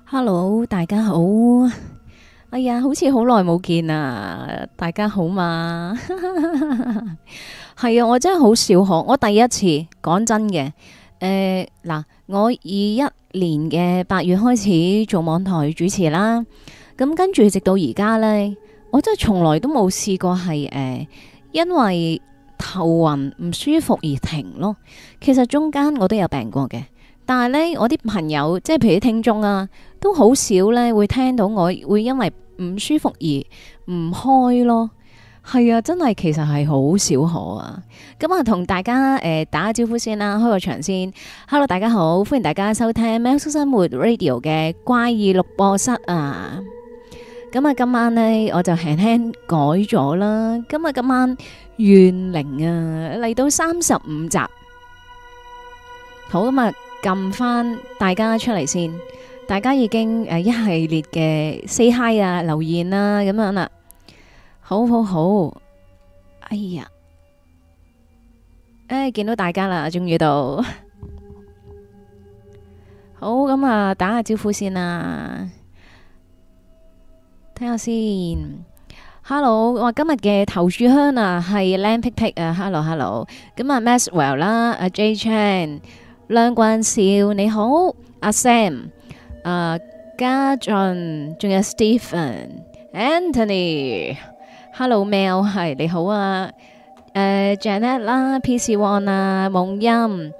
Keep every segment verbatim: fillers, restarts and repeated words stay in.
Hello，大家好。哎呀，好似好耐冇見啊！大家好嘛？係啊，我真係好少學。我第一次講真嘅，誒嗱，我二一年嘅八月開始做網台主持啦。咁跟住直到而家呢，我真係從來都冇試過係誒、呃，因為頭暈唔舒服而停咯。其實中間我都有病過嘅。但係咧，我啲朋友即係譬如啲聽眾啊，都好少咧會聽到我會因為唔舒服而唔開咯。係啊，真係其實係好少可啊。咁啊，同大家誒、呃、打個招呼先啦，開個場先。Hello，大家好，歡迎大家收聽《喵式生活 Radio》嘅怪異錄播室啊。咁啊，今晚呢，我就輕輕改咗啦。今日今晚怨靈啊嚟到三十五集，好咁啊！撳翻大家出嚟先，大家已經誒一系列嘅 say hi 啊、留言啊咁樣啦，好好好，哎呀，誒見到大家啦，終於到，好咁啊，打下招呼先啦，睇下先 ，Hello，我今日嘅頭炷香啊係靚皮皮啊，Hello Hello，咁啊 Maxwell 啦，阿 J Chan。梁冠少你好，阿 Sam， 啊家俊，仲有 Stephen、Anthony，Hello Mel 係你好啊，誒 Janet 啦 ，P C One 啊，夢音，誒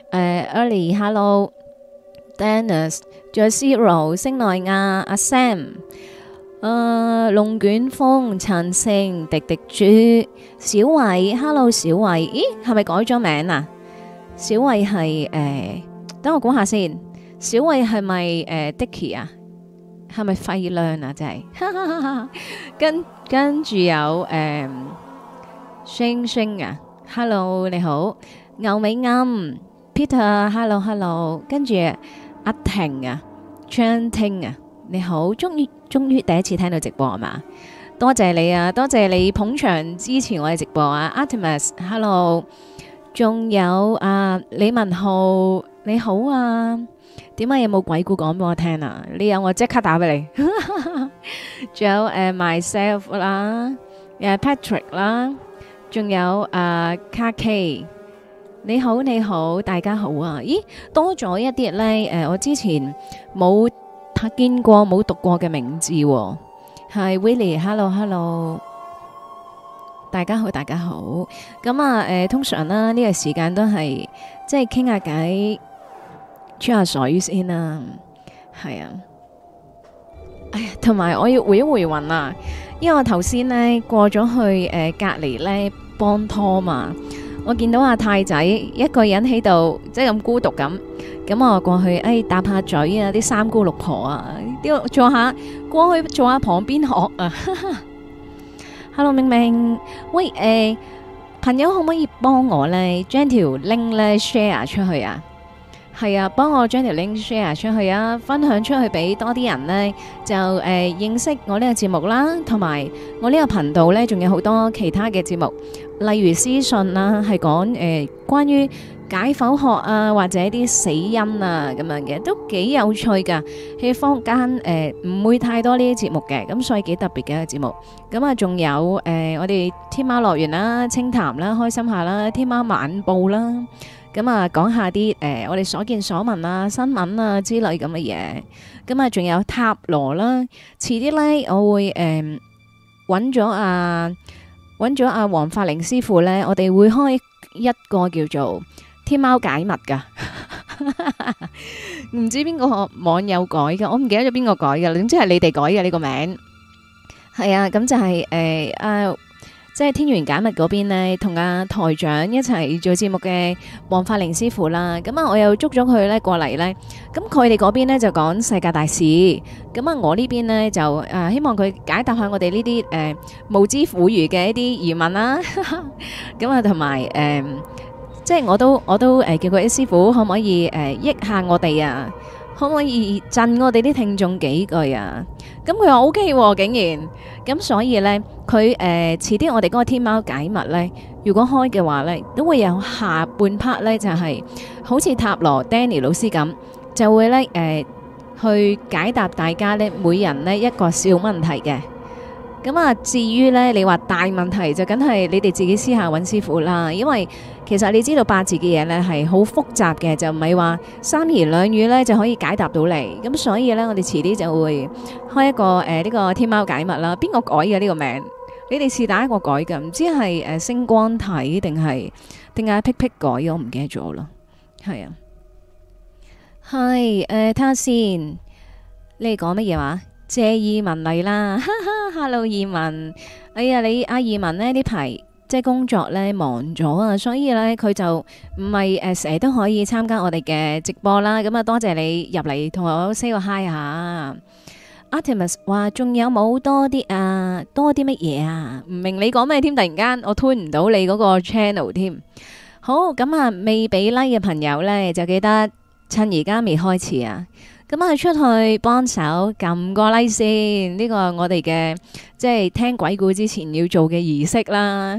Early，Hello，Dennis，仲有 Zero，星奈亞，阿 Sam，誒龍捲風，陳星，迪迪豬，小偉，Hello 小偉，咦係咪改咗名啊？小慧係誒，等我估下先。小慧係咪誒 Dicky 啊？係咪費亮啊？真係，跟跟住有誒星星啊 ，Hello 你好，牛尾啱 Peter，Hello Hello，跟住阿婷啊，張聽啊，你好，終於終於第一次聽到直播係嘛？多謝你啊，多謝你捧場支持我嘅直播啊 ，Artemis，Hello。仲有啊李文浩你好啊，點解有冇鬼故講俾我聽啊？你有我即刻打俾你。仲有誒、uh, myself 啦，誒、uh, Patrick 啦，仲有啊 Car K， 你好你好，大家好啊！咦，多咗一啲咧誒，我之前冇見過冇讀過嘅名字喎、哦，係 Willie，Hello Hello。大家好，大家好。咁啊，誒、呃，通常啦，呢、這個時間都係即係傾下偈，吹下水先啦。係啊，哎呀，同埋我要回一回魂啊，因為我頭先呢過咗去誒、呃、隔籬呢幫拖嘛，我見到阿太仔一個人喺度，即係咁孤獨咁，咁我過去誒搭下嘴啊，啲三姑六婆啊，啲坐下過去坐下旁邊學啊。Hello 明明，喂誒、呃，朋友可唔可以幫我咧將條 link 咧 share 出去啊？係啊，幫我將條 link share 出去啊，分享出去俾多啲人咧，就誒、呃、認識我呢個節目啦，同埋我呢個頻道咧，仲有好多其他嘅節目，例如屍訊啦，係講誒關於解剖學啊，或者啲死因啊咁樣嘅，都幾有趣噶。喺坊間誒唔會太多呢啲節目嘅，咁所以幾特別嘅一個節目。咁啊，仲有誒、呃、我哋天喵樂園啦、清談啦、開心下啦、天喵晚報啦，咁啊講下啲誒、呃、我哋所見所聞啊、新聞啊之類咁嘅嘢。咁啊，仲有塔羅啦，遲啲咧我會誒揾咗阿揾咗阿黃法寧師傅咧，我哋會開一個叫做天喵解密噶，唔知邊個網友改噶，我唔記得咗邊個改噶，總之係你哋改嘅呢個名。係啊，咁就係誒啊，即係天元解密嗰邊呢，同阿台長一齊做節目嘅黃法寧師傅啦。咁啊，我又捉咗佢咧過嚟咧，咁佢哋嗰邊呢就講世界大事，咁啊我呢邊呢就誒希望佢解答下我哋呢啲誒無知婦孺嘅一啲疑問啦。咁啊，同埋誒。即係我都我都誒、呃、叫佢啲師傅可唔可以誒、呃、益下我哋啊？可唔可以震我哋啲聽眾幾句啊？咁佢話 O K 喎，竟然咁，所以咧佢誒遲啲我哋嗰個天喵解密咧，如果開嘅話咧，都會有下半 part 咧，就係、是、好似塔羅 Danny 老師咁，就會咧誒去解答大家呢每人呢一個小問題嘅。咁啊，至於呢，你話大問題就梗係你哋自己私下揾師傅啦。因為其實你知道八字嘅嘢呢係好複雜嘅，就唔係話三言兩語呢就可以解答到你。咁所以呢，我哋遲啲就會開一個誒呢、呃這個天貓解密啦。邊個改嘅呢個名？你哋是打一個改嘅，唔知係誒星光體定係定係 pick pick 改咗，我唔記得咗啦。係啊，係誒睇下先，你哋講乜嘢話？謝意文嚟啦，哈哈 Hello 意文，哎呀你阿意文呢呢排即係工作呢忙咗啊，所以呢，佢就唔係誒成日都可以參加我哋嘅直播啦。咁啊多謝你入嚟同我 say 個 hi 下。Artemis 話仲有冇多啲啊？多啲乜嘢啊？唔明你講咩添？突然間我 turn 唔到你嗰個 channel 添。好，咁啊未俾 like 嘅朋友呢，就記得趁而家未開始啊。咁啊，出去幫手撳個 like 先，呢個係我哋嘅即係聽鬼故之前要做嘅儀式啦。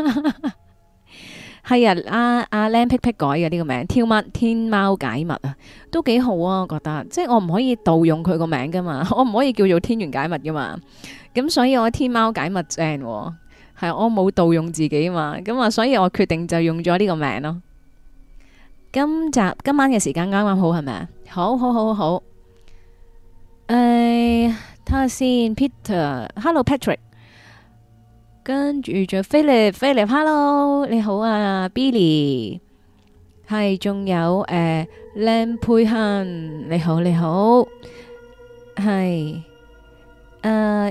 係啊，阿阿靚 pick pick 改嘅呢個名，天貓天貓解密啊，都幾好啊，我覺得。即係我唔可以盜用佢個名噶嘛，我唔可以叫做天元解密噶嘛。咁所以我天貓解密正喎，係我冇盜用自己嘛。咁啊，所以我決定就用咗呢個名咯。今集今晚嘅時間啱啱好係咪啊？好好好好，誒，睇下先 ，Peter，Hello Patrick，跟住就 Philip，Philip，Hello，你好啊 ，Billy，係，仲有誒，靚佩亨，你好你好，係，誒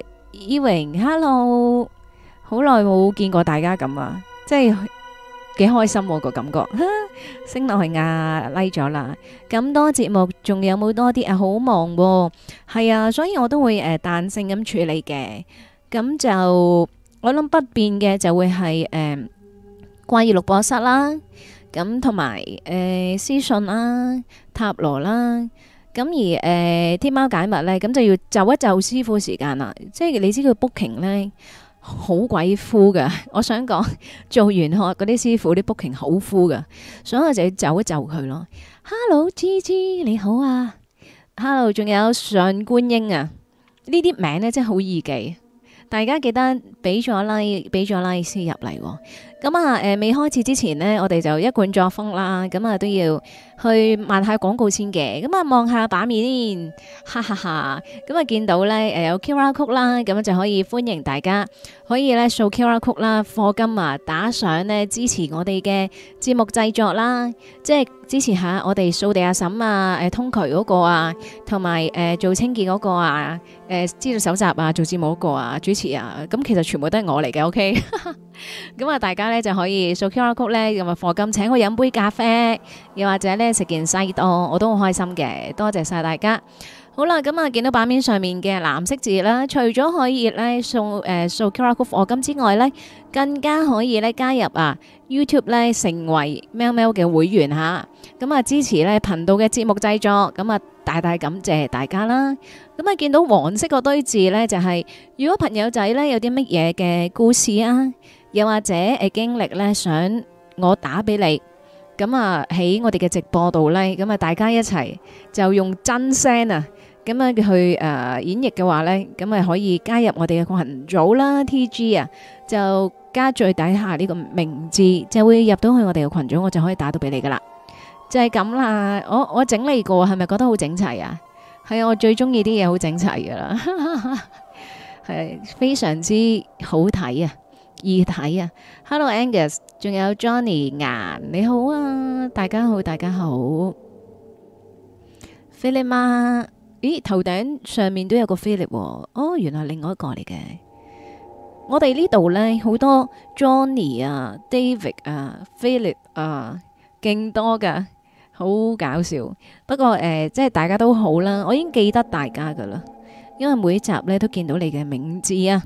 ，Ewing，Hello，好耐冇見過大家咁啊，即係。幾開心喎個感覺，升落去啊 like 咗啦。咁多節目仲有冇多啲啊？好忙喎，係啊，所以我都會誒彈性咁處理嘅。咁就我諗不變嘅就會係誒怪異錄播室啦，咁同埋誒私信啦、塔羅啦。咁而誒天貓解密咧，咁就要就一就師傅時間啦。即係你知佢 booking 咧。好鬼敷噶，我想講做完學嗰啲師傅啲 booking 好敷噶，所以我就要就一就佢咯。Hello，G G 你好啊 ，Hello，仲有上觀音啊，呢啲名咧真係好易記，大家記得俾咗 like，俾咗 like 先入嚟。咁啊，誒未開始之前呢，我哋就一貫作風啦，咁啊都要去賣下廣告先嘅。咁啊望下版面，哈哈哈。咁啊見到咧誒有 Q R code 啦，咁就可以歡迎大家可以咧掃 Q R code 啦，課金啊打賞呢支持我哋嘅節目製作啦，即係支持下我哋掃地阿嬸啊，誒通渠嗰個啊，同埋誒做清潔嗰個啊，誒資料搜集啊，做節目嗰個啊，主持啊，咁其實全部都係我嚟嘅，OK。咁啊，大家咧就可以掃 Q R code 咧，咁啊課金請我飲杯咖啡，又或者咧食件西多，我都好開心嘅。多謝晒大家。好啦，咁啊見到版面上面嘅藍色字啦，除咗可以咧掃誒掃 Q R code 課金之外咧，更加可以咧加入啊 YouTube 咧成為喵喵嘅會員吓，咁啊支持咧頻道嘅節目製作，咁啊大大感謝大家啦。咁啊見到黃色嗰堆字咧，就係如果朋友仔咧有啲乜嘢嘅故事啊，又或者誒經歷咧，想我打俾你，咁啊喺我哋嘅直播度咧，咁啊大家一齊就用真聲啊，咁樣去誒演繹嘅話咧，咁啊可以加入我哋嘅群組啦 ，T G 啊，就加最底下呢個名字，就會入到去我哋嘅群組，我就可以打到俾你噶啦，就係咁啦。我我整理過，係咪覺得好整齊啊？係啊，我最中意啲嘢好整齊噶啦，係非常之好睇啊！易睇啊 ！Hello Angus，仲有 Johnny 顏，你好啊，大家好，大家好。Philip 媽，咦，頭頂上面都有個 Philip 喎，哦，原來另外一個嚟嘅。我哋呢度呢，好多 Johnny 啊、David 啊、Philip 啊，勁多噶，好搞笑。不過誒、呃，即係大家都好啦，我已經記得大家噶啦，因為每一集呢都見到你嘅名字啊。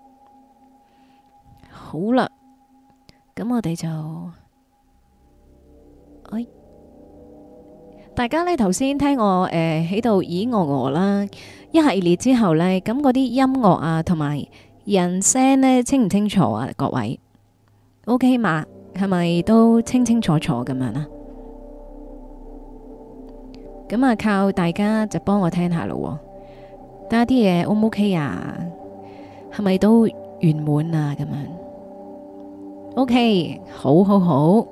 好啦，咁我哋就，哎，大家呢頭先聽我誒喺度咦我我啦，一系列之後呢，咁嗰啲音樂啊同埋人聲呢清唔清楚啊？各位，OK 嘛？係咪都清清楚楚咁樣啊？ 咁啊靠大家就幫我聽下咯。睇下啲嘢 O 唔 OK 啊？係咪都圓滿啊？咁樣 OK，好好好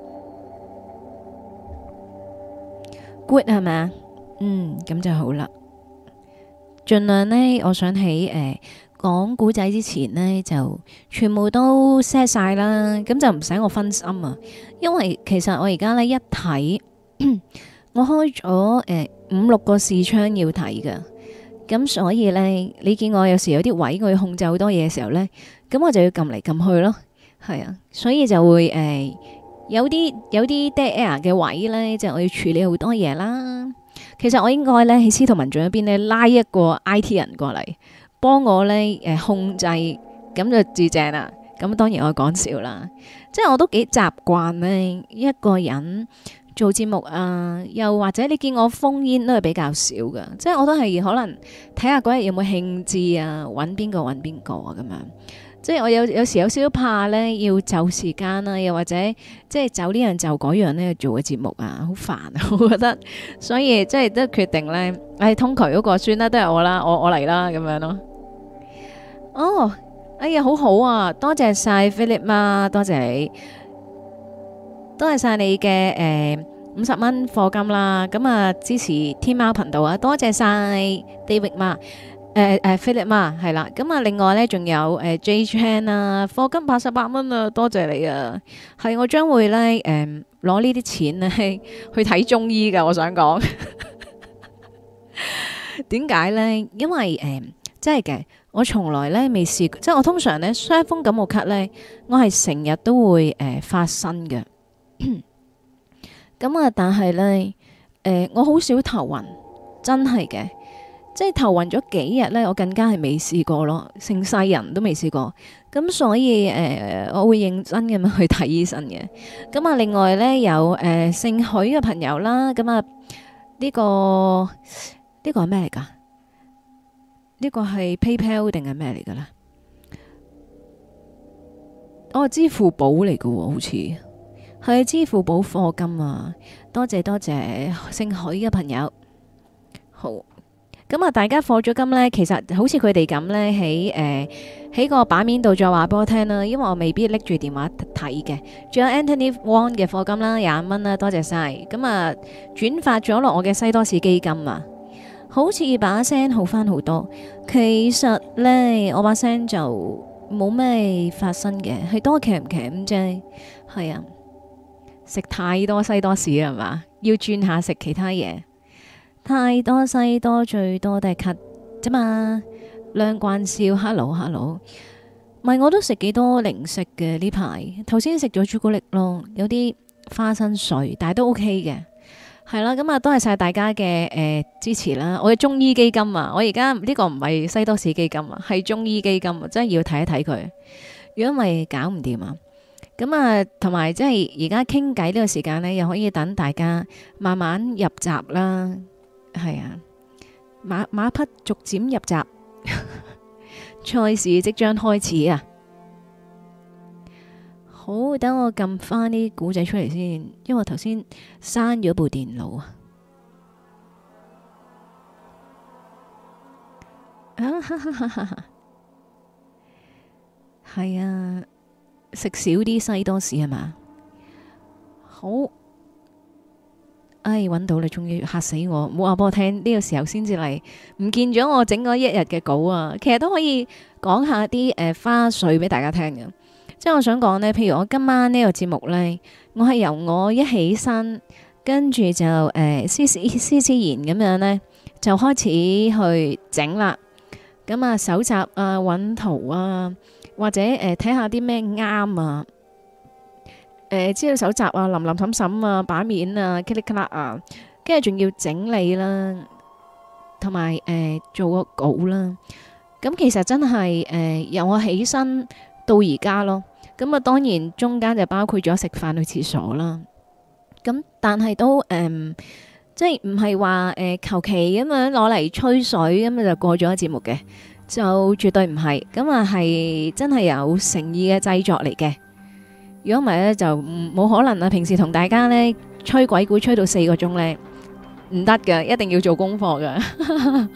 good 係咪？嗯，咁就好啦。盡量呢，我想喺誒講古仔之前呢，就全部都 set 晒啦，咁就唔使我分心啊。因為其實我而家呢，一睇，我開咗誒五六個視窗要睇噶，咁所以呢，你見我有時有啲位我要控制好多嘢嘅時候呢，咁我就要撳嚟撳去咯，係啊，所以就會誒、呃、有啲有啲 dead air 嘅位呢，就我要處理好多嘢啦。其實我應該咧喺司徒文進嗰邊咧拉一個 I T 人過嚟幫我咧誒控制，咁就至正啦。咁當然我講笑啦，即係我都幾習慣咧一個人做節目啊，又或者你見我烽煙都係比較少㗎，即係我都係可能睇下嗰日有冇興致啊，揾邊個揾邊個啊咁樣。即係我有有時有少少怕咧，要就時間啦，又或者即係就呢樣就嗰樣咧做嘅節目啊，好煩啊，我覺得，所以即係都決定咧，誒、哎、通渠嗰個算啦，都係我啦，我我嚟啦咁樣咯。哦，哎呀，好好啊，多謝晒 Philip 媽，多謝你，多謝晒你嘅誒五十蚊課金啦，咁啊支持天貓頻道啊，多謝晒 David 媽。誒誒，Philip 嘛，係啦，咁啊，另外咧仲有誒 J Chan 啊，課金八十八蚊啊，多謝你啊，係我將會咧誒攞呢啲錢咧去睇中醫噶，我想講，點解咧？因為誒，真係嘅，我從來咧未試過，即係我通常咧傷風感冒咳咧，我係成日都會誒發生嘅，咁啊，但係咧誒，我好少頭暈，真係嘅。即係頭暈咗幾日呢，我更加係未試過咯，成世人都未試過。咁所以誒、呃，我會認真咁樣去睇醫生嘅。咁啊，另外呢，有誒、呃、姓許嘅朋友啦，咁啊呢個呢、呢個係咩嚟㗎？呢、呢個係 PayPal 定係咩嚟㗎咧？哦，支付寶嚟㗎喎，好似係支付寶課金啊！多謝多謝姓許嘅朋友，好。咁啊，大家課咗金呢，其實好似佢哋咁呢，喺誒喺個版面度再話俾我聽啦，因為我未必拎住電話睇嘅。仲有 Anthony Wong 嘅課金啦，廿五蚊啦，多謝晒。咁啊，轉發咗落我嘅西多士基金啊，好似把聲好翻好多。其實呢，我把聲就冇咩發生嘅，係多鉗唔鉗啫。係啊，食太多西多士係嘛，要轉下食其他嘢。太多西多，最多都係咳啫嘛。梁冠少 ，hello hello，唔係我都食幾多零食嘅呢排。頭先食咗朱古力咯，有啲花生碎，但係都 OK 嘅。係啦，咁啊，多謝晒大家嘅誒、呃、支持啦。我嘅中醫基金啊，我而家呢個唔係西多士基金啊，係中醫基金啊，真係要睇一睇佢。如果唔係搞唔掂啊。咁啊，同埋即係而家傾偈呢個時間呢，又可以等大家慢慢入閘啦。係啊，馬馬匹逐漸入閘，賽事即將開始啊！好，等我撳翻啲古仔出嚟先，因為我頭先刪咗部電腦啊。啊哈哈哈哈！係啊，食少啲西多士係嘛？好。哎，揾到你，終於嚇死我！冇話俾我聽，呢個時候先至嚟，唔見咗我整嗰一日嘅稿啊！其實都可以講下啲誒、呃、花絮俾大家聽嘅，即係我想講呢，譬如我今晚呢個節目呢，我係由我一起身，跟住就誒斯斯斯斯然咁樣呢，就開始去整啦。咁啊，搜集啊，揾圖啊，或者誒睇下啲咩啱啊。誒，資料搜集啊，林林審審啊，版面啊，click click 啊，跟住仲要整理啦，同埋誒做個稿啦。咁其實真係誒、呃、由我起身到而家咯。咁啊，當然中間就包括咗食飯去廁所啦。咁但係都誒、呃，即係唔係話誒求其咁樣攞嚟吹水咁就過咗節目嘅，就絕對唔係。咁啊係真係有誠意嘅製作嚟嘅。如果唔係咧，就冇可能啊！平時同大家咧吹鬼故吹到四個鐘咧， 唔得㗎，一定要做功課㗎。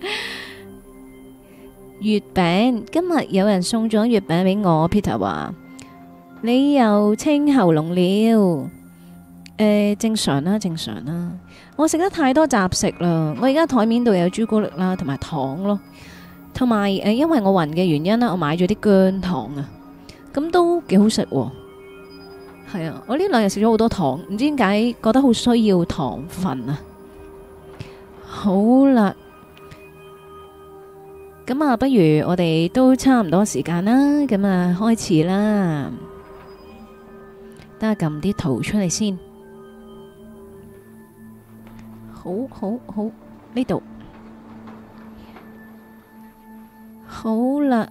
月餅，今日有人送咗月餅俾我 ，Peter 話你又清喉嚨了。誒，正常啦，正常啦。我食得太多雜食啦，我而家台面度有朱古力啦，同埋糖咯，同埋誒，因為我暈嘅原因啦，我買咗啲薑糖啊，咁都幾好食喎。係啊，我呢兩日食咗好多糖，唔知點解覺得好需要糖分啊。好啦，咁啊，不如我哋都差唔多時間啦，咁啊開始啦。等下撳啲圖出嚟先。好好好，呢度好啦。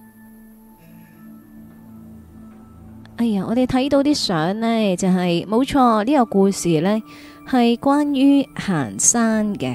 哎呀，我哋睇到啲相呢，就係冇錯，呢個故事呢係關於行山嘅。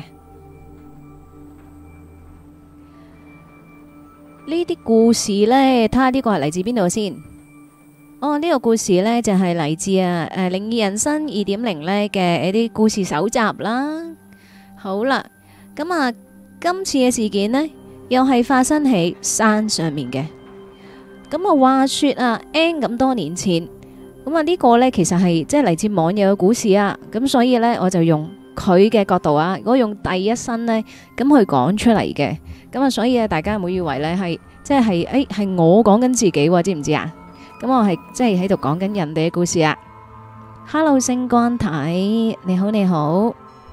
呢啲故事呢，睇下呢個係嚟自邊度先。哦，呢個故事呢，就係嚟自啊誒《靈異人生二點零》呢嘅一啲故事搜集啦。好啦，咁啊，今次嘅事件呢，又係發生喺山上面嘅。咁啊，話說啊 N 咁多年前，咁啊呢個呢，其實係即係嚟自網友嘅故事啊。咁所以呢，我就用佢嘅角度啊，我用第一身呢，咁去講出嚟嘅。咁啊，所以啊，大家唔好以為呢係即係誒係我講緊自己喎，知唔知啊？咁我係即係喺度講緊人哋嘅故事啊。Hello， 星光體，你好你好。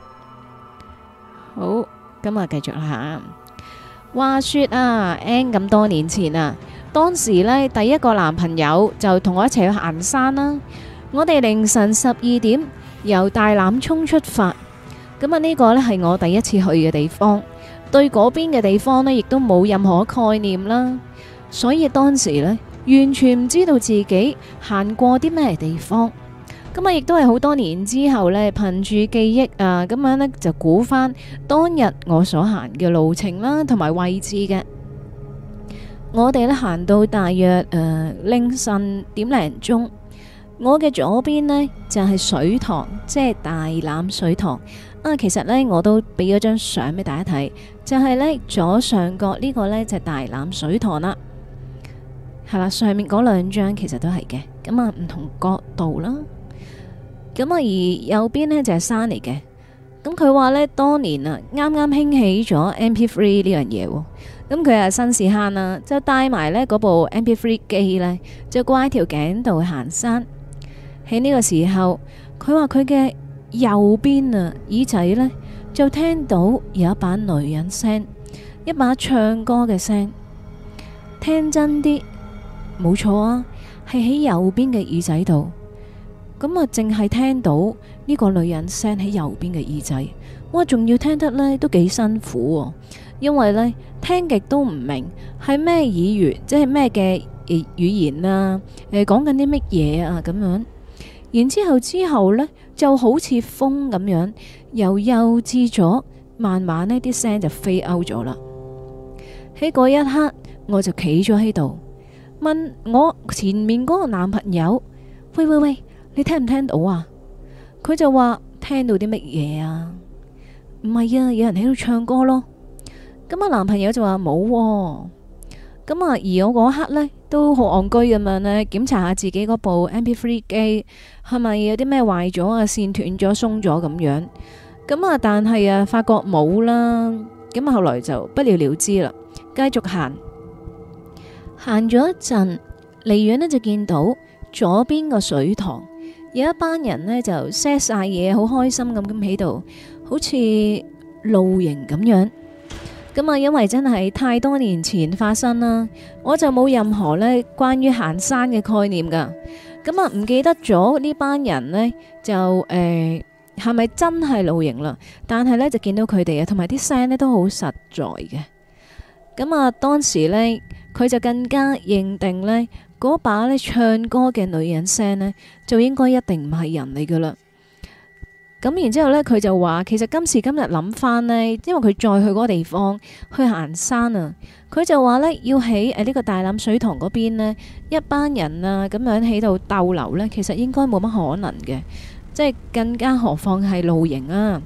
好，咁啊，繼續啦。話說啊 N 咁多年前啊，當時呢，第一個男朋友就同我一齊去行山啦。我哋凌晨十二點由大欖涌出發，咁啊呢個呢係我第一次去嘅地方，對嗰邊嘅地方呢亦都冇任何概念啦，所以當時呢，完全唔知道自己行過啲咩地方。咁啊，亦都係好多年之後呢，憑住記憶啊，咁樣呢就估翻當日我所行嘅路程啦，同埋位置嘅。我哋呢行到大約誒凌晨點零鐘，我嘅左邊呢就係水塘，即係大欖水塘啊。其實呢，我都俾咗張相俾大家睇，就係呢左上角呢個呢就係大欖水塘啦。係啦，上面嗰兩張其實都係嘅，咁啊唔同角度啦。咁啊，而右邊呢就係山嚟嘅。咁佢話呢，當年啊啱啱興起咗 M P 三 呢樣嘢，咁佢係新市坑啦，就帶埋呢嗰部 M P 三 機呢，就掛喺條頸度去行山。喺呢個時候，佢話佢嘅右邊啊耳仔呢，就聽到有一把女人聲，一把唱歌嘅聲。聽真啲，冇錯啊，係喺右邊嘅耳仔度。咁啊，淨係聽到呢個女人聲喺右邊嘅耳仔，哇，仲要聽得呢都幾辛苦喎，因為呢聽極都唔明係咩語言，即係咩嘅語言啊，誒講緊啲乜嘢啊咁樣。然之後之後呢就好似風咁樣，由幼至咗，慢慢呢啲聲就飛歐咗啦。喺嗰一刻，我就企咗喺度，問我前面嗰個男朋友：喂喂喂！你聽唔聽到啊？佢就話聽到啲乜嘢啊？唔係啊，有人喺度唱歌咯。咁啊，男朋友就話冇。咁啊，而我嗰刻呢，都好戇居咁樣呢，檢查下自己嗰部 M P 三 機係咪有啲咩壞咗啊？線斷咗、鬆咗咁樣。咁啊，但係啊，發覺冇啦。咁啊，後來就不了了之啦，繼續行。行咗一陣，離遠呢就見到左邊個水塘。有一班人呢，就 set 晒嘢，好開心咁咁喺度，好似露營咁樣。咁啊，因為真係太多年前發生啦，我就冇任何呢關於行山嘅概念噶。咁啊，唔記得咗呢班人呢，就誒係咪真係露營啦？但係呢，就見到佢哋啊，同埋啲聲呢都好實在嘅。咁啊，當時呢，佢就更加認定呢。嗰把咧唱歌嘅女人聲呢，就應該一定唔係人嚟噶啦。咁然之後呢，佢就話其實今時今日諗翻呢，因為佢再去嗰個地方去行山啊，佢就話呢，要喺誒呢個大欖水塘嗰邊呢，一班人啊咁樣喺度逗留呢，其實應該冇乜可能嘅，即係更加何況係露營啊。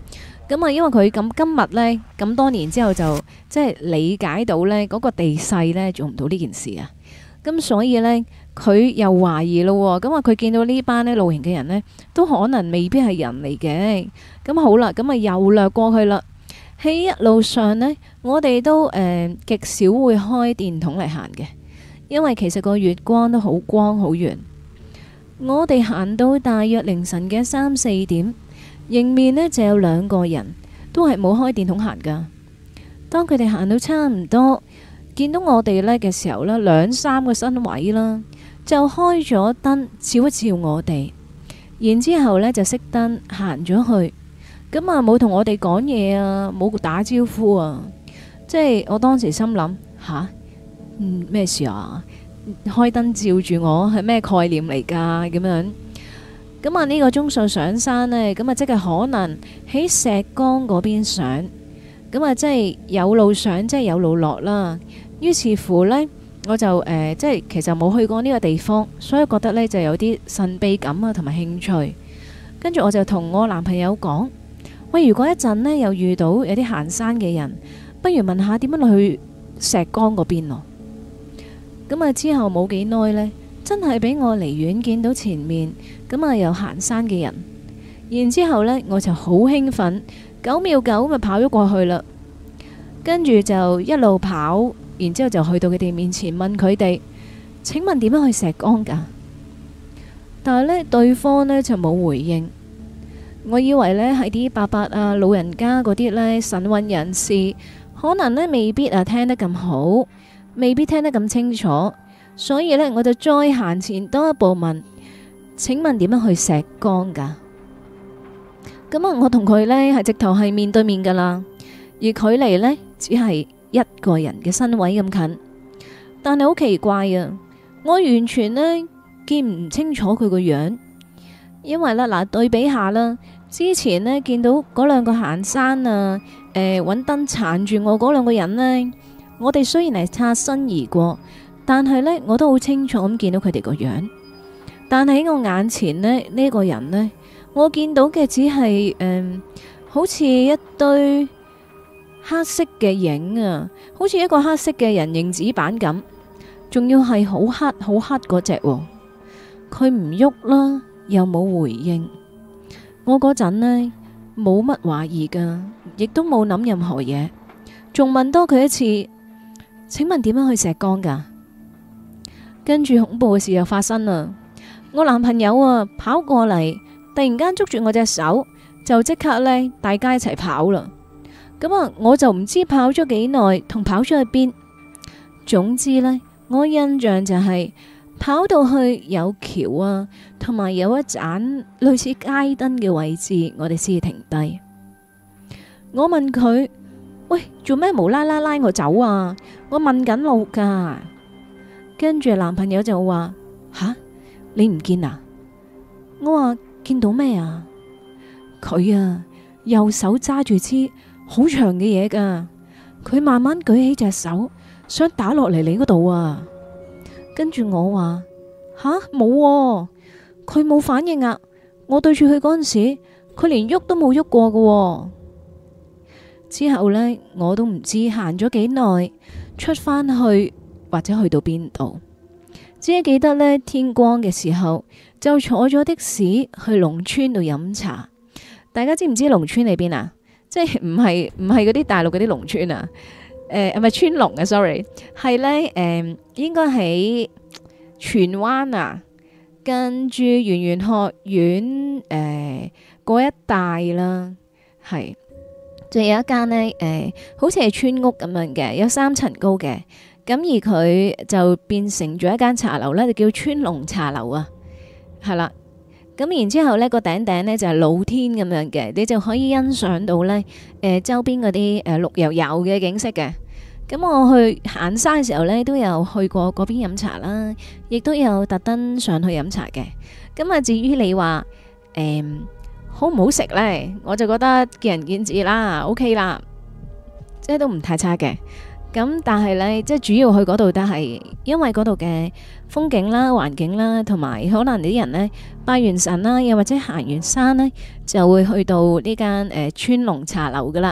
咁啊，因為佢咁今日呢，咁多年之後就即係理解到呢嗰個地勢呢做唔到呢件事啊。咁所以呢，佢又懷疑咯。咁啊，佢見到呢班呢露營嘅人呢，都可能未必係人嚟嘅。咁好啦，咁啊又掠過去啦。喺一路上呢，我哋都誒極少會開電筒嚟行嘅，因為其實個月光都好光好圓。我哋行到大約凌晨嘅三四點，迎面呢就有兩個人，都係冇開電筒行噶。當佢哋行到差唔多，見到我哋呢嘅時候呢，兩三個身位啦，就開咗燈照一照我哋，然之後呢就熄燈行咗去。咁啊，冇同我哋講嘢啊，冇打招呼啊，即係我當時心諗吓，嗯咩事啊？開燈照住我係咩概念嚟㗎？咁樣咁啊，呢個鐘數上山呢，咁啊即係可能喺石崗嗰邊上，咁啊即係有路上，即係有路落啦。於是乎呢，我就誒、呃、即係其實冇去過呢個地方，所以覺得呢就有啲神秘感啊，同埋興趣。跟住我就同我男朋友講。喂，如果一陣呢又遇到有啲行山嘅人，不如問下點樣去石崗嗰邊咯。咁啊之後冇幾耐呢，真係俾我離遠見到前面咁啊有行山嘅人，然之後呢我就好興奮，九秒九咪跑咗過去啦。跟住就一路跑，然之後就去到佢哋面前問佢哋：請問點樣去石崗㗎？但係呢，對方呢就冇回應。我以為呢係啲伯伯啊、老人家嗰啲呢神韻人士，可能呢未必啊聽得咁好，未必聽得咁清楚，所以呢，我就再行前多一步問：請問點樣去石崗㗎？咁啊，我同佢呢係直頭係面對面噶啦，而距離呢只係一個人嘅身位咁近，但係好奇怪啊！我完全呢見唔清楚佢個樣，因為呢，嗱對比下啦。之前呢，見到嗰兩個行山啊，誒揾燈撐住我嗰兩個人呢，我哋雖然係擦身而過，但係呢，我都好清楚咁見到佢哋個樣。但係喺我眼前呢，呢、呢個人呢，我見到嘅只係誒、呃，好似一堆黑色嘅影啊，好似一個黑色嘅人形紙板咁，仲要係好黑好黑嗰隻。佢唔喐啦，又冇回應。我嗰陣呢，冇乜懷疑噶，亦都冇諗任何嘢，仲問多佢一次，請問點樣去石崗噶？跟住恐怖嘅事又發生啦，我男朋友啊跑過嚟，突然間捉住我隻手，就即刻呢，大家一齊跑啦。咁啊，我就唔知跑咗幾耐，同跑咗去邊。總之呢，我印象就係、是。跑到去有橋啊，同埋有一盞類似街燈嘅位置，我哋先停低。我問佢：喂，做咩無啦啦拉我走啊？我問緊路噶。跟住男朋友就話：吓，你唔見啊？我話見到咩啊？佢啊，右手揸住支好長嘅嘢噶，佢慢慢舉起隻手，想打落嚟你嗰度啊！跟住我話吓冇，佢冇反應啊！我對住佢嗰陣時，佢連喐都冇喐過㗎。之後呢，我都唔知行咗幾耐，出返去或者去到邊度，只係記得呢，天光嘅時候就坐咗的士去龍村度飲茶。大家知唔知龍村喺邊啊？即係唔係唔係嗰啲大陸嗰啲農村啊？誒，係咪川龍啊？sorry，係呢，誒、呃，應該喺荃灣啊，跟住圓玄學院誒嗰、呃、一帶啦，係，仲有一間呢，誒、呃，好似係村屋咁樣嘅，有三層高嘅，咁而佢就變成咗一間茶樓呢，就叫川龍茶樓啊，係啦。咁然之後呢個頂頂呢就係露天咁樣嘅，你就可以欣賞到呢誒、呃、周邊嗰啲誒綠油油嘅景色嘅。咁我去行山嘅時候呢，都有去過嗰邊飲茶啦，亦都有特登上去飲茶嘅。咁啊，至於你話誒、呃、好唔好食呢？我就覺得見仁見智啦，OK 啦，即係都唔太差嘅。 咁但係呢，即係主要去嗰度都係因為嗰度嘅風景啦、環境啦，同埋可能啲人呢拜完神啦，又或者行完山呢，就會去到呢間誒川龍茶樓噶啦。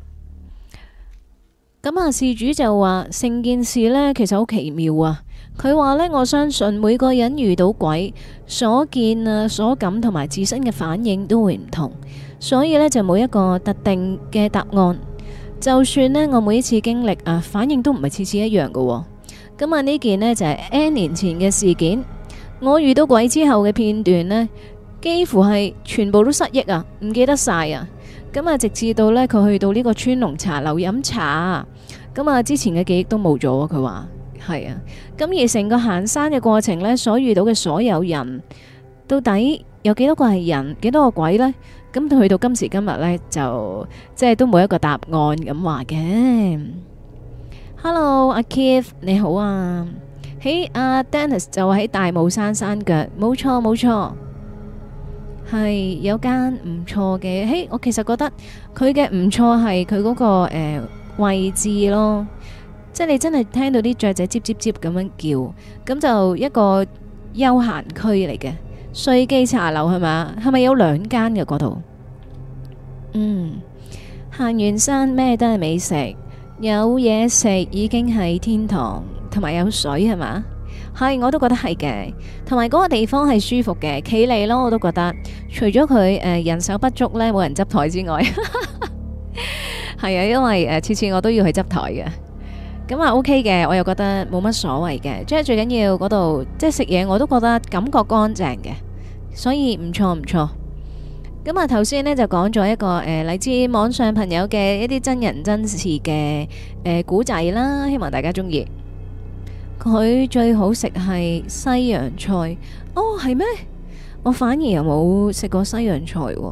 咁啊，事主就話成件事呢其實好奇妙啊。佢話呢，我相信每個人遇到鬼所見啊、所感同埋自身嘅反應都會唔同，所以呢，就冇一個特定嘅答案。就算呢，我每一次經歷啊，反應都唔係次次一樣嘅喎。咁啊，呢件呢，就係 N 年前嘅事件。我遇到鬼之後嘅片段呢，幾乎係全部都失憶啊，唔記得晒啊。咁啊，直至到呢，佢去到呢個川龍茶樓飲茶，咁啊，之前嘅記憶都冇咗。佢話係啊。咁而成個行山嘅過程呢，所遇到嘅所有人，到底有幾多個係人，幾多個鬼呢？咁去到今時今日呢，就即係都冇一個答案咁話嘅。Hello，阿 Keith 你好啊。喺阿 Dennis 就喺大帽山山腳，冇錯冇錯，係有間唔錯嘅。嘿，我其實覺得佢嘅唔錯係佢嗰個誒、呃、位置咯，即係你真係聽到啲雀仔吱吱吱咁樣叫，咁就一個休閒區嚟嘅。瑞記茶樓係嘛？係咪有兩間嘅嗰度？嗯，行完山咩都係美食，有嘢食已經係天堂，同埋有水係嘛？係，我都覺得係嘅，同埋嗰個地方係舒服嘅，企理咯，我都覺得。除咗佢誒人手不足呢，冇人執台之外，係啊，因為誒次次我都要去執台嘅。咁啊 OK 嘅，我又覺得冇乜所謂嘅，即係最緊要嗰度即係食嘢，我都覺得感覺乾淨嘅，所以唔錯唔錯。咁啊頭先呢就講咗一個誒嚟自網上朋友嘅一啲真人真事嘅誒古仔啦，希望大家中意。佢最好食係西洋菜，哦係咩？我反而又冇食過西洋菜喎，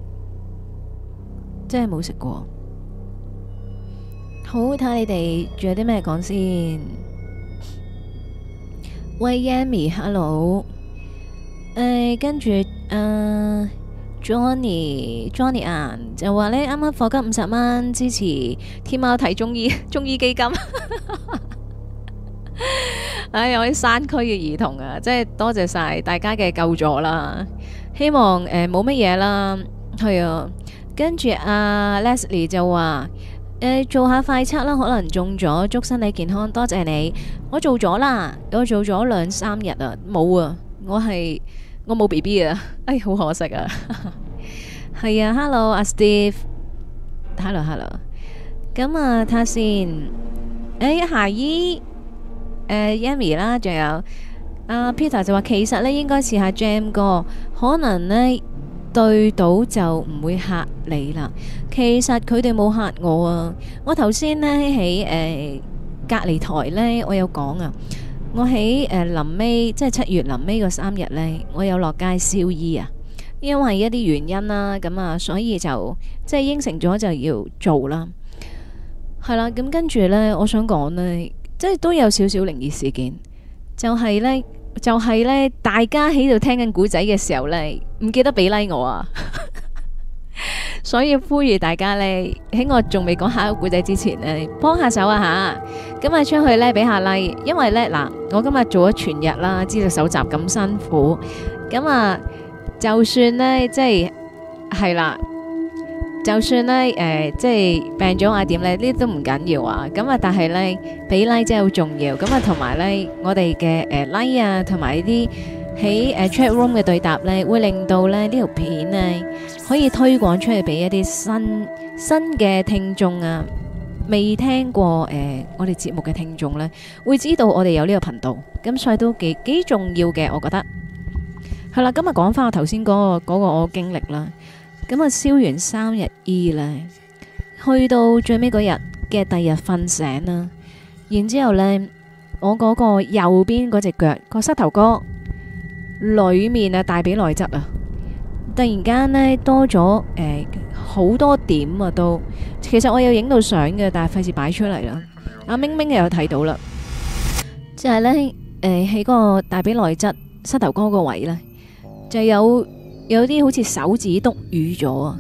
真係冇食過。好，睇下你哋仲有啲咩講先。喂 Yami，hello。誒，跟住誒 Johnny，Johnny 啊，就話呢啱啱課金五十蚊支持天貓睇中醫中醫基金。唉，我啲山區嘅兒童啊，即係多謝晒大家嘅救助啦。希望誒冇乜嘢啦，係啊。跟住阿 Leslie 就話。誒，做下快測啦，可能中咗，祝身體健康，多謝你。我做咗啦，我做咗兩三日啊，冇啊，我係我冇 B B 啊，哎，好可惜啊。係啊，Hello 阿 Steve，Hello Hello，咁啊睇下先，誒夏姨，誒 Yami 啦，仲有阿 Peter 就話其實呢應該試下 Jam 歌，可能呢。對到就唔會嚇你啦。其實佢哋冇嚇我啊。我頭先呢喺誒隔離台呢，我有講啊。我喺誒臨尾即係七月臨尾嗰三日呢，我有落街燒衣啊。因為一啲原因啦，咁啊，所以就即係應承咗就要做啦。係啦，咁跟住呢，我想講呢，即係都有少少靈異事件，就係呢。就係呢，大家喺度聽緊古仔嘅時候呢，唔記得俾 like 我啊，所以呼籲大家呢，喺我仲未講下一個古仔之前呢，幫下手啊吓，咁啊出去呢，俾下 like，因為呢，嗱，我今日做咗全日啦，資料搜集咁辛苦，咁啊就算呢，即係係啦。就算呢，誒、呃，即係病咗啊點呢？呢啲都唔緊要啊。咁啊，但係呢，俾 like 真係好重要。咁啊，同埋呢，我哋嘅誒 like 啊，同埋啲喺誒 chat room 嘅對答呢，會令到咧呢條片呢可以推廣出去俾一啲新新嘅聽眾啊，未聽過誒、呃、我哋節目嘅聽眾呢，會知道我哋有呢個頻道。咁所以都幾幾重要嘅，我覺得。係啦，今日講翻我頭先嗰個嗰個我經歷啦。咁啊，燒完三日衣呢，去到最尾嗰日嘅第二日瞓醒啦，然之後呢，我嗰個右邊嗰隻腳個膝頭哥裏面啊，大髀內側啊，突然間呢，多咗誒好多點啊，都其實我有影到相嘅，但係費事擺出嚟啦。阿明明又有睇到啦，就係呢，誒喺個大髀內側膝頭哥個位呢，就有。有啲好似手指篤瘀咗啊，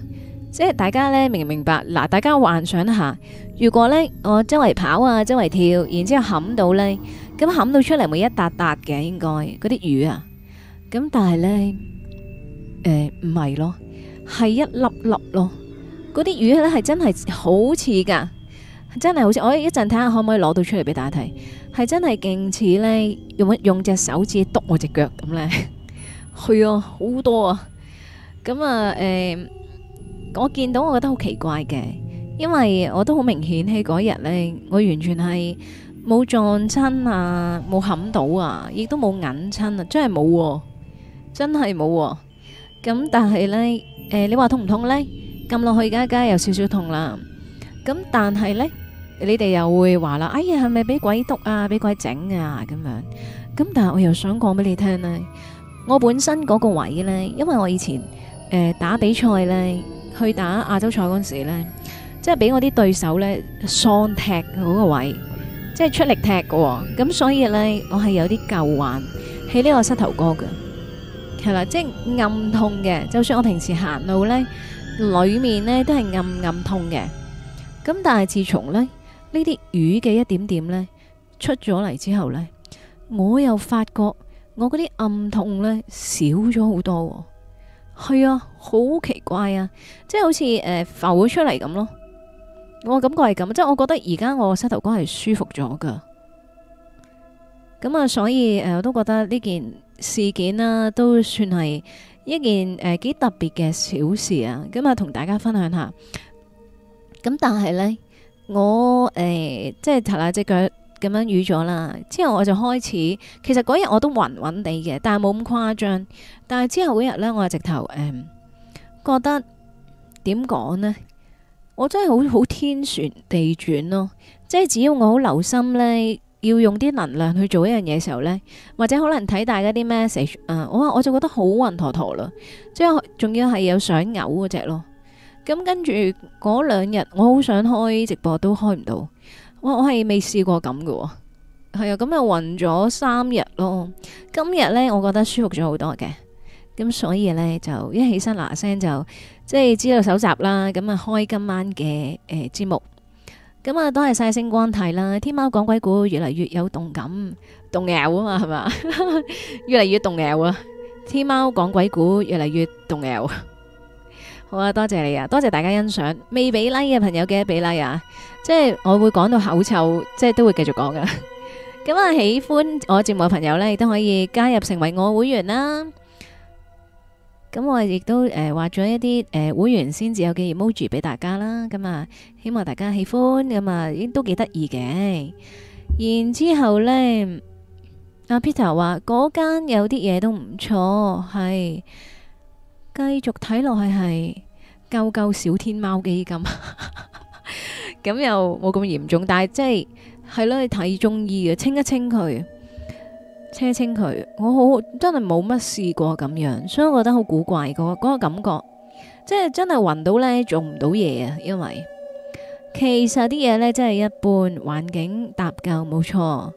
即係大家咧明唔明白？嗱，大家幻想一下，如果咧我周圍跑啊，周圍跳，然之後冚到咧，咁冚到出嚟咪一笪笪嘅，應該嗰啲魚啊。咁但係咧，誒唔係咯，係一粒粒咯。嗰啲魚咧係真係好似噶，真係好似。我一陣睇下可唔可以攞到出嚟俾大家睇，係真係勁似咧用用隻手指篤我隻腳咁咧。係啊，好多啊。咁啊，誒、呃，我見到我覺得好奇怪嘅，因為我都好明顯喺嗰日咧，我完全係冇撞親啊，冇冚到啊，亦都冇揞親啊，真係冇喎，真係冇喎。咁但係咧，誒、呃，你話痛唔痛咧？撳落去而家梗係有少少痛啦。咁但係咧，你哋又會話啦，哎呀，係咪俾鬼督啊，俾鬼整啊咁樣？咁但係我又想講俾你聽咧，我本身嗰個位咧，因為我以前誒、呃、打比賽咧，去打亞洲賽嗰陣時咧，即係俾我啲對手咧喪踢嗰個位，即係出力踢嘅、哦，咁所以咧我係有啲舊患喺呢個膝頭哥嘅，係啦，即係暗痛嘅。就算我平時行路咧，裏面咧都係暗暗痛嘅。咁但係自從咧呢啲魚嘅一點點咧出咗嚟之後咧，我又發覺我嗰啲暗痛咧少咗好多、哦。係啊，好奇怪啊，即係好似誒、呃、浮咗出嚟咁咯。我感覺係咁，即係我覺得而家我膝頭哥係舒服咗噶。咁啊，所以誒、呃、我都覺得呢件事件啦、啊，都算係一件誒幾、呃、特別嘅小事啊。咁啊，同大家分享下。咁但係呢，我誒、呃、即係頭下隻腳咁樣瘀咗啦，之後我就開始，其實嗰日我都暈暈地嘅，但係冇咁誇張。但係之後嗰日呢，我係直頭誒、呃、覺得點講呢？我真係好好天旋地轉咯，即係只要我好留心呢，要用啲能量去做一樣嘢嘅時候呢，或者可能睇大家啲 message，誒，我我就覺得好暈陀陀啦，即係仲要係有想嘔嗰隻咯。咁跟住嗰兩日，我好想開直播都開唔到，我我係未試過咁嘅喎，係啊，咁又暈咗三日咯。今日呢，我覺得舒服咗好多嘅，咁所以呢，就一起身嗱聲就即係知道搜集啦，咁啊開今晚嘅誒節目，咁啊多謝晒星光睇啦，天貓講鬼故越嚟越有動感，動搖啊嘛係嘛，越嚟越動搖啊，天貓講鬼故越嚟越動搖。好啊，多謝你啊，多謝大家欣賞。未俾 like 嘅朋友記得俾 like 啊，即係我會講到口臭，即係都會繼續講噶。咁啊，喜歡我節目嘅朋友呢，亦都可以加入成為我會員啦。咁我亦都誒畫咗一啲誒、呃、會員先至有嘅 emoji 俾大家啦。咁啊，希望大家喜歡，咁啊，已經都幾得意嘅。然之後呢，阿 Peter 話嗰間有啲嘢都唔錯，係。繼續睇落去係救救小天貓基金，咁又冇咁嚴重，但係即係係咯，你睇中醫嘅，清一清佢，清一清佢，我好真係冇乜試過咁樣，所以我覺得好古怪個嗰個感覺，即係真係暈到呢，做唔到嘢啊，因為其實啲嘢呢，真係一般，環境搭夠冇錯，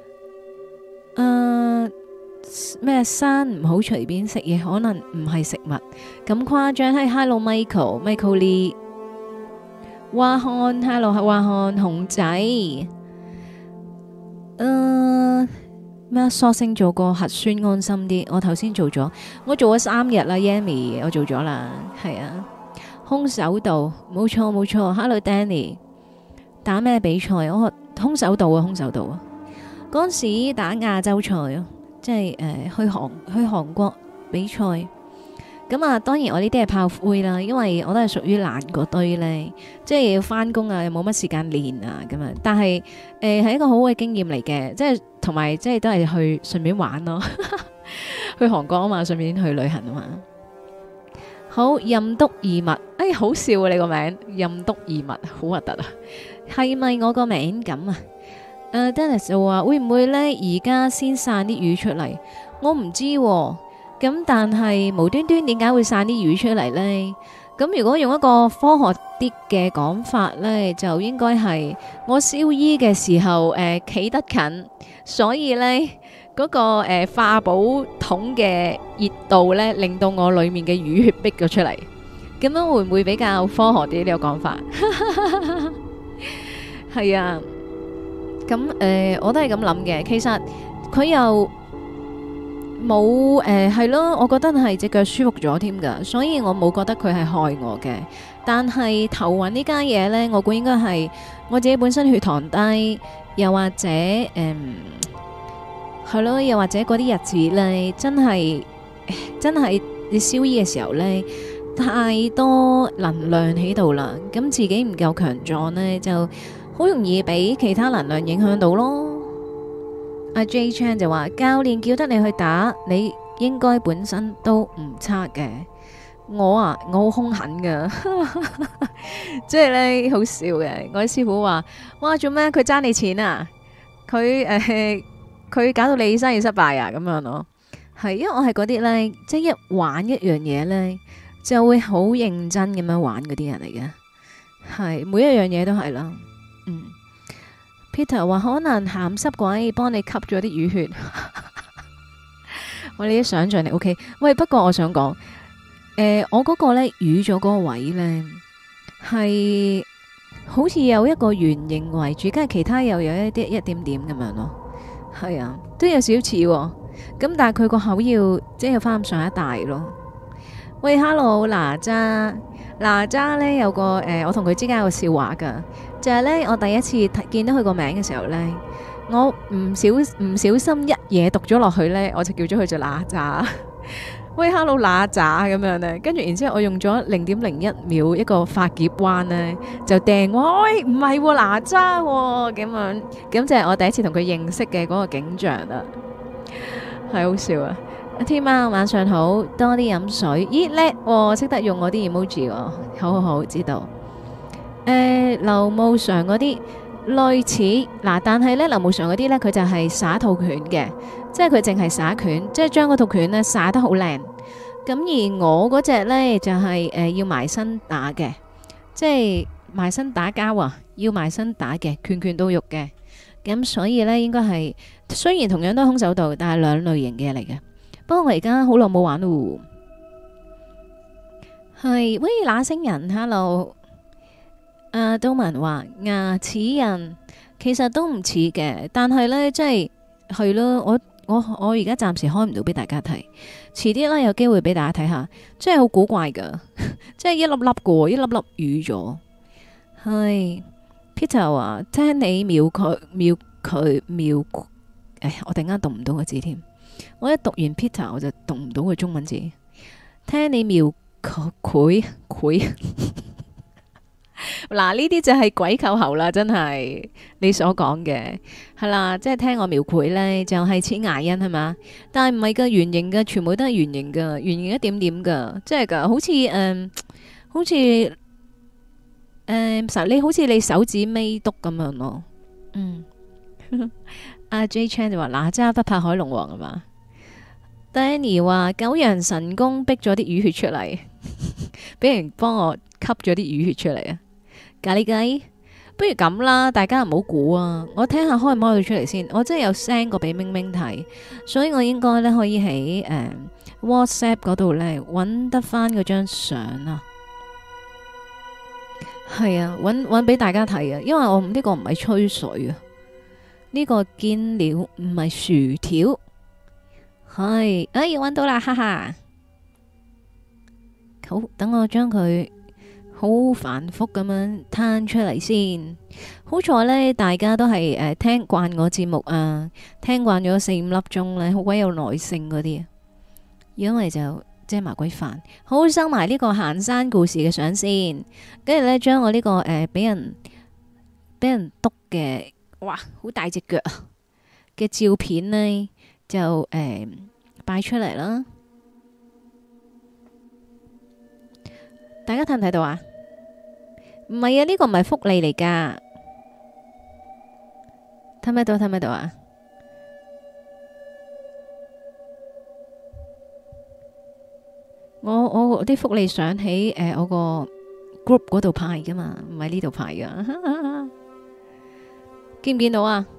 誒。咩山唔好隨便食嘢，可能唔係食物咁誇張。係 Hello Michael Michael Lee 華漢 Hello 華漢熊仔，誒咩索性做個核酸安心啲。我頭先做咗，我做咗三日啦 Yami 我做咗啦，係啊，空手道冇錯冇錯。Hello Danny 打咩比賽？我空手道啊，空手道啊，嗰陣時打亞洲賽啊。即係誒、呃、去韓去韓國比賽，咁啊當然我呢啲係炮灰啦，因為我都係屬於懶嗰堆呢，即係要翻工啊，又冇乜時間練啊咁樣。但係誒係一個好嘅經驗嚟嘅，即係同埋即係都係去順便玩咯，去韓國啊嘛，順便去旅行啊嘛。好，任督二脈，哎好笑啊你個名，任督二脈好核突啊，係咪我個名咁啊？誒、uh,，Dennis 就話會唔會呢？而家先散啲魚出嚟，我唔知喎、啊。咁但係無端端點解會散啲魚出嚟呢？咁如果用一個科學啲嘅講法呢，就應該係我燒衣嘅時候誒企、呃、得近，所以呢，嗰、那個誒、呃、化寶桶嘅熱度呢，令到我裏面嘅魚血逼咗出嚟。 咁樣會唔會比較科學啲呢個講法？係啊，咁誒、呃，我都係咁諗嘅。其實佢又冇誒係咯，我覺得係隻腳舒服咗添㗎，所以我冇覺得佢係害我嘅。但係頭暈呢家嘢呢，我估應該係我自己本身血糖低，又或者誒係咯，又或者嗰啲日子呢，真係真係你燒醫嘅時候呢，太多能量喺度啦，咁自己唔夠強壯呢，就好容易俾其他能量影響到咯。阿 J Chan 就話教練叫得你去打，你應該本身都唔差嘅。我啊，我好兇狠噶，即係咧好笑嘅。我啲師傅話：哇，做咩？佢爭你錢啊？佢誒，佢搞到你生意失敗啊？咁樣咯，係因為我係嗰啲咧，即係一玩一樣嘢咧，就會好認真咁樣玩嗰啲人嚟嘅。係每一樣嘢都係啦。嗯，Peter 話可能鹹濕鬼幫你吸咗啲淤血，我哋啲想象力 OK。喂，不過我想講。誒、呃，我嗰個咧瘀咗嗰個位咧，係好似有一個圓形圍住，跟住其他又有一啲一點點咁樣咯。係啊，都有少少似喎。咁但係佢個口要即係翻咁上一大咯。喂，Hello，哪吒，哪吒咧有個誒、呃，我同佢之間有個笑話噶，就係、是、咧我第一次睇見到佢個名嘅時候咧，我唔小唔小心一嘢讀咗落去咧，我就叫咗佢做哪吒。喂，Hello，哪吒咁樣咧，跟住然之後我用咗零點零一秒一個發劫彎咧，就掟哇，喂，唔係喎，哪吒喎，咁樣，咁就係我第一次同佢認識嘅嗰個景象啦，係好笑啊！天喵晚上好，多啲飲水，咦叻喎，識得用我啲 emoji 喎，好好好，知道。誒，劉慕常嗰啲類似嗱，但係咧劉慕常嗰啲咧，佢就係耍套拳嘅。即係佢淨係耍拳，即係將嗰套拳呢耍得好靚。咁而我嗰隻呢，就係、是、誒、呃、要埋身打嘅，即係埋身打交啊，要埋身打嘅，拳拳到肉嘅。咁所以呢，應該係雖然同樣都係空手道，但係兩類型嘅嚟嘅。不過我而家好耐冇玩咯。係喂，那星人 ，hello。阿都文話牙齒人其實都唔似嘅，但係呢，即係係咯，我。我我而家暫時開唔到俾大家睇，遲啲啦有機會俾大家睇下，真係好古怪噶，即係一粒粒個，一粒粒瘀咗。係 Peter 話聽你描佢描佢描，誒，我突然間讀唔到個字添，我一讀完 Peter 我就讀唔到個中文字。聽你描佢佢佢。嗱，呢啲就係鬼扣喉啦，真係你所講嘅係啦，即係聽我描繪呢，就係似牙印係嘛，但係唔係噶，圓形嘅，全部都係圓形噶，圓形一點點噶，即係噶，好似誒、嗯，好似誒，實、嗯、你好似你手指尾篤咁樣咯，嗯，阿 J Chan 就話哪吒不怕海龍王啊嘛 ，Danny 話九陽神功逼咗啲淤血出嚟，俾人幫我吸咗啲淤血出嚟啊！咖喱雞，不如咁啦，大家唔好估啊！我聽下開唔開到出嚟先。我真係有 send 過俾明明睇，所以我應該咧可以喺誒、呃、WhatsApp 嗰度咧揾得翻嗰張相啊。係啊，揾揾俾大家睇啊！因為我呢、這個唔係吹水啊，呢、這個見料唔係薯條。係，哎，揾到啦，哈哈！好，等我將佢。好繁複咁樣攤出嚟先，好在呢，大家都係誒、呃、聽慣我節目啊，聽慣咗四五粒鐘呢，好鬼有耐性嗰啲，因為就即係麻鬼煩。好，收埋呢個行山故事嘅相先，跟住呢，將我呢、這個誒俾、呃、人俾人督嘅，哇，好大隻腳嘅照片呢，就誒擺、呃、出嚟啦。大家睇唔睇到啊？唔係啊，呢個唔係福利嚟噶，睇唔睇到？睇唔睇到啊？我我啲福利相喺誒我個 group 嗰度派噶嘛，唔係呢度派噶，見唔見到啊？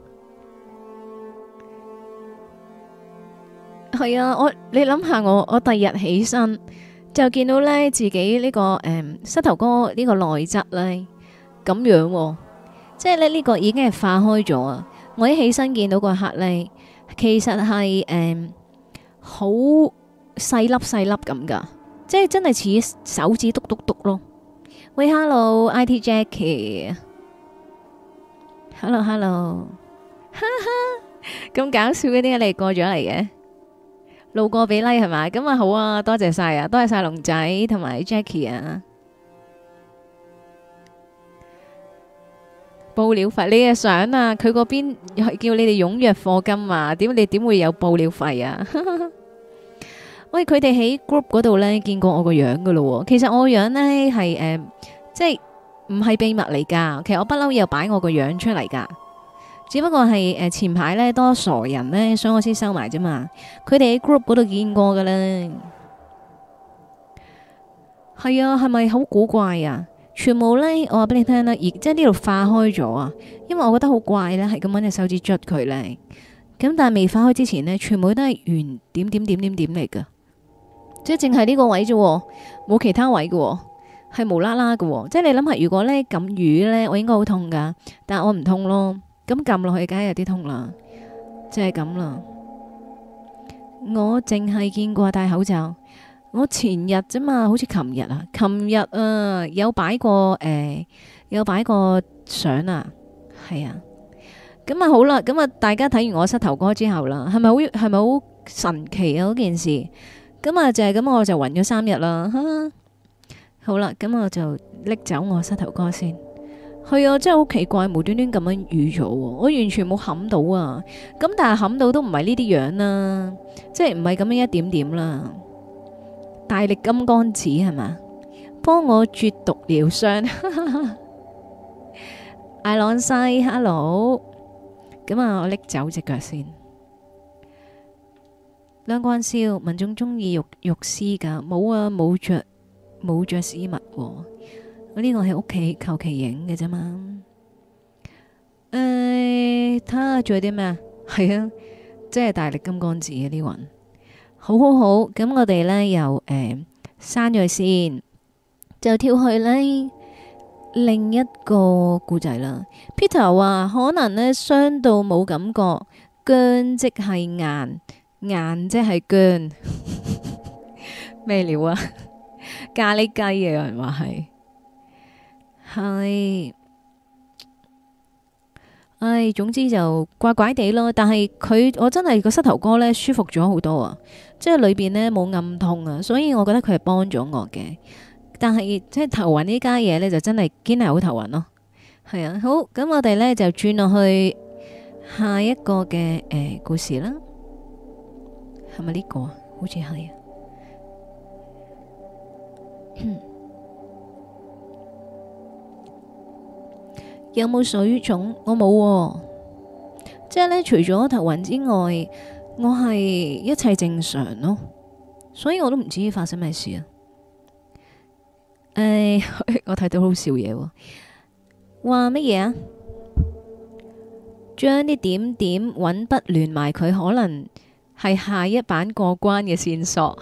係啊，我你諗下我我第日起身。 就見到咧自己呢、這個誒、嗯、膝頭哥呢個內側咧咁樣、喎，即係咧呢、這個已經係化開咗啊！我一起身見到個刻咧，其實係誒好細粒細粒咁噶，即係真係似手指篤篤篤咯。喂，Hello，I T Jackie，Hello，Hello，哈哈，咁搞笑嘅，點解你過咗嚟嘅？路過俾 like 係嘛？咁啊好啊，多謝晒啊，多謝晒龍仔同埋 Jackie 啊。報料費你嘅相啊，佢嗰邊係叫你哋踴躍課金啊，點你點會有報料費啊？喂，佢哋喺 group 嗰度呢，見過我個樣噶咯。其實我個樣呢係誒，即係唔係秘密嚟噶。其實我不嬲有擺我個樣出嚟噶，只不過係誒、呃、前排呢多傻人呢，所以我先收埋啫嘛。佢哋喺 group 嗰度見過噶啦。係啊，係咪好古怪啊？全部呢，我話俾你聽啦，而即係呢度化開咗啊。因為我覺得好怪呢，係咁搵隻手指捽佢呢。咁但係未化開之前呢，全部都係圓點點點點點嚟噶。即係淨係呢個位啫，冇其他位嘅，係無啦啦嘅。即係你諗下，如果呢撳魚呢，我應該好痛噶，但係我唔痛咯。咁撳落去，梗係有啲痛啦，即係咁啦。我淨係見過戴口罩，我前日啫嘛，好似琴日啊，琴日啊有擺過誒、呃，有擺過相啊，係啊。咁啊好啦，咁啊大家睇完我膝頭哥之後啦，係咪好係咪好神奇啊嗰件事？咁啊就係咁，我就暈咗三日啦。好啦，咁我就拎走我膝頭哥先。係啊，真係好奇怪，無端端咁樣瘀咗，我完全冇冚到啊。咁但係冚到都唔係呢啲樣啦，即係唔係咁樣一點點啦。大力金剛指係嘛？幫我絕毒療傷。艾朗西 ，hello。咁啊，我拎走隻腳先。兩關燒，民眾中意肉肉絲噶，冇啊，冇着冇着絲襪。我呢個喺屋企求其影嘅啫嘛。誒，睇下仲有啲咩啊？係啊，即係大力金剛指嘅呢雲。好好好，咁我哋呢又誒刪咗佢先，就跳去呢另一個故仔啦。Peter 話可能呢傷到冇感覺，僵即係硬。硬即係薑咩料啊？咖喱雞啊，有人話係係，唉，總之就怪怪地咯。但係佢我真係個膝頭哥呢舒服咗好多啊，即係裏邊呢冇暗痛啊，所以我覺得佢係幫咗我嘅。但係即係頭暈呢家嘢呢，就真係堅係好頭暈咯。係啊，好，咁我哋呢就轉落去下一個嘅誒、呃、故事啦。係咪呢個啊？好似係啊。有冇水腫？我冇喎。即係呢，除咗頭暈之外，我係一切正常咯。所以我都唔知發生咩事啊。誒，我睇到好笑嘢喎。話乜嘢啊？將啲點點揾筆連埋佢，可能係下一版過關嘅線索。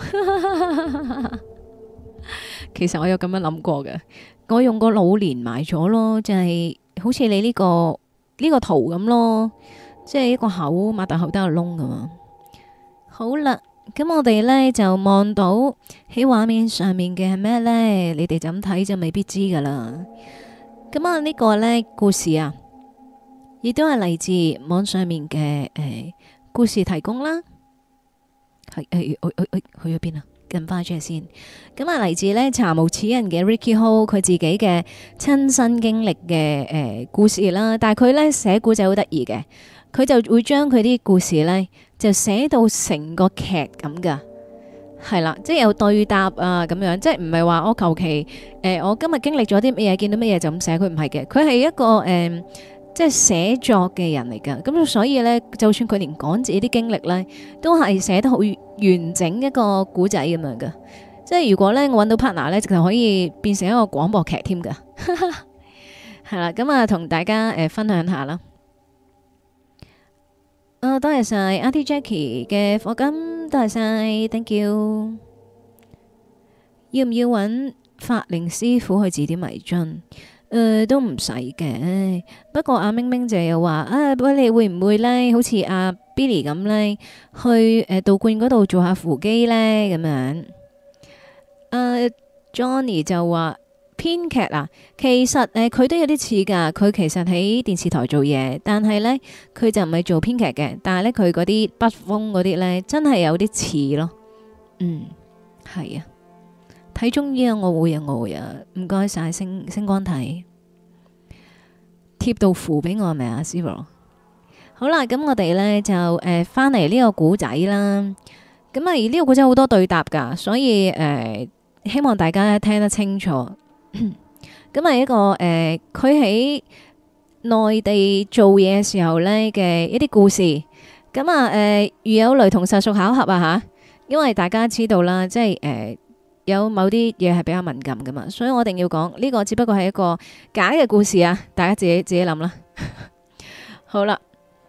其實我有咁樣諗過嘅，我用個腦連埋咗咯，就係、是、好似你呢、這個呢、這個圖咁咯，即係一個口擘大口得個窿㗎嘛。好啦，咁我哋呢就望到喺畫面上面嘅係咩呢？你哋就咁睇就未必知噶啦。咁啊呢個呢故事啊，亦都係嚟自網上面嘅誒、呃、故事提供啦。係誒，去去去去咗邊啊？近翻出嚟先。咁啊，嚟自呢查無此人嘅 Ricky Ho，佢自己嘅親身經歷嘅誒故事啦。但係佢呢寫故仔好得意嘅，佢就會將佢啲故事呢就寫到成個劇咁噶。係啦，即係有對答啊咁樣，即係唔係話我求其誒，我今日經歷咗啲乜嘢，見到乜嘢就咁寫，佢唔係嘅，佢係一個誒。呃即係寫作嘅人嚟噶，咁所以呢，就算佢連講自己啲經歷呢，都係寫得好完整一個古仔咁樣噶。即係如果呢，我揾到 partner 呢，就可以變成一個廣播劇添噶。係啦，咁啊同大家誒、呃、分享下啦。啊、哦，多謝晒阿 T Jackie 嘅課金，多謝晒，thank you。 要唔要揾法靈師傅去指點迷津？誒、呃，都唔使嘅。不過阿明明就又話啊，喂，你會唔會呢？好似阿 Billy 咁呢，去誒、呃、道觀嗰度做下扶乩呢？咁樣。誒、uh,，Johnny 就話編劇啊，其實誒佢、呃、都有啲似噶。佢其實喺電視台做嘢，但係呢，佢就唔係做編劇嘅。但係呢，佢嗰啲筆鋒嗰啲呢，真係有啲似咯。嗯，係啊。睇中醫啊，我會啊，我會啊，唔該晒星星光體貼到符俾我係咪啊 Zero？ 好啦，咁我哋呢就誒翻嚟呢個古仔啦。咁啊，而呢個古仔好多對答噶，所以誒、呃、希望大家聽得清楚。咁啊，一個誒佢喺內地做嘢嘅時候呢嘅一啲故事。咁啊誒如有雷同，實屬巧合啊吓，因為大家知道啦，即係誒。呃有某啲嘢係比較敏感噶嘛，所以我一定要講呢個只不過係一個假嘅故事啊，大家自己自己諗啦。好啦，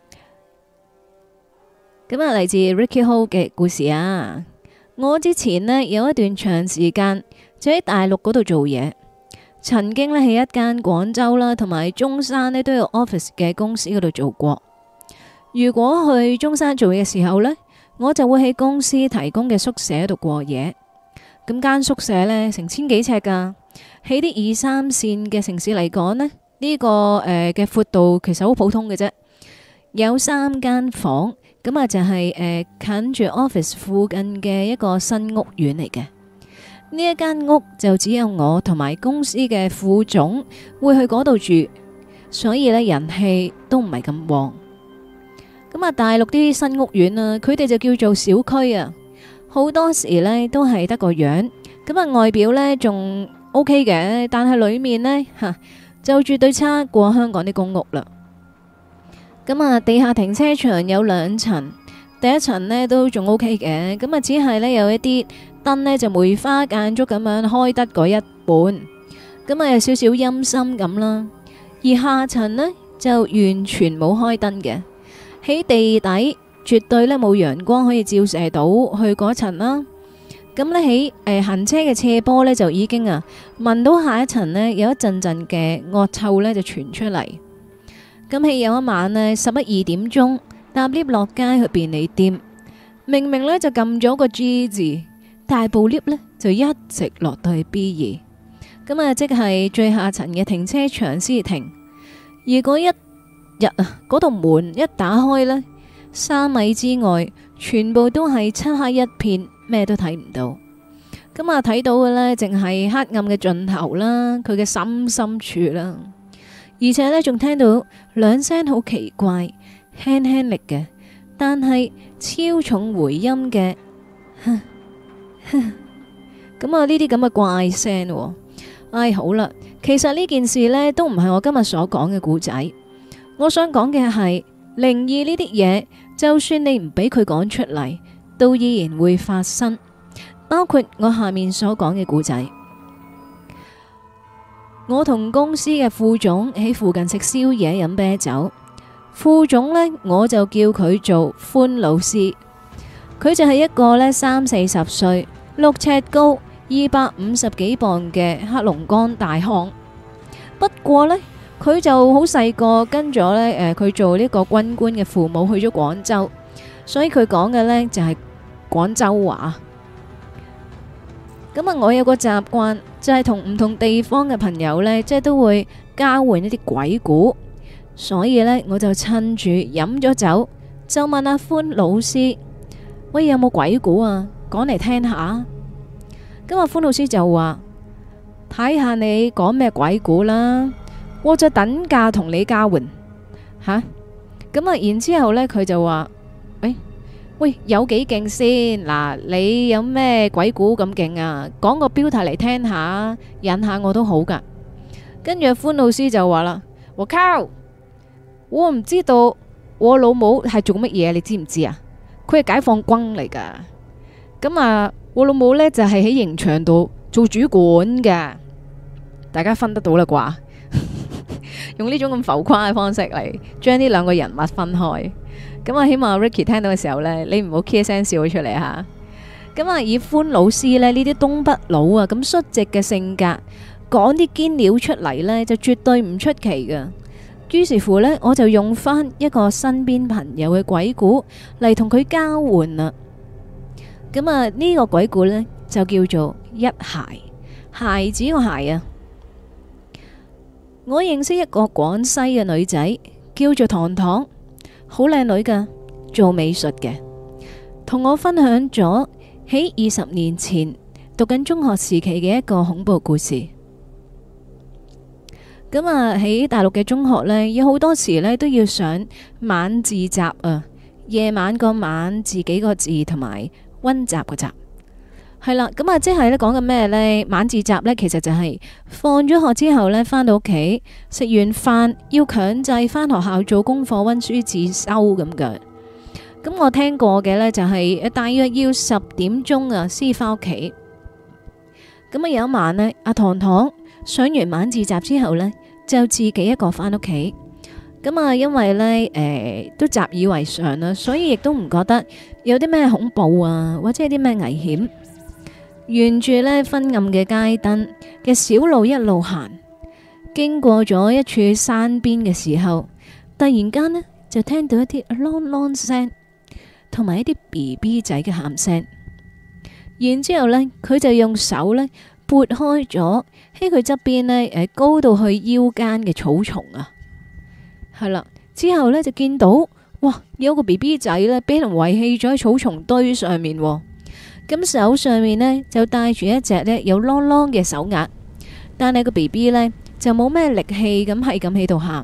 咁啊嚟自 Ricky Ho 嘅故事啊。我之前呢，有一段長時間就喺大陸嗰度做嘢，曾經呢，喺一間廣州啦同埋中山呢都有 office 嘅公司嗰度做過。如果去中山做嘢嘅時候呢，我就會喺公司提供嘅宿舍度過夜。咁間宿舍呢，成千幾尺噶，喺啲二三線嘅城市嚟講呢，呢、呢個誒嘅闊度其實好普通嘅啫。有三間房，咁啊就係、是、誒、呃、近住 office 附近嘅一個新屋苑嚟嘅。呢一間屋就只有我同埋公司嘅副總會去嗰度住，所以呢，人氣都唔係咁旺。咁啊，大陸啲新屋苑啊，佢哋就叫做小區啊。好多時呢都係得個樣，咁啊外表呢仲 OK 嘅，但係裏面呢，吓就絕對差過香港啲公屋啦。咁啊地下停車場有兩層，第一層呢都仲 OK 嘅，咁啊只係呢有一啲燈呢就梅花間竹咁樣開得嗰一半，咁啊有少少陰森咁啦。而下層呢就完全冇開燈嘅，喺地底。絕對咧冇陽光可以照射到去嗰層啦。咁呢，喺誒行車嘅斜坡呢，就已經啊聞到下一層呢有一陣陣嘅惡臭呢就傳出嚟。咁喺有一晚呢，十一二點鐘搭 lift 落街去便利店，明明呢就撳咗個 G 字，但係部 lift 呢就一直落到去 B 二，咁啊即係最下層嘅停車場先停。而嗰一日啊，嗰道門一打開呢，三米之外，全部都係漆黑一片，咩都睇唔到。咁啊，睇到嘅呢，淨係黑暗嘅盡頭啦，佢嘅心深處啦。而且呢，仲聽到兩聲好奇怪、輕輕力嘅，但係超重回音嘅，咁啊，呢啲咁嘅怪聲。唉，好啦，其實呢件事呢，都唔係我今日所講嘅故仔。我想講嘅係靈異呢啲嘢。就算你唔俾佢講出嚟，都依然會發生。包括我下面所講嘅故仔。我同公司嘅副總喺附近食宵夜飲啤酒。副總呢，我就叫佢做歡老師。佢就係一個呢三四十歲、六尺高、二百五十幾磅嘅黑龍江大漢。不過呢，佢就好細個跟咗呢，誒，佢做呢個軍官嘅父母去咗廣州，所以佢講嘅呢就係廣州話。咁啊，我有個習慣就係同唔同地方嘅朋友呢，即係都會交換一啲鬼故，所以呢，我就趁住飲咗酒，就問阿歡老師：喂，有冇鬼故啊？講嚟聽下。咁阿歡老師就話：睇下你講咩鬼故啦。我就等價同你交換吓，咁啊，然之後呢佢就話：喂喂，有幾勁先？嗱，你有咩鬼故咁勁啊？講個標題嚟聽下，引下我都好噶。跟住歡老師就話啦：我靠，我唔知道我老母係做乜嘢，你知唔知啊？佢係解放軍嚟噶。咁啊，我老母呢就係喺刑場度做主管嘅，大家分得到啦啩？用呢種咁浮誇嘅方式嚟將呢兩個人物分開，咁啊，希望 Ricky 聽到嘅時候呢，你唔好 K 聲笑咗出嚟吓。 咁啊，以歡老師呢呢啲東北佬啊咁率直嘅性格，講啲堅料出嚟呢，就絕對唔出奇噶。於是乎呢，我就用翻一個身邊朋友嘅鬼故嚟同佢交換啦。咁啊，呢個鬼故呢，就叫做一孩，孩子個孩啊。我認識一個廣西嘅女仔，叫做糖糖，好靚女噶，做美術嘅，同我分享咗喺二十年前讀緊中學時期嘅一個恐怖故事。咁啊，喺大陸嘅中學呢，有好多時呢都要上晚自習啊，夜晚個晚自己個字同埋溫習個習，係啦。咁啊，即係呢講緊咩呢？晚自習呢，其實就係放咗學之後呢，返到屋企食完飯要強制返學校做功課溫書自修咁嘅。咁我聽過嘅呢，就係大約要十點鐘啊先返屋企。咁啊，有一晚呢，阿糖糖上完晚自習之後呢，就自己一個返屋企。咁啊，因為呢，誒、呃、都習以為常啦，所以亦都唔覺得有啲咩恐怖啊，或者有啲咩危險。沿住呢昏暗嘅街燈嘅小路一路行，經過咗一處山邊嘅時候，突然間呢，就聽到一啲啷啷聲，同埋一啲 B B 仔嘅喊聲。然之後呢，佢就用手呢撥開咗喺佢側邊呢誒高到去腰間嘅草叢啊，係啦。之後呢，就見到哇，有個 B B 仔呢俾人遺棄咗喺草叢堆上面，咁手上面呢，就帶住一隻呢有啷啷嘅手鐲，但係個 B B 呢，就冇咩力氣咁係咁喺度喊。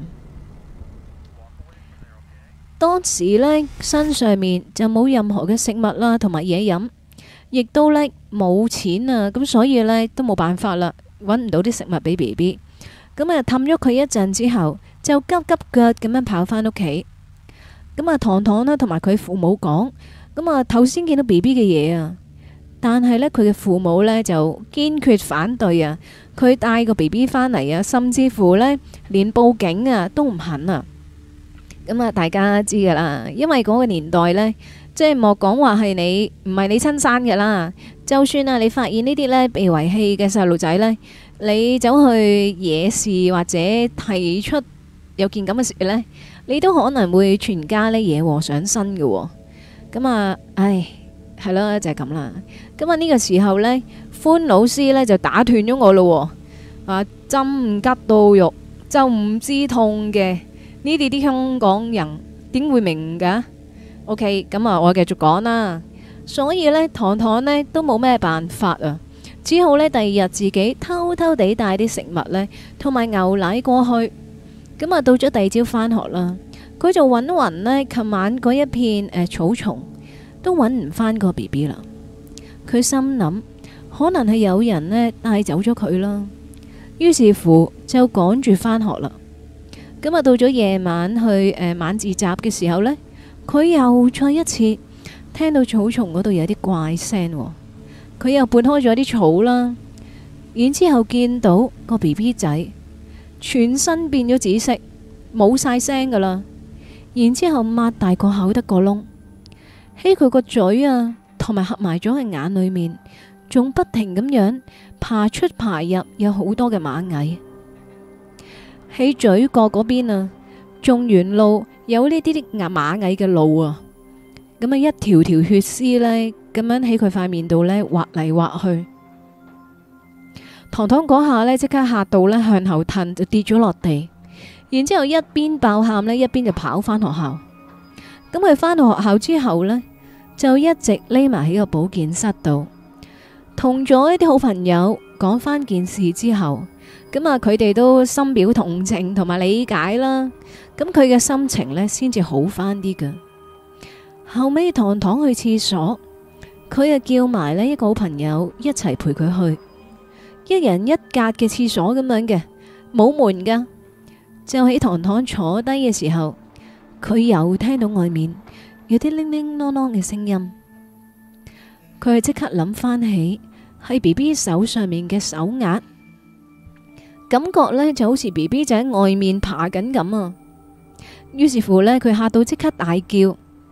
當時呢，身上面就冇任何嘅食物啦，同埋嘢飲。亦都呢冇錢啊，咁所以呢都冇辦法啦，搵唔到啲食物俾 B B。咁啊氹咗佢一陣之後，就急急腳咁樣跑返屋企。咁啊糖糖呢同埋佢父母講，咁啊頭先見到 B B 嘅嘢啊，但係呢，佢嘅父母呢就堅決反對啊，佢帶個 B B 返嚟啊，甚至乎呢連報警啊都唔肯啊。咁啊大家知噶啦，因為嗰個年代呢。即係莫講話係你唔係你親生嘅啦，就算啊你發現呢啲呢被遺棄嘅細路仔呢，你走去惹事或者提出有件咁嘅事呢，你都可能會全家呢惹禍上身嘅喎。咁啊，唉，係咯，就係咁啦。咁啊呢個時候呢，歡老師呢就打斷咗我咯。啊，針唔吉到肉就唔知痛嘅，呢啲啲香港人點會明㗎？OK，咁啊，我繼續講啦。所以呢，糖糖呢都冇咩辦法啊，只好呢第二日自己偷偷地帶啲食物呢同埋牛奶過去。咁啊，到咗第二朝返學啦，佢就揾勻呢琴晚嗰一片誒、呃、草叢，都揾唔返個 B B 啦。佢心諗，可能係有人呢帶走咗佢啦。於是乎就趕住返學啦。咁啊，到咗夜晚去誒、呃、晚自習嘅時候呢。佢又再一次聽到草叢嗰度有啲怪聲，佢又撥開咗啲草啦，然之後見到個 B B 仔全身變咗紫色，冇晒聲噶啦，然之後擘大個口得個窿，喺佢個嘴啊同埋合埋咗嘅眼裏面，仲不停咁樣爬出爬入，有好多嘅螞蟻喺嘴角嗰邊啊，仲沿路有呢啲啲牙螞蟻嘅路啊，咁啊一條條血絲呢，咁樣喺佢塊面度呢劃嚟劃去。糖糖嗰下呢，即刻嚇到呢向後褪，就跌咗落地，然之後一邊爆喊呢，一邊就跑返學校。咁佢返到學校之後呢，就一直匿埋喺個保健室度，同咗一啲好朋友講返件事之後，咁啊佢哋都深表同情同埋理解啦。咁佢嘅心情呢，先至好返啲㗎。後尾糖糖去廁所，佢啊叫埋呢一個好朋友一齊陪佢去，一人一格嘅廁所咁樣嘅，冇門噶。就喺糖糖坐低嘅時候，佢又聽到外面有啲鈴鈴啷啷嘅聲音。佢係即刻諗翻起係 B B 手上面嘅手鐲，感覺呢就好似 B B 仔喺外面爬緊咁啊！於是乎呢，佢嚇到即刻大叫，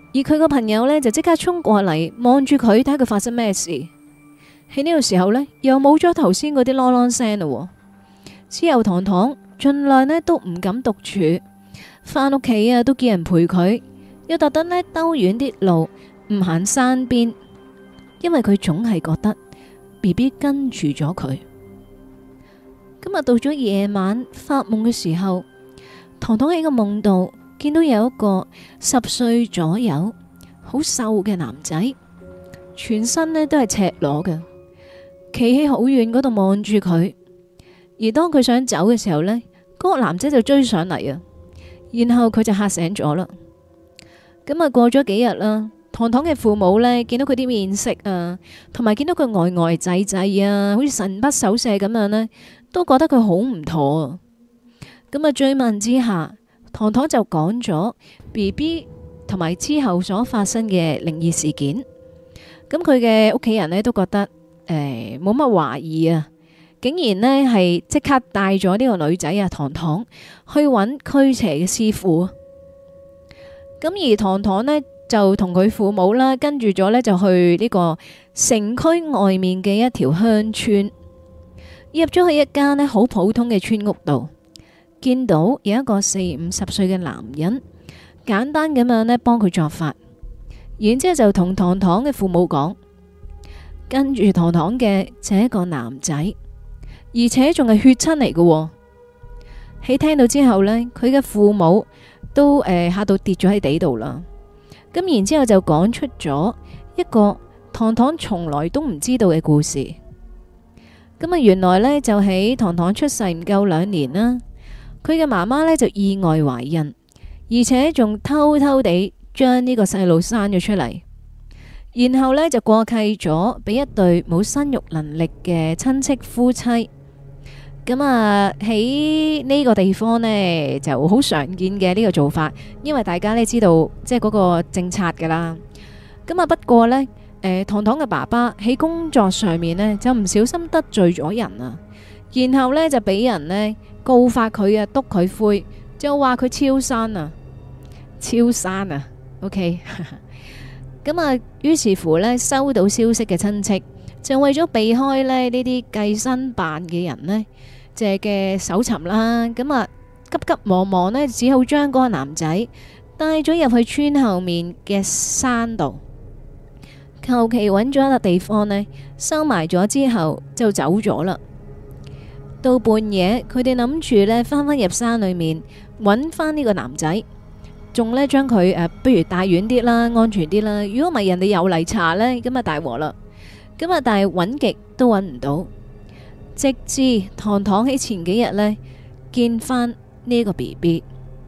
而佢個朋友呢，就即刻衝過嚟望住佢，睇下佢發生咩事。喺呢個時候呢，又冇咗頭先嗰啲啷啷聲咯。之後糖糖盡量呢都唔敢獨處，返屋企啊都叫人陪佢，又特登呢兜遠啲路，唔行山邊，因為佢總係覺得 B B 跟住咗佢。今日到咗夜晚發夢嘅時候，糖糖喺個夢度見到有一個十歲左右好瘦嘅男仔，全身呢都係赤裸嘅，企喺好遠嗰度望住佢。而當佢想走嘅時候呢，嗰個男仔就追上嚟啊，然後佢就嚇醒咗啦。咁啊過咗幾日啦，糖糖嘅父母呢見到佢啲面色啊，同埋見到佢呆呆滯滯啊，好似神不守舍咁樣呢，都覺得佢好唔妥啊。咁啊追問之下，糖糖就講咗 B B 同埋之後所發生嘅靈異事件。咁佢嘅屋企人呢都覺得誒冇乜懷疑啊。竟然呢係即刻帶咗呢個女仔啊糖糖去揾驅邪嘅師傅。咁而糖糖呢，就同佢父母啦，跟住咗呢，就去呢個城區外面嘅一條鄉村，入咗去一間呢好普通嘅村屋度，見到有一個四五十歲嘅男人，簡單咁樣呢幫佢作法，然之後就同糖糖嘅父母講，跟住糖糖嘅就係一個男仔，而且仲係血親嚟嘅。喺聽到之後呢，佢嘅父母都誒嚇到跌咗喺地度啦。咁然之後就講出咗一個糖糖從來都唔知道嘅故事。咁啊，原來呢，就喺糖糖出世唔夠兩年啦，佢嘅媽媽呢就意外懷孕，而且仲偷偷地將呢個細路生咗出嚟，然後呢，就過繼咗俾一對冇生育能力嘅親戚夫妻。咁啊喺呢個地方呢就好常見嘅呢個做法，因為大家呢知道即係嗰個政策噶啦。咁啊不過呢，誒糖糖嘅爸爸喺工作上面呢就唔小心得罪咗人啊，然後呢就俾人呢告發佢啊，督佢灰，就話佢超生啊，超生啊 OK 咁啊於是乎呢，收到消息嘅親戚就為咗避開呢呢啲計生辦嘅人呢借嘅搜尋啦，咁啊急急忙忙呢，只好將嗰個男仔帶咗入去村後面嘅山度，求其揾咗一笪地方呢，收埋咗之後就走咗啦。到半夜，佢哋諗住呢翻返入山裏面揾翻呢個男仔，仲呢將佢誒不如帶遠啲啦，安全啲啦。如果唔係人哋又嚟查呢，咁啊大鑊啦。咁啊但係揾極都揾唔到。直至糖糖喺前幾日呢見翻呢個 B B，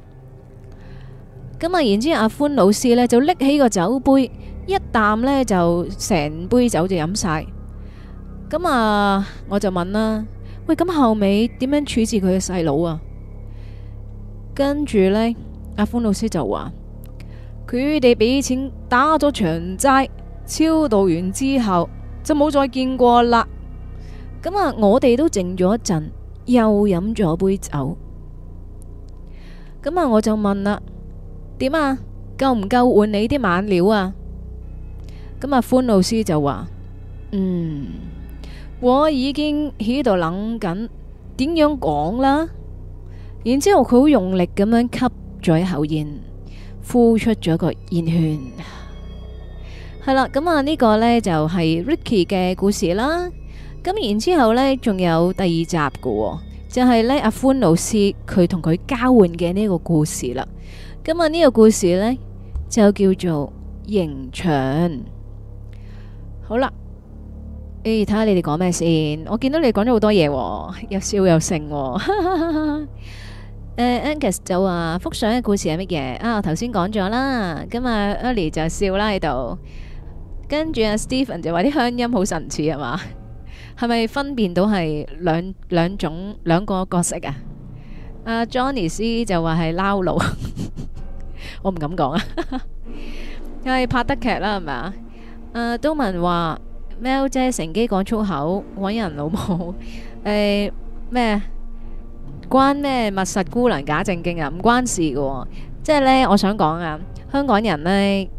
咁啊然之後阿歡老師呢就拎起個酒杯，一啖呢就成杯酒就飲晒。咁啊我就問啦，喂，咁後尾點樣處置佢嘅細佬啊？跟住呢，阿歡老師就話佢哋俾錢打咗場齋，超度完之後就冇再見過啦。咁啊，我哋都靜咗一陣，又飲咗杯酒。咁啊，我就問啦，點啊？夠唔夠換你啲猛料啊？咁啊，歡老師就話，嗯，我已經喺度諗緊點樣講啦。然之後佢好用力咁樣吸咗一口煙，呼出咗個煙圈。係啦，咁啊呢個呢就係 Ricky 嘅故事啦。咁然之後呢，仲有第二集嘅，就係呢阿歡老師佢同佢交換嘅呢個故事啦。咁啊呢個故事呢，就叫做刑場。好啦，誒睇下你哋講咩先。我見到你講咗好多嘢，又笑又盛。誒 Angus 就話幅相嘅故事係乜嘢啊？我頭先講咗啦。咁啊 Ellie 就笑啦喺度，跟住阿 Stephen 就話啲鄉音好神似係嘛？係咪分辨到係兩兩種兩個角色啊？阿 Johnny C 就話係撈佬，我唔敢講啊。係拍得劇啦，係咪啊？誒，都文話喵姐乘機講粗口，搵人老母。誒咩？關咩密實姑娘假正經啊？唔關事㗎喎。即係呢，我想講啊，香港人呢，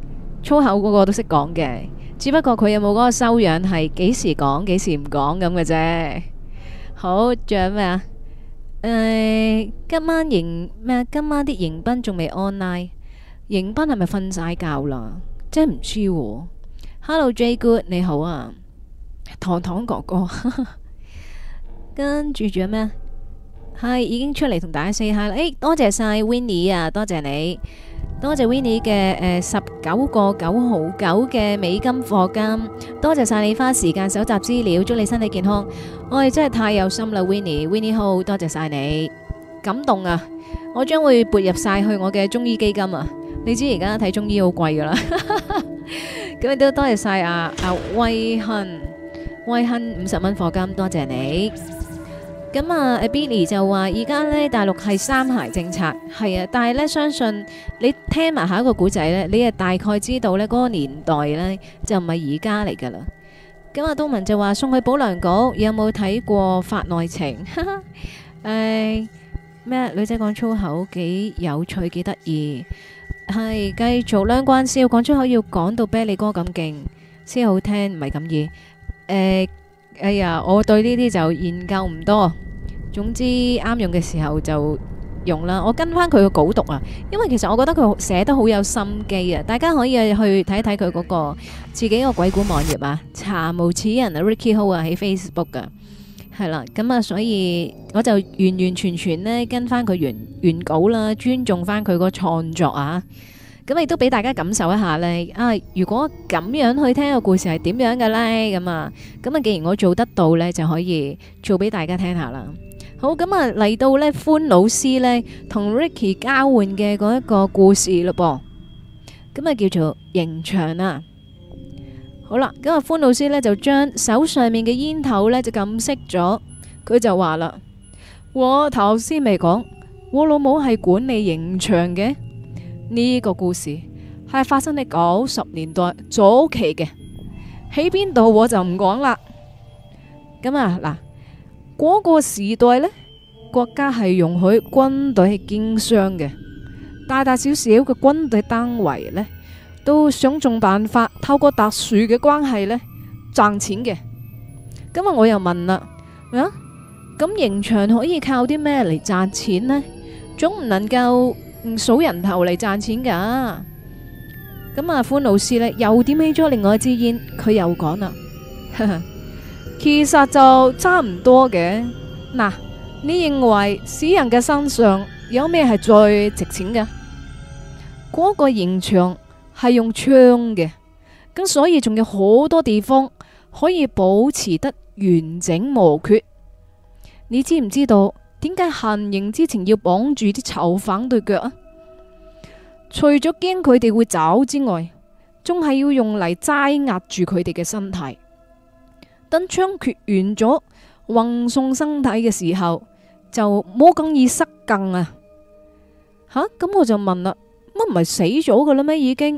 粗口嗰個都識講嘅，只不過佢有冇嗰個修養係幾時講幾時唔講咁嘅啫。好，仲有咩啊？誒，今晚迎咩啊？今晚啲迎賓仲未 online，迎賓係咪瞓晒覺啦？真係唔知喎。Hello J Good 你好啊，糖糖哥哥，跟住仲有咩啊？係已經出嚟同大家 say hi 啦。誒，多謝晒 Winnie 啊，多謝你。多謝 Winnie 嘅誒十九個九毫九嘅美金課金，多謝晒你花時間搜集資料，祝你身體健康。我哋真係太有心啦，Winnie，Winnie 好，多謝晒你，感動啊！我將會撥入晒去我嘅中醫基金啊！你知而家睇中醫好貴噶啦，咁亦都多謝晒阿阿威亨，威亨五十蚊課金，多謝你。咁啊，阿 Billy 就話而家呢大陸係三孩政策，係啊，但係呢相信你聽埋下一個古仔呢，你係大概知道呢嗰個年代呢就唔係而家嚟噶啦。咁阿東文就話送去保良局，有冇睇過法內情？誒咩？女仔講粗口幾有趣幾得意，係繼續兩關笑講粗口要講到啤梨哥咁勁先好聽，唔係咁易。誒。哎呀，我對呢啲就研究唔多，總之啱用嘅時候就用啦。我跟翻佢個稿讀啊，因為其實我覺得佢寫得好有心機啊。大家可以去睇一睇佢嗰個自己個鬼故網頁啊，查無此人啊 Ricky Ho 啊喺 Facebook 噶，係啦。咁啊，所以我就完完全全呢跟翻佢原原稿啦，尊重翻佢個創作啊。咁亦都俾大家感受一下呢。啊！如果咁樣去聽個故事係點樣嘅呢？咁啊，咁啊，既然我做得到呢，就可以做俾大家聽下啦。好，咁啊嚟到呢，歡老師呢同 Ricky 交換嘅嗰一個故事咯噃，咁啊叫做刑場啊。好啦，咁啊歡老師呢就將手上面嘅煙頭呢就撳熄咗，佢就話啦：我頭先未講，我老母係管理刑場嘅。呢個故事係發生喺九十年代早期嘅，喺邊度我就唔講啦。咁啊嗱，嗰個時代呢，國家係容許軍隊係經商嘅，大大小小嘅軍隊單位呢，都想盡辦法透過特殊嘅關係呢賺錢嘅。咁啊，我又問啦，啊，咁刑場可以靠啲咩嚟賺錢呢？總唔能夠唔數人頭嚟賺錢噶。咁啊，歡老師呢又點起咗另外一支煙，佢又講啦，其實就差唔多嘅。嗱，你認為死人嘅身上有咩係最值錢嘅？嗰個刑場係用槍嘅，咁所以仲有好多地方可以保持得完整無缺。你知唔知道點解行刑之前要綁住啲囚犯對腳啊？除咗驚佢哋會走之外，仲係要用嚟擠壓住佢哋嘅身體。等槍決完咗，運送身體嘅時候，就冇咁易失禁啊！吓，咁我就問啦，乜唔係死咗㗎啦咩？已經，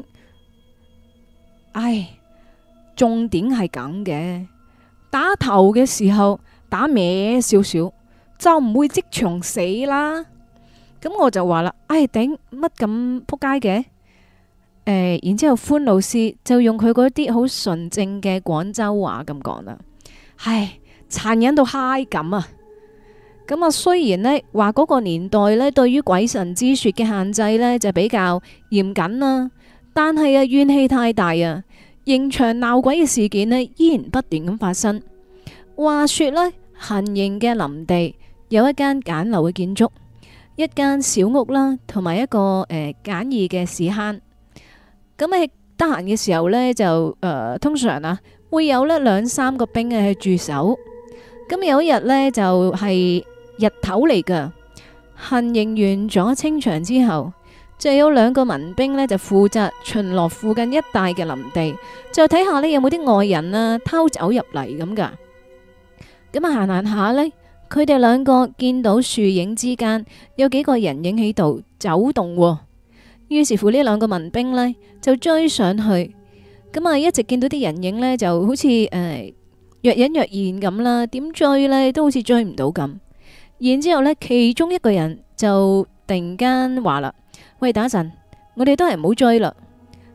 唉，重點係咁嘅，打頭嘅時候打歪少少，就唔會即場死啦。咁我就話啦，唉頂，乜咁撲街嘅？誒、呃，然之後歡老師就用佢嗰啲好純正嘅廣州話咁講啦，唉，殘忍到嗨咁啊！咁啊，雖然呢話嗰個年代呢對於鬼神之說嘅限制呢就比較嚴謹啦，但係啊怨氣太大啊，刑場鬧鬼嘅事件呢依然不斷咁發生。話說呢，行刑嘅林地有一間簡陋嘅建築，一間小屋啦，同埋一個誒、呃、簡易嘅屎坑。咁喺得閒嘅時候呢，就誒、呃、通常啊會有呢兩三個兵嘅去駐守。咁有一日呢，就係、是、日頭嚟噶，行刑完咗清場之後，就有兩個民兵呢，就負責巡邏附近一帶嘅林地，就睇下呢有冇啲外人啊偷走入嚟咁噶。咁啊行行下呢，佢哋兩個見到樹影之間有幾個人影喺度走動、哦，於是乎呢兩個民兵呢，就追上去，咁啊一直見到啲人影呢，就好似誒、呃、若隱若現咁啦，點追呢都好似追唔到咁。然之後呢，其中一個人就突然間話啦：喂，等一陣，我哋都係唔好追啦。咁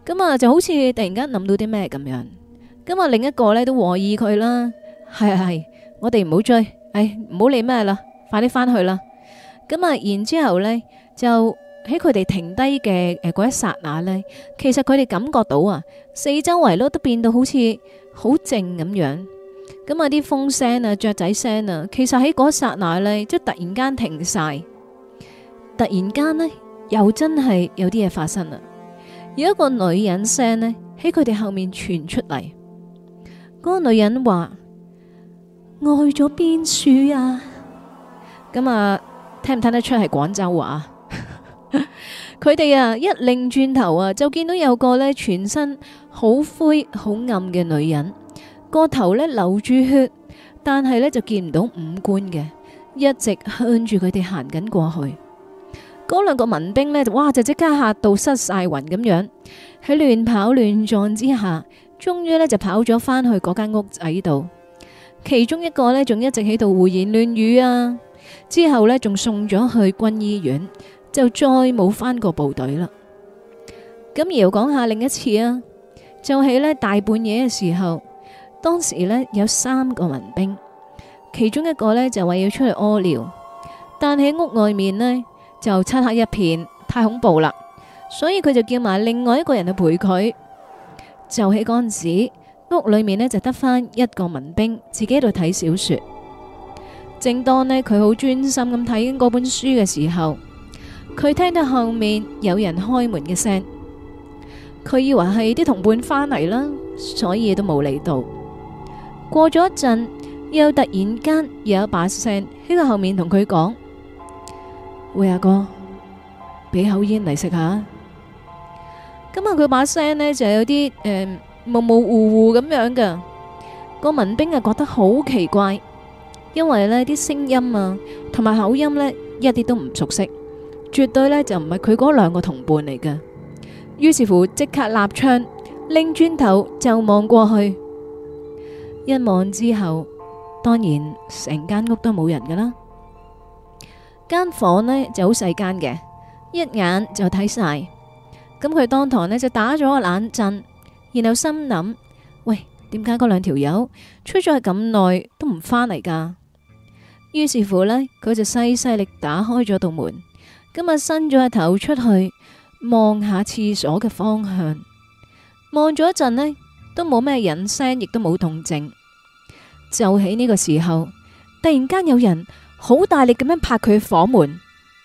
咁啊就好似突然間諗到啲咩咁樣。咁啊另一個呢都和議佢啦，係係係，我哋唔好追，唉唔好理咩啦，快啲翻去啦。咁啊然之後呢就喺佢哋停低嘅誒嗰一剎那呢，其實佢哋感覺到啊，四周圍咯都變到好似好靜咁樣。咁啊啲風聲啊、雀仔聲啊，其實喺嗰一剎那呢，即係突然間停晒。突然間呢，又真係有啲嘢發生啦。有一個女人聲呢，喺佢哋後面傳出嚟。嗰個女人話：愛咗邊處啊？咁啊，聽唔聽得出係廣州話？佢哋啊一擰轉頭啊，就見到有個呢全身好灰好暗嘅女人，個頭呢流住血，但係呢就見唔到五官嘅，一直向住佢哋行緊過去。嗰兩個民兵呢，哇就即刻嚇到失晒魂咁樣，喺亂跑亂撞之下，終於呢就跑咗返去嗰間屋仔度。其中一個呢，仲一直喺度胡言亂語啊，之後呢，仲送咗去軍醫院，就再冇返過部隊啦。咁而又講下另一次啊，就喺呢大半夜嘅時候，當時呢有三個民兵，其中一個呢就話要出去屙尿，但喺屋外面呢，就漆黑一片，太恐怖啦，所以佢就叫埋另外一個人去陪佢。就喺嗰陣時，屋裏面呢就得返一個民兵自己喺度睇小說。正當呢佢好專心咁睇緊嗰本書嘅時候，佢聽到後面有人開門嘅聲，佢以為係啲同伴返嚟啦，所以都冇嚟到。過咗一陣，又突然間有一把聲喺佢後面同佢講：喂，阿哥，俾口煙嚟食下。咁啊，佢把聲呢就有啲誒模模糊糊咁樣嘅。個民兵啊覺得好奇怪，因為呢啲聲音啊同埋口音呢一啲都唔熟悉，絕對呢就唔係佢嗰兩個同伴嚟嘅。於是乎即刻立槍，擰轉頭就望過去。一望之後，當然成間屋都冇人噶啦。間房呢就好細間嘅，一眼就睇晒。咁佢當堂呢就打咗個冷震，然後心諗：喂，點解嗰兩條友出咗去咁耐都唔返嚟噶？於是乎呢，佢就細細力打開咗道門，今日伸咗個頭出去望下廁所嘅方向，望咗一陣呢，都冇咩人聲，亦都冇動靜。就喺呢個時候，突然間有人好大力咁樣拍佢房門，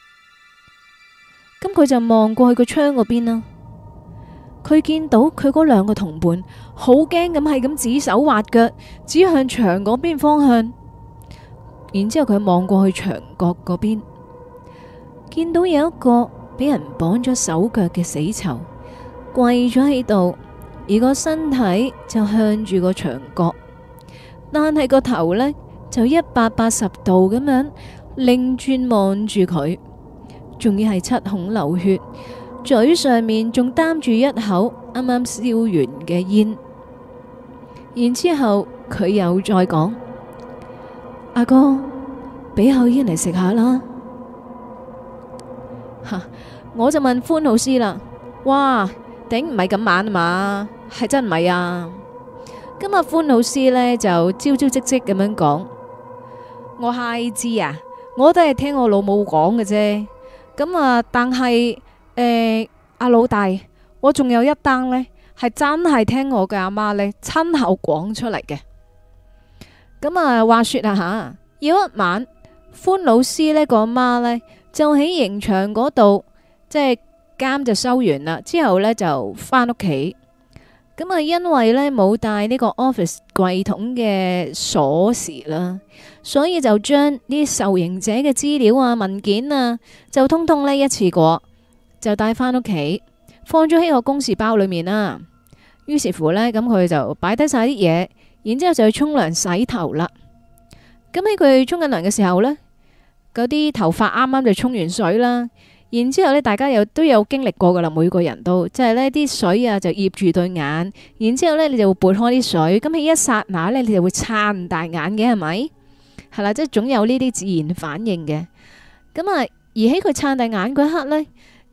咁佢就望過去個窗嗰邊啦。佢見到佢嗰兩個同伴好驚咁係咁指手畫腳，指向牆嗰邊方向。然之後佢望過去牆角嗰邊，見到有一個俾人綁咗手腳嘅死囚跪咗喺度，而個身體就向住個牆角，但係個頭呢，就一百八十度咁樣擰轉望住佢，仲要係七孔流血，嘴上面仲擔住一口啱啱燒完嘅煙。然之後佢又再講：阿哥，俾口煙嚟食下啦。吓，我就問歡老師啦，哇，頂唔係咁晚啊嘛？係真唔係啊？今日歡老師呢，就招招積積咁樣講：我係知啊，我都係聽我老母講嘅啫。咁啊，但係誒，阿老大，我仲有一單呢，係真係聽我嘅阿媽呢親口講出嚟嘅。咁啊，話說啊吓，有一晚，歡老師呢個阿媽呢，就喺刑場嗰度，即係監就收完啦，之後呢，就返屋企。咁啊，因為呢冇帶呢個 office 櫃桶嘅鎖匙啦，所以就將啲受刑者嘅資料啊、文件啊，就通通呢一次過就帶返屋企，放咗喺個公事包裏面啦。於是乎呢，咁佢就擺低晒啲嘢，然之後就去沖涼洗頭啦。咁喺佢沖緊涼嘅時候呢，嗰啲頭髮啱啱就沖完水啦。然之後咧，大家又都有經歷過噶啦，每個人都即係呢啲水啊就醃住對眼，然之後咧你就會撥開啲水，咁喺一剎那呢，你就會撐大眼嘅，係咪？係啦，即係總有呢啲自然反應嘅。咁啊，而喺佢撐大眼嗰一刻呢，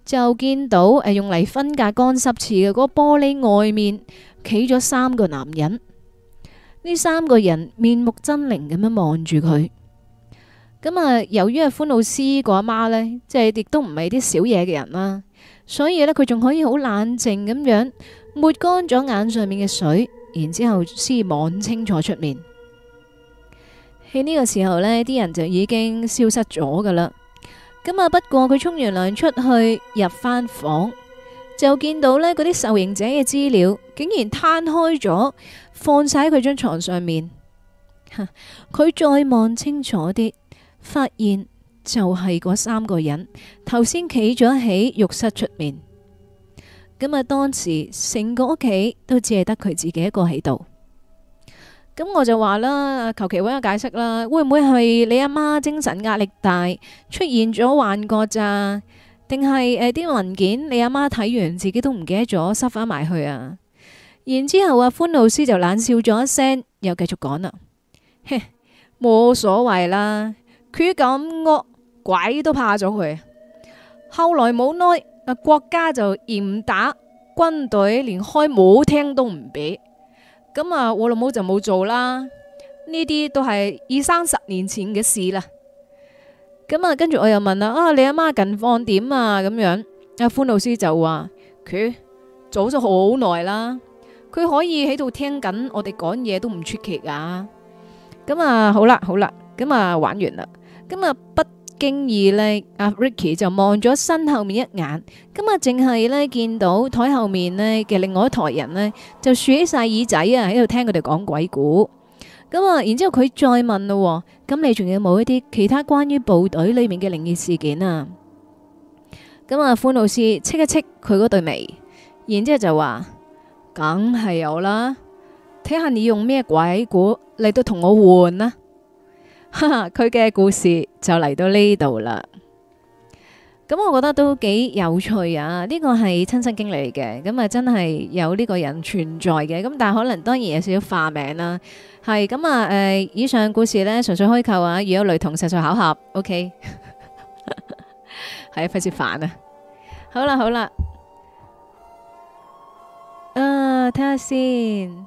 就見到誒、呃、用嚟分隔乾濕廁嘅嗰個玻璃外面企咗三個男人。呢三個人面目猙獰咁樣望住佢。咁啊，由於阿歡老師個阿媽呢，即係亦都唔係啲少嘢嘅人啦，所以呢，佢仲可以好冷靜咁樣抹乾咗眼上面嘅水，然之後先望清楚出面。喺呢個時候呢，啲人就已經消失咗噶啦。咁啊，不過佢沖完涼出去入翻房，就見到呢嗰啲受刑者嘅資料竟然攤開咗，放晒喺佢張床上面。佢再望清楚啲，發現就係嗰三個人頭先企咗喺浴室出面。咁啊，當時成個屋企都只係得佢自己一個喺度。咁我就話啦，求其搵個解釋啦，會唔會係你阿媽精神壓力大，出現咗幻覺咋？定係誒啲文件你阿媽睇完自己都唔記得咗，塞翻埋去啊？然之後阿歡老師就冷笑咗一聲，又繼續講啦，嘿，冇所謂啦，佢咁惡，鬼都怕咗佢。後來冇耐，啊國家就嚴打，軍隊連開舞廳都唔俾。咁啊，我老母就冇做啦。呢啲都係二三十年前嘅事啦。咁啊，跟住我又問啦，啊，你阿媽近況點啊？咁樣，阿歡老師就話佢早咗好耐啦，佢可以喺度聽緊我哋講嘢都唔出奇噶。咁啊，好啦好啦，咁啊玩完啦。咁啊，不經意呢，阿 Ricky 就望咗身後面一眼，咁啊，淨係呢見到台後面呢嘅另外一台人呢，就豎起晒耳仔啊，喺度聽佢哋講鬼故。咁啊，然之後佢再問咯，咁你仲有冇一啲其他關於部隊裏面嘅靈異事件啊？咁啊，歡老師戚一戚佢嗰對眉，然之後就話，梗係有啦，睇下你用咩鬼故嚟到同我換啦。哈哈，佢嘅故事就嚟到呢度啦。咁我覺得都幾有趣啊！呢個係親身經歷嘅，咁啊真係有呢個人存在嘅。咁但係可能當然有少少化名啦。係咁啊，誒，以上故事呢，純粹虛構啊，如有雷同實屬巧合。OK，係啊，費事煩啊。好啦好啦，啊，睇下先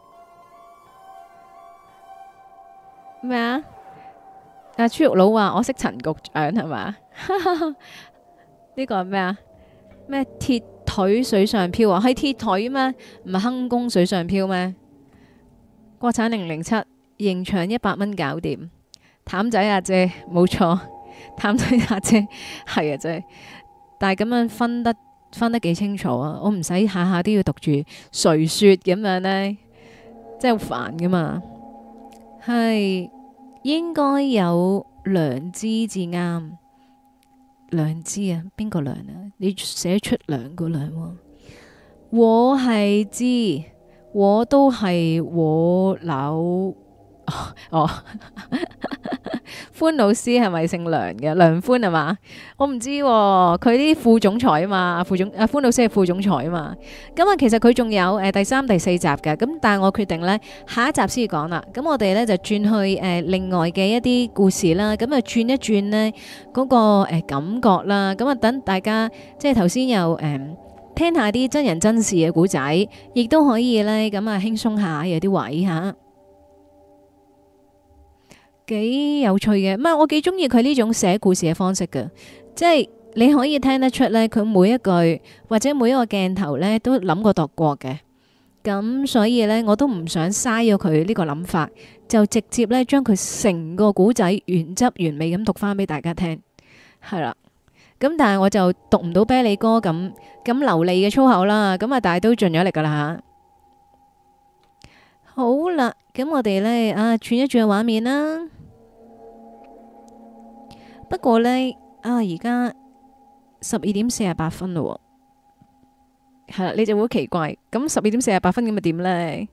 咩啊？阿豬肉佬話我識陳局長係嘛？呢個係咩啊？咩鐵腿水上漂啊？係鐵腿咩？唔係坑工水上漂咩？國產零零七刑場一百蚊搞掂。譚仔阿姐冇錯，譚仔阿姐係啊，真係。但係咁樣分得分得幾清楚啊！我唔使下下都要讀住誰說咁樣呢，真係好煩噶嘛。係。應該有良知至啱，良知啊，邊個良啊？你寫出兩個良喎，我係知，我都係我老哦。歡老師係咪姓梁嘅？梁歡係嘛？我唔知喎，佢啲副總裁啊嘛，副總阿歡老師係副總裁啊嘛。咁啊，其實佢仲有誒第三、第四集嘅。咁但係我決定呢，下一集先講啦。咁我哋呢，就轉去誒另外嘅一啲故事啦。咁啊轉一轉呢嗰個誒感覺啦。咁啊等大家即係頭先又誒聽下啲真人真事嘅故仔，亦都可以呢，咁啊輕鬆下有啲位吓。幾有趣嘅，唔係我幾中意佢呢種寫故事嘅方式嘅，即係你可以聽得出呢，佢每一句或者每一個鏡頭呢都諗過度過嘅，咁所以呢，我都唔想嘥咗佢呢個諗法，就直接呢將佢成個古仔原汁原味咁讀翻俾大家聽，係啦，咁但係我就讀唔到啤梨哥咁咁流利嘅粗口啦，咁啊但係都盡咗力噶啦吓。好啦，咁我哋呢，啊轉一轉個畫面啦。不過呢，啊而家十二點四十八分咯，係啦，你就會好奇怪，咁十二點四十八分咁咪點呢？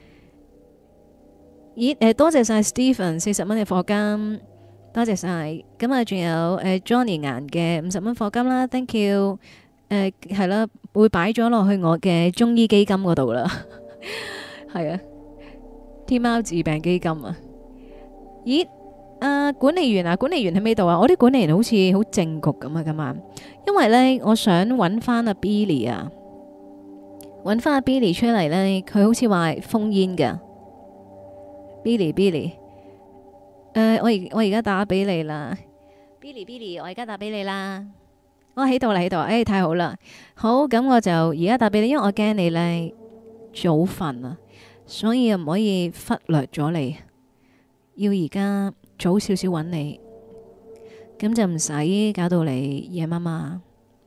咦，誒多謝晒 Stephen 四十蚊嘅課金，多謝晒。咁啊，仲有誒 Johnny 顏嘅五十蚊課金啦 ，thank you。誒係啦，會擺咗落去我嘅中醫基金嗰度啦，係啊。天貓治病基金啊！咦啊，管理員啊，管理員喺邊度啊？我啲管理員好似好正局咁啊，今晚，因為咧，我想揾翻阿 Billy 啊，揾翻阿 Billy 出嚟咧，佢好似話封煙噶，Billy Billy，誒，我而我而家打俾你啦，Billy Billy，我而家打俾你啦，我喺度啦喺度，誒，太好啦，好，咁我就而家打俾你，因為我驚你咧早瞓啊，所以又唔可以忽略咗你。要而家早少少揾你，咁就唔使搞到你夜媽媽。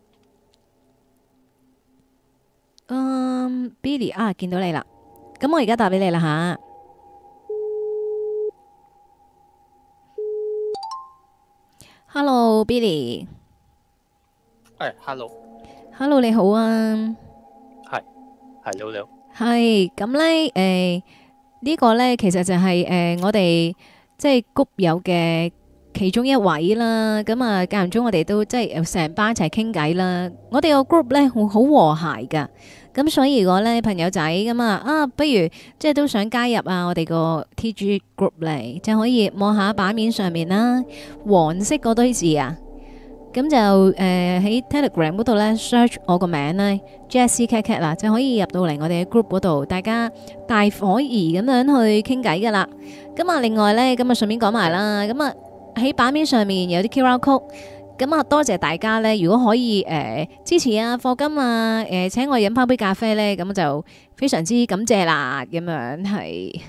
嗯，Billy 啊，見到你啦，咁我而家打俾你啦吓。Hello，Billy。 係，hello。 Hello，你好啊。 係，係你好你好。 係，咁咧誒。呢個呢，其實就係、是、誒、呃、我哋即係谷友嘅其中一位啦。咁啊間唔中我哋都即係成班一齊傾偈啦。我哋個 group 呢，好好和諧噶。咁所以如果呢朋友仔咁啊啊，不如即係都想加入啊我哋個 T G group 嚟，就可以望下版面上面啦，黃色嗰堆字啊。咁就誒喺、呃、Telegram 嗰度咧 search 我個名咧 Jessie Cat Cat 啦，就可以入到嚟我哋嘅 group 嗰度，大家大伙兒咁樣去傾偈噶啦。咁啊，另外咧，咁啊順便講埋啦。咁啊喺版面上面有啲 Q R code，咁啊多謝大家咧，如果可以誒、呃、支持啊課金啊，誒、呃、請我飲翻杯咖啡咧，咁就非常之感謝啦。咁樣係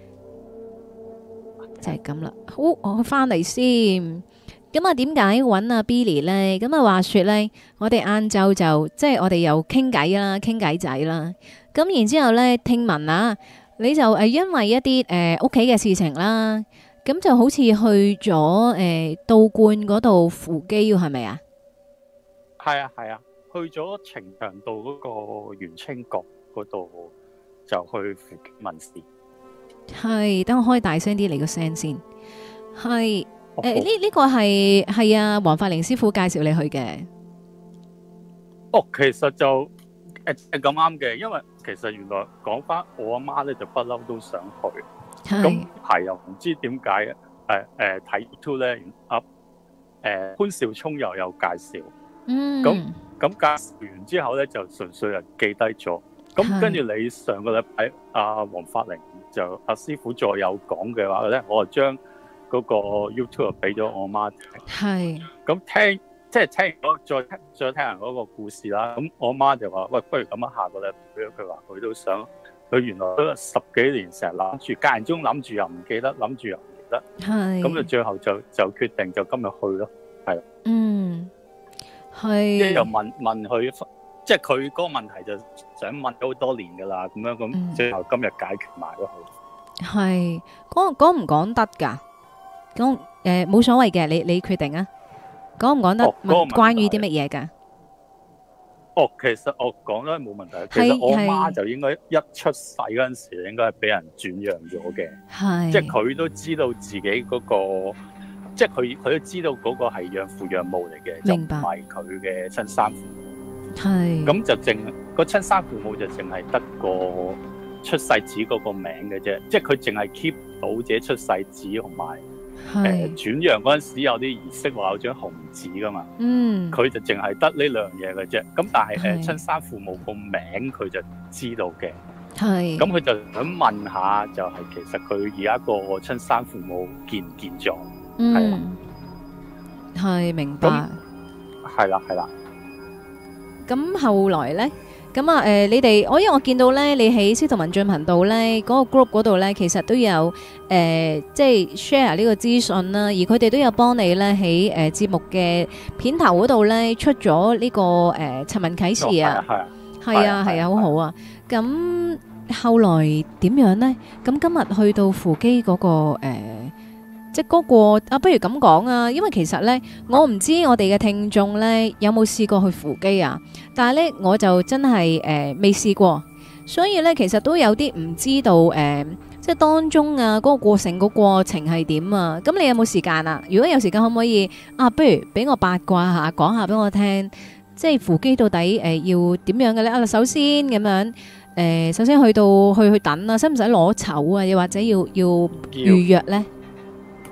就係咁啦。好，我翻嚟先。咁啊，點解揾阿 Billy 呢？咁啊，話說呢，我哋晏晝就即係我哋又傾偈啦，傾偈仔啦。咁然之後呢，聽聞啊，你就誒因為一啲誒屋企嘅事情啦，咁就好似去咗誒道觀嗰度扶乩，係咪啊？ 係啊係啊，去咗呈祥道嗰個元清閣嗰度就去扶乩問事。係， 等我開大聲啲嚟個聲先。係。誒，呢呢個係係啊，黃法寧師傅介紹你去嘅。 哦，其實就誒誒咁啱嘅，因為其實原來講翻我阿媽咧就不嬲都想去，咁係又唔知點解誒誒睇 YouTube 咧，阿誒潘少聰又有介紹， 嗯， 咁咁介紹完之後咧就純粹係記低咗，咁跟住你上個禮拜阿黃法寧就阿師傅再有講嘅話咧，我就將嗰個 YouTube 俾咗我媽聽，係咁聽，即係聽完再聽再聽人嗰個故事啦。咁我媽就話：喂，不如咁啊，下個禮拜佢話佢都想，佢原來都十幾年成日諗住，間唔中諗住又唔記得，諗住又唔記得，係咁就最後就就決定就今日去咯，係。嗯，係。即係又問問佢，即係佢嗰個問題就想問咗好多年㗎啦，咁樣咁，最後今日解決埋咯，佢。係講講唔講得㗎？講誒冇所謂嘅，你你決定啊，講唔講得？問關於啲乜嘢噶？哦，其實我講都係冇問題。其實我媽就應該一出世嗰陣時，應該係俾人轉讓咗嘅。係，即係佢都知道自己嗰個，即係佢佢都知道嗰個係養父養母嚟嘅，就唔係佢嘅親生父母。係，咁就淨個親生父母就淨係得個出世紙嗰個名嘅啫，即係佢淨係 keep 到自己出世紙同埋。誒、呃、轉讓嗰陣時有啲儀式話有張紅紙噶嘛，嗯，佢就淨係得呢兩樣嘢嘅啫。咁但係誒親生父母個名佢就知道嘅，係。咁佢就想問下，就係其實佢而家個親生父母見唔見咗？嗯，係明白。係啦，係啦。咁後來咧？咁啊，誒、呃，你哋，我因為我見到咧，你喺司徒文進頻道咧嗰、那個 group 嗰度咧，其實都有誒、呃，即係 share 呢個資訊啦，而佢哋都有幫你咧喺誒節目嘅片頭嗰度咧出咗呢、這個誒尋文啟事啊，係啊，係啊，係啊，好好啊。咁後來點樣咧？咁今日去到扶乩嗰個誒。呃即係嗰個啊，不如咁講啊，因為其實咧，我唔知我哋嘅聽眾咧有冇試過去扶乩啊，但係咧我就真係誒未試過，所以咧其實都有啲唔知道誒、呃，即係當中啊嗰、嗰個過程個過程係點啊？咁你有冇時間啊？如果有時間，可唔可以啊？不如俾我八卦下，講下俾我聽，即係扶乩到底誒、呃、要點樣嘅咧？啊，首先咁樣誒、呃，首先去到去去等啊，使唔使攞籌啊？又或者要要預約咧？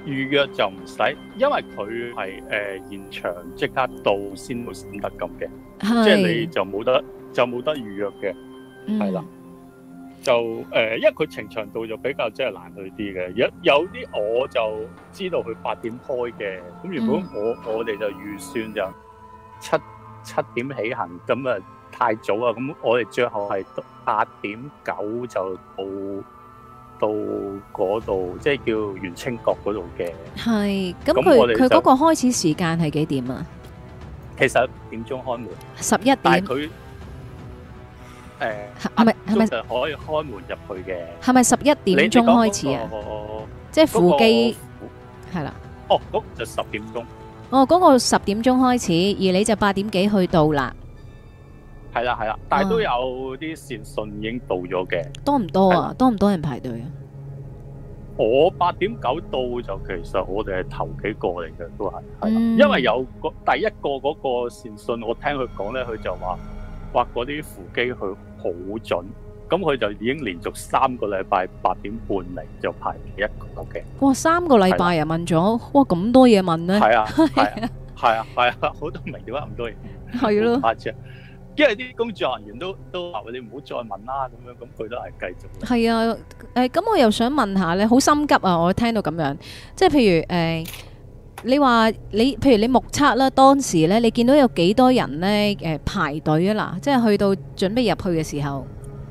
預約就唔使，因為佢係誒現場即刻到先會先得咁嘅，即係你就冇得就冇得預約嘅，係啦、嗯。就誒、呃，因為佢呈祥道就比較即係難去啲嘅，有有啲我就知道佢八點開嘅，咁原本我、嗯、我哋就預算就七七點起行，咁啊太早啊，咁我哋最後係八點九就到。到嗰度即係叫元清閣嗰度嘅， 係咁佢佢嗰個開始時間係幾點啊？ 其實一點鐘開門， 十一點。 但係佢誒係咪係咪就可以開門入去嘅？ 係咪十一點鐘開始啊？即係扶乩係啦。 哦，嗰就十點鐘。 哦，嗰個十點鐘開始，而你就八點幾去到啦。 係啦係啦，但係都有啲善信已經到咗嘅。 多唔多啊？多唔多人排隊啊？ 我八點九到就其實我哋係頭幾個嚟嘅，都係係啦， 嗯、 因為有個第一個嗰個善信，我聽佢講咧，佢就話話嗰啲扶乩佢好準，咁佢就已經連續三個禮拜八點半嚟就排第一個嘅。 哇！三個禮拜啊問咗，哇咁多嘢問咧？ 係啊係啊係啊係啊，好多明點解咁多嘢？ 係咯。 因為啲工作人員都都話你唔好再問啦，咁樣咁佢都係繼續。 係啊，誒、呃、咁我又想問下咧，好心急啊！我聽到咁樣，即係譬如誒、呃，你話你譬如你目測啦，當時咧你見到有幾多人咧誒、呃、排隊啊嗱，即係去到準備入去嘅時候。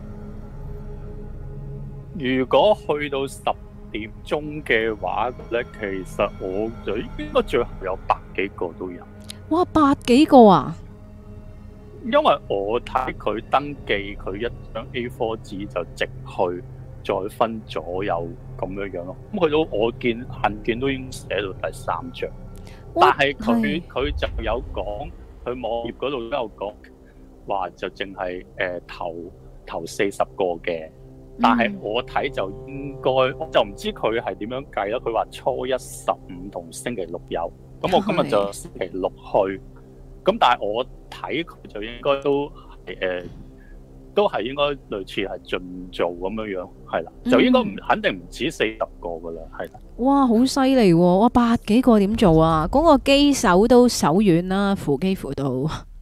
如果去到十點鐘嘅話咧，其實我就應該最後有百幾個都有。 哇，百幾個啊！ 因為我睇佢登記，佢一張 A 四 紙就直去，再分左右咁樣樣咯。咁去到我見函件都已經寫到第三張，但係佢佢就有講，佢網頁嗰度都有講話就淨係誒頭頭四十個嘅。但係我睇就應該，我就唔知佢係點樣計啦。佢話初一、十五同星期六有，咁我今日就星期六去。咁但係我睇佢就應該都係誒、呃，都係應該類似係盡做咁樣樣，係啦，就應該唔肯定唔止四十個噶啦，係啦。 哇，好犀利喎！哇，百幾個點做啊？嗰、那個機手都手軟啦，扶機扶到。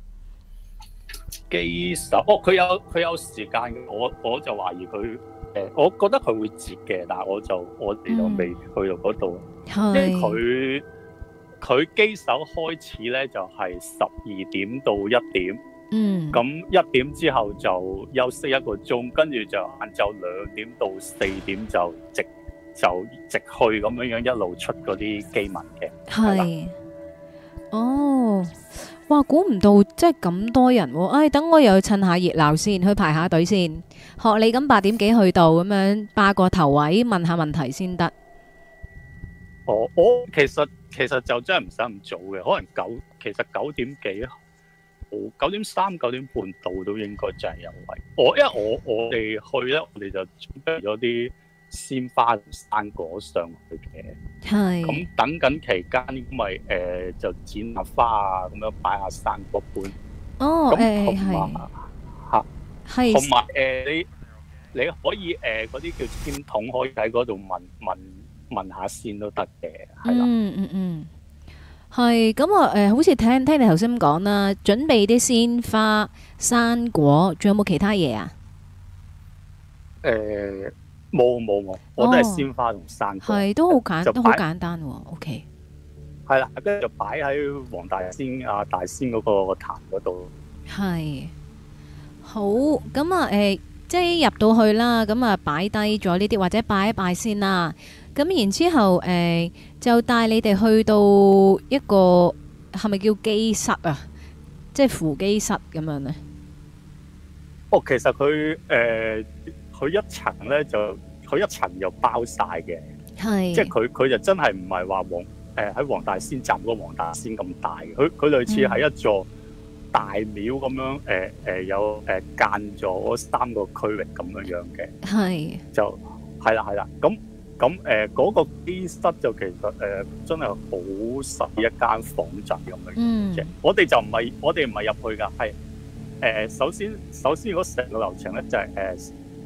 機手哦，佢有佢有時間嘅，我我就懷疑佢誒、呃，我覺得佢會截嘅，但係我就我哋就未去到嗰度，因為佢。佢機手開始咧就係十二點到一點，嗯，咁一點之後就休息一個鐘，跟住就晏晝兩點到四點就直就直去咁樣樣一路出嗰啲機文嘅，係， 哦，哇，估唔到即係咁多人喎，唉，等我又趁下熱鬧先，去排下隊先，學你咁八點幾去到咁樣霸個頭位問下問題先得。 我我其實其實就真係唔使咁早嘅，可能九其實九點幾，九點三九點半到都應該就係有位。我因為我我哋去咧，我哋就準備咗啲鮮花同生果上去嘅。係。咁等緊期間，咁咪誒就剪下花啊，咁樣擺下生果盤。 哦，誒係。 嚇。 係。 同埋誒你你可以誒嗰啲叫簽筒，可以喺嗰度問問。問下先都得嘅，係啦。 嗯嗯嗯，係咁啊！誒、呃，好似聽聽你頭先咁講啦，準備啲鮮花、生果，仲有冇其他嘢啊？ 誒、呃，冇冇冇，我都係鮮花同生果。係、 哦、都好簡，都好簡單喎。O K。 係啦，跟住就擺喺黃大仙啊大仙嗰個壇嗰度。係。 好，咁啊，誒、呃，即係入到去啦，咁啊，擺低咗呢啲，或者拜一拜先啦。咁然之後，誒、呃、就帶你哋去到一個係咪叫機室啊？即係扶機室咁樣咧。 哦，其實佢誒佢一層咧就佢一層又包晒嘅，係即係佢佢就真係唔係話黃誒喺黃大仙站嗰個黃大仙咁大嘅，佢佢類似係一座大廟咁樣，誒、呃、誒、呃、有誒間咗三個區域咁樣樣嘅，係就係啦係啦咁。咁誒嗰個機室就其實誒、呃、真係好細一間房仔咁樣嘅啫。我哋就唔係我哋唔係入去㗎，係誒、呃、首先首先嗰成個流程咧就係誒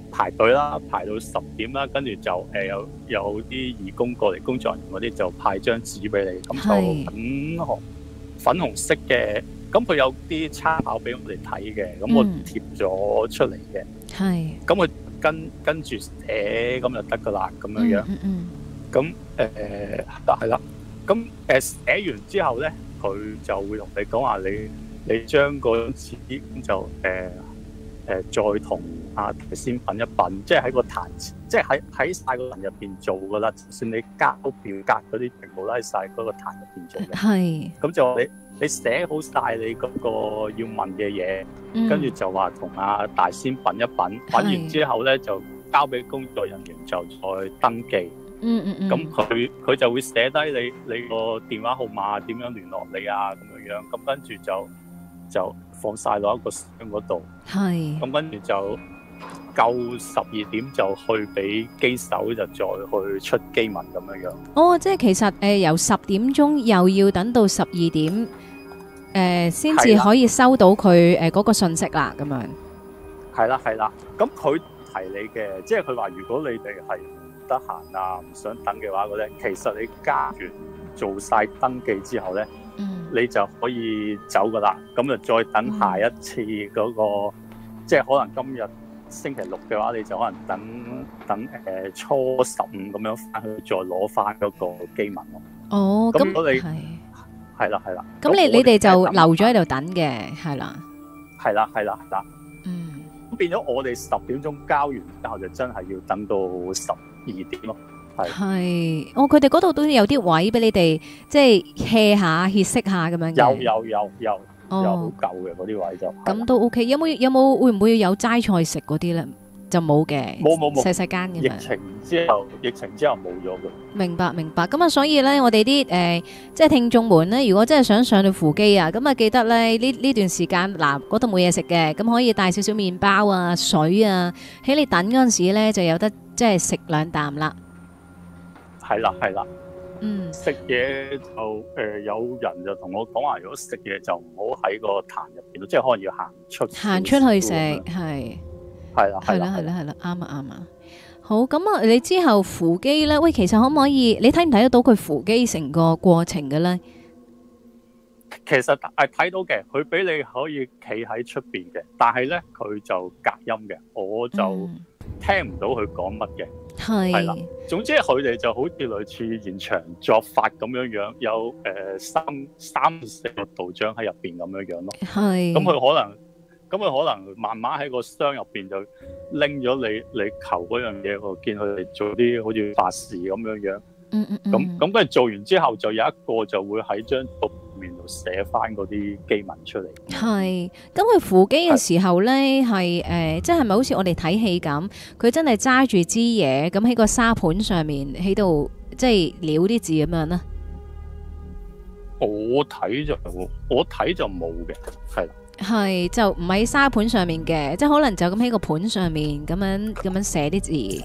排隊啦，排到十點啦，跟住就誒、呃、有有啲義工過嚟，工作人員嗰啲就派張紙俾你，咁就粉紅粉紅色嘅，咁佢有啲參考俾我哋睇嘅，咁我貼咗出嚟嘅， 係、嗯， 咁佢跟跟住寫咁就得噶啦，咁樣樣， 嗯嗯， 咁誒係啦，咁誒寫完之後咧，佢就會同你講話你你將嗰張紙就誒。呃誒、呃、再同阿先品一品，即係喺個壇，即係喺喺曬個壇入邊做噶啦。就算你交表格嗰啲，全部都喺曬嗰個壇入邊做嘅。係。咁就你你寫好曬你嗰個要問嘅嘢，跟、嗯、住就話同阿大仙品一品，品完之後咧就交俾工作人員就再登記。嗯嗯嗯。咁佢佢就會寫低你你個電話號碼點樣聯絡你啊咁樣樣，咁跟住就就。放晒落一個箱嗰度，係咁跟住就夠十二點就去俾機手，就再去出機文咁樣樣。 哦，即係其實誒、呃、由十點鐘又要等到十二點誒，先、呃、至可以收到佢誒嗰個信息啦，咁樣。 係啦係啦，咁佢提你嘅，即係佢話如果你哋係唔得閒啊，唔想等嘅話咧，其實你加完做晒登記之後咧。嗯、你就可以走噶啦，咁就再等下一次嗰、那個，嗯、即係可能今日星期六嘅話，你就可能等等誒、呃、初十五咁樣翻去再攞翻嗰個機文咯。哦，咁你係係啦係啦， 咁你你哋就留咗喺度等嘅，係啦， 係啦係啦係啦，嗯，咁變咗我哋十點鐘交完之後，就真係要等到十二點咯。 係，哦，佢哋嗰度都有啲位俾你哋，即係歇下、歇息下咁樣嘅。 有有有有，哦、有好夠嘅嗰啲位就。 咁都 OK，有冇有冇會唔會有齋菜食嗰啲咧？就冇嘅， 冇冇冇， 細細間嘅。 疫情之後，疫情之後冇咗嘅。 明白明白，咁啊，所以咧，我哋啲誒，即係聽眾們咧，如果真係想上去扶乩啊，咁啊，記得咧呢呢段時間嗱，嗰度冇嘢食嘅，咁可以帶少少麵包啊、水啊，喺你等嗰陣時咧就有得即係食兩啖啦。 係啦，係啦，嗯，食嘢就誒、呃，有人就同我講話，如果食嘢就唔好喺個壇入邊咯，即係可能要行出行出去食，係係啦， 係啦，係啦，係啦，啱啊，啱啊。好，咁啊，你之後扶乩咧，喂，其實可唔可以？你睇唔睇得到佢扶乩成個過程嘅咧？ 其實係睇到嘅，佢俾你可以企喺出邊嘅，但係咧佢就隔音嘅，我就聽唔到佢講乜嘅。係係啦，總之佢哋就好似類似現場作法咁樣樣，有誒、呃、三三四個道長喺入邊咁樣樣咯。係，咁佢可能，咁佢可能慢慢喺個箱入邊就拎咗你你求嗰樣嘢，我見佢哋做啲好似法事咁樣樣。嗯嗯嗯。咁咁跟住做完之後，就有一個就會喺張圖面度寫翻嗰啲機文出嚟。係，咁佢扶乩嘅時候咧，係誒，即係咪好似我哋睇戲咁？佢真係揸住支嘢，咁喺個沙盤上面喺度，即係潦啲字咁樣咧。我睇就我睇就冇嘅，係啦。係就唔喺沙盤上面嘅，即係可能就咁喺個盤上面咁樣咁樣寫啲字。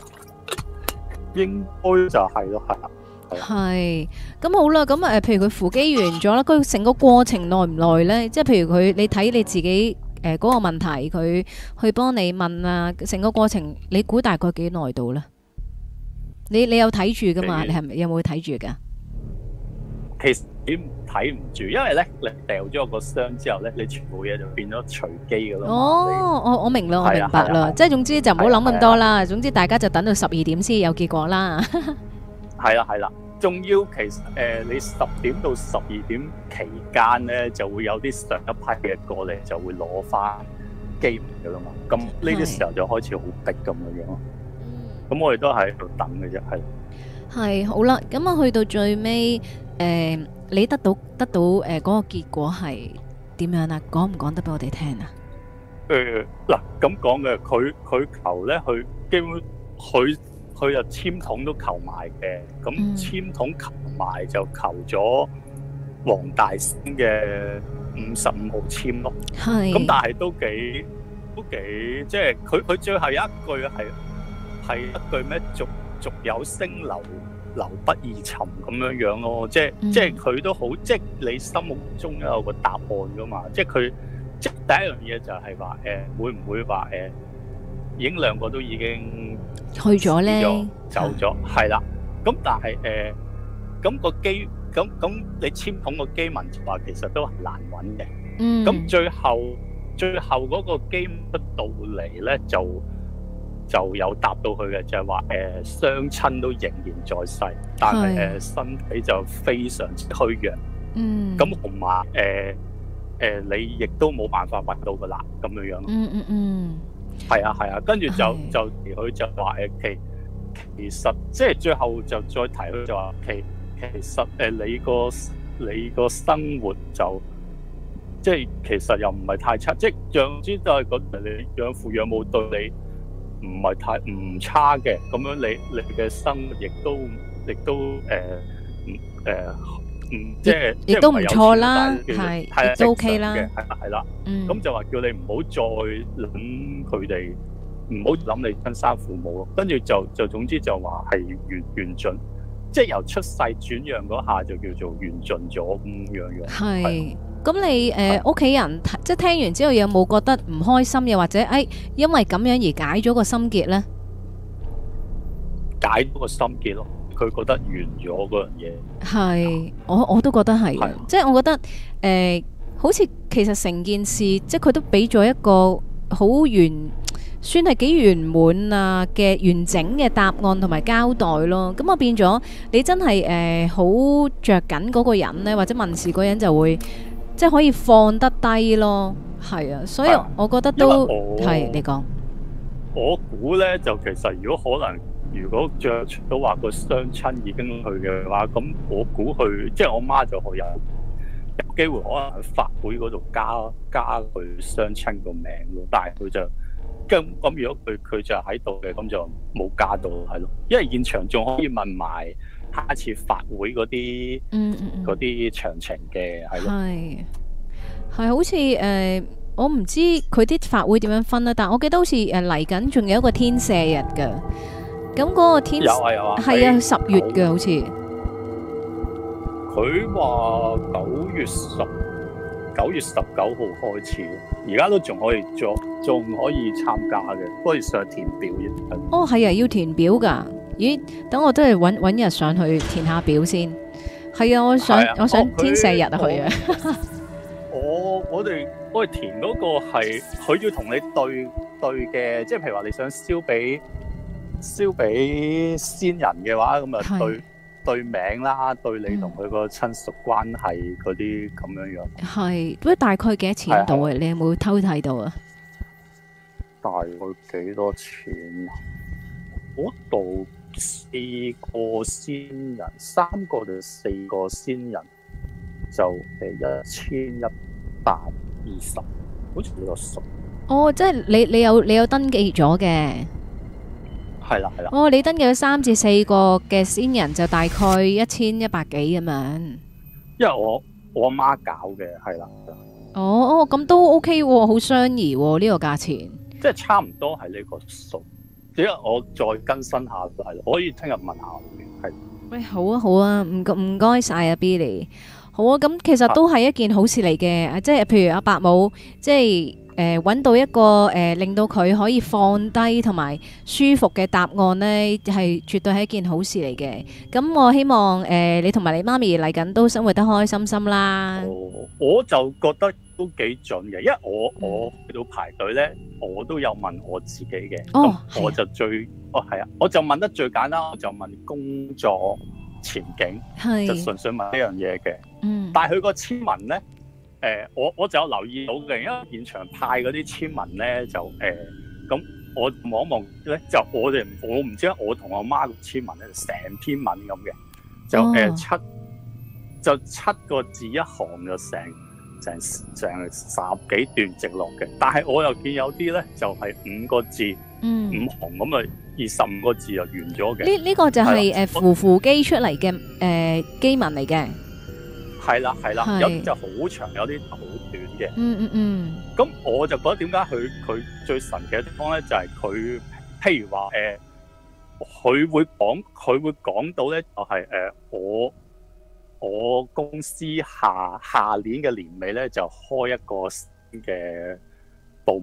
應該就係咯，係啦。係，咁好啦，咁誒，譬如佢扶乩完咗啦，佢成個過程耐唔耐咧？即係譬如佢，你睇你自己誒嗰個問題，佢去幫你問啊，成個過程你估大概幾耐到咧？你你有睇住噶嘛？你係咪有冇睇住噶？其實你睇唔住，因為咧你掉咗個箱之後咧，你全部嘢就變咗隨機噶啦。哦，我我明啦，我明白啦，即係總之就唔好諗咁多啦。總之大家就等到十二點先有結果啦。係啦係啦，仲要其實誒、呃，你十點到十二點期間咧，就會有啲上一批嘅過嚟，就會攞翻機噶啦嘛。咁呢啲時候就開始好逼咁樣樣咯。咁我哋都喺度等嘅啫，係。係好啦，咁啊去到最尾，誒、呃，你得到得到誒嗰、呃那個結果係點樣啊？講唔講得俾我哋聽啊？誒，嗱咁講嘅，佢佢求咧，佢基本佢。佢就簽筒都求埋嘅，咁簽筒求埋就求咗黃大仙嘅五十五號簽咯。係，咁但係都幾都幾，即係佢佢最後有一句係係一句咩？續續有聲流流不易尋咁樣樣咯。即係、嗯、即係佢都好，即係你心目中有個答案噶嘛。即係佢即係第一樣嘢就係話誒，會唔會話誒？ 已經兩個都已經去咗咧， 走咗，係啦。咁但係誒，咁、個機咁咁你簽統個機文就話其實都係難揾嘅。 嗯。 咁最後最後嗰個機出到嚟咧，就就有答到佢嘅，就係話誒雙親都仍然在世，但係誒、呃、身體就非常之虛弱。 嗯。 咁同埋誒誒，你亦都冇辦法揾到噶啦，咁樣樣。 嗯嗯嗯。 係啊係啊，跟住就就佢就話誒其其實即係最後就再提佢就話其其實誒、呃、你個你個生活就即係其實又唔係太差，即係總之就係覺得你養父養母對你唔係太唔差嘅，咁樣你你嘅生活亦都亦都誒唔誒唔即係亦都唔錯啦， 係係都 OK 啦， 係啦係啦，咁、嗯、就話叫你唔好再諗佢哋，唔好諗你親生父母咯，跟住就就總之就話係完完盡，即係由出世轉讓嗰下就叫做完盡咗咁樣樣。 係，咁你誒屋企人即係聽完之後有冇覺得唔開心，又或者誒、哎、因為咁樣而解咗個心結咧？ 解咗個心結咯。佢覺得完咗嗰樣嘢， 係我我都覺得係，即係我覺得誒、呃，好似其實成件事，即係佢都俾咗一個好完，算係幾圓滿啊嘅完整嘅答案同埋交代咯。咁我變咗你真係誒好着緊嗰個人呢，或者問事嗰人就會即係可以放得低咯。係啊，所以我覺得都係你講。 我估呢，就其實如果可能。如果着到話個雙親已經去嘅話，咁我估佢即係我媽就有有機會可能喺法會嗰度加加佢雙親個名咯，但係佢就咁咁如果佢佢就喺度嘅，咁就冇加到係咯，因為現場仲可以問埋下一次法會嗰啲嗰啲詳情嘅係咯， 係係好似誒、呃，我唔知佢啲法會點樣分啦，但係我記得好似誒嚟緊仲有一個天赦日㗎。咁嗰個天有啊有啊， 係啊十月嘅好似。 佢話九月十九月十九號開始，而家都仲可以做，仲可以參加嘅，不過要上填表啫。 哦係啊，要填表㗎。咦？等我都係揾揾日上去填下表先。係啊，我想啊我想天赦日啊去啊。 我我哋我哋填嗰個係佢要同你對對嘅，即係譬如話你想燒俾。燒俾先人嘅話，咁啊對對名啦，對你同佢個親屬關係嗰啲咁樣樣。係， 不過大概幾多錢到啊？你有冇偷睇到啊？ 大概幾多錢？嗰度四個先人，三個定四個先人就誒一千一百二十，好似比較熟。 哦，即係你你有你有登記咗嘅。 係啦係啦， 哦，你登記咗三至四個嘅先人就大概一千一百幾咁樣。 因為我我阿媽搞嘅，係啦。 哦哦，咁都 OK 喎，好相宜喎呢個價錢。 即係差唔多係呢個數。點解我再更新下係？可以聽日問下嘅，係。 喂，好啊好啊，唔唔該晒啊 Billy。好啊，咁其實都係一件好事嚟嘅，即係譬如阿伯母，即係。誒，揾到一個誒、呃，令到佢可以放低同埋舒服嘅答案呢，係絕對係一件好事嚟嘅。咁我希望誒、呃，你同埋你媽咪嚟緊都生活得開開心心啦。 哦，我就覺得都幾準嘅，因為我我去到排隊呢，我都有問我自己嘅。 哦， 我就最哦係啊，我就問得最簡單，我就問工作前景，就純粹問呢樣嘢嘅。嗯，但係佢個簽文呢。誒、呃，我我就有留意到嘅，因為現場派嗰啲簽文咧，就誒咁、呃、我望一望咧，就我哋我唔知，我同我媽個簽文咧，成篇文咁嘅，就誒、呃、七就七個字一行就成成成十幾段直落嘅，但係我又見有啲咧就係、是、五個字，嗯、五行咁啊，二十五個字就完咗嘅。呢呢、 這個就係誒扶扶機出嚟嘅誒機文嚟嘅。 係啦係啦，有啲就好長，有啲好短嘅。嗯嗯嗯。咁我就覺得點解佢佢最神奇嘅地方咧，就係、是、佢譬如話誒，佢、呃、會講佢會講到咧，就係、是、誒、呃、我我公司下下年嘅年尾咧就開一個新嘅部門，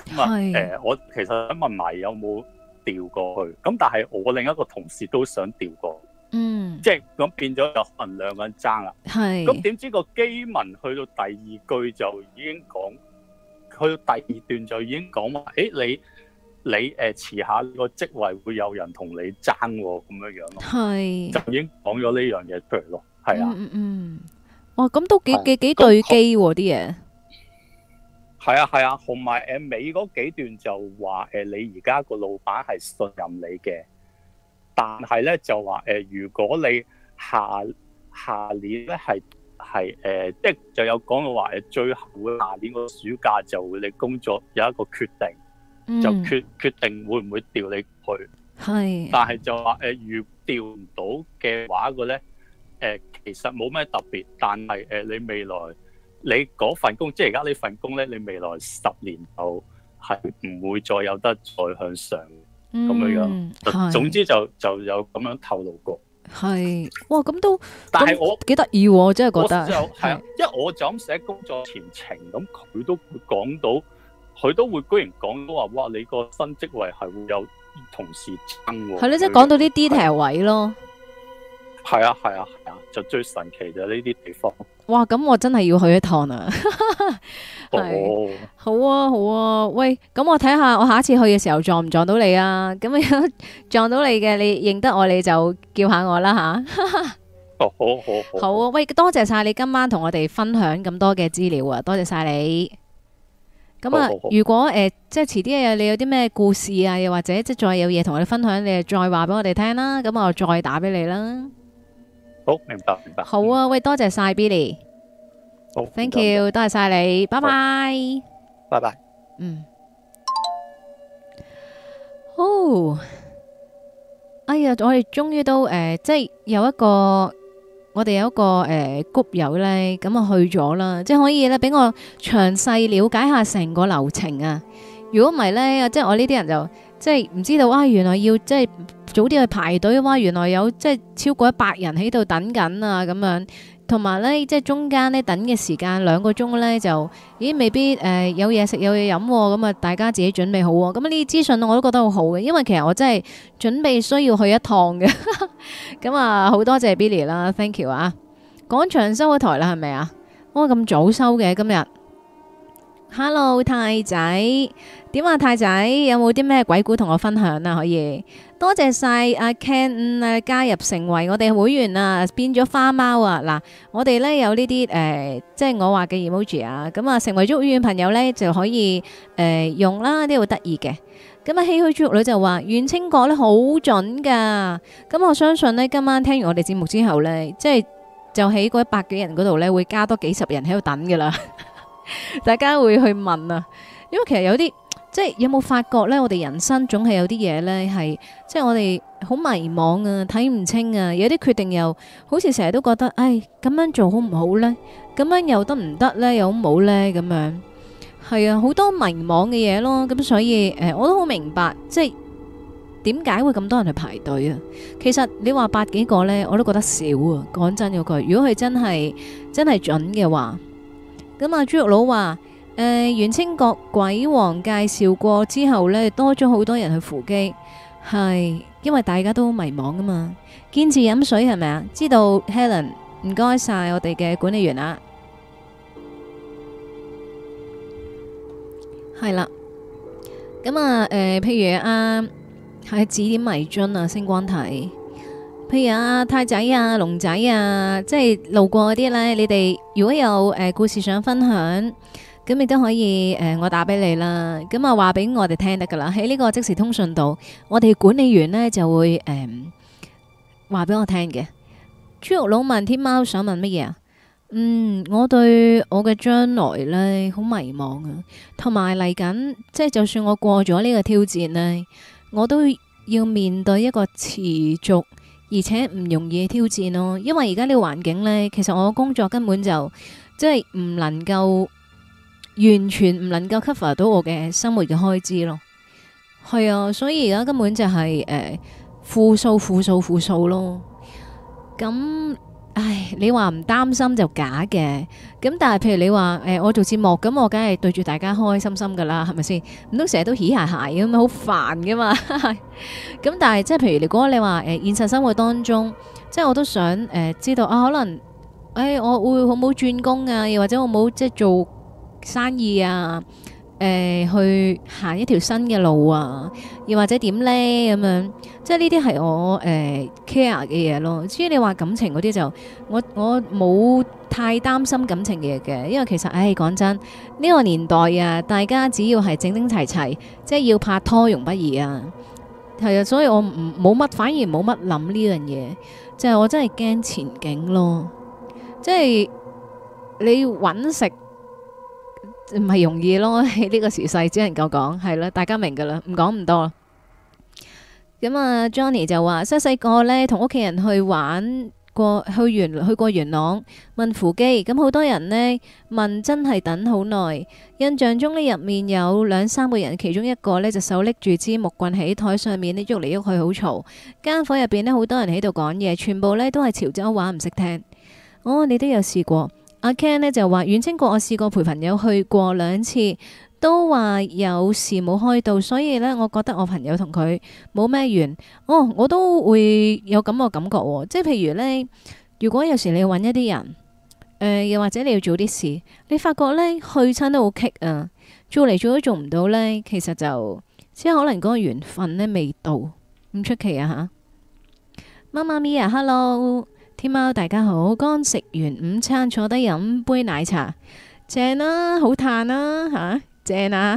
咁啊誒，我其實想問埋有冇調過去，咁但係我另一個同事都想調過去。 嗯， 即係咁變咗有可能兩個人爭啦。 係。 咁點知個基文去到第二句就已經講，去到第二段就已經講話，誒你你誒遲下個職位會有人同你爭喎，咁樣樣咯。 係。 就已經講咗呢樣嘢出嚟咯。係啊。 嗯嗯嗯。哇，咁都幾幾幾對機喎啲嘢。 係啊係啊，同埋誒尾嗰幾段就話誒你而家個老闆係信任你嘅。但係咧就話誒、呃，如果你下下年咧係係誒，即係就有講到話誒，最後會下年個暑假就會你工作有一個決定，嗯、就決決定會唔會調你去。 係。 但係就話誒、呃，如調唔到嘅話嘅咧，誒、呃、其實冇咩特別，但係誒、呃、你未來你嗰份工，即係而家呢份工咧，你未來十年就係唔會再有得再向上。咁樣樣，總之就就有咁樣透露過。 係，哇，咁都， 但係我幾得意喎，我真係覺得。 就係啊，因為我就咁寫工作前程，咁佢都會講到，佢都會居然講到話，哇！你個新職位係會有同事爭喎。 係咯，即係講到啲 detail 位咯。 係啊係啊係啊，就最神奇就係呢啲地方。 哇！咁我真係要去一趟啊！ 哦， 好啊好啊，喂，咁我睇下我下一次去嘅時候撞唔撞到你啊？咁樣撞到你嘅，你認得我你就叫下我啦吓。 哦，好好好。 好啊，喂，多謝晒你今晚同我哋分享咁多嘅資料啊，多謝晒你。咁啊，如果誒、呃、即係遲啲啊，你有啲咩故事啊，又或者即係再有嘢同我哋分享，你就再話俾我哋聽啦。咁我再打俾你啦。 好，明白明白。 好啊，喂，多謝晒 Billy。 好 ，thank you，多謝晒你，拜拜。 拜拜。 嗯。哦，哎呀，我哋終於都誒、呃，即係有一個，我哋有一個誒 group 友咧，咁啊去咗啦，即係可以咧俾我詳細了解下成個流程啊。如果唔係咧，即係我呢啲人就即係唔知道啊，原來要即係早啲去排隊，哇！原來有即係超過一百人喺度等緊啊，咁樣。同埋咧，即係中間咧等嘅時間兩個鐘咧，就咦未必誒、呃、有嘢食有嘢飲，咁啊大家自己準備好喎。咁呢啲資訊我都覺得好好嘅，因為其實我真係準備需要去一趟嘅。咁啊好多謝 Billy 啦 ，thank you 啊！廣場收咗台啦，係咪啊？哇咁早收嘅今日。Hello 太仔，點啊太仔，有冇啲咩鬼故同我分享啊？可以，多謝晒阿 Ken 啊加入成為我哋會員啊，變咗花貓啊！嗱，我哋咧有呢啲誒，即係我話嘅 emoji 啊，咁啊成為咗會員朋友咧就可以誒、呃、用啦，呢度得意嘅。咁啊，唏噓豬肉女就話袁清國咧好準噶，咁我相信呢，今晚聽完我哋節目之後咧，即係就喺嗰一百幾人嗰度咧會加多幾十人喺度等噶啦。大家會去問啊，因為其實有啲即係有冇發覺呢？我哋人生總係有啲嘢呢，係即係我哋好迷茫啊，睇唔清啊，有啲決定又好似成日都覺得，唉，咁樣做好唔好呢？咁樣又得唔得呢？又好唔好呢？咁樣係啊，好多迷茫嘅嘢咯。咁所以誒、呃，我都好明白，即係點解會咁多人去排隊啊？其實你話百幾個呢，我都覺得少啊。講真嗰句，如果佢真係真係準嘅話。咁啊，豬肉佬話：誒、呃，袁清國鬼王介紹過之後呢，多咗好多人去扶乩，係因為大家都迷茫啊嘛。堅持飲水係咪啊？知道 Helen，唔該晒我哋嘅管理員啊。係啦，咁啊，誒、呃，譬如啊，係指點迷津啊，星光體。譬如啊太仔啊龍仔啊，即係路過嗰啲呢，你哋如果有誒、呃、故事想分享，咁你都可以誒、呃、我打俾你啦。咁啊話俾我哋聽得噶啦，喺呢個即時通訊度，我哋管理員呢就會誒話俾我聽嘅。豬肉佬問天貓想問乜嘢啊？嗯，我對我嘅將來呢好迷茫啊，同埋嚟緊，即係就算我過咗呢個挑戰呢，我都要面對一個持續而且唔容易嘅挑戰咯，因為而家呢個環境呢，其實我工作根本就即係唔能夠完全唔能夠 cover 到我嘅生活嘅開支咯。係啊，所以而家根本就係誒負數負數負數咯。咁唉，你話唔擔心就假嘅，咁但係譬如你話誒、呃，我做節目咁，我梗係對住大家開開心心噶啦，係咪先？唔通成日都嘻鞋鞋咁樣，好煩噶嘛？咁但係即係譬如如果你話誒、呃、現實生活當中，即係我都想誒、呃、知道啊，可能誒、哎、我會好冇轉工啊，又或者我冇即係做生意啊。誒、呃，去行一條新嘅路啊，又或者點呢？咁樣，即係呢啲係我誒、呃、care 嘅嘢咯。至於你話感情嗰啲就，我我冇太擔心感情嘢嘅，因為其實唉講真，呢、呢個年代啊，大家只要係整整齊齊，即係要拍拖容不易啊。係啊，所以我唔冇乜，反而冇乜諗呢樣嘢，就係、是、我真係驚前景咯，即係你搵食。唔係容易咯，喺呢個時勢只能夠講係啦，大家明噶啦，唔講唔多。咁啊，Johnny 就話細細個呢，同屋企人去玩過，去元去過元朗問扶基，咁好多人呢問真係等好耐。印象中呢，入面有兩三個人，其中一個呢就手拎住支木棍喺台上面呢喐嚟喐去，好嘈。間房入邊呢，好多人喺度講嘢，全部呢都係潮州話，唔識聽。哦，你都有試過？阿 Ken 呢就話遠清國我試過陪朋友去過兩次，都話有事冇開到，所以呢，我覺得我朋友同佢冇咩緣。哦，我都會有咁個感覺喎，即係譬如呢，如果有時你要揾一啲人，誒、呃、又或者你要做啲事，你發覺呢，去親都好棘啊，做嚟做都做唔到呢，其實就即係可能嗰個緣分呢未到，唔出奇啊吓。媽媽咪啊，hello。天喵大家好，剛食完午餐，坐低飲杯奶茶，正啦、啊，好嘆啦吓，正啊，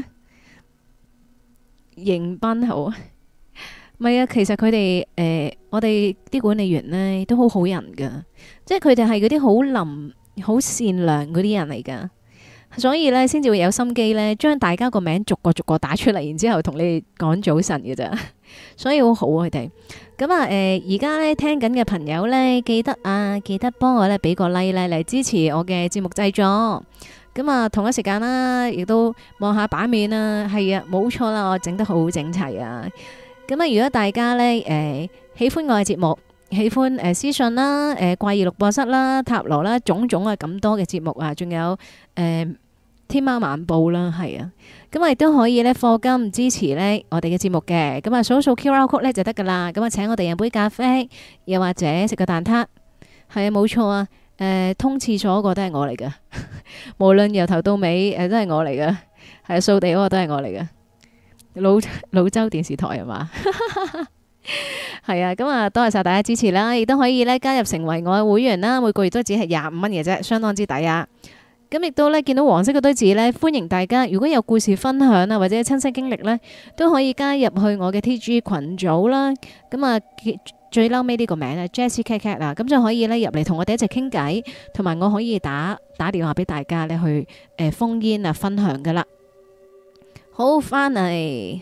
迎賓好，唔係啊，其實佢哋誒，我哋啲管理員呢都好好人噶，即係佢哋係嗰啲好冧、好善良嗰啲人嚟噶，所以呢，先至會有心機呢，將大家個名逐個逐個打出嚟，然之後同你哋講早晨嘅咋，所以好好啊佢哋。咁啊，誒而家咧聽緊嘅朋友咧，記得啊，記得幫我咧俾個 like 咧嚟支持我嘅節目製作。咁啊，同一時間啦，亦都望下版面啦，係啊，冇錯啦，我整得好整齊啊。咁啊，如果大家咧誒、呃、喜歡我嘅節目，喜歡誒、呃、私信啦、誒、呃、怪異錄播室啦、塔羅啦，種種啊咁多嘅節目啊，仲有誒。呃天喵晚報啦，係啊，咁啊亦都可以咧課金支持咧我哋嘅節目嘅，咁啊掃掃 Q R code 咧就得噶啦，咁啊請我哋飲杯咖啡，又或者食個蛋撻，係啊冇錯啊，誒、呃、通廁所嗰個都係我嚟噶，無論由頭到尾誒、呃、都係我嚟噶，係啊掃地嗰個都係我嚟噶，老老州電視台係嘛，係啊，咁啊多謝晒大家支持啦，亦都可以咧加入成為我嘅會員啦，每個月都只係廿五蚊嘅啫，相當之抵啊！咁亦都咧見到黃色嗰堆字咧，歡迎大家如果有故事分享啊，或者親身經歷咧，都可以加入去我嘅 T G 群組啦。咁啊，最嬲尾呢個名咧 Jessie Cat Cat 啊，咁就可以咧入嚟同我哋一齊傾偈，同埋我可以打打電話俾大家咧去誒烽煙啊分享噶啦。好，翻嚟。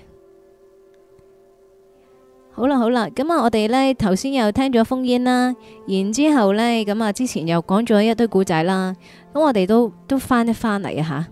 好啦好啦，咁啊，我哋呢頭先又聽咗烽煙啦，然之後呢，咁啊之前又講咗一堆古仔啦，咁我哋都都翻一翻嚟啊吓，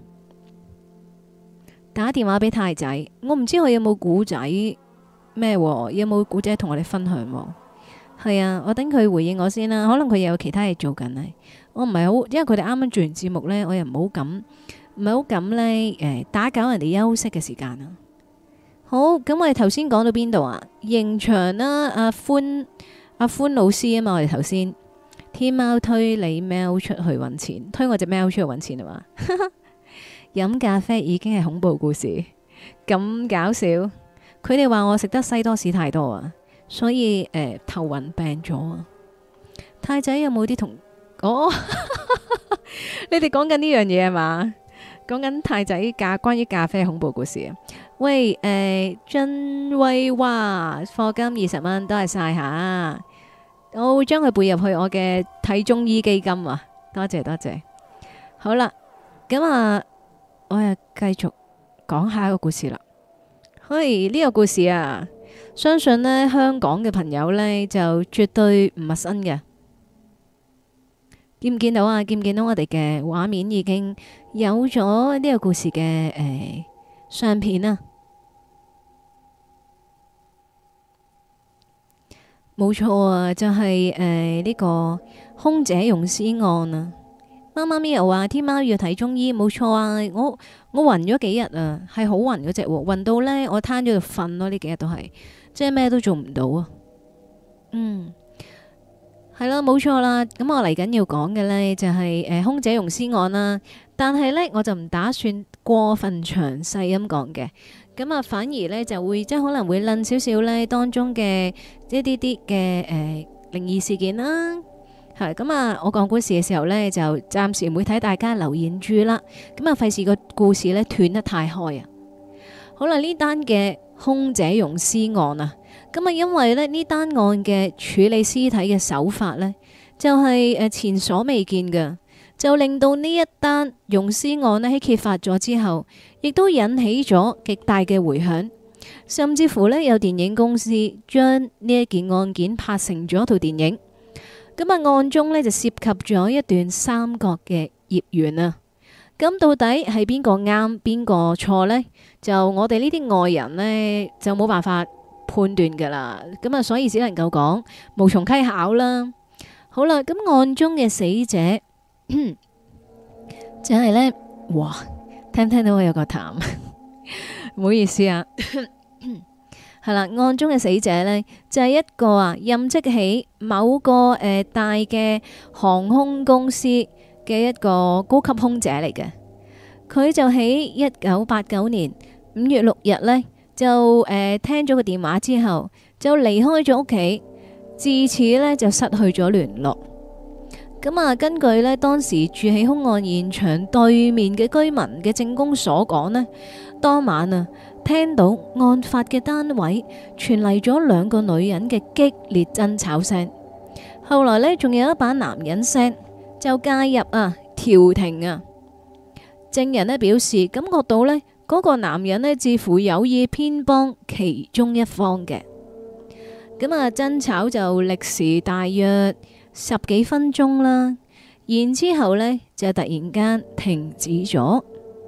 打電話俾太仔，我唔知佢有冇古仔咩，有冇古仔同我哋分享？係啊，我等佢回應我先啦，可能佢又有其他嘢做緊啊，我唔係好，因為佢哋啱啱做完節目呢，我又唔好敢，唔係好敢呢，誒打攪人哋休息嘅時間啊。好，咁我哋頭先講到邊度啊？刑場啦，阿歡阿歡老師啊嘛，我哋頭先天喵推你喵出去揾錢，推我隻喵出去揾錢啊嘛。飲咖啡已經係恐怖故事，咁搞笑。佢哋話我食得西多士太多啊，所以誒、呃、頭暈病咗啊。太仔有冇啲同哦？你哋講緊呢樣嘢係嘛？講緊太仔咖關於咖啡恐怖故事啊！喂，誒，真威哇，課金二十蚊，多謝晒吓，我會將佢背入去我嘅睇中醫基金啊！多謝多謝。好啦，咁啊，我又繼續講下一個故事啦。嘿，呢個故事啊，相信呢香港嘅朋友呢就絕對唔陌生嘅。見唔見到啊？見唔見到我哋嘅畫面已經有咗呢個故事嘅誒相片啊？ 冇錯啊，就係誒呢個空姐溶屍案啊。媽媽咪又話天貓要睇中醫，冇錯啊。我我暈咗幾日啊，係好暈嗰隻喎，暈到呢，我攤咗度瞓咯，呢幾日都係，即係咩都做唔到啊。嗯。係啦，冇錯啦。咁我嚟緊要講嘅呢，就係誒空姐溶屍案啦。但係呢，我就唔打算過分詳細咁講嘅。咁啊，反而呢，就會即係可能會論少少呢當中嘅一啲啲嘅誒靈異事件啦。係咁啊，我講故事嘅時候呢，就暫時唔會睇大家留言住啦。咁啊，費事個故事呢斷得太開啊。好啦，呢單嘅空姐溶屍案啊。咁啊，因為咧呢單案嘅處理屍體嘅手法呢，就係誒前所未見嘅，就令到呢一單溶屍案呢喺揭發咗之後，亦都引起咗極大嘅迴響，甚至乎呢，有電影公司將呢一件案件拍成咗一套電影。咁啊，案中呢，就涉及咗一段三角嘅孽緣啊。咁到底係邊個啱邊個錯呢？就我哋呢啲外人呢，就冇辦法判斷噶啦，咁啊，所以只能夠講無從稽考啦。好啦，咁案中嘅死者就係呢。哇，聽唔聽到我有個痰？唔好意思啊。係啦，案中嘅死者呢，就係一個啊任職喺某個誒大嘅航空公司嘅一個高級空姐嚟嘅。佢就喺一九八九年五月六日呢。就誒、呃、聽咗個電話之後，就離開咗屋企，自此呢，就失去咗聯絡。咁啊，根據呢當時住喺兇案現場對面嘅居民嘅證供所講呢，當晚啊聽到案發嘅單位傳嚟咗兩個女人嘅激烈爭吵聲，後來呢，仲有一把男人聲就介入啊調停啊。證人呢表示感覺到呢。嗰個男人呢，似乎有意偏幫其中一方嘅。咁啊，爭吵就歷時大約十幾分鐘啦，然之後呢就突然間停止咗，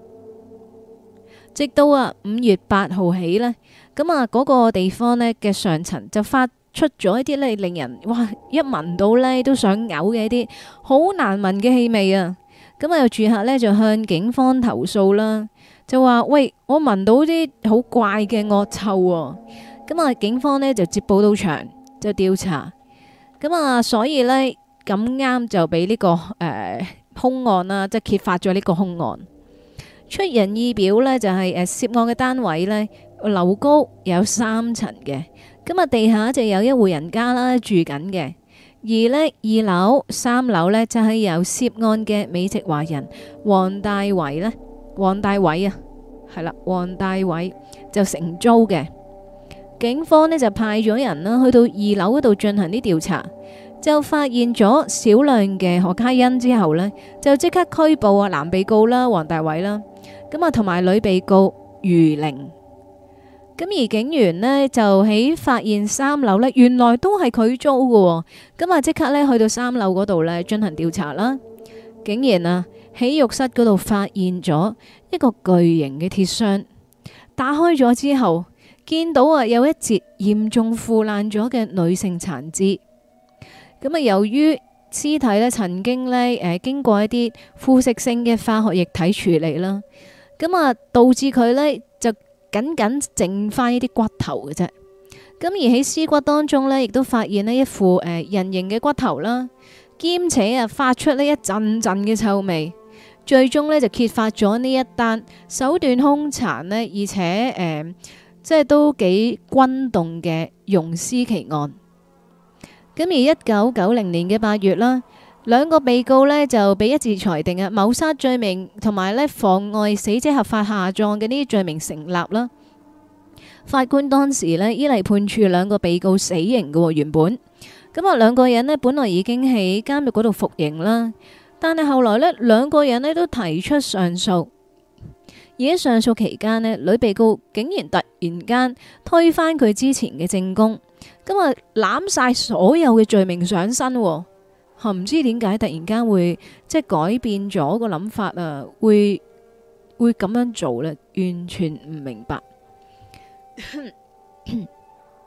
直到啊五月八號起呢，咁啊嗰個地方呢嘅上層就發出咗一啲呢令人哇一聞到呢都想嘔嘅一啲好難聞嘅氣味啊！咁啊有住客呢就向警方投訴啦。就話喂，我聞到啲好怪嘅惡臭喎，咁啊警方呢就接報到場就調查，咁啊所以呢，咁啱就俾呢、這個誒、呃、兇案啦，即係揭發咗呢個兇案。出人意表呢，就係、是、誒涉案嘅單位呢，樓高有三層嘅，咁啊地下就有一戶人家啦住緊嘅，而呢，二樓、三樓呢，就係、是、由涉案嘅美籍華人黃大偉呢。黃大偉啊，係啦，黃大偉就承租嘅。警方呢就派咗人啦，去到二樓嗰度進行啲調查，就發現咗少量嘅可卡因之後呢，就即刻拘捕啊男被告啦，黃大偉啦，咁啊同埋女被告余玲。咁而警員呢，就喺發現三樓呢，原來都係佢租嘅，咁啊即刻呢去到三樓嗰度呢進行調查啦，竟然啊！喺浴室嗰度發現咗一個巨型嘅鐵箱，打開咗之後，見到啊有一截嚴重腐爛咗嘅女性殘肢。咁啊，由於屍體呢曾經呢誒經過一啲腐蝕性嘅化學液體處理啦，咁啊導致佢呢就僅僅剩翻一啲骨頭嘅啫。咁而喺屍骨當中呢，亦都發現呢一副誒人形嘅骨頭啦，兼且啊發出呢一陣陣嘅臭味。最終呢，就揭發咗呢一單手段兇殘呢，而且誒、呃、即係都幾轟動嘅溶屍奇案。咁而一九九零年嘅八月啦，兩個被告呢就被一致裁定啊謀殺罪名同埋呢妨礙死者合法下葬嘅呢啲罪名成立啦。法官當時呢，依例判處兩個被告死刑嘅原本。咁啊兩個人呢，本來已經喺監獄嗰度服刑啦。但係後來呢，兩個人呢都提出上訴，而喺上訴期間呢，女被告竟然突然間推翻佢之前嘅證供，咁啊攬晒所有嘅罪名上身，吓唔知點解突然間會即係改變咗個諗法啊？會會咁樣做呢？完全唔明白。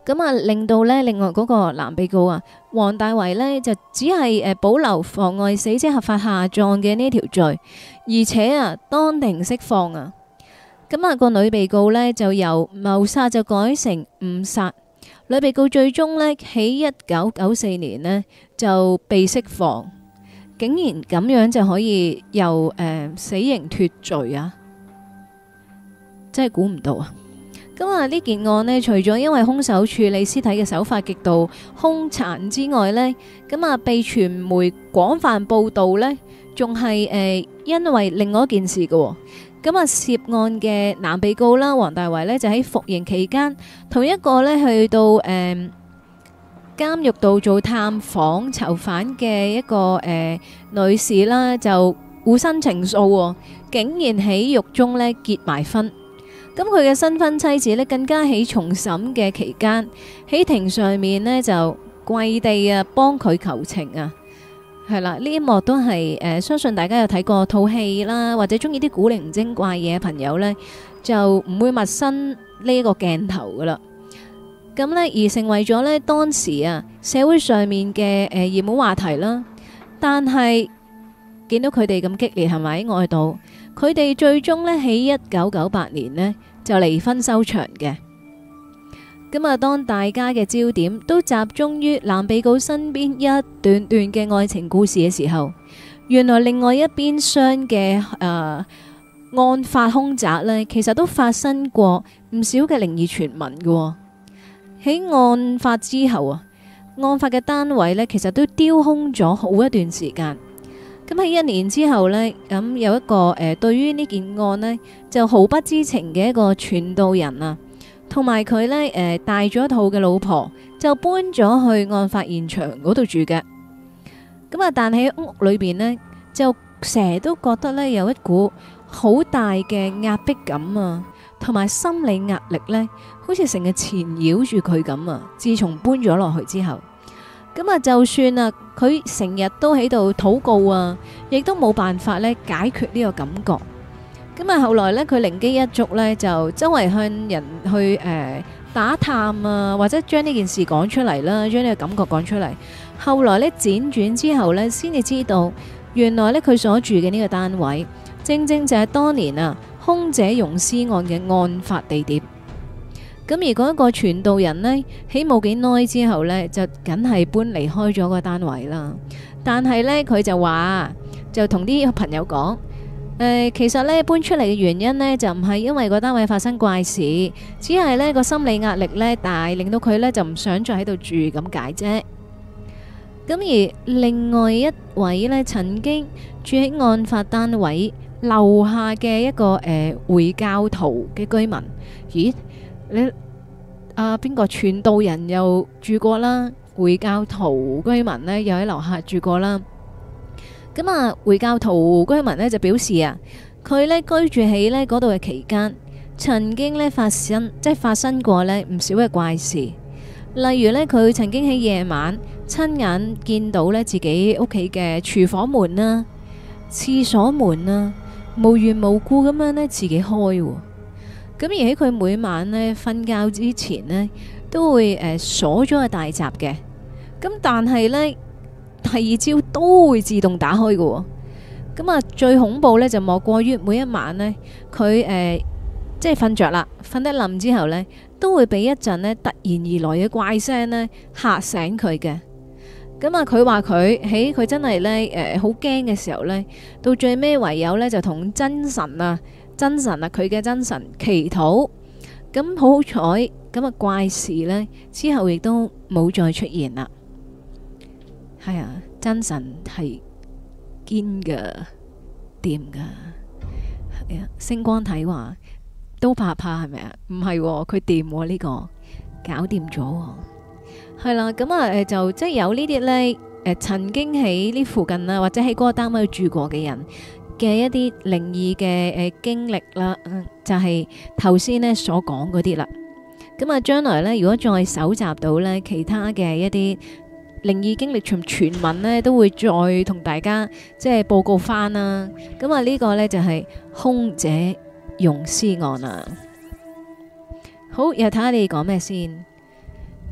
咁啊令到咧另外嗰個男被告啊黃大為呢，就只係誒保留妨礙死者合法下葬嘅呢條罪，而且啊當庭釋放啊。咁啊個女被告呢，就由謀殺就改成誤殺。女被告最終呢，喺一九九四年呢，就被釋放，竟然咁樣就可以由誒、呃、死刑脫罪啊！真係估唔到啊！咁啊呢件案呢，除咗因為兇手處理屍體嘅手法極度兇殘之外呢，咁啊被傳媒廣泛報導呢，仲係誒因為另外一件事嘅喎。咁啊，涉案嘅男被告啦，黃大為呢，就喺服刑期間，同一個呢去到誒、呃、監獄度做探訪囚犯嘅一個誒、呃、女士啦，就互生情愫，竟然喺獄中呢結埋婚。咁佢嘅新婚妻子呢，更加喺重審嘅期間喺庭上面呢，就跪地啊幫佢求情啊！係啦，呢一幕都係誒、呃，相信大家有睇過套戲啦，或者中意啲古靈精怪嘢嘅朋友呢，就唔會陌生呢個鏡頭噶啦。咁呢，而成為咗呢當時啊社會上面嘅誒熱門話題啦。但係見到佢哋咁激烈係咪喺外度？佢哋最終呢，喺一九九八年呢，就離婚收場嘅。咁啊，當大家嘅焦點都集中於男被告身邊一段段嘅愛情故事嘅時候，原來另外一邊廂嘅誒案發兇宅呢，其實都發生過唔少嘅靈異傳聞嘅。喺案發之後啊，案發嘅單位呢，其實都丟空咗好一段時間。咁喺一年之後呢，咁有一個誒、呃、對於呢件案呢，就毫不知情嘅一個傳道人啊。同埋佢呢，誒、呃、帶咗一套嘅老婆就搬咗去案發現場嗰度住嘅。咁啊，但喺屋裏邊呢，就成日都覺得呢，有一股好大嘅壓迫感啊，同埋心理壓力呢，好似成日纏繞住佢咁啊。自從搬咗落去之後，咁啊，就算啊，佢成日都喺度禱告啊，亦都冇辦法呢解決呢個感覺。咁啊，後來呢，佢靈機一觸呢，就周圍向人去誒、呃、打探啊，或者將呢件事講出嚟啦，將呢個感覺講出嚟。後來呢，輾轉之後呢，先至知道原來呢，佢所住嘅呢個單位，正正就係當年啊兇者溶屍案嘅案發地點。咁而嗰一個傳道人呢，喺冇幾耐之後呢，就梗係搬離開咗個單位啦。但係呢，佢就話就同啲朋友講。誒、呃，其實咧搬出嚟嘅原因呢，就唔係因為個單位發生怪事，只係呢個心理壓力呢大，令到佢呢就唔想再喺度住咁解啫。咁而另外一位呢，曾經住喺案發單位樓下嘅一個誒、呃、回教徒嘅居民，咦？你啊邊個傳道人又住過啦？回教徒居民呢，又喺樓下住過啦。咁啊，回教徒居民呢就表示啊，佢呢居住喺呢嗰度嘅期間，曾經呢發生即係發生過呢唔少嘅怪事，例如呢，佢曾經喺夜晚親眼見到呢自己屋企嘅廚房門啦、廁所門啦，無緣無故咁樣呢自己開，咁而喺佢每晚呢瞓覺之前呢，都會誒鎖咗個大閘嘅，咁但係呢。第二朝都會自動打開嘅，咁啊最恐怖呢，就莫過於每一晚呢，佢誒、呃、即係瞓着啦，瞓得冧之後呢，都會俾一陣呢突然而來嘅怪聲呢嚇醒佢嘅。咁啊佢話佢喺佢真係呢誒好驚嘅時候呢，到最尾唯有呢就同真神啊真神啊佢嘅真神祈禱，咁好好彩，咁啊怪事呢之後亦都冇再出現啦。係啊，真神係堅噶，掂噶。係啊，星光體話都怕怕係咪啊？唔係，佢掂呢個，搞掂咗。係啦，咁啊，誒，就即係有呢啲呢，誒、呃，曾經喺呢附近啊，或者喺嗰個單位住過嘅人嘅一啲靈異嘅誒經歷啦，就係頭先呢所講嗰啲啦。咁啊，將來呢，如果再搜集到呢其他嘅一啲靈異經歷從傳聞呢，都會再同大家即係報告翻啦。咁啊呢個呢，就係兇者溶屍案啊。好，又睇下你哋講咩先。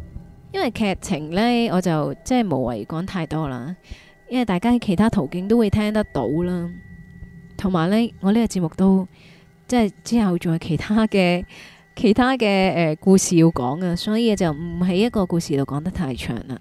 因為劇情呢，我就即係無謂講太多啦，因為大家喺其他途徑都會聽得到啦。同埋呢，我呢個節目都即係之後仲有其他嘅其他嘅誒、呃、故事要講啊，所以就唔喺一個故事度講得太長啦。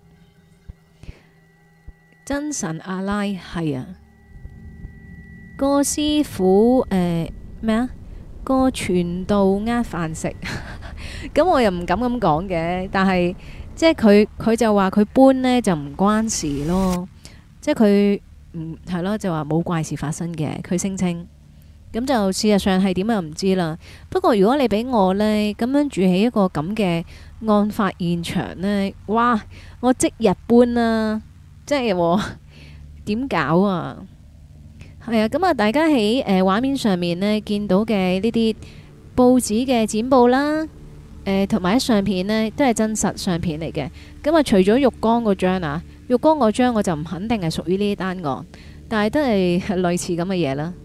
真神阿拉係啊，個師傅誒咩啊？個傳道呃飯食，咁我又唔敢咁講嘅，但係即係佢佢就話佢搬呢就唔關事咯，即係佢唔係咯，就話冇怪事發生嘅，佢聲稱。咁就事實上係點又唔知啦。不過如果你俾我呢，咁樣住喺一個咁嘅案發現場呢，哇！我即日搬啦，即係點搞啊？係啊，咁啊，大家喺誒畫面上面呢見到嘅呢啲報紙嘅剪報啦，誒同埋啲相片呢都係真實相片嚟嘅。咁啊，除咗浴缸嗰張啊，浴缸嗰張我就唔肯定係屬於呢單案，但係都係類似咁嘅嘢啦。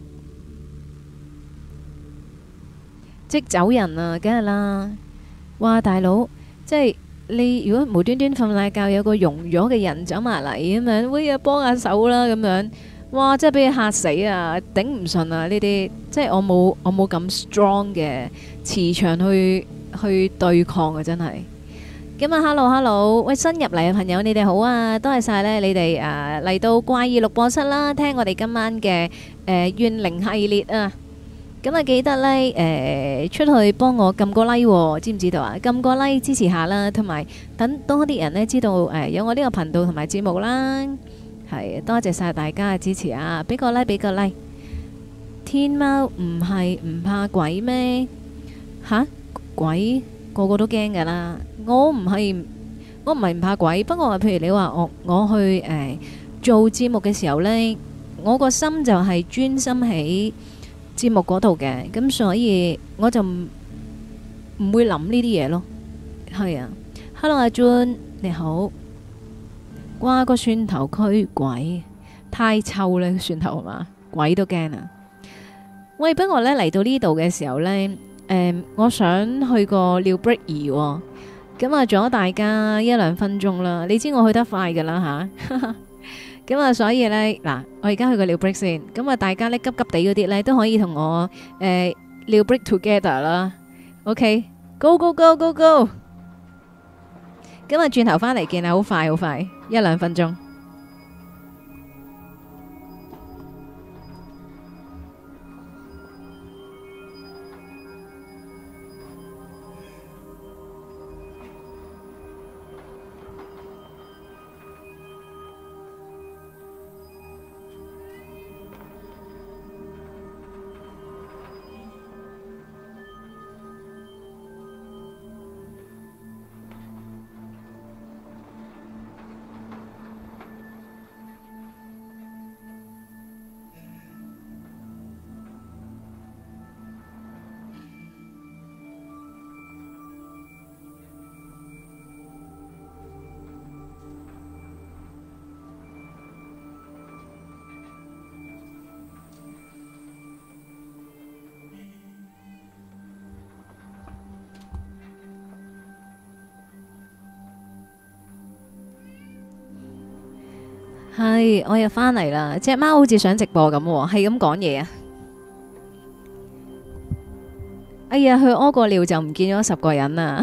即走人啊，梗係啦！哇，大佬，即係你如果無端端瞓大覺，有個溶咗嘅人走埋嚟咁樣，喂啊幫下手啦咁樣，哇！真係俾佢嚇死啊，頂唔順啊！呢啲即係我冇我冇咁 strong 嘅磁場去去對抗啊，真係。咁啊，hello hello，喂，新入嚟嘅朋友，你哋好啊，多謝晒呢，你哋誒嚟到怪異錄播室啦，聽我哋今晚嘅誒怨靈系列啊！咁啊，記得呢，誒、呃、出去幫我撳個 like，哦、知唔知道啊？撳個 like 支持下啦，同埋等多啲人呢知道誒、呃、有我呢個頻道同埋節目啦。係多謝晒大家嘅支持啊！俾個 like，俾個 like。天貓唔係唔怕鬼咩？吓，鬼個個都驚噶啦！我唔係我唔係唔怕鬼，不過譬如你話我我去誒、呃、做節目嘅時候呢，我個心就係專心喺節目嗰度嘅，咁所以我就唔唔會諗呢啲嘢咯。係啊 ，Hello 阿 Jun 你好，瓜個蒜頭驅鬼太臭啦，蒜頭係嘛，鬼都驚啊！喂，不過呢嚟到呢度嘅時候呢，誒、呃，我想去個尿 break 儀，咁啊，阻咗大家一兩分鐘啦。你知我去得快噶啦吓。咁啊，所以呢，嗱，我而家去個尿 break 先。咁啊，大家呢急急地嗰啲呢都可以同我誒尿 break together 啦。OK，go go go go go。咁啊，轉頭翻嚟見啊，好快好快，一兩分鐘。係，我又翻嚟啦。隻貓好似想直播咁，係咁講嘢啊！哎呀，去屙個尿就唔見咗十個人啦！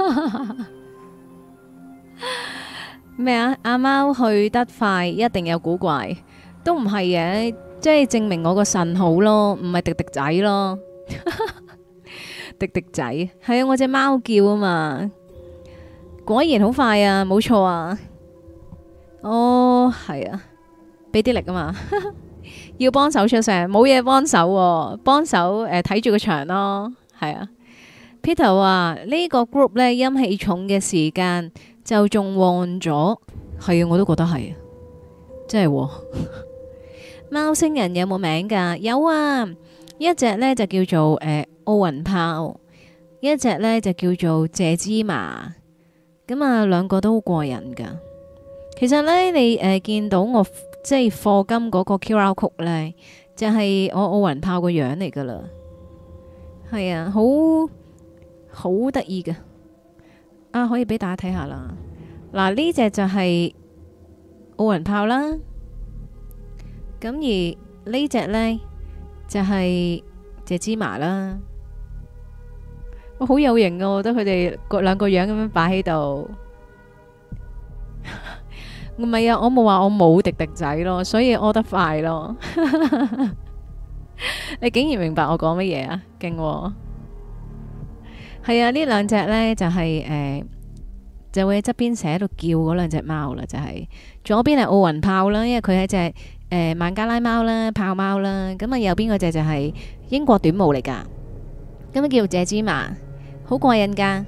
咩啊？阿貓去得快，一定有古怪，都唔係嘅，即係證明我個腎好咯，唔係迪迪仔咯。迪迪仔係啊，我隻貓叫啊嘛，果然好快啊，冇錯啊！哦，係啊，俾啲力啊嘛，要幫手出聲，冇嘢幫手，幫手誒睇住個場咯，係啊。Peter 話呢個 group 呢，陰氣重嘅時間就仲旺咗，係啊，我都覺得係，真係。貓星人有冇名噶？有啊，一隻呢就叫做誒奧運炮，一隻呢就叫做謝芝麻，咁啊兩個都好過癮噶。其實呢，你誒、呃、見到我即係課金嗰個 Q R code 呢，就係、是、我奧運炮個樣嚟噶啦，係啊，好好得意噶，啊可以俾大家睇下啦， 嗱，呢隻就係奧運炮啦，咁而呢隻呢，就係隻芝麻啦。我好有型啊！我覺得佢哋個兩個樣咁樣擺喺度。唔係啊，我冇話我冇迪迪仔咯，所以屙得快咯。你竟然明白我講乜嘢啊？勁喎！係啊，呢兩隻呢就係、是、誒、呃，就會喺側邊成日喺度叫嗰兩隻貓啦，就係、是、左邊係奧運豹啦，因為佢係隻誒孟加拉貓啦、豹貓啦，咁啊右邊嗰隻就係英國短毛嚟噶，咁啊叫謝芝麻，好過癮噶，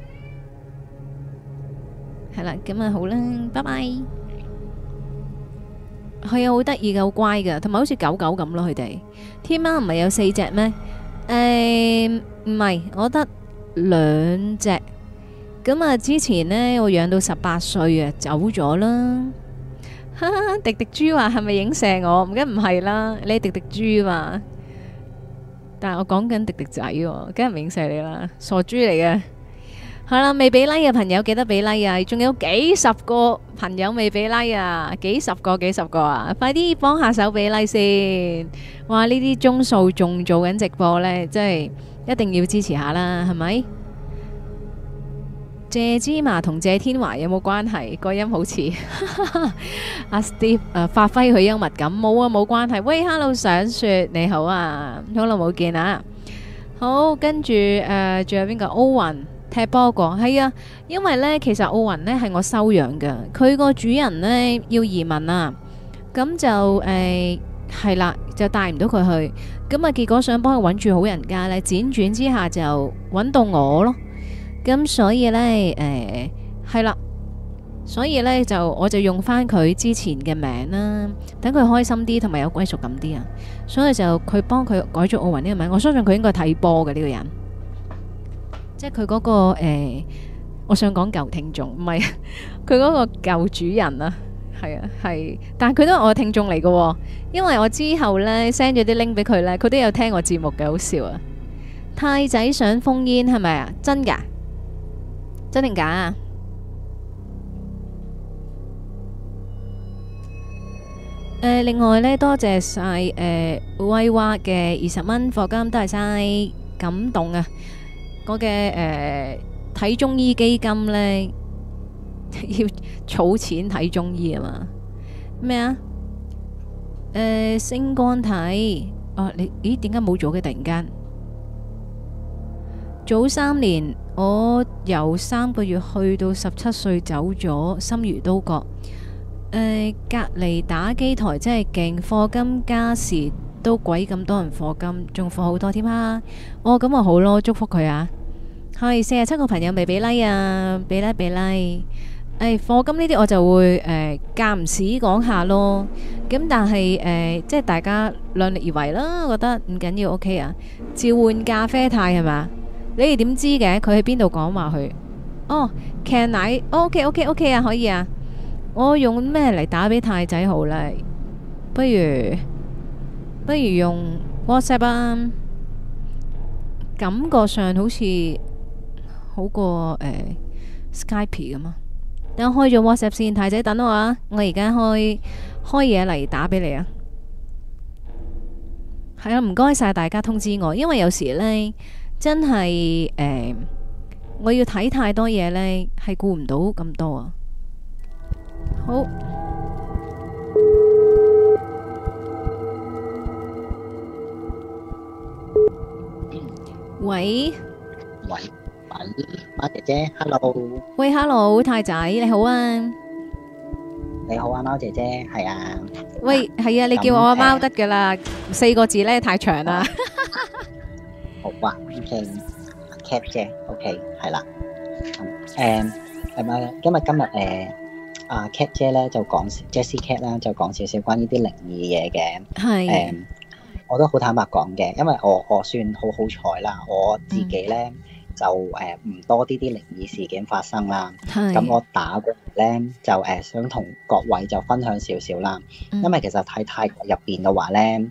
係啦，咁啊好啦，拜拜。係啊，好得意噶，好乖噶，同埋好似狗狗咁咯。佢哋天貓唔係有四隻咩？誒，唔係，我得兩隻。咁啊，之前呢，我養到十八歲啊，走咗啦。哈哈，迪迪豬話係咪影射我？唔梗唔係啦，你係迪迪豬嘛。但係我講緊迪迪仔喎，梗係唔影射你啦，傻豬嚟嘅。係啦，未俾 like 嘅朋友記得俾 like 啊！仲有幾十個朋友未俾 like 啊，幾十個幾十個啊！快啲幫下手俾 like 先！哇，呢啲鐘數仲做緊直播呢，真係一定要支持下啦，係咪？謝芝麻同謝天華有冇關係？個音好似阿 Steve 誒，發揮佢幽默感，冇啊，冇關係。喂，Hello 想雪你好啊，好耐冇見啊！好，跟住誒，仲有邊個？歐雲。踢波個係啊，因為呢，其實奧運呢係我收養嘅，佢個主人呢要移民啊，咁就誒係啦，就帶唔到佢去，咁啊結果想幫佢揾住好人家呢，輾轉之下就揾到我咯，咁所以呢，誒係啦，所以呢，就我就用翻佢之前嘅名啦，等佢開心啲同埋有歸屬感啲啊，所以就佢幫佢改咗奧運呢個名，我相信佢應該睇波嘅呢個人。即係佢嗰個誒、呃，我想講舊聽眾，唔係佢嗰個舊主人啊，係啊係，但係佢都係我嘅聽眾嚟嘅，因為我之後呢 send 咗啲 link 俾佢呢，佢都有聽我節目嘅，好笑啊！太仔想封煙係咪啊？真㗎？真定假啊？誒、呃，另外呢，多謝晒誒威娃嘅二十蚊課金，多謝晒，感動啊！我嘅誒睇中醫基金呢，要儲錢睇中醫啊嘛？咩啊？誒、呃、星光體啊，你咦點解冇咗嘅？突然間早三年，我由三個月去到十七歲走咗，心如刀割。誒、呃、隔離打機台真係勁，課金加時都鬼咁多人課金，仲課好多添啊！哦，咁咪好咯，祝福佢啊！係四十七個朋友未俾 like 啊，俾 like 俾 like。誒，課金呢啲我就會誒間唔時講下咯。咁但係誒，即係大家量力而為啦。我覺得唔緊要 ，OK 啊。召喚咖啡太係嘛？你哋點知嘅？佢喺邊度講話去？哦，騎奶 OK OK OK 啊，可以啊。我用咩嚟打俾太仔好呢？不如不如用 WhatsApp 啊。感覺上好似好過誒、呃、Skype 咁啊！等我開咗 WhatsApp 先，太仔等我啊！我而家開開嘢嚟打俾你啊！係啊，唔該晒大家通知我，因為有時呢，真係誒、呃，我要睇太多嘢呢，係顧唔到咁多啊！好，喂。 喂，喂，貓姐姐 ，hello。 喂，hello，太仔，你好啊。 你好啊，貓姐姐，係啊。 喂，係啊，你叫我阿貓得噶啦，四個字咧太長啦。 好啊，OK，Cat 姐，OK，係啦。誒，係咪？因為今日誒，阿 Cat 姐咧就講 Jessie Cat 啦，就講少少關於啲靈異嘢嘅。係。誒，我都好坦白講嘅，因為我我算好好彩啦，我自己咧。就誒唔、呃、多啲啲靈異事件發生啦，咁我打過嚟咧就誒、呃、想同各位就分享少少啦，嗯、因為其實喺泰國入邊嘅話咧，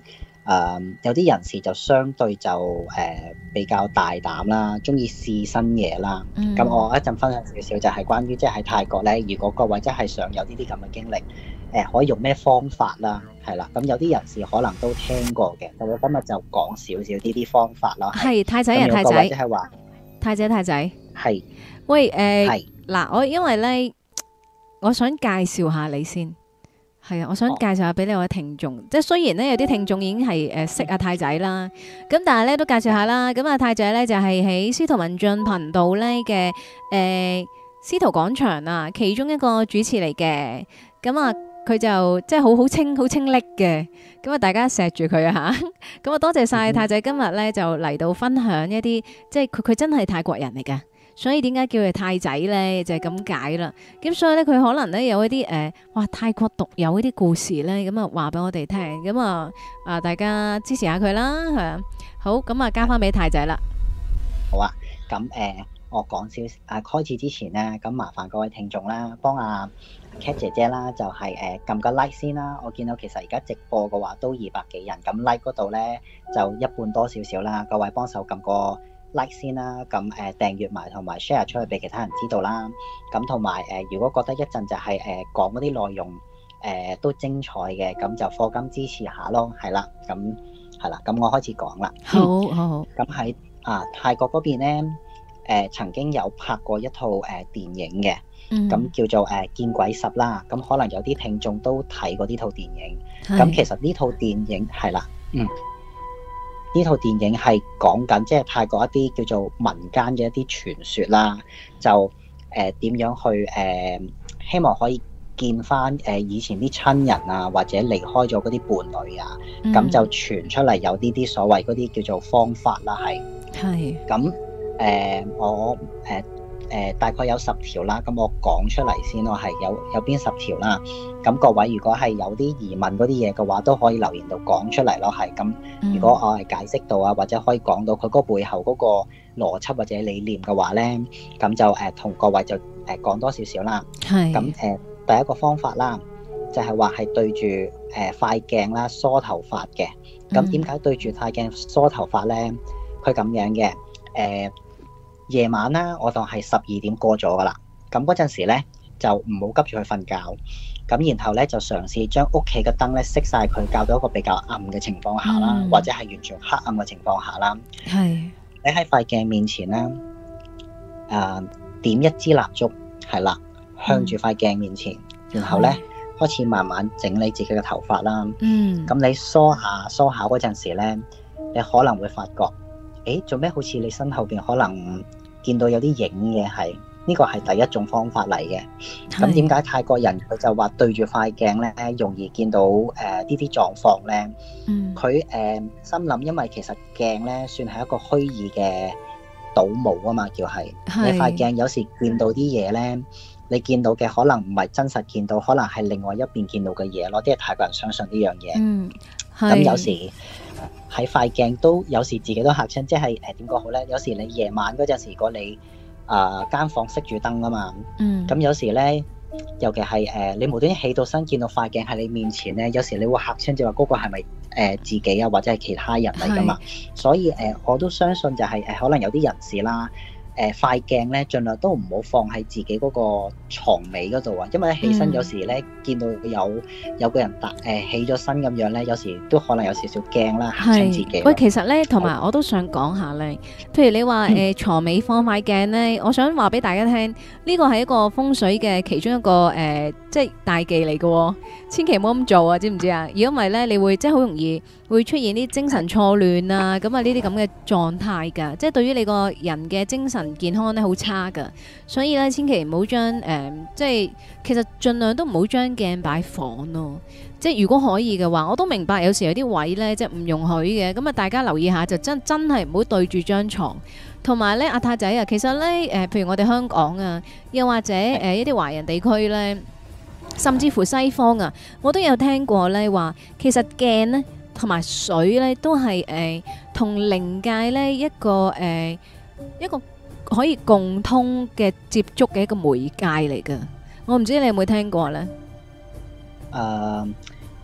呃、有啲人士就相對就誒、呃、比較大膽啦，中意試新嘢啦。咁、嗯、我一陣分享少少就係關於即係喺泰國咧，如果各位真係想有呢啲咁嘅經歷，誒、呃、可以用咩方法啦？係啦，咁有啲人士可能都聽過嘅，咁我今日就講少少呢啲方法啦。 係太仔啊，太仔， 即係話太仔太仔， 係喂誒， 係嗱，我因為咧，我想介紹下你先。係啊，我想介紹下俾你位聽眾，即係雖然咧有啲聽眾已經係誒識阿太仔啦，咁但係咧都介紹下啦。咁阿太仔咧就係喺司徒文進頻道咧嘅誒司徒廣場啊，其中一個主持嚟嘅。咁啊，佢就即係好好清好清叻嘅。咁啊，大家錫住佢啊吓。咁啊，多謝晒太仔今日咧就嚟到分享一啲，即係佢佢真係泰國人嚟嘅。所以點解叫佢太仔咧？就係咁解啦。咁所以咧，佢可能咧有一啲誒、呃，哇泰國獨有一啲故事咧，咁啊話俾我哋聽。咁啊啊，大家支持下佢啦，係啊。好，咁啊交翻俾太仔啦。 好啊，咁誒、呃，我講少啊，開始之前咧，咁麻煩各位聽眾啦，幫阿 Cat 姐姐啦，就係誒撳個 like 先啦。我見到其實而家直播嘅話都二百幾人，咁 like 嗰度咧就一半多少少啦。各位幫手撳個 like 先啦，咁誒、呃、訂閱埋同埋 share 出去俾其他人知道啦。咁同埋誒，如果覺得一陣就係、是、誒、呃、講嗰啲內容誒、呃、都精彩嘅，咁就課金支持下咯，係啦，咁係啦，咁我開始講啦。 好好好。 咁喺啊泰國嗰邊咧，誒、呃、曾經有拍過一套誒、呃、電影嘅，咁、嗯、叫做誒、呃、見鬼十啦。咁可能有啲聽眾都睇過呢套電影。咁其實呢套電影係啦，嗯。呢套電影係講緊即係泰國一啲叫做民間嘅一啲傳說啦，就誒點、呃、樣去誒、呃、希望可以見翻誒、呃、以前啲親人啊，或者離開咗嗰啲伴侶啊，咁、嗯、就傳出嚟有呢啲所謂嗰啲叫做方法啦，係係咁誒我誒。呃誒、呃、大概有十條啦，咁我講出嚟先咯，係有有邊十條啦。咁各位如果係有啲疑問嗰啲嘢嘅話，都可以留言度講出嚟咯，係咁。如果我係解釋到啊，或者可以講到佢嗰背後嗰個邏輯或者理念嘅話咧，咁就誒同、呃、各位就誒講、呃、多少少啦。係。咁誒、呃、第一個方法啦，就係話係對住誒塊鏡啦梳頭髮嘅。咁點解對住塊鏡梳頭髮咧？佢咁樣嘅誒。呃夜晚啦，我當係十二點過咗噶啦，咁嗰陣時咧就唔好急住去瞓覺，咁然後咧就嘗試將屋企嘅燈咧熄晒佢，校到一個比較暗嘅情況下啦，嗯、或者係完全黑暗嘅情況下啦。係你喺塊鏡面前咧，誒、呃、點一支蠟燭，係啦，向住塊鏡面前，嗯、然後咧開始慢慢整理自己嘅頭髮啦。嗯，咁你梳下梳下嗰陣時咧，你可能會發覺，誒做咩好似你身後邊可能見到有啲影嘅，係呢個係第一種方法嚟嘅。咁點解泰國人佢就話對住塊鏡咧容易見到誒、呃、呢啲狀況咧？嗯，佢誒、呃、心諗，因為其實鏡咧算係一個虛擬嘅倒模啊嘛，叫係你塊鏡有時見到啲嘢咧，你見到嘅可能唔係真實見到，可能係另外一邊見到嘅嘢咯。啲泰國人相信呢樣嘢。嗯，咁有時喺塊鏡都有時自己都嚇親，即係誒點講好咧？有時你夜晚嗰陣時，如果你啊間、呃、房熄住燈啊嘛，嗯，咁有時咧，尤其係誒、呃、你無端端起到身見到塊鏡喺你面前咧，有時你會嚇親，就話嗰個係咪誒自己啊，或者係其他人嚟噶嘛？所以誒、呃、我都相信就係、是、誒、呃、可能有啲人士啦。誒塊鏡咧，盡量都唔好放喺自己嗰個床尾嗰度啊，因為起身有時咧、嗯、見到有有個人突誒、呃、起咗身咁樣咧，有時都可能有少少驚啦，嚇親自己。 喂，其實咧，同埋我都想講下咧，譬如你話誒、呃、床尾放塊鏡咧，我想話俾大家聽，呢個係一個風水嘅其中一個誒、呃，即係大忌嚟嘅喎，千祈唔好咁做啊，知唔知啊？如果唔係咧，你會即係好容易會出現啲精神錯亂啊，咁啊呢啲咁嘅狀態㗎，即係對於你個人嘅精神健康咧好差噶，所以咧千祈唔好將誒，即係其實盡量都唔好將鏡擺房咯。即係如果可以嘅話，我都明白有時有啲位咧即係唔容許嘅，咁啊大家留意下就真真係唔好對住張床。同埋咧阿太仔啊，其實咧誒、呃，譬如我哋香港啊，又或者誒、呃、一啲華人地區咧，甚至乎西方啊，我都有聽過咧話，其實鏡咧同埋水咧都係誒同靈界咧一個誒。呃一個可以共通嘅接觸嘅一個媒介嚟噶，我唔知你有冇聽過咧？ 誒，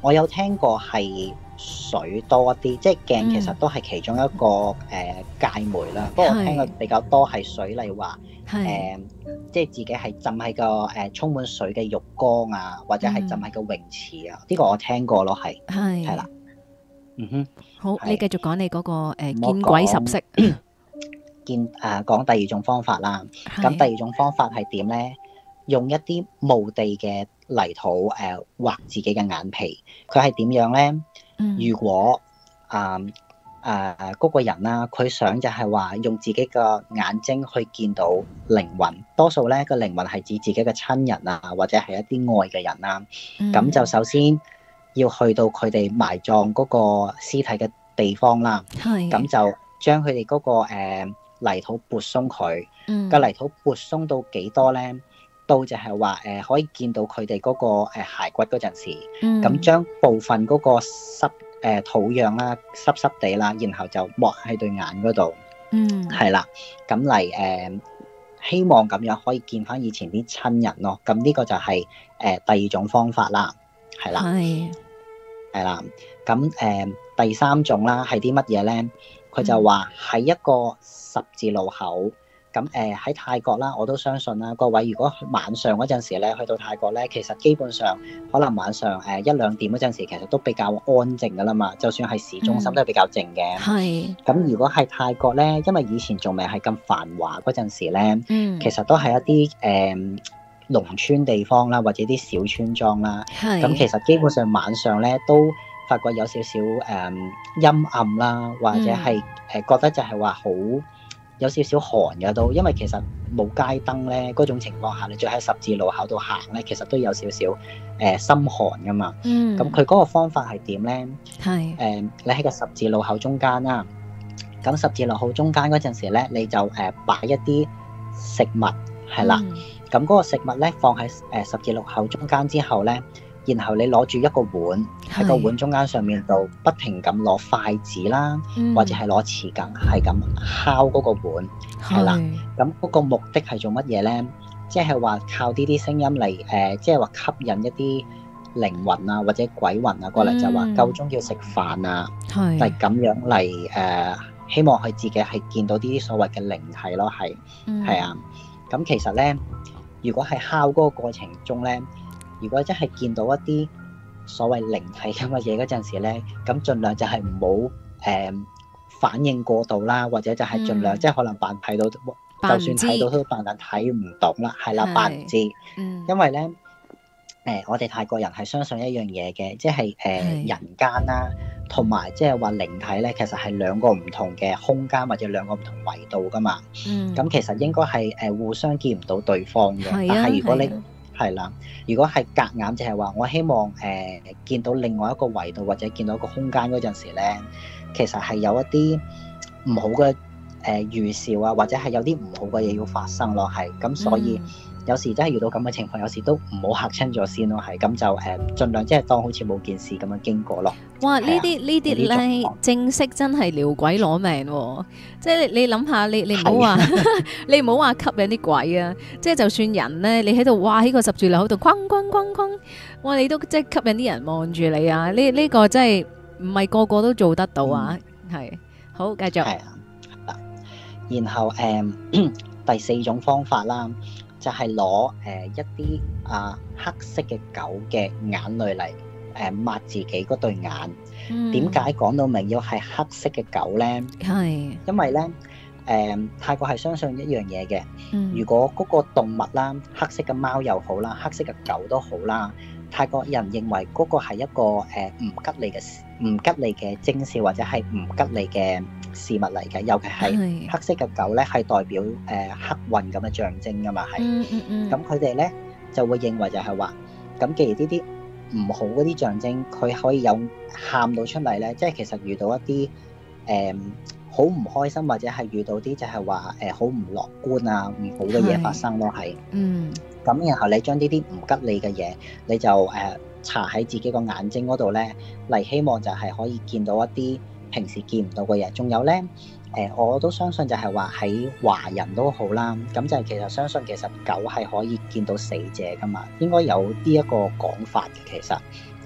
我有聽過係水多啲，即係鏡其實都係其中一個誒界媒啦。不過我聽過比較多係水，例如話誒，即係自己係浸喺個誒充滿水嘅浴缸啊，或者係浸喺個泳池啊。呢個我聽過咯，係係係啦。嗯哼， 好，你繼續講你嗰個誒我見鬼十式。 見誒講第二種方法啦。咁第二種方法係點咧？用一啲墓地嘅泥土誒畫自己嘅眼皮。佢係點樣咧？ 嗯如果啊誒嗰個人啦，佢想就係話用自己嘅眼睛去見到靈魂，多數咧個靈魂係指自己嘅親人啊，或者係一啲愛嘅人啦。咁、 嗯就首先要去到佢哋埋葬嗰個屍體嘅地方啦。 係咁就將佢哋嗰個誒、呃、泥土撥鬆佢。 嗯個泥土撥鬆到幾多咧？到就係話誒可以見到佢哋嗰個誒骸骨嗰陣時，咁、 嗯將部分嗰個濕誒、呃、土壤啦，濕濕地啦，然後就抹喺對眼嗰度， 嗯係啦，咁嚟誒希望咁樣可以見翻以前啲親人咯。咁呢個就係、是、誒、呃、第二種方法啦，係啦， 係係啦。咁誒、呃、第三種啦係啲乜嘢咧？佢就話喺一個十字路口。咁誒喺泰國啦，我都相信啦。各位如果晚上嗰陣時咧，去到泰國咧，其實基本上可能晚上誒一兩點嗰陣時，其實都比較安靜噶啦嘛。就算係市中心都係比較靜嘅。 係咁、如果係泰國咧，因為以前仲未係咁繁華嗰陣時咧， 嗯其實都係一啲誒、呃、農村地方啦，或者啲小村莊啦。 係咁其實基本上晚上咧都發覺有少少誒、呃、陰暗啦，或者係誒、呃、覺得就係話好。有少少寒嘅都，因為其實冇街燈咧，嗰種情況下，你再喺十字路口度行咧，其實都有少少誒心寒噶嘛。 嗯咁佢嗰個方法係點咧？ 係誒、呃，你喺個十字路口中間啦，咁十字路口中間嗰陣時咧，你就誒擺、呃、一啲食物係啦。咁嗰、嗯、個食物咧放喺誒十字路口中間之後咧。然後你攞住一個碗喺個碗中間上面度，不停咁攞筷子啦， 嗯或者係攞匙羹，係咁敲嗰個碗，係啦。咁嗰個目的係做乜嘢咧？即係話靠呢啲聲音嚟誒，即係話吸引一啲靈魂啊或者鬼魂啊過嚟，就話夠鐘要食飯啊， 係係咁樣嚟誒、呃，希望佢自己係見到呢啲所謂嘅靈體咯，係係啊。咁其實咧，如果係敲嗰個過程中咧。如果真係見到一啲所謂靈體咁嘅嘢嗰陣時咧，咁盡量就係唔好誒反應過度啦，或者就係盡量、嗯、即係可能扮睇到，就算睇到都扮但睇唔到啦，係啦，扮唔知。嗯、因為咧誒、呃，我哋泰國人係相信一樣嘢嘅，即係誒、呃、人間啦，同埋即係話靈體咧，其實係兩個唔同嘅空間或者兩個唔同維度噶嘛。嗯。咁其實應該係誒互相見唔到對方嘅，嗯、但係如果你係啦，如果係夾硬就係話，我希望誒、呃、見到另外一個維度或者見到一個空間嗰陣時咧，其實係有一啲唔好嘅誒、呃、預兆啊，或者係有啲唔好嘅嘢要發生咯，係咁，所以、嗯、有時真係遇到咁嘅情況，有時都唔好嚇親咗先咯，係咁就誒、呃、盡量即係當好似冇件事咁樣經過咯。 哇！呢啲呢啲咧正式真係撩鬼攞命喎、哦！即係你你諗下，你你唔好話你唔好話吸引啲鬼啊！即係就算人咧，你喺度哇喺個十字路口度哐哐哐哐，哇！你都即係吸引啲人望住你啊！呢呢、這個真係唔係個個都做得到啊！係、嗯、好繼續。係啊，然後誒、呃、第四種方法啦，就係攞誒一啲啊黑色嘅狗嘅眼淚嚟。誒抹自己嗰對眼，點解講到明要係黑色嘅狗咧？係是因為咧，誒、呃、泰國係相信一樣嘢嘅。嗯、如果嗰個動物啦，黑色嘅貓又好啦，黑色嘅狗都好啦，泰國人認為嗰個係一個誒唔、呃、吉利嘅唔吉利嘅徵兆，或者係唔吉利嘅事物嚟嘅。尤其係黑色嘅狗咧，係代表誒、呃、黑運咁嘅象徵噶嘛，係。嗯嗯嗯。咁佢哋咧就會認為就係話，咁既然呢啲唔好嗰啲象徵，佢可以有喊到出嚟咧，即係其實遇到一啲誒好唔開心，或者係遇到啲就係話誒好唔樂觀啊，唔好嘅嘢發生咯，係。嗯。咁然後你將呢啲唔吉利嘅嘢，你就誒搽喺自己個眼睛嗰度咧，嚟希望就係可以見到一啲平時見唔到嘅嘢。仲有咧。誒、呃，我都相信就係話喺華人都好啦，咁就係其實相信其實狗係可以見到死者噶嘛，應該有呢一個講法嘅，其實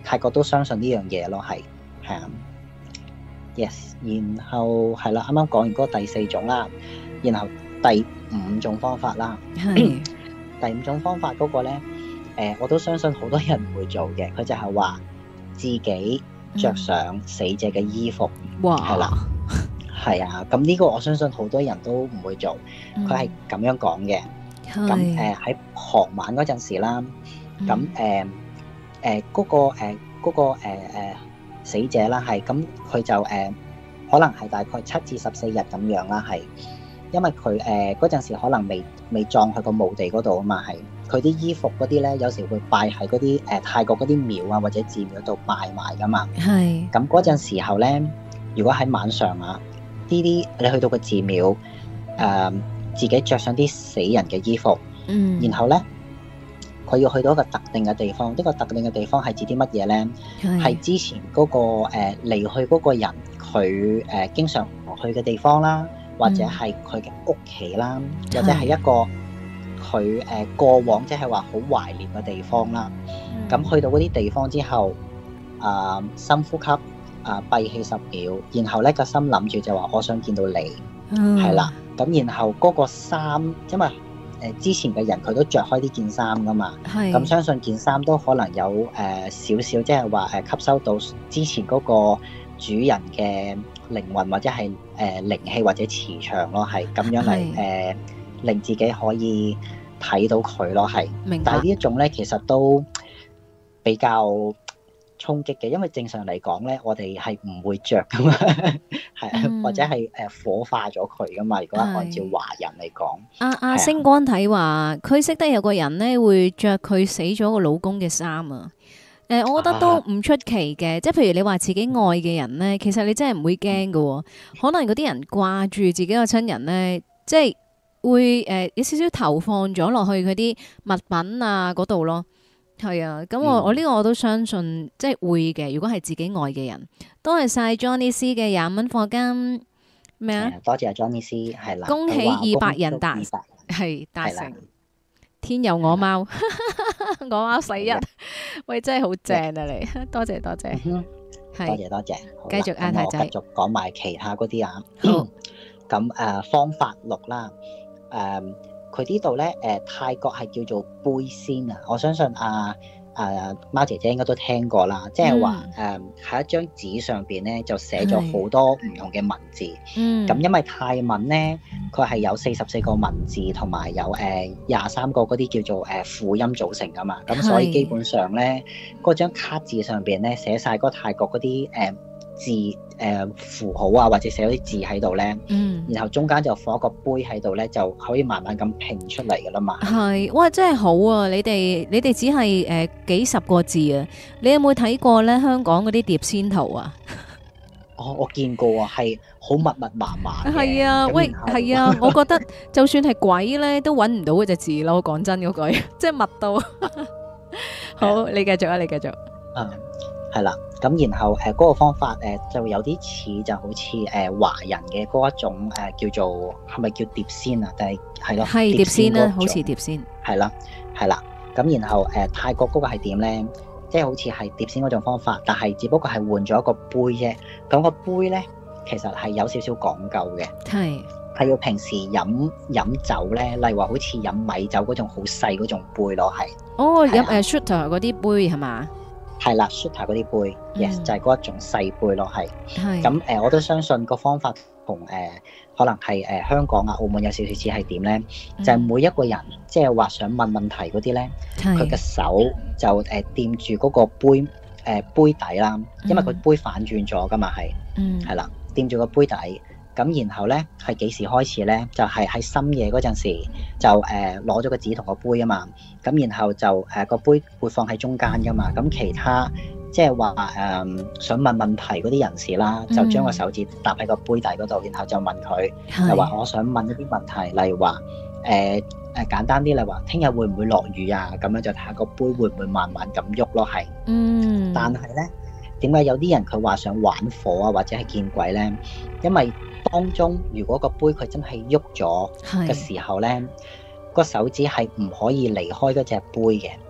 泰國都相信呢樣嘢咯，係係啊。Yes， 然後係啦，啱啱講完嗰個第四種啦，然後第五種方法啦， 係第五種方法嗰個咧，誒、呃、我都相信好多人唔會做嘅，佢就係話自己着上死者嘅衣服， 哇， 係啦，係啊，咁呢個我相信好多人都唔會做，佢係咁樣講嘅，咁誒喺傍晚嗰陣時啦，咁誒誒嗰個誒嗰、呃嗰個誒、呃、死者啦，係咁佢就誒、呃、可能係大概七至十四日咁樣啦，係因為佢誒嗰陣時可能未未葬去個墓地嗰度啊嘛，係佢啲衣服嗰啲咧，有時會拜喺嗰啲誒泰國嗰啲廟啊或者寺廟度拜埋噶嘛，係咁嗰陣時候咧，如果喺晚上啊呢啲你去到個寺廟誒、呃、自己着上啲死人嘅衣服，嗯，然後咧佢要去到一個特定嘅地方，呢、呢個特定嘅地方係指啲乜嘢咧？係之前嗰、嗰個誒離去嗰個人佢誒、呃、經常去嘅地方啦，或者係佢嘅屋企啦，或者係一個佢誒、呃、過往即係話好懷念嘅地方啦。咁、嗯、去到嗰啲地方之後，啊、呃、深呼吸，啊、呃、閉氣十秒，然後咧個心諗住就話我想見到你，係、嗯、啦。咁然後嗰個衫，因為誒、呃、之前嘅人佢都着開呢件衫噶嘛，咁相信件衫都可能有誒、呃、少少，即係話誒吸收到之前嗰個主人嘅靈魂或者係誒靈氣或者磁場咯，係咁樣嚟誒、呃、令自己可以睇到佢咯，係。明白。但係呢一種咧，其實都比較衝擊嘅，因為正常嚟講咧，我哋係唔會着噶嘛，係、嗯、或者係誒火化咗佢噶嘛。如果按照華人嚟講， 阿阿星光睇話，佢識得有個人咧會着佢死咗個老公嘅衫啊。誒、呃，我覺得都唔出奇嘅，即係譬如你話自己愛嘅人咧，其實你真係唔會驚㗎，可能嗰啲人掛住自己個親人咧，即係會誒、呃、有少少投放咗落去佢啲物品啊嗰度咯。係啊，咁我、嗯、我呢個我都相信，即係會嘅。如果係自己愛嘅人，多謝晒 Johnny C 嘅廿蚊課金咩啊？ 多謝 Johnny C 係啦， 恭喜二百人達係達成。天佑我貓，我貓十一，喂真係好正啊你，多謝多謝， 嗯、多謝多謝， 繼續阿太仔， 繼續講埋其他嗰啲啊。咁誒、呃、方法六啦，誒、呃。佢呢度咧，誒、呃、泰國係叫做杯仙啊！我相信啊啊貓姐姐應該都聽過啦，即係話誒喺一張紙上邊咧就寫咗好多唔同嘅文字。嗯，咁因為泰文咧，佢係有四十四個文字同埋有誒廿三個嗰啲叫做誒輔音組成噶嘛，咁所以基本上咧嗰張卡紙上邊咧寫晒嗰泰國嗰啲誒字誒、呃、符號啊，或者寫咗啲字喺度咧，嗯，然後中間就放一個杯喺度咧，就可以慢慢咁拼出嚟噶啦嘛。係， 哇，真係好啊！你哋你哋只係誒、呃、幾十個字啊！你有冇睇過咧香港嗰啲碟仙圖啊？ 哦，我見過啊，係好密密麻麻。 係啊，喂，係啊，我覺得就算係鬼咧都揾唔到嗰隻字咯。講真嗰句，即係密到。好，你繼續啊，你繼續。 嗯。係啦，咁然後誒嗰、呃那個方法誒、呃、就有啲似就好似誒、呃、華人嘅嗰一種誒、呃、叫做係咪叫碟仙啊？定係係咯？ 係碟仙啦，好似碟仙。 係啦，係啦，咁然後誒、呃、泰國嗰個係點咧？即係好似係碟仙嗰種方法，但係只不過係換咗一個杯啫。咁、那個杯咧，其實係有少少講究嘅。係係要平時飲飲酒咧，例如話好似飲米酒嗰種好細嗰種杯咯，係。哦，飲誒 shooter 嗰啲杯係嘛？ 係啦 shooter 嗰啲杯、嗯、yes 就係嗰一種細杯咯，係。係。咁誒、呃，我都相信個方法同誒、呃、可能係誒、呃、香港啊、澳門有少少似係點咧？就係、是、每一個人即係話想問問題嗰啲咧，佢嘅手就誒掂住嗰個杯誒、呃、杯底啦，因為佢杯反轉咗噶嘛，係。嗯。係啦，掂住個杯底。咁然後咧係幾時開始咧？就係、是、喺深夜嗰陣時就誒攞咗個紙同個杯啊嘛。咁然後就誒個、呃、杯會放喺中間噶嘛。咁其他即係話誒想問問題嗰啲人士啦，就將個手指搭喺個杯底嗰度，然後就問佢，就話我想問一啲問題，例如話誒誒簡單啲，例如話聽日會唔會落雨啊？咁樣就睇下個杯會唔會慢慢咁喐咯，係。嗯。但係咧，點解有啲人佢話想玩火啊，或者係見鬼咧？因為當中如果個杯佢真係喐咗嘅時候咧，個手指係唔可以離開嗰隻杯嘅。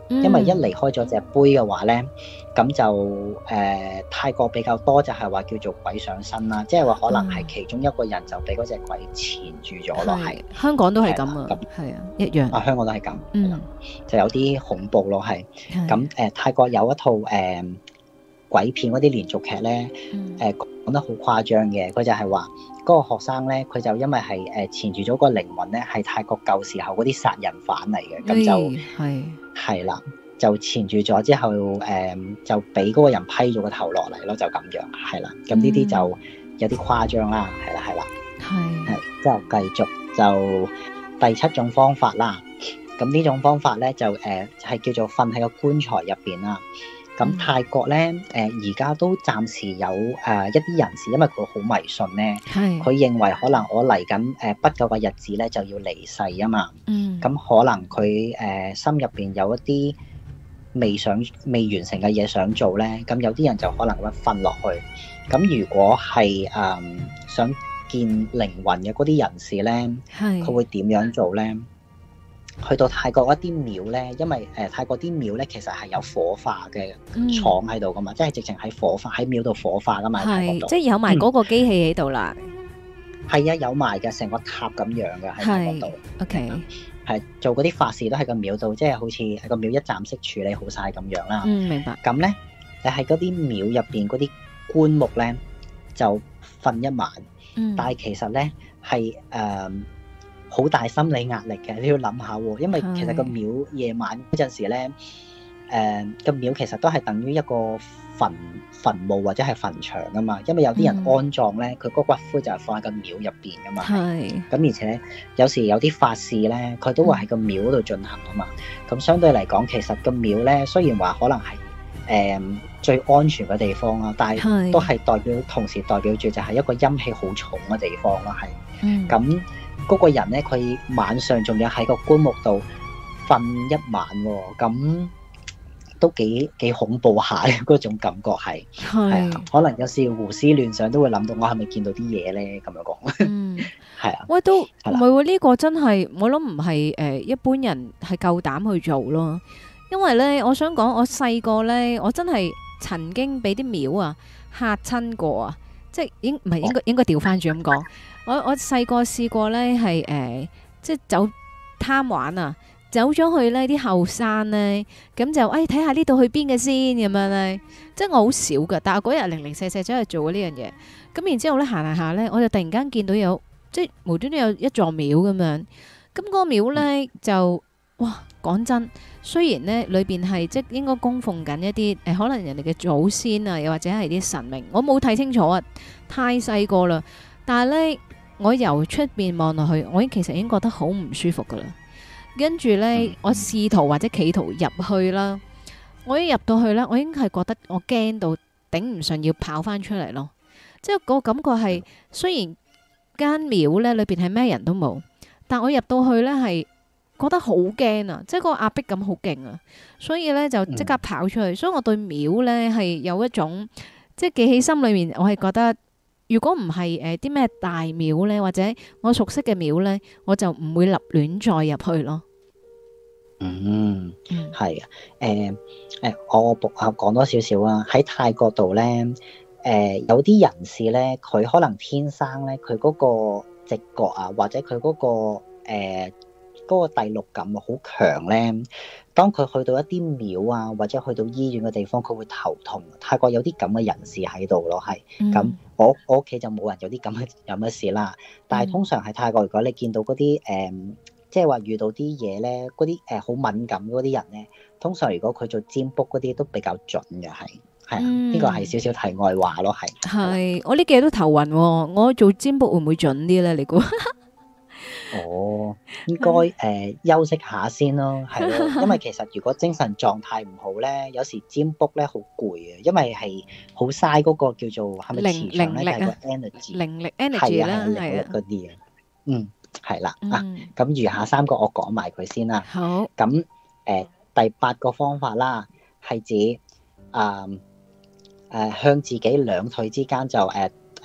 因為一離開咗隻杯嘅話咧，咁就誒、呃、泰國比較多就係話叫做鬼上身啦，即係話可能係其中一個人就俾嗰隻鬼纏住咗咯，係、 嗯、香港都係咁啊，係啊，一樣啊，香港都係咁， 嗯， 就有啲恐怖咯，係咁誒。泰國有一套誒、呃、鬼片嗰啲連續劇咧，誒講、嗯呃、得好誇張嘅，佢就係話嗰個學生咧，佢就因為係誒纏住咗個靈魂咧，係泰國舊時候嗰啲殺人犯嚟嘅，咁就係係啦，就纏住咗之後，誒、呃、就俾嗰個人批咗個頭落嚟咯，就咁樣係啦。咁呢啲就有啲誇張啦，係啦係啦，係係之後繼續就第七種方法啦。咁呢種方法咧就誒係、呃、叫做瞓喺個棺材入邊啦。咁泰國咧誒而家都暫時有誒、呃、一啲人士，因為佢好迷信咧，佢認為可能我嚟緊誒不久嘅日子咧就要離世啊嘛。嗯，咁可能佢誒、呃、心入邊有一啲未想未完成嘅嘢想做咧，咁有啲人就可能會瞓落去。咁如果係誒、呃、想見靈魂嘅嗰啲人士咧，佢會點樣做咧？去到泰國一啲廟咧，因為誒、呃、泰國啲廟咧其實係有火化嘅廠喺度噶嘛，嗯、即係直情喺火化喺廟度火化噶嘛。係， 即係有埋嗰個機器喺度啦。 係、嗯、啊，有埋嘅，成個塔咁樣嘅喺泰國度。OK，係做嗰啲法事都喺個廟度，即係好似喺個廟一站式處理好晒咁樣啦。 嗯，明白。 咁咧，你喺嗰啲廟入邊嗰啲棺木咧，就瞓一晚。嗯、但係其實咧係誒。好大心理壓力嘅，你要諗下喎，因為其實個廟夜晚嗰陣時咧，誒個廟其實都係等於一個墳墳墓或者係墳場噶嘛，因為有啲人安葬咧，佢嗰、嗯、骨灰就係放喺個廟入邊噶嘛，係，咁而且有時有啲法事咧，佢都會喺個廟嗰度進行啊嘛，咁、嗯、相對嚟講，其實個廟咧雖然話可能係誒、呃、最安全嘅地方啦，但係都係代表同時代表住就係一個陰氣好重嘅地方咯，係，咁、嗯。嗰個人咧，佢晚上仲要喺個棺木度瞓一晚喎、哦，咁都幾幾恐怖下嘅嗰種感覺係，係啊，可能有時胡思亂想都會諗到我係咪見到啲嘢咧咁樣講，嗯，係啊， 喂，都唔係喎，呢、呢個真係我諗唔係誒一般人係夠膽去做咯，因為咧，我想講我細個咧，我真係曾經俾啲廟啊嚇親過啊，即係應唔係應該、哦、應該調翻轉咁講。我我細個試過咧，係誒、呃，即係走貪玩啊，走咗去呢啲後山咧，咁就誒睇下呢度去邊嘅先咁樣咧，即係我好少噶，但係嗰日零零舍舍走去做呢樣嘢，咁然之後咧行下下咧，我就突然間見到有即係無端端有一座廟咁樣，咁嗰個廟咧就哇講真，雖然咧裏邊係即係應該供奉緊一啲誒、呃、可能人哋嘅祖先啊，又或者係啲神明，我冇睇清楚啊，太細個啦，但係咧。我由出邊望落去，我已經其實已經覺得好唔舒服噶啦。跟住呢，我試圖或者企圖入去啦。我一入到去呢，我已經係覺得我驚到頂唔順，要跑翻出嚟咯。即係個感覺係，雖然間廟呢裏邊係咩人都冇，但我入到去呢係覺得好驚啊！即係個壓迫感好勁啊，所以呢，就即刻跑出去。所以我對廟呢係有一種即係記喺心裏面，我係覺得。如果唔係誒啲咩大廟咧，或者我熟悉嘅廟咧，我就唔會立亂再入去咯。 嗯，係啊，誒、呃、誒，我補下講多少少啊。喺泰國度咧，誒、呃、有啲人士咧，佢可能天生咧，佢嗰個直覺啊，或者佢嗰、嗰個誒。呃嗰個第六感好強咧，當佢去到一啲廟啊，或者去到醫院嘅地方，佢會頭痛。泰國有啲咁嘅人士喺度咯，係咁、嗯。我我屋企就冇人有啲咁嘅咁嘅事啦。但係通常喺泰國，如果你見到嗰啲誒，即係話遇到啲嘢咧，嗰啲誒好敏感嗰啲人咧，通常如果佢做占卜嗰啲都比較準嘅，係係啊。呢個係少少題外話咯，係。係我呢幾日都頭暈喎，我做占卜會唔會準啲咧？你估？哦，應該誒、呃、休息下先咯，係咯，因為其實如果精神狀態唔好咧，有時占卜咧好攰啊，因為係好嘥嗰個叫做係咪磁場咧，係個 energy，靈力 energy 啦，係啊，嗰啲啊，嗯，係啦、嗯、啊，咁餘下三個我講埋佢先啦。好，咁誒、呃、第八個方法啦，係指誒誒、呃呃、向自己兩腿之間就誒。呃誒、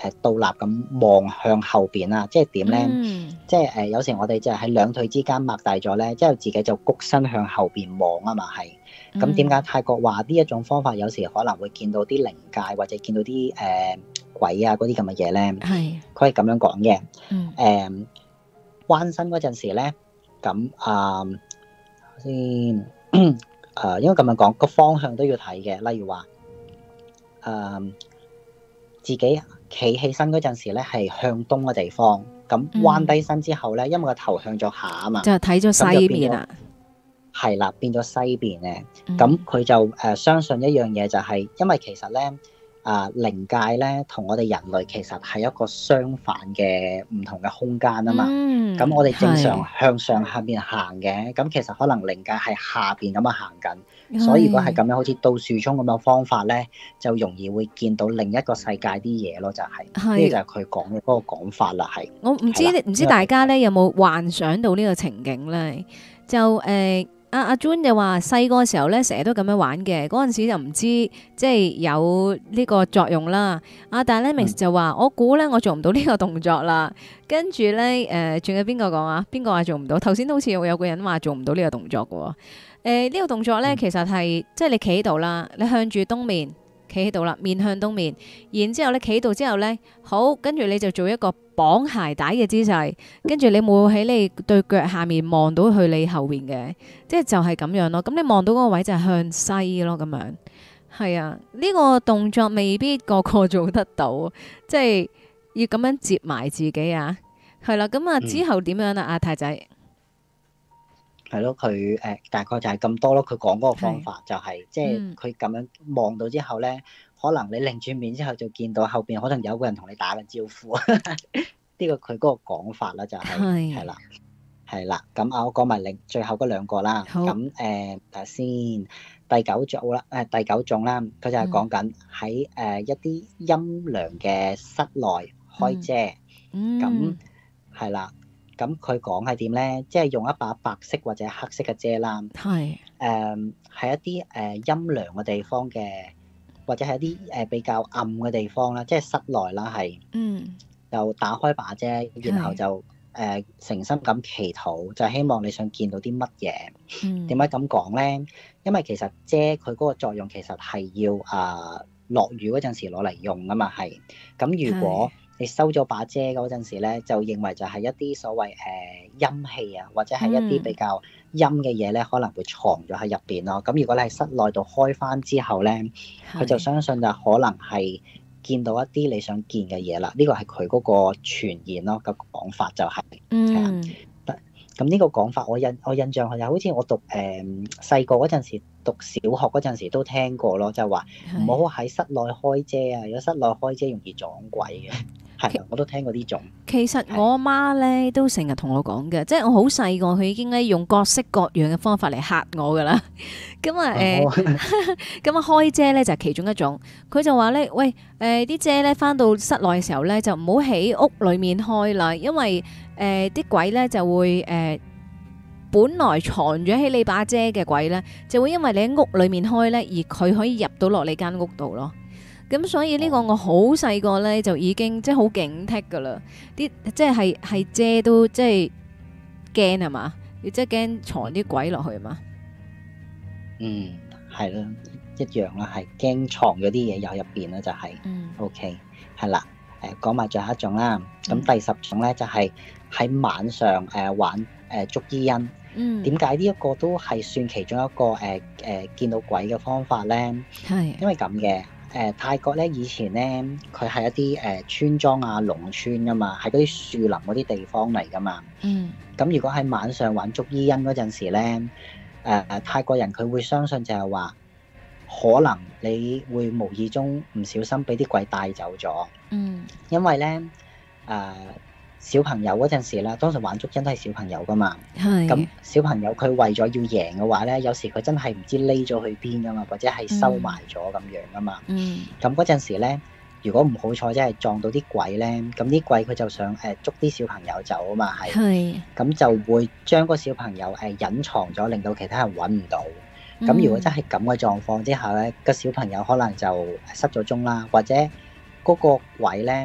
誒倒立咁望向後邊啦，即係點咧？ 嗯即係誒有時我哋就係喺兩腿之間擘大咗咧，之後自己就谷身向後邊望啊嘛，係。咁點解泰國話呢一種方法有時可能會見到啲靈界或者見到啲誒、呃、鬼啊嗰啲咁嘅嘢咧？ 係佢係咁樣講嘅。 嗯誒彎身嗰陣時咧，咁啊先誒應該咁樣講，個方向都要睇嘅。例如話誒、呃、自己企起身嗰陣時咧，係向東嘅地方。咁彎低身之後咧，因為個頭向咗下啊嘛， 就睇咗西面啦。 係啦，變咗西邊咧。 嗯咁佢就誒、呃、相信一樣嘢就係、是，因為其實咧啊靈界咧同我哋人類其實係一個相反嘅唔同嘅空間啊嘛。 嗯， 咁我哋正常係向上下邊行嘅，咁其實可能靈界係下邊咁樣行緊。 係所以如果係咁樣，好似倒樹衝咁樣方法咧，就容易會見到另一個世界啲嘢咯，就係、是、呢係個就係佢講嘅嗰個講法啦，係。 我唔知係啦唔知大家咧有冇幻想到呢個情景咧？就誒阿阿 June 就話細個時候咧，成日都咁樣玩嘅，嗰陣時就唔知即係有呢個作用啦。阿但係咧 Mix 就話我估咧我做唔到呢個動作啦。跟住咧誒，仲、呃、有邊個講啊？邊個話做唔到？頭先好似有有個人話做唔到呢個動作嘅喎。誒、呃、呢、呢個動作咧，其實係即係你企喺度啦，你向住東面。企喺度啦，面向東面，然之後咧企喺度之後咧，好，跟住你就做一個綁鞋帶嘅姿勢，跟住你冇喺你對腳下面望到去你後邊嘅，即係就係咁樣咯。咁你望到嗰個位就係向西咯，咁樣係啊。呢個動作未必個個做得到，即係要咁樣接埋自己啊。係啦，咁啊之後點樣啊？阿太仔係咯，佢誒大概就係咁多咯。佢講嗰個方法就係、是，即係佢咁樣望到之後咧，可能你擰轉面之後就見到後邊可能有個人同你打緊招呼。呢個佢嗰個講法啦，就係係啦，係啦。咁啊，我講埋另最後嗰兩個啦。咁誒睇下先，第九組啦，誒第九種啦，佢就係講緊喺誒一啲陰涼嘅室內開遮。咁係啦。咁佢講係點咧？即係用一把白色或者黑色嘅遮啦。係誒，喺一啲誒陰涼嘅地方嘅，或者係一啲誒比較暗嘅地方啦，即係室內啦，係。嗯。就打開把遮，然後就誒、呃、誠心咁祈禱，就希望你想見到啲乜嘢。嗯。點解咁講咧？因為其實遮佢嗰個作用其實係要啊落雨嗰陣時攞嚟用啊嘛，係。咁如果你收咗把遮嗰陣時咧，就認為就係一啲所謂誒、呃、陰氣啊，或者係一啲比較陰嘅嘢咧，可能會藏咗喺入邊咯。咁如果你喺室內度開翻之後咧，佢就相信就可能係見到一啲你想見嘅嘢啦。呢個係佢嗰個傳言咯，個講法就係、是，係啊、嗯。咁呢個講法我印我印象係好似我讀誒細個嗰陣時讀小學嗰陣時都聽過咯，就話唔好喺室內開遮啊，如果室內開遮容易撞鬼嘅。係，我都聽過呢種。其實我阿媽咧都成日同我講嘅，即係我好細個，佢已經咧用各式各樣嘅方法嚟嚇我噶啦。咁啊誒，咁啊開遮咧就係其中一種。佢就話咧，喂誒啲遮咧翻到室內嘅時候咧，就唔好喺屋裡面開啦，因為誒啲鬼咧就會誒，本來藏咗喺你把遮嘅鬼咧，就會因為你喺屋裡面開咧，而佢可以入到落你間屋度咯。咁所以呢個我好細個咧就已經即係好警惕噶啦，啲即係係遮都即係驚係嘛，要即係驚藏啲鬼落去嘛。 嗯，係啦，一樣啦，係驚藏咗啲嘢有入邊啦，就係、是。嗯。O K，係啦，誒講埋最後一種啦。咁、嗯、第十種咧就係、是、喺晚上誒、呃、玩誒、呃、捉伊人。嗯。點解呢一個都係算其中一個誒誒、呃呃、見到鬼嘅方法咧？係。因為咁嘅。誒、呃、泰國咧以前咧，佢係一啲誒、呃、村莊啊、農村噶嘛，係嗰啲樹林嗰啲地方嚟噶嘛。嗯。咁如果喺晚上玩捉伊人嗰陣時咧，誒、呃、泰國人佢會相信就係話，可能你會無意中唔小心俾啲鬼帶走咗。嗯。因為咧，誒、呃。小朋友嗰陣時啦，當時玩捉伊人都係小朋友噶嘛。係。咁小朋友佢為咗要贏嘅話咧，有時佢真係唔知匿咗去邊噶嘛，或者係收埋咗咁樣噶嘛。嗯。咁嗰陣時咧，如果唔好彩真係撞到啲鬼咧，咁啲鬼佢就想誒捉啲小朋友走啊嘛，係。係。咁就會將個小朋友誒隱藏咗，令到其他人揾唔到。咁、嗯、如果真係咁嘅狀況之下咧，個小朋友可能就失咗蹤啦，或者嗰個鬼咧。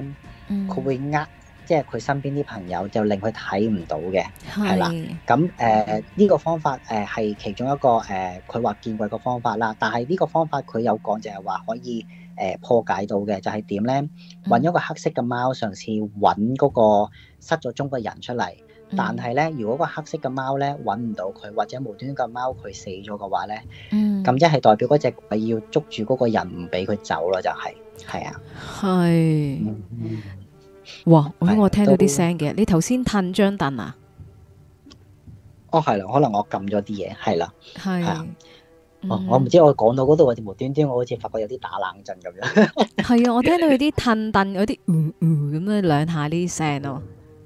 佢會呃，即係佢身邊啲朋友，就令佢睇唔到嘅，係啦。 係咁誒呢個方法誒係其中一個誒，佢話見過個方法啦。但係呢個方法佢有講就係話可以誒破解到嘅，就係點咧？揾一個黑色嘅貓，嘗試揾嗰個失咗蹤嘅人出嚟。但係咧，如果個黑色嘅貓咧揾唔到佢，或者無端端個貓佢死咗嘅話咧，咁即係代表嗰隻鬼要捉住嗰個人唔俾佢走咯，就係係啊。 係。 嗯哇！我我聽到啲都聲嘅，你頭先褪張凳啊？ 哦，係啦，可能我撳咗啲嘢，係啦，係啊。 係。 哦，我唔知我講到嗰度，我無端端我好似發覺有啲打冷震咁樣。 係啊，我聽到有啲褪凳，有啲嗯嗯咁樣兩下呢啲聲咯。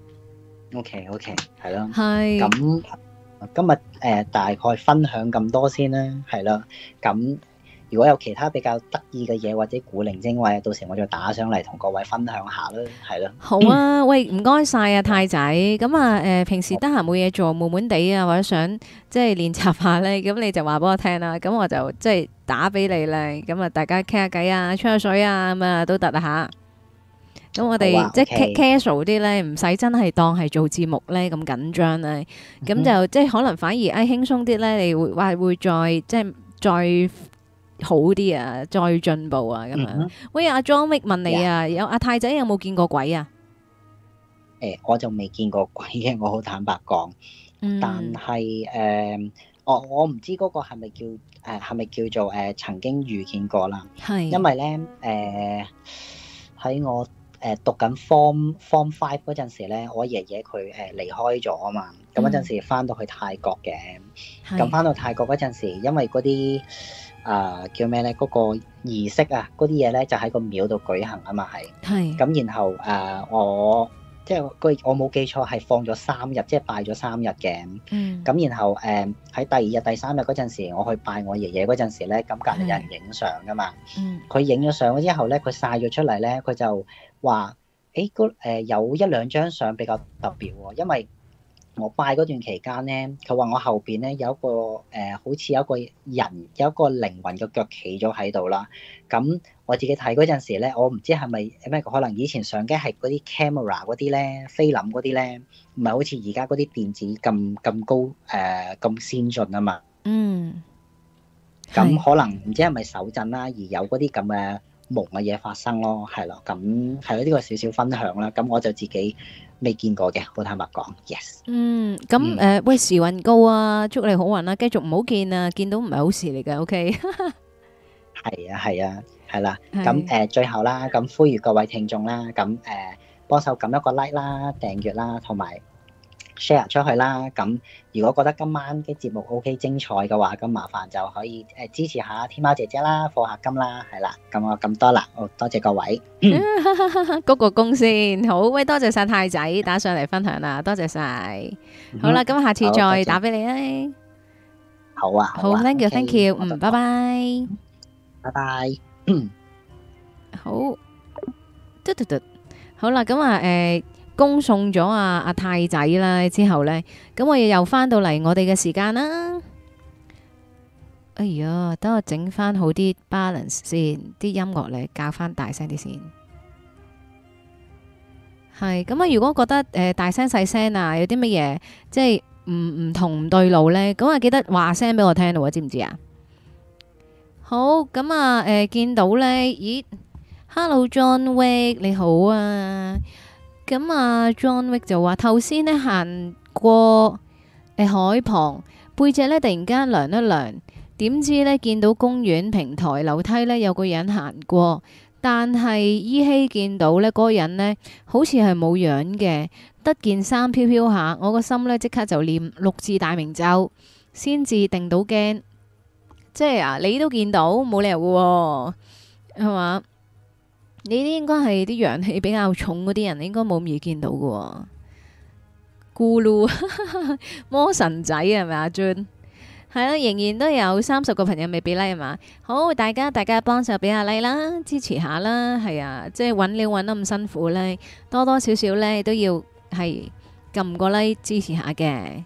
OK OK，係咯。 係。 咁今日誒、呃、大概分享咁多先啦，係啦。咁如果有其他比較得意嘅嘢或者古靈精怪，到時我再打上嚟同各位分享下啦，係咯。 好啊，喂，唔該晒啊，太仔。咁啊，誒，平時得閒冇嘢做，悶悶地啊，或者想即係練習下咧，咁你就話俾我聽啦。咁我就即係打俾你咧。咁啊，大家傾下偈啊，吹下水啊，咁啊都得啊吓。咁我哋、 好啊即係 OK casual 啲咧，唔使真係當係做節目咧咁緊張咧。咁就即係可能反而誒輕鬆啲咧，你會話會再即係再好啲啊，再進步啊咁樣。 嗯哼喂，阿 John Wick 問你啊，有阿太仔有冇見過鬼啊？ 誒、我就未見過鬼嘅，我好坦白講。但嗯係誒、我我唔知嗰個係咪叫誒係咪叫做誒、呃曾經遇見過啦。 係因為咧誒喺我誒讀緊 form form five 嗰陣時咧，我爺爺佢誒離開咗啊嘛。咁嗰陣時翻到去泰國嘅，咁翻到泰國嗰陣時，因為嗰啲啊叫咩咧？嗰、個儀式啊，嗰啲嘢咧就喺個廟度舉行啊嘛，係。 係咁然後誒、呃我即係個我冇記錯係放咗三日，即係拜咗三日嘅。 嗯咁然後誒喺、第二日、第三日嗰陣時，我去拜我爺爺嗰陣時咧，咁隔離有人影相噶嘛。 嗯佢影咗相之後咧，佢晒咗出嚟咧，佢就話：誒嗰誒有一兩張相比較特別喎，因為我拜嗰段期間咧，佢話我後邊咧有一個誒、呃好似有一個人有一個靈魂嘅腳企咗喺度啦。咁我自己睇嗰陣時咧，我唔知係咪咩，可能以前相機係嗰啲 camera 嗰啲咧，菲林嗰啲咧，唔係好似而家嗰啲電子咁咁高誒咁、呃先進啊嘛。 嗯咁係可能唔知係咪手震啦，而有嗰啲咁嘅夢嘅嘢發生咯，係咯。咁係咯，呢個少少分享啦。咁我就自己未見過嘅，好坦白講，yes。 嗯咁誒、呃喂，時運高啊，祝你好運啦，繼續唔好見啊，見到唔係好事嚟嘅，OK。 係啊，係啊，係啦。 係咁誒、呃最後啦，咁呼籲各位聽眾啦，咁誒、呃、幫手撳一個 like 啦、訂閱啦，同埋 share 出去啦。咁如果覺得今晚嘅節目 OK 精彩嘅話，咁麻煩就可以誒、呃支持下天喵姐姐啦、課下金啦，係啦。咁我咁多啦，好多謝各位。 嗰個公先好，喂，多謝晒太仔打上嚟分享啦，多謝晒。好啦，咁下次好多謝再打俾你啊。 好啊， 好啊 ，thank you，thank OK， you， 我就嗯，拜拜。 拜拜。嗯好，嘟嘟嘟，好啦，咁啊，誒，恭送咗阿阿太仔啦，之後咧，咁我哋又翻到嚟我哋嘅時間啦。哎呀，等我整翻好啲 balance 先，啲音樂咧校翻大聲啲先。係咁啊！如果覺得誒、呃、大聲細聲啊，有啲乜嘢即係唔唔同唔對路咧，咁啊記得話聲俾我聽咯，知唔知啊？好，咁啊誒見到咧，咦，Hello John Wick 你好啊！咁啊 John Wick 就話頭先咧行過誒、呃海旁，背脊咧突然間涼一涼，點知咧見到公園平台樓梯咧有個人行過。但係依稀見到呢嗰個人呢，好似係冇樣嘅，得件衫飄飄下，我個心呢，即刻就念六字大明咒，先至定到驚。即係啊，你都見到，冇理由嘅喎，係嘛？你啲應該係啲陽氣比較重嗰啲人，應該冇咁易見到嘅喎。咕嚕魔神仔係咪阿 Jun？係啦，仍然都有三十個朋友未俾 like 係嘛？好，大家大家幫手俾下 like 啦，支持下啦，係啊，即係揾料揾得咁辛苦咧，多多少少咧都要係撳個 like 支持下嘅。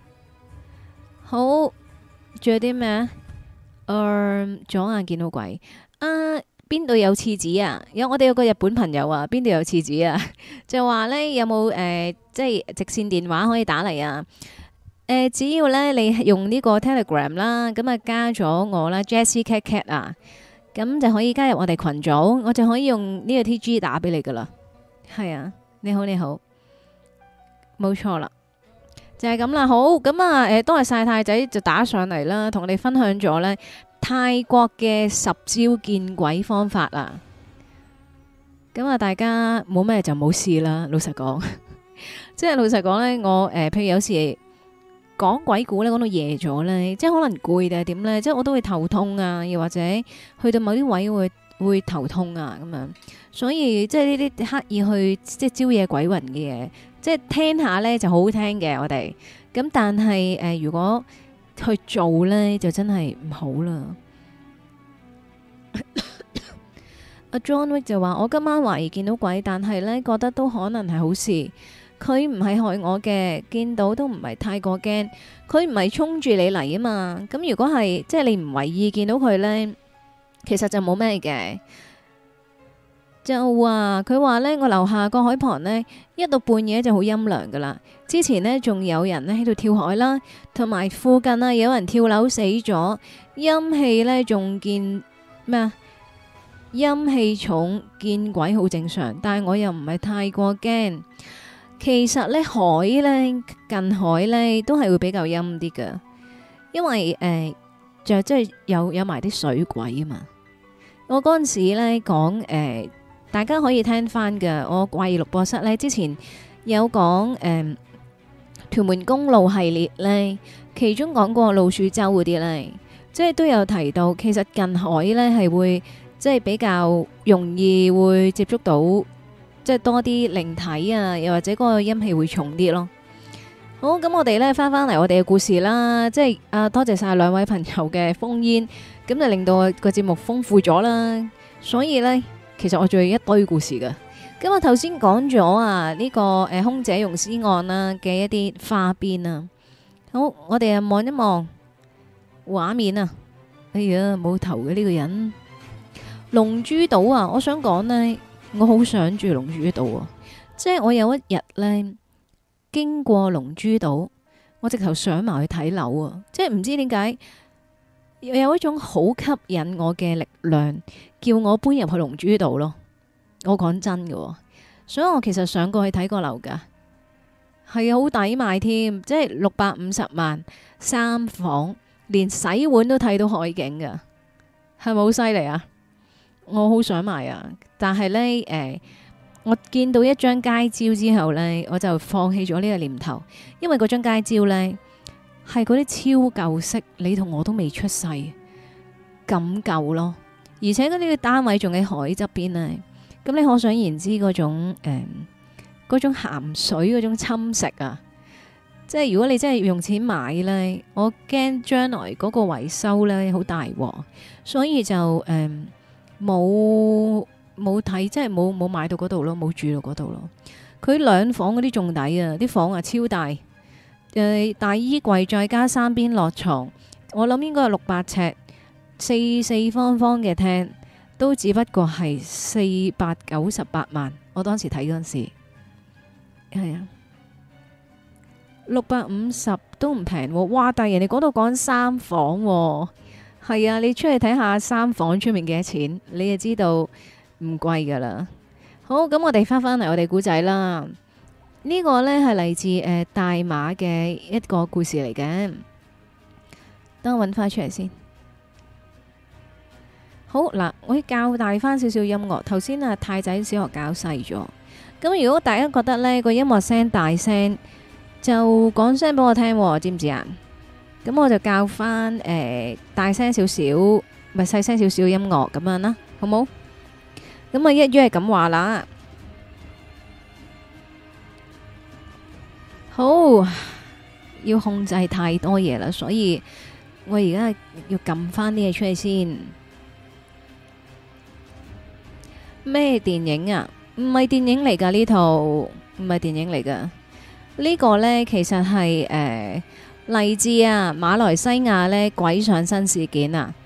好，仲有啲咩啊？誒，左眼見到鬼啊！ 邊度有廁紙啊？有我哋有個日本朋友啊，邊度有廁紙啊？就話咧有冇誒、呃，即係直線電話可以打嚟啊？誒、呃，只要咧你用呢個 Telegram 啦，咁啊加咗我啦，Jessie Cat Cat 啊，咁就可以加入我哋群組，我就可以用呢個 T G 打俾你噶啦。係啊，你好你好，冇錯啦。就係咁啦，好咁啊！誒，多謝晒太仔就打上嚟啦，同我哋分享咗呢泰國嘅十招見鬼方法啊！咁啊，大家冇咩就冇事啦。老實講，即係老實講呢，我誒、呃，譬如有時講鬼故呢，講到夜咗呢，即係可能攰定係點呢，即係我都會頭痛啊，又或者去到某啲位會會頭痛啊咁樣，所以即係呢啲刻意去即係招惹鬼魂嘅嘢。即係聽下呢就好好聽嘅，我哋咁，但係誒、呃，如果去做呢，就真係唔好啦。阿 John Wick 就話：我今晚懷疑見到鬼，但係呢覺得都可能係好事。佢唔係害我嘅，見到都唔係太過驚。佢唔係衝住你嚟啊嘛。咁如果係即係你唔為意見到佢呢，其實就冇咩嘅。就話佢話呢，我樓下個海旁呢，一到半夜就好陰涼噶啦。之前呢，仲有人呢喺度跳海啦，同埋附近啊有人跳樓死咗，陰氣呢，仲見咩啊？陰氣重見鬼好正常，但係我又唔係太過驚。其實呢，海呢，近海呢，都係會比較陰啲噶，因為誒、呃、就即係有有埋啲水鬼啊嘛。我嗰陣時呢講誒。呃大家可以聽翻嘅，我怪異錄播室呢，之前有講誒、嗯、屯門公路系列呢，其中講過老鼠洲嗰啲呢，即係都有提到，其實近海呢係會即係比較容易會接觸到，即係多啲靈體啊，又或者嗰個陰氣會重啲咯。好，咁我哋呢翻翻嚟我哋嘅故事啦，即係啊多謝晒兩位朋友嘅烽煙，咁就令到個節目豐富咗啦，所以呢。其實我仲有一堆故事㗎，咁我頭先講咗啊呢個誒空姐溶屍案啦嘅一啲花邊啊，好，我哋啊望一望畫面啊，哎呀冇頭嘅呢個人，龍珠島啊，我想講呢，我好想住龍珠島啊，即係我有一日呢，經過龍珠島，我直頭上埋去睇樓啊，即係唔知點解。有一種好吸引我嘅力量，叫我搬入去龍珠島咯。我講真嘅，所以我其實上過去睇過樓噶，係啊，好抵買添，即係六百五十萬三房，連洗碗都睇到海景噶，係咪好犀利啊？我好想買啊，但係呢，誒、呃，我見到一張街招之後呢，我就放棄咗呢個念頭，因為嗰張街招呢。係嗰啲超舊式，你同我都未出世咁舊咯，而且嗰啲嘅單位仲喺海側邊呢。咁你可想而知嗰種誒，嗰、呃、種鹹水嗰種侵蝕啊！即係如果你真係要用錢買呢，我驚將來嗰個維修呢好大鑊，所以就誒冇冇睇，即係冇冇買到嗰度咯，冇住到嗰度咯。佢兩房嗰啲仲抵啊，啲房啊超大。誒，大衣櫃再加三邊落床，我諗應該係六百尺，四四方方嘅廳，都只不過係四百九十八萬。我當時睇嗰陣時，係啊，六百五十都唔平喎。哇！但係人哋嗰度講三房喎，係啊，你出去睇下三房出面幾多錢，你就知道唔貴噶啦。好，咁我哋翻返嚟我哋古仔啦。呢個呢係嚟自誒、呃、大馬嘅一個故事嚟嘅，等我揾翻出嚟先。好嗱，我要較大翻少少音樂。頭先啊太仔小學搞細咗，咁如果大家覺得呢個音樂聲大聲，就講聲俾我聽，知唔知啊？咁我就較翻誒、呃、大聲少少，咪細聲少少音樂咁樣啦，好冇？咁啊一於係咁話啦。好，要控制太多嘢啦，所以我而家要撳翻啲嘢出嚟先。咩電影啊？唔係電影嚟噶呢套，唔係電影嚟噶。呢個呢其實係誒嚟自啊馬來西亞呢鬼上身事件啊。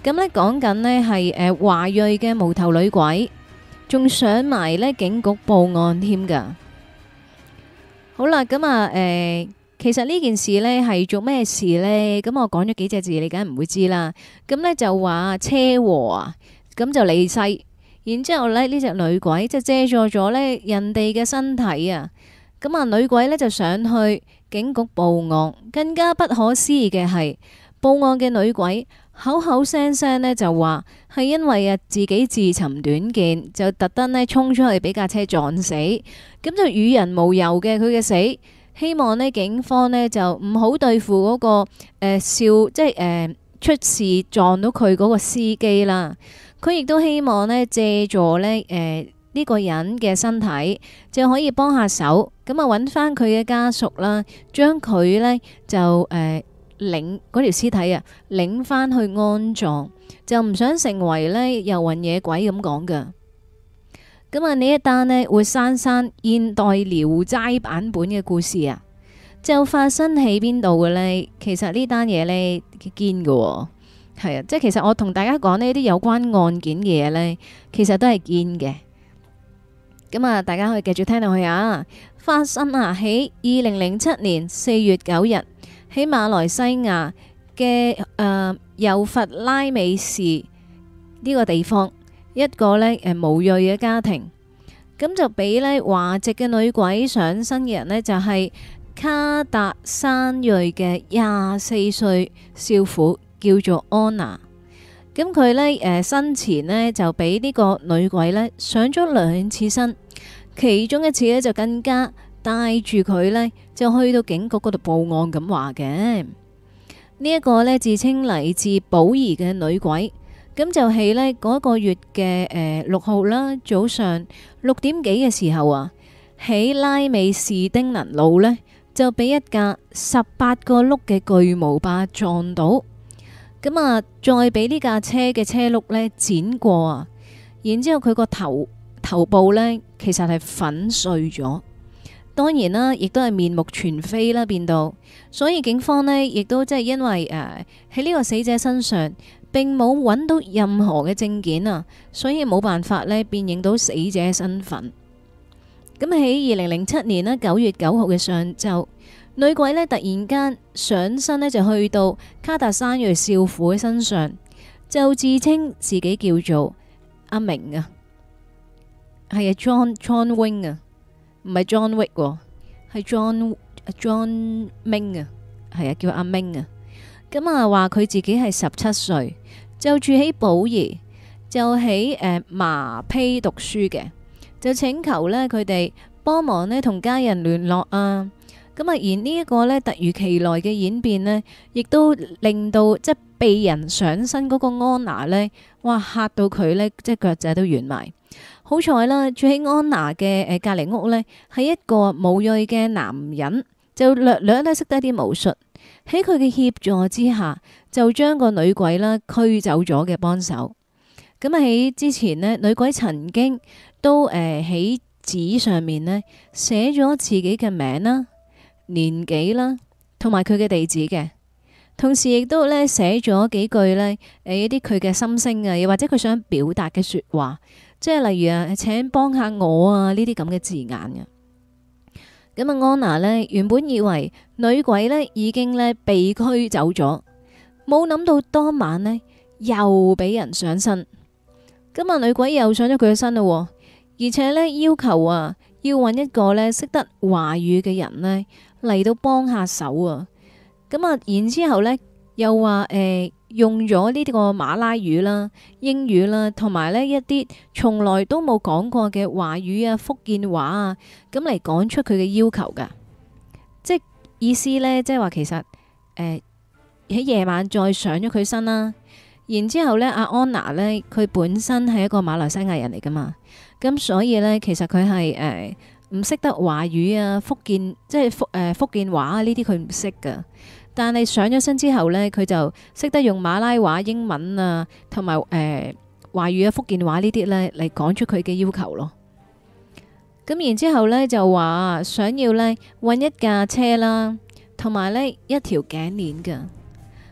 咁呢講緊呢係誒華裔嘅無頭女鬼，仲上埋呢警局報案添噶。好啦，咁啊誒，其實呢件事呢係做咩事呢？咁我講咗幾隻字，你梗係唔會知啦。咁呢就話車禍啊，咁就離世。然之後咧，呢隻女鬼就借助咗呢人哋嘅身體啊，咁啊女鬼呢就上去警局報案。更加不可思議嘅係，報案嘅女鬼口口聲聲呢就話係因為啊自己自尋短見，就特登呢衝出去俾架車撞死，咁就與人無尤嘅佢嘅死。希望呢警方呢就唔好對付嗰、嗰個誒、呃、笑，即係誒、呃、出事撞到佢嗰個司機啦。佢亦都希望呢借助呢誒呢、呢個人嘅身體就可以幫下手，咁啊揾翻佢嘅家屬啦，將佢呢就誒、呃、領嗰條屍體啊領翻去安葬，就唔想成為呢遊魂野鬼咁講噶。咁啊呢一單呢活生生現代聊齋版本嘅故事啊，就發生喺邊度嘅呢？其實呢單嘢呢堅嘅。係啊，即係其實我同大家講呢啲有關案件嘅嘢呢，其實都係堅嘅。咁啊，大家可以繼續聽落去啊。發生啊喺二零零七年四月九日喺馬來西亞嘅誒尤弗拉美市呢個地方，一個呢誒巫裔嘅家庭，咁就俾呢華籍嘅女鬼上身嘅人呢，就係卡達山裔嘅廿四歲少婦。叫做安娜，咁佢呢誒生前呢就俾呢個女鬼呢上咗兩次身，其中一次呢就更加帶住佢呢就去到警局嗰度報案咁話嘅。呢一個呢自稱嚟自寶儀嘅女鬼，咁就係呢嗰個月嘅誒六號啦，早上六點幾嘅時候啊，喺拉美士丁能路呢，就俾一架十八個轆嘅巨無霸撞到。咁啊，再俾呢架車嘅車轆呢剪過啊，然之後佢個頭頭部呢其實係粉碎咗，當然啦，亦都係面目全非啦變到，所以警方呢亦都即係因為誒喺呢個死者身上並冇揾到任何嘅證件啊，所以冇辦法呢辨認到死者嘅身份。咁喺二零零七年呢九月九號嘅上晝，女鬼呢突然間上身呢就去到卡達山裔少婦嘅身上，就自稱自己叫做阿明啊，係啊 John John Wing 啊，唔係 John Wick，係 John John Ming 啊，係啊叫阿明啊。咁啊話佢自己係十七歲，就住喺寶儀，就喺誒麻披讀書嘅，就請求呢佢哋幫忙呢同家人聯絡啊。咁啊，而呢一個呢突如其來嘅演變呢，亦都令到即係被人上身嗰個安娜呢，哇嚇到佢呢，即係腳仔都軟埋。好彩啦，住喺安娜嘅誒隔離屋呢，係一個巫裔嘅男人，就略略呢識得啲巫術，喺佢嘅協助之下，就將個女鬼啦驅走咗嘅幫手。咁啊喺之前呢，女鬼曾經都誒喺紙上面呢寫咗自己嘅名啦、年紀啦，同埋佢嘅地址嘅，同時亦都咧寫咗幾句呢誒一啲佢嘅心聲啊，又或者佢想表達嘅說話，即係例如啊，請幫下我啊呢啲咁嘅字眼嘅。咁啊，安娜呢原本以為女鬼呢已經呢被驅走咗，冇諗到當晚呢又俾人上身。咁啊，女鬼又上咗佢嘅身咯，而且呢要求啊要揾一個呢識得華語嘅人呢嚟到幫下手啊！咁啊，然之後呢又話誒、呃、用咗呢啲個馬拉語啦、英語啦，同埋呢一啲從來都冇講過嘅華語啊、福建話啊，咁嚟講出佢嘅要求噶。即係意思呢，即係話其實誒喺夜晚再上咗佢身啦。然之後呢，阿安娜呢，佢本身係一個馬來西亞人嚟噶嘛，咁所以呢，其實佢係誒。呃唔識得華語啊，福建即係福誒、呃、福建話啊，呢啲佢唔識噶。但係上咗身之後呢，佢就識得用馬拉話、英文啊，同埋誒華語啊、福建話呢啲呢嚟講出佢嘅要求咯。咁然之後呢就話想要呢揾一架車啦，同埋呢一條頸鏈噶。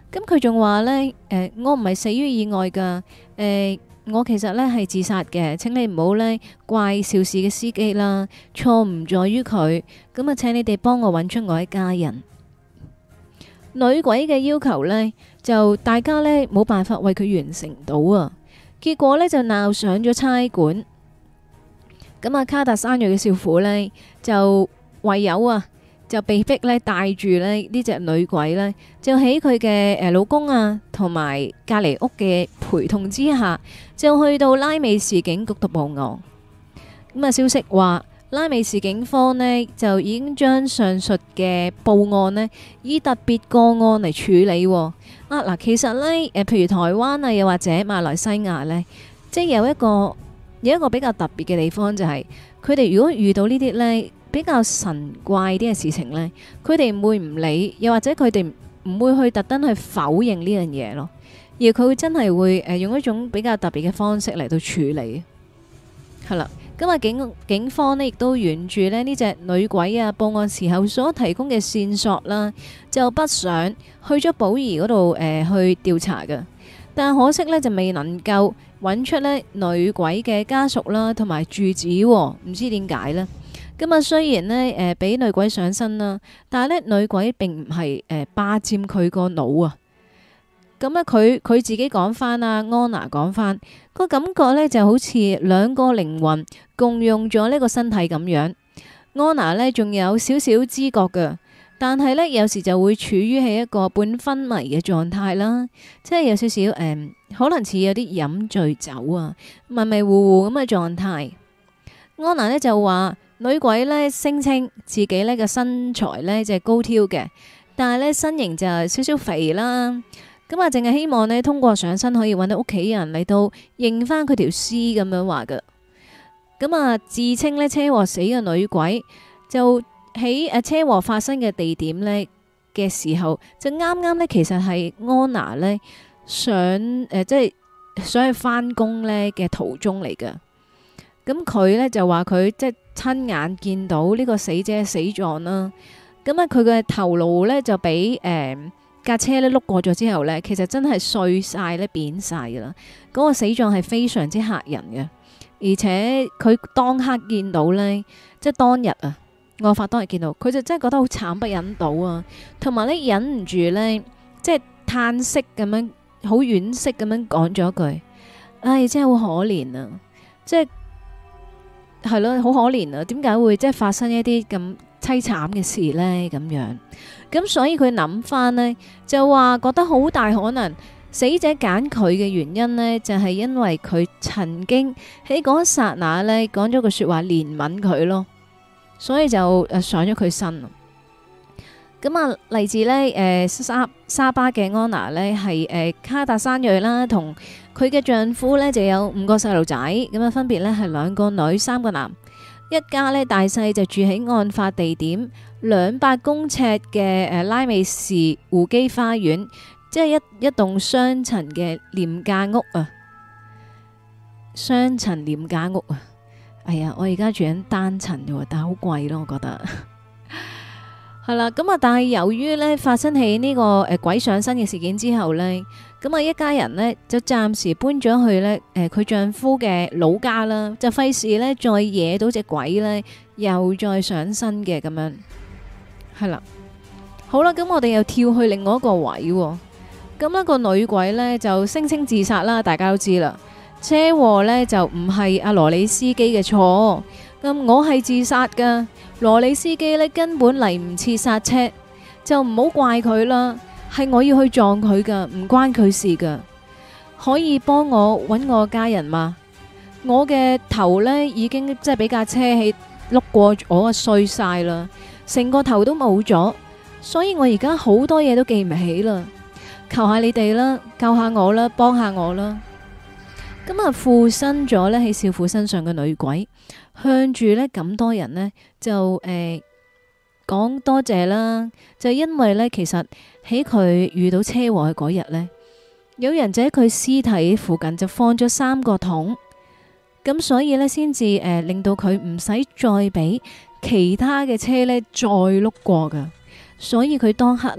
咁佢仲話呢，誒、呃，我唔係死於意外噶，誒、呃，我其實呢係自殺嘅，請你唔好呢怪肇事嘅司機啦，錯唔在於佢，咁啊，請你哋幫我揾出我一家人。女鬼嘅要求呢，就大家呢冇辦法為佢完成到啊，結果呢，就鬧上咗差館。咁啊，卡達山裔嘅少婦呢，就唯有啊，就被逼呢帶住呢呢隻女鬼呢，就喺佢嘅誒老公啊同埋隔籬屋嘅陪同之下，就去到拉美市警局度報案。咁啊，消息話，拉美市警方呢，就已經將上述嘅報案呢，以特別個案嚟處理。啊嗱，其實呢，誒，譬如台灣啊，又或者馬來西亞呢，即係有一個有一個比較特別嘅地方，就係佢哋如果遇到呢啲呢比較神怪啲嘅事情呢，佢哋唔會唔理，又或者佢哋唔會去特登去否認呢樣嘢咯，而佢會真係會誒用一種比較特別嘅方式嚟到處理。係啦。咁啊，警警方呢亦都沿住咧呢隻女鬼啊報案時候所提供嘅線索啦，就北上去咗寶儀嗰度誒去調查嘅，但可惜呢，就未能夠揾出呢女鬼嘅家屬啦同埋住址，唔知點解呢。咁啊，雖然呢誒俾女鬼上身啦，但係呢女鬼並唔係誒霸佔佢個腦啊。咁咧，佢佢自己講翻啊，安娜講翻個感覺呢就好似兩個靈魂共用咗呢個身體咁樣。安娜呢仲有少少知覺㗎，但係呢有時就會處於喺一個半昏迷嘅狀態啦，即係有少少誒、嗯，可能似有啲飲醉酒啊，迷迷糊糊咁嘅狀態。安娜呢就話女鬼呢聲稱自己呢個身材呢就係高挑嘅，但係呢身形就係少少肥啦。咁啊，淨係希望呢，通過上身可以揾到屋企人嚟到認翻佢條屍咁樣話㗎。咁啊，自稱呢車禍死嘅女鬼就喺誒車禍發生嘅地點呢嘅時候，就啱啱呢，其實係安娜呢想誒、呃、即係想去翻工呢嘅途中嚟㗎。咁佢呢就話佢即係親眼見到呢個死者死狀啦。咁啊，佢嘅頭顱呢就俾誒。呃架車咧碌過咗之後呢，其實真係碎晒咧，扁晒噶啦。嗰個死狀係非常之嚇人嘅，而且佢當刻見到呢，即係當日啊，案發當日見到，佢就真係覺得好慘不忍睹啊，同埋呢，忍唔住呢，即係嘆息咁樣，好惋惜咁樣講咗句：唉，真係好可憐啊！即係係咯，好可憐啊！點解會即係發生一啲咁淒慘嘅事呢？咁樣。咁所以佢諗翻呢，就話覺得好大可能死者揀佢嘅原因呢，就係因為佢曾經喺嗰一剎那呢講咗句說話憐憫佢咯，所以就誒上咗佢身。咁啊，嚟自呢誒沙沙巴嘅安娜呢，係誒卡達山裔啦，同佢嘅丈夫呢就有五個細路仔，咁啊分別呢係兩個女三個男，一家呢大細就住喺案發地點兩百公尺嘅誒拉美士湖基花園，即係一一棟雙層嘅廉價屋啊，雙層廉價屋啊。哎呀，我而家住緊單層嘅，但係好貴咯，我覺得係啦。咁啊，但係由於呢發生喺呢個誒鬼上身嘅事件之後呢，咁啊一家人呢就暫時搬咗去呢誒佢丈夫嘅老家啦，就費事呢再惹到隻鬼呢又再上身嘅咁樣。係啦，好啦，咁我哋又跳去另外一個位，咁一個女鬼呢，就聲稱自殺啦，大家都知啦。車禍呢，就唔係阿羅里司機嘅錯，咁我係自殺噶，羅里司機呢，根本嚟唔切剎車，就唔好怪佢啦，係我要去撞佢噶，唔關佢事噶，可以幫我揾我家人嘛？我嘅頭呢，已經即係俾架車喺碌過我啊碎晒啦。成個頭都冇咗，所以我而家好多嘢都記唔起啦。求下你哋啦，救下我啦，幫下我啦。咁啊，附身咗呢喺少婦身上嘅女鬼，向住呢咁多人呢，就誒講、呃、多謝啦。就因為呢，其實喺佢遇到車禍嘅嗰日呢，有人就喺佢屍體附近就放咗三個桶，咁所以呢，先至誒令到佢唔使再俾其他嘅車呢再碌過噶，所以佢當刻呢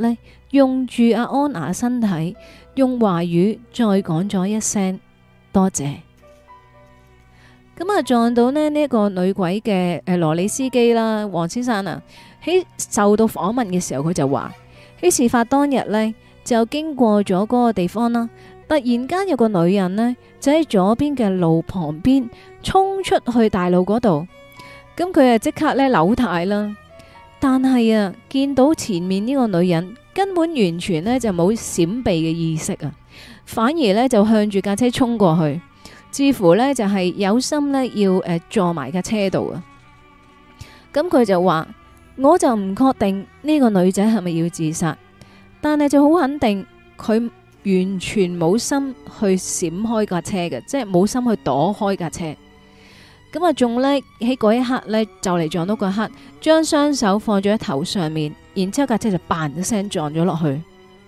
用住阿安娜身體，用華語再講咗一聲多謝。咁啊撞到呢呢一個女鬼嘅誒羅里司機啦，黃先生啊，喺受到訪問嘅時候，佢就話喺事發當日呢，就經過咗嗰個地方啦。突然間有個女人呢，就喺左邊嘅路旁邊衝出去大路嗰度，咁佢啊即刻呢扭軚啦。但係啊見到前面呢個女人根本完全呢就冇閃避嘅意識啊，反而呢就向住架車衝過去，似乎呢就係有心呢要誒坐埋架車度啊。咁佢就話，我就唔確定呢個女仔係咪要自殺，但係就好肯定佢完全冇心去閃開架車嘅，即係冇心去躲開架車。咁啊，仲呢喺嗰一刻呢，就嚟撞到嗰刻，將雙手放咗喺頭上面，然之後架車就嘭一聲撞咗落去。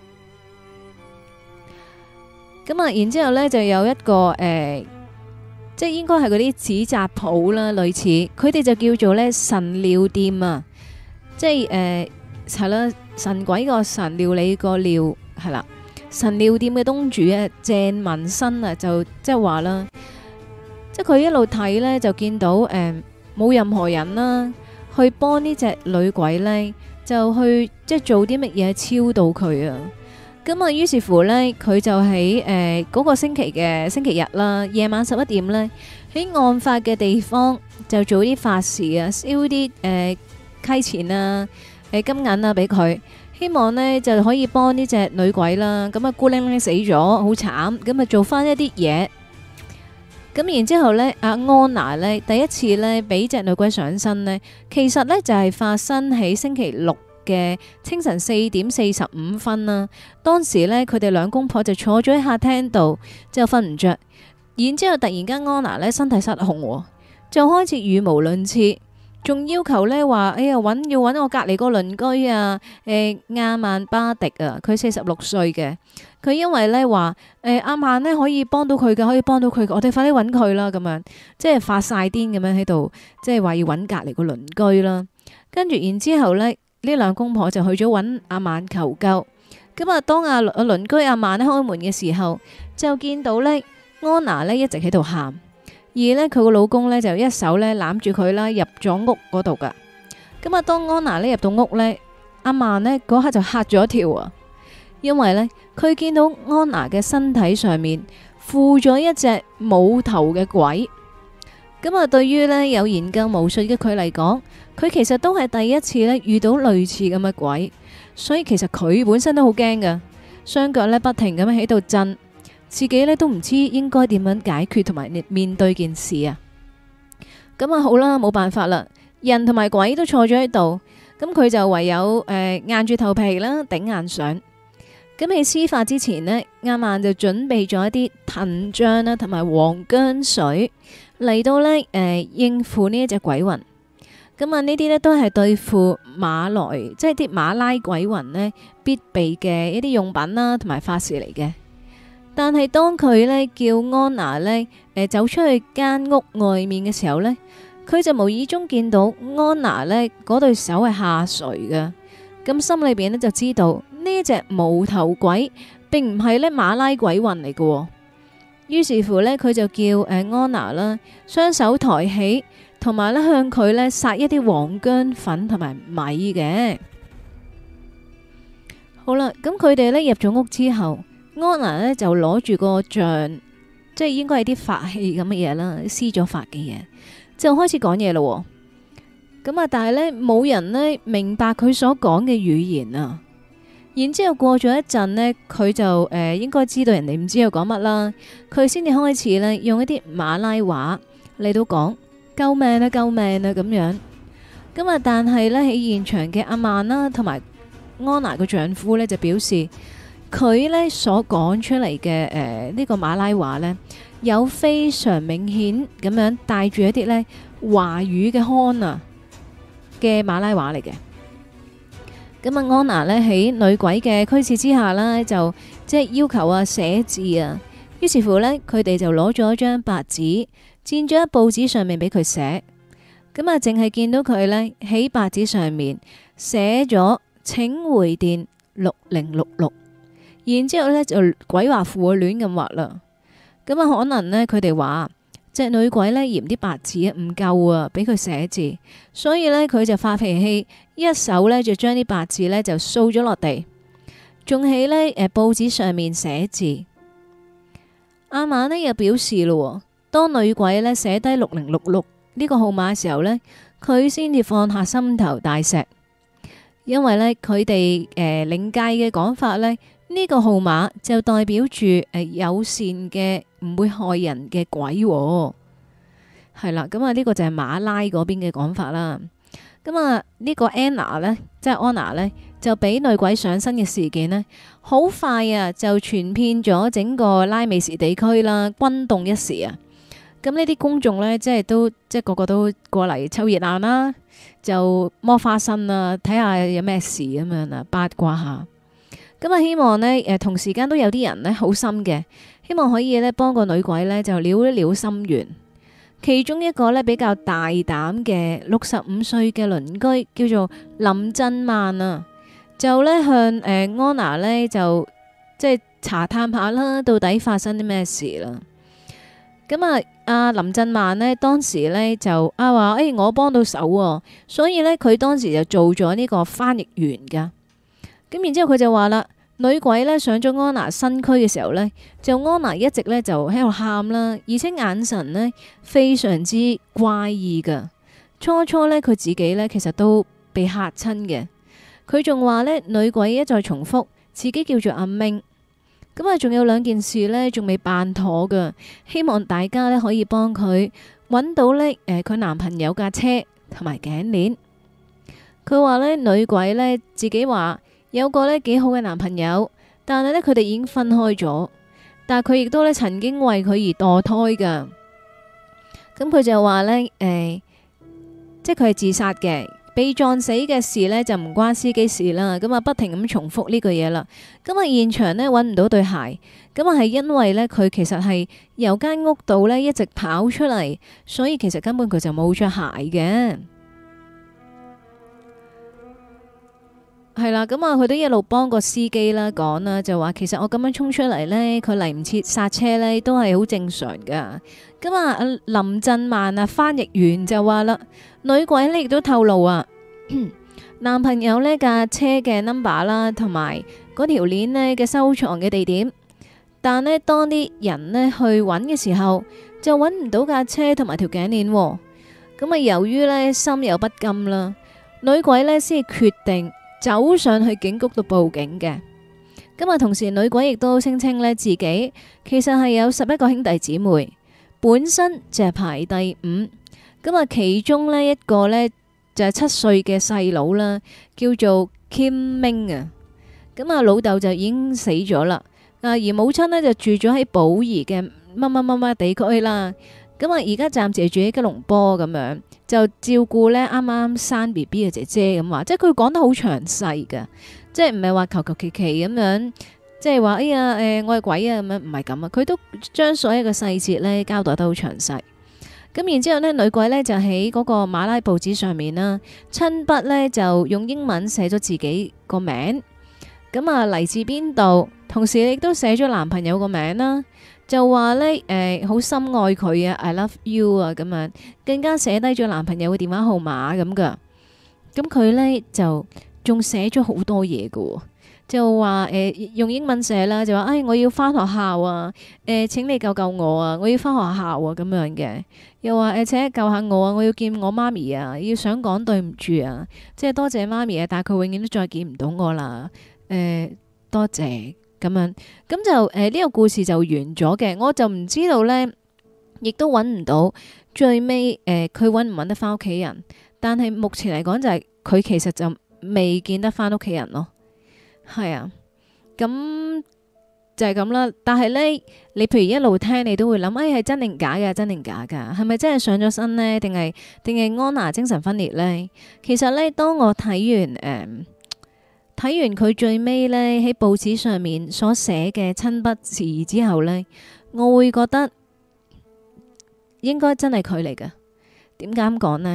咁啊，然之後呢就有一個誒、呃，即係應該係嗰啲紙紮鋪啦，類似佢哋就叫做呢神料店啊，即係誒係啦，神鬼個神，料理個料係啦。神料店嘅東主啊，鄭文新啊，就即係話啦，即係佢一路睇呢，就見到誒冇、呃、任何人啦，去幫呢隻女鬼呢，就去即係做啲乜嘢超度佢啊。咁啊，於是乎呢，佢就喺誒嗰個星期嘅星期日啦，夜晚十一點呢，喺案發嘅地方就做啲法事啊，燒啲誒溪錢啊、誒、呃、金銀啊俾佢。希望呢就可以幫呢隻女鬼啦，咁啊孤零零死咗，好慘，咁啊做翻一啲嘢。咁然之後呢，阿安娜呢第一次呢俾隻女鬼上身呢，其實呢就係發生喺星期六嘅清晨四點四十五分啦。當時呢，佢哋兩公婆就坐咗喺客廳度，就瞓唔着。然之後突然間安娜呢身體失控，就開始語無倫次。仲要求呢話，哎呀，揾要揾我隔離個鄰居啊，誒亞曼巴迪啊，佢四十六歲嘅，佢因為呢話，誒阿曼呢可以幫到佢嘅，可以幫到佢嘅，我哋快啲揾佢啦，咁樣即係發晒癲咁樣喺度，即係話要揾隔離個鄰居啦。跟住然之後呢，呢兩公婆就去咗揾阿曼求救。咁啊，當阿阿鄰居阿曼呢開門嘅時候，就見到呢安娜呢一直喺度喊。而呢，佢個老公呢，就一手呢攬住佢啦，入咗屋嗰度噶。咁啊，當安娜呢入到屋呢，阿曼呢嗰刻就嚇咗一跳啊，因為呢，佢見到安娜嘅身體上面附咗一隻冇頭嘅鬼。咁啊，對於呢有研究巫術嘅佢嚟講，佢其實都係第一次呢遇到類似咁嘅鬼，所以其實佢本身都好驚噶，雙腳呢不停咁樣喺度震。自己呢都唔知應該點樣解決同埋面對件事啊！咁啊好啦，冇辦法啦，人同埋鬼都坐咗喺度，咁佢就唯有誒、呃、硬住頭皮啦，頂硬上。咁喺施法之前呢，阿曼就準備咗一啲藤漿啦，同埋黃薑水嚟到呢誒、呃、應付呢一隻鬼魂。咁啊呢啲呢都係對付馬來即係啲馬拉鬼魂呢必備嘅一啲用品啦，同埋法事嚟嘅。但係當佢呢叫安娜呢誒、呃、走出去間屋外面嘅時候呢，佢就無意中見到安娜呢嗰對手係下垂嘅，咁心裏邊呢就知道呢隻無頭鬼並唔係呢馬拉鬼魂嚟嘅。於是乎呢，佢就叫誒安娜啦，雙手抬起，同埋呢向佢呢撒一啲黃薑粉同埋米嘅。好啦，咁佢哋呢入咗屋之後，安娜呢就攞住個像，即係應該係啲法器咁嘅嘢啦，施咗法嘅嘢，就開始講嘢咯。咁啊，但係呢冇人呢明白佢所講嘅語言啊。然之後過咗一陣呢，佢就誒、呃、應該知道人哋唔知佢講乜啦，佢先至開始呢用一啲馬拉話嚟到講救命啊救命啊咁樣。咁啊，但係呢喺現場嘅阿曼啦，同埋安娜嘅丈夫呢，就表示。佢呢所講出嚟嘅誒呢個馬拉話呢，有非常明顯咁樣帶住一啲呢華語嘅腔啊嘅馬拉話嚟嘅。咁啊，安娜呢喺女鬼嘅驅使之下啦，就即係要求啊寫字啊。於是乎呢，佢哋就攞咗張白紙，墊咗喺報紙上面俾佢寫。咁啊，淨係見到佢呢喺白紙上面寫咗請回電。 六零六六，然之後咧就鬼畫符啊亂咁畫啦。咁啊可能呢，佢哋話隻女鬼呢嫌啲白字啊唔夠啊，俾佢寫字，所以呢，佢就發脾氣，一手呢就將啲白字呢就掃咗落地，仲喺呢誒報紙上面寫字。阿嫲呢又表示咯，當女鬼呢寫低六零六六呢個號碼嘅時候呢，佢先至放下心頭大石，因為呢，佢哋誒靈界嘅講法呢。呢個號碼就代表住誒、呃、友善嘅唔會害人嘅鬼、哦，係啦。咁啊呢個就係馬拉嗰邊嘅講法啦。咁啊呢個 Anna 呢，即係 Anna 呢，就俾女鬼上身嘅事件呢，好快啊就傳遍咗整個拉美士地區啦，轟動一時啊。咁呢啲公眾呢，即係都即係個個都過嚟湊熱鬧啦，就摸花生啊，睇下有咩事咁樣啊，八卦下。咁啊，希望呢，誒，同時間都有啲人呢好心嘅，希望可以呢幫個女鬼呢就撩一撩心願。其中一個呢比較大膽嘅六十五歲嘅鄰居叫做林振曼啊，就呢向誒、呃、安娜呢就即係查探下啦，到底發生啲咩事啦。咁啊，阿林振曼呢當時呢就啊話，誒、哎，我幫到手喎，所以呢，佢當時就做咗呢個翻譯員噶。咁然之後佢就話啦，女鬼呢上咗安娜身軀嘅時候呢，就安娜一直呢就喺度喊啦，而且眼神呢非常之怪異噶。初初呢，佢自己呢其實都被嚇親嘅。佢仲話呢，女鬼一再重複自己叫做阿明。咁啊，仲有兩件事呢仲未辦妥噶，希望大家呢可以幫佢揾到呢誒佢男朋友架車同埋頸鏈。佢話呢，女鬼呢自己話。有個呢幾好嘅男朋友，但係呢，佢哋已經分開咗，但係佢亦都呢曾經為佢而墮胎噶。咁佢就話呢，誒、欸，即係佢係自殺嘅，被撞死嘅事呢就唔關司機事啦。咁啊，不停咁重複呢句嘢啦。咁啊，現場呢揾唔到對鞋，咁啊係因為呢，佢其實係由間屋度呢一直跑出嚟，所以其實根本佢就冇着鞋嘅。係啦，咁啊，佢都一路幫個司機啦講啦，就話其實我咁樣衝出嚟呢，佢嚟唔切剎車呢，都係好正常噶。咁啊，林振曼啊，翻譯員就話啦，女鬼呢亦都透露啊，男朋友呢架車嘅 number 啦，同埋嗰條鏈呢嘅收藏嘅地點，但呢，當啲人呢去揾嘅時候，就揾唔到架車同埋條頸鏈。咁啊，由於呢心有不甘啦，女鬼呢先決定走上去警局度報警嘅。咁啊，同時女鬼亦都聲稱呢自己其實係有十一個兄弟姊妹，本身就係排第五。咁啊，其中呢一個呢就係七歲嘅細佬啦，叫做 Kim Ming 啊。咁啊，老豆就已經死咗啦。啊，而母親呢就住咗喺寶儀嘅乜乜乜乜地區啦。咁啊，而家暫時住喺吉隆坡咁樣，就照顧呢啱啱生 B B 嘅姐姐咁話，即係佢講得好詳細㗎，即係唔係話求求其其咁樣，即係話哎呀誒、呃、我係鬼啊咁樣，唔係咁啊，佢都將所有嘅細節呢交代得好詳細。咁然之後呢，女鬼呢就喺嗰個馬拉報紙上面啦，親筆呢就用英文寫咗自己個名，咁啊嚟自邊度，同時亦都寫咗男朋友個名啦。就話呢，誒、呃，好深愛佢啊 ，I love you 啊，咁樣，更加寫低咗男朋友嘅電話號碼咁噶。咁佢呢，就仲寫咗好多嘢噶，就話誒、呃、用英文寫啦，就話誒、哎、我要翻學校啊，誒、呃、請你救救我啊，我要翻學校啊咁樣嘅。又話誒、呃、請救下我啊，我要見我媽咪啊，要想講對唔住啊，即係多謝媽咪啊，但係佢永遠都再見唔到我啦，誒、呃、多謝。咁樣，咁就誒呢、呃這個故事就完咗嘅，我就唔知道呢，亦都揾唔到最尾誒佢揾唔揾得翻屋企人，但係目前嚟講就係、是、佢其實就未見得翻屋企人咯，係啊，咁就係咁啦。但係呢，你譬如一路聽，你都會諗，誒係真定假嘅，真定假噶，係咪真係上咗身呢？定係定係安娜精神分裂呢？其實呢，當我睇完誒。呃睇完佢最尾呢喺報紙上面所寫嘅親筆字之後呢，我會覺得應該真係佢嚟㗎。點解咁講呢？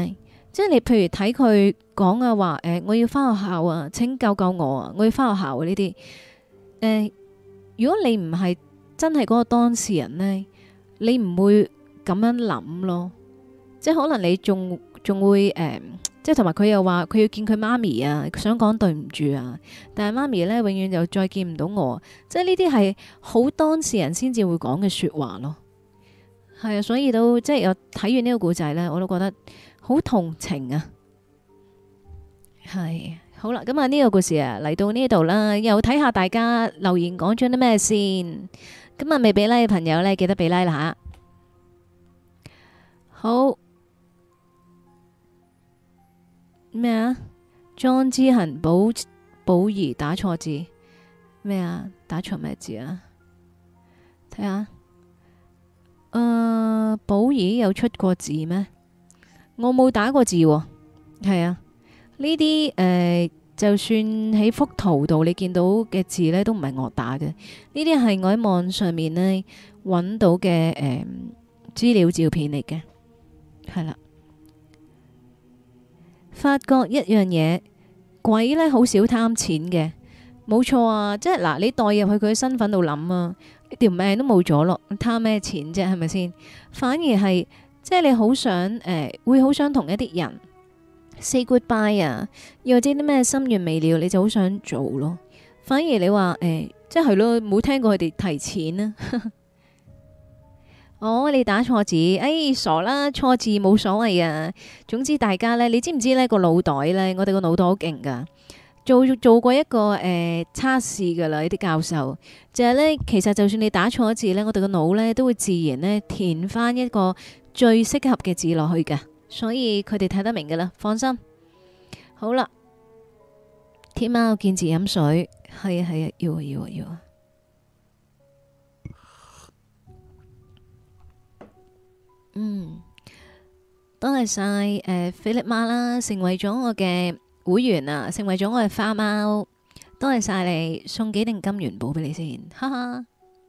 即係你譬如睇佢講啊話，誒、我要翻學校啊，請救救我啊，我要翻學校啊呢啲。誒、如果你唔係真係嗰個當事人呢，你唔會咁樣諗咯。即係可能你仲仲會誒、呃即係同埋佢又話佢要見佢媽咪啊，想講對唔住啊，但係媽咪呢，永遠就再見唔到我。即係呢啲係好當事人先至會講嘅説話咯。係啊，所以都即係有睇完呢個故仔呢，我都覺得好同情啊。係好啦，咁啊呢個故事啊嚟到呢度啦，又睇下大家留言講咗啲咩先。咁啊未俾 like 嘅朋友呢，記得俾 like 啦吓。好。咩啊？莊之恒寶寶儀打錯字咩啊？打錯咩字啊？睇下，誒，寶儀有出過字咩？我冇打過字喎。係啊，呢啲誒，就算喺幅圖度你見到嘅字呢，都唔係我打嘅。呢啲係我喺網上面呢揾到嘅誒資料照片嚟嘅，係啦。發覺一樣嘢，鬼呢好少貪錢嘅，冇錯啊！即係嗱，你代入去佢身份度諗啊，條命都冇咗咯，貪咩錢啫？係咪先？反而係即係你好想誒、呃，會好想同一啲人 say goodbye 啊，又或者啲咩心願未了，你就好想做咯。反而你話誒、呃，即係咯，冇聽過佢哋提錢啊。哦，你打錯字，哎，傻啦，錯字冇所謂啊。總之大家呢，你知唔知呢個腦袋呢？我哋個腦袋好勁噶，做做過一個誒測試噶啦，呢啲教授就係呢，其實就算你打錯字呢，我哋個腦呢都會自然呢填翻一個最適合嘅字落去嘅，所以佢哋睇得明噶啦，放心。好啦，天喵見字飲水，係啊係啊，要啊要啊要啊。嗯，多謝晒誒菲力媽啦，成為咗我嘅會員啊，成為咗我嘅花貓，多謝晒你，送幾錠金元寶俾你先，哈哈。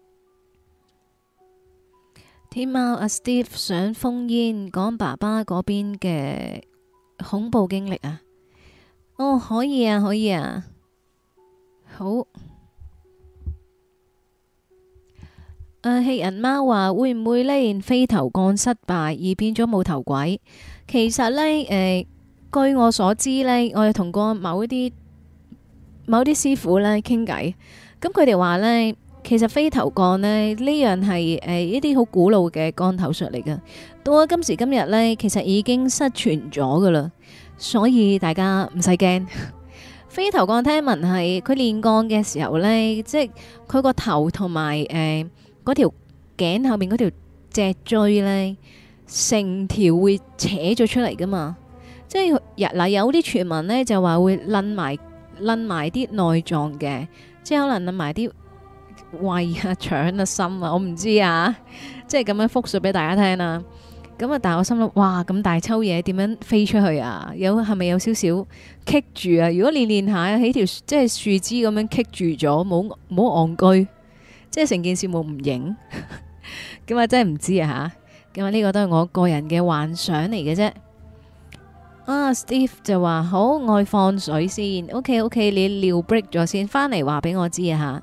天貓阿 Steve 想封煙講爸爸嗰邊嘅恐怖經歷啊，哦可以啊可以啊，好。誒，棄人貓話會唔會呢？練飛頭降失敗而變咗冇頭鬼？其實呢，誒、呃，據我所知呢，我有同過某一啲某啲師傅呢傾偈，咁佢哋話呢，其實飛頭降呢，呢樣係誒一啲好古老嘅降頭術嚟㗎。到咗今時今日呢，其實已經失傳咗噶啦，所以大家唔使驚。飛頭降聽聞係佢練降嘅時候呢，即係佢個頭同埋誒。呃嗰條頸後面嗰條脊椎呢，成條會扯咗出嚟噶嘛？即係日嗱有啲傳聞呢，就話會掄埋掄埋啲內臟嘅，即係可能掄埋啲胃啊、腸啊、心啊，我唔知啊，即係咁樣複述俾大家聽啦。咁啊，但係我心諗，哇，咁大抽嘢點樣飛出去啊？有係咪有少少棘住啊？如果練練下喺條即係樹枝咁樣棘住咗，冇冇戇居？即係成件事冇唔影，咁啊真係唔知啊吓，咁啊呢個都係我個人嘅幻想嚟嘅啫。啊 Steve 就話好，我放水先 ，OK OK，你尿 break 咗先，翻嚟話俾我知啊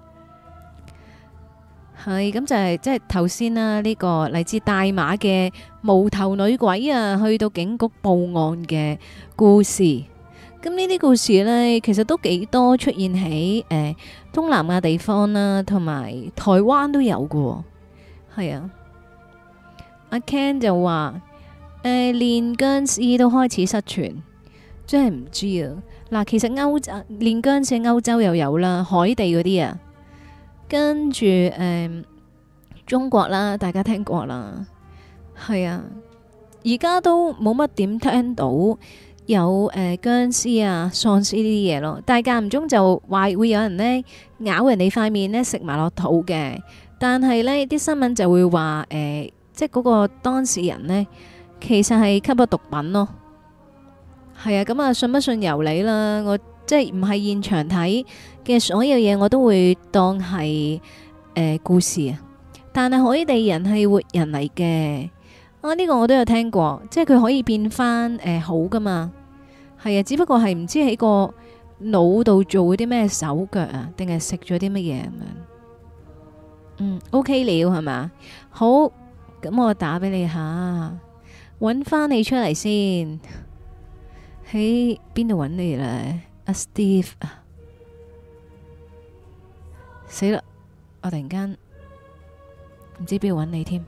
吓。係咁就係即係頭先啦，呢個嚟自大馬嘅無頭女鬼啊，去到警局報案嘅故事。咁呢啲故事呢，其實都幾多出現喺誒、呃、東南亞地方啦，同埋台灣都有嘅。係啊，阿 Ken 就話誒練僵屍都開始失傳，真係唔知啊。嗱，其實歐洲練僵屍歐洲又有啦，海地嗰啲啊，跟住誒、呃、中國啦，大家聽過啦，係啊，而家都冇乜點聽到。有誒、呃、僵屍啊、喪屍呢啲嘢咯，但係間唔中就話會有人呢咬人哋塊面呢，食埋落肚嘅，但係呢啲新聞就會話誒、呃，即係嗰個當事人呢，其實係吸咗毒品咯。係啊，咁啊信不信由你啦，我即係唔係現場睇嘅所有嘢，我都會當係誒、呃、故事啊。但係海地人係活人嚟嘅。 啊，呢、個我都有聽過，即係佢可以變翻誒、呃、好噶嘛。係啊，只不過係唔知喺個腦度做啲咩手腳啊，定係食咗啲乜嘢咁樣。嗯，OK 了係嘛？好，咁我打俾你下，搵翻你出嚟先。喺邊度搵你咧？阿 Steve 啊，死啦！我突然間唔知邊度搵你添。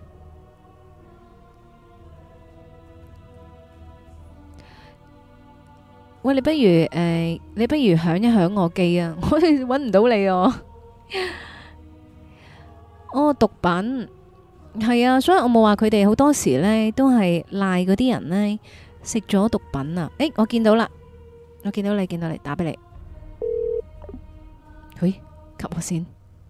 喂，你不如誒、呃，你不如響一響我機啊！我哋搵唔到你哦。哦，毒品係啊，所以我冇話佢哋好多時呢都係賴嗰啲人呢食咗毒品啊！誒，我見到啦，我見到你，見到你，打俾你。喂，吸我先。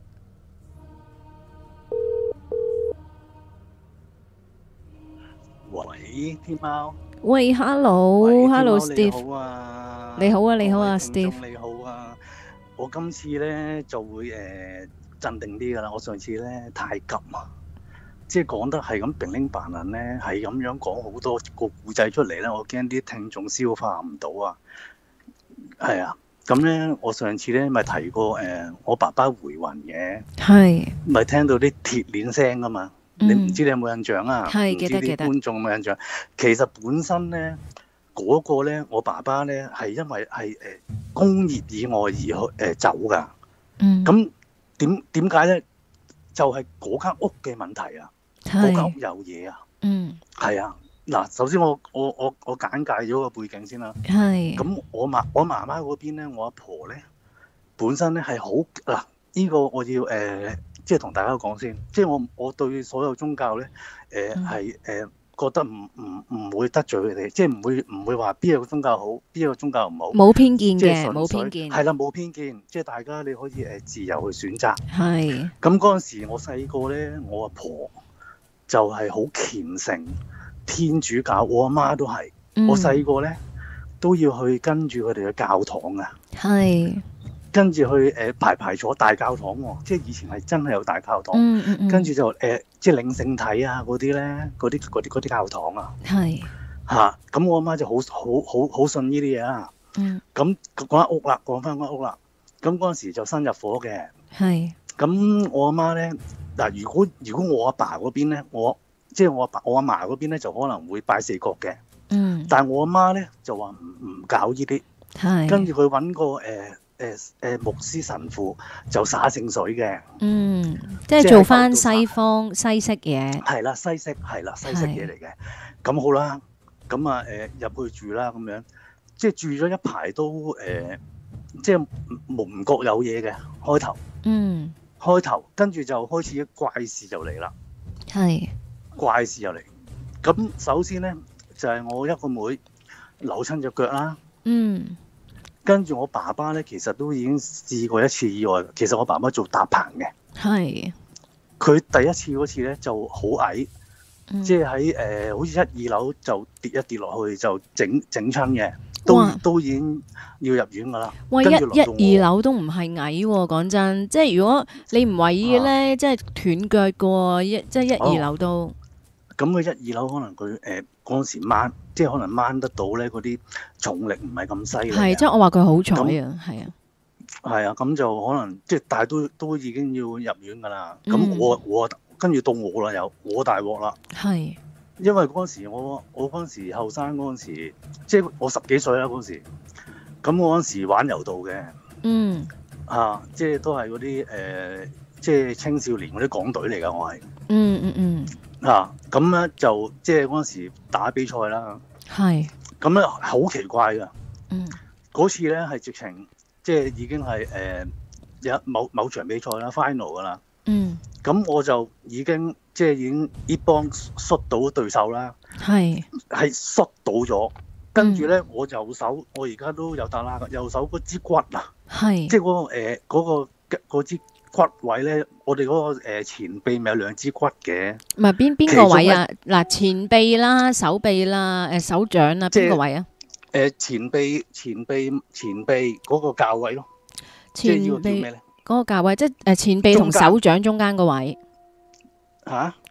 喂，天貓。 喂，hello，hello，Steve。 你好啊， 你好啊，你好啊，Steve。 你好啊，我今次咧就會誒鎮定啲噶啦。我上次咧太急啊，即係講得係咁平拎扮人咧，係咁樣講好多個故仔出嚟咧，我驚啲聽眾消化唔到啊。係啊，咁咧我上次咧咪提過誒，我爸爸回魂嘅， 係咪聽到啲鐵鏈聲噶嘛。你唔知你有冇印象啊？ 係、嗯、記得記得。觀眾有冇印象？其實本身咧嗰、嗰個咧，我爸爸咧係因為係誒工業意外而去誒、呃、走㗎。 嗯。 咁點點解咧？就係嗰間屋嘅問題啊！嗰間屋有嘢啊！ 嗯。係啊！嗱，首先我我我我簡介咗個背景先啦。 係。 咁我媽我媽媽嗰邊咧，我阿婆咧本身咧係好嗱，呢、呢個我要誒。呃即係同大家講先，即係我我對所有宗教咧，誒係誒覺得唔唔唔會得罪佢哋，即係唔會唔會話邊一個宗教好，邊一個宗教唔好， 冇偏見嘅，冇偏見， 係啦，冇偏見，即係大家你可以誒自由去選擇。 係。 咁嗰陣時我細個咧，我阿婆就係好虔誠天主教，我阿媽都係、嗯，我細個咧都要去跟住佢哋嘅教堂啊。係。跟住去誒、呃、排排坐大教堂喎、哦，即係以前係真係有大教堂，嗯嗯嗯跟住就誒、呃、即係領聖體啊嗰啲咧，嗰啲嗰啲嗰啲教堂啊，係嚇，咁、啊、我阿媽就好好好好信呢啲嘢啊，嗯，咁講間屋啦，講翻間屋啦，咁嗰陣時就新入伙嘅，係，咁我阿媽咧嗱，如果如果我阿爸嗰邊咧，我即係我阿爸我阿嫲嗰邊咧就可能會拜四角嘅，嗯，但係我阿媽咧就話唔唔搞呢啲，係，跟住佢揾個誒。呃誒、呃、誒、呃、牧師神父就灑聖水嘅，嗯，即係做翻西方西式嘢，係啦，西式係啦，西式嘢嚟嘅。咁好啦，咁啊誒入去住啦，咁樣即係住咗一排都誒、呃，即係唔唔覺有嘢嘅開頭，嗯，開頭跟住就開始怪事就嚟啦，係怪事就嚟。咁首先咧就係、是、我一個妹扭親隻腳啦，嗯。跟住我爸爸咧，其實都已經試過一次意外。其實我爸爸做搭棚嘅，係佢第一次嗰次咧就好矮，嗯、即係喺誒好似一二樓就跌一跌落去就整整親嘅，都都已經要入院噶啦。哇！一一二樓都唔係矮喎、啊，講真，即係如果你唔為意咧，即係斷腳嘅喎，一即係一二樓都。咁、哦、佢一二樓可能佢誒嗰陣時掹。即係可能掹得到咧，嗰啲重力唔係咁犀利。係，即係我話佢好彩啊，係啊，係啊，咁就可能即係，但係都都已經要入院㗎啦。咁、嗯、我我跟住到我啦，又我大鑊啦。係，因為嗰陣時我我嗰陣時後生嗰陣時，即係我十幾歲啦嗰陣時。咁我嗰陣時玩柔道嘅，嗯，啊，即係都係嗰啲誒，即係青少年嗰啲港隊嚟㗎，我係。嗯嗯嗯。啊，咁咧就即係嗰陣時打比賽啦。係，咁咧好奇怪噶，嗯，嗰次咧係直情即係已經係誒有某某場比賽啦 final 噶啦，嗯，咁我就已經即係已經呢幫摔到對手啦，係係摔到咗，跟住咧我右手我而家都有打啦，右手嗰支骨啊，係即係嗰個誒嗰個嗰支骨位咧，我哋嗰個誒前臂咪有兩支骨嘅，唔係邊邊個位啊？嗱，前臂啦、手臂啦、誒手掌啊，邊個位啊？誒前臂、前臂、前臂嗰個較位咯。前臂嗰個較位，即係誒前臂同手掌中間個位。嚇？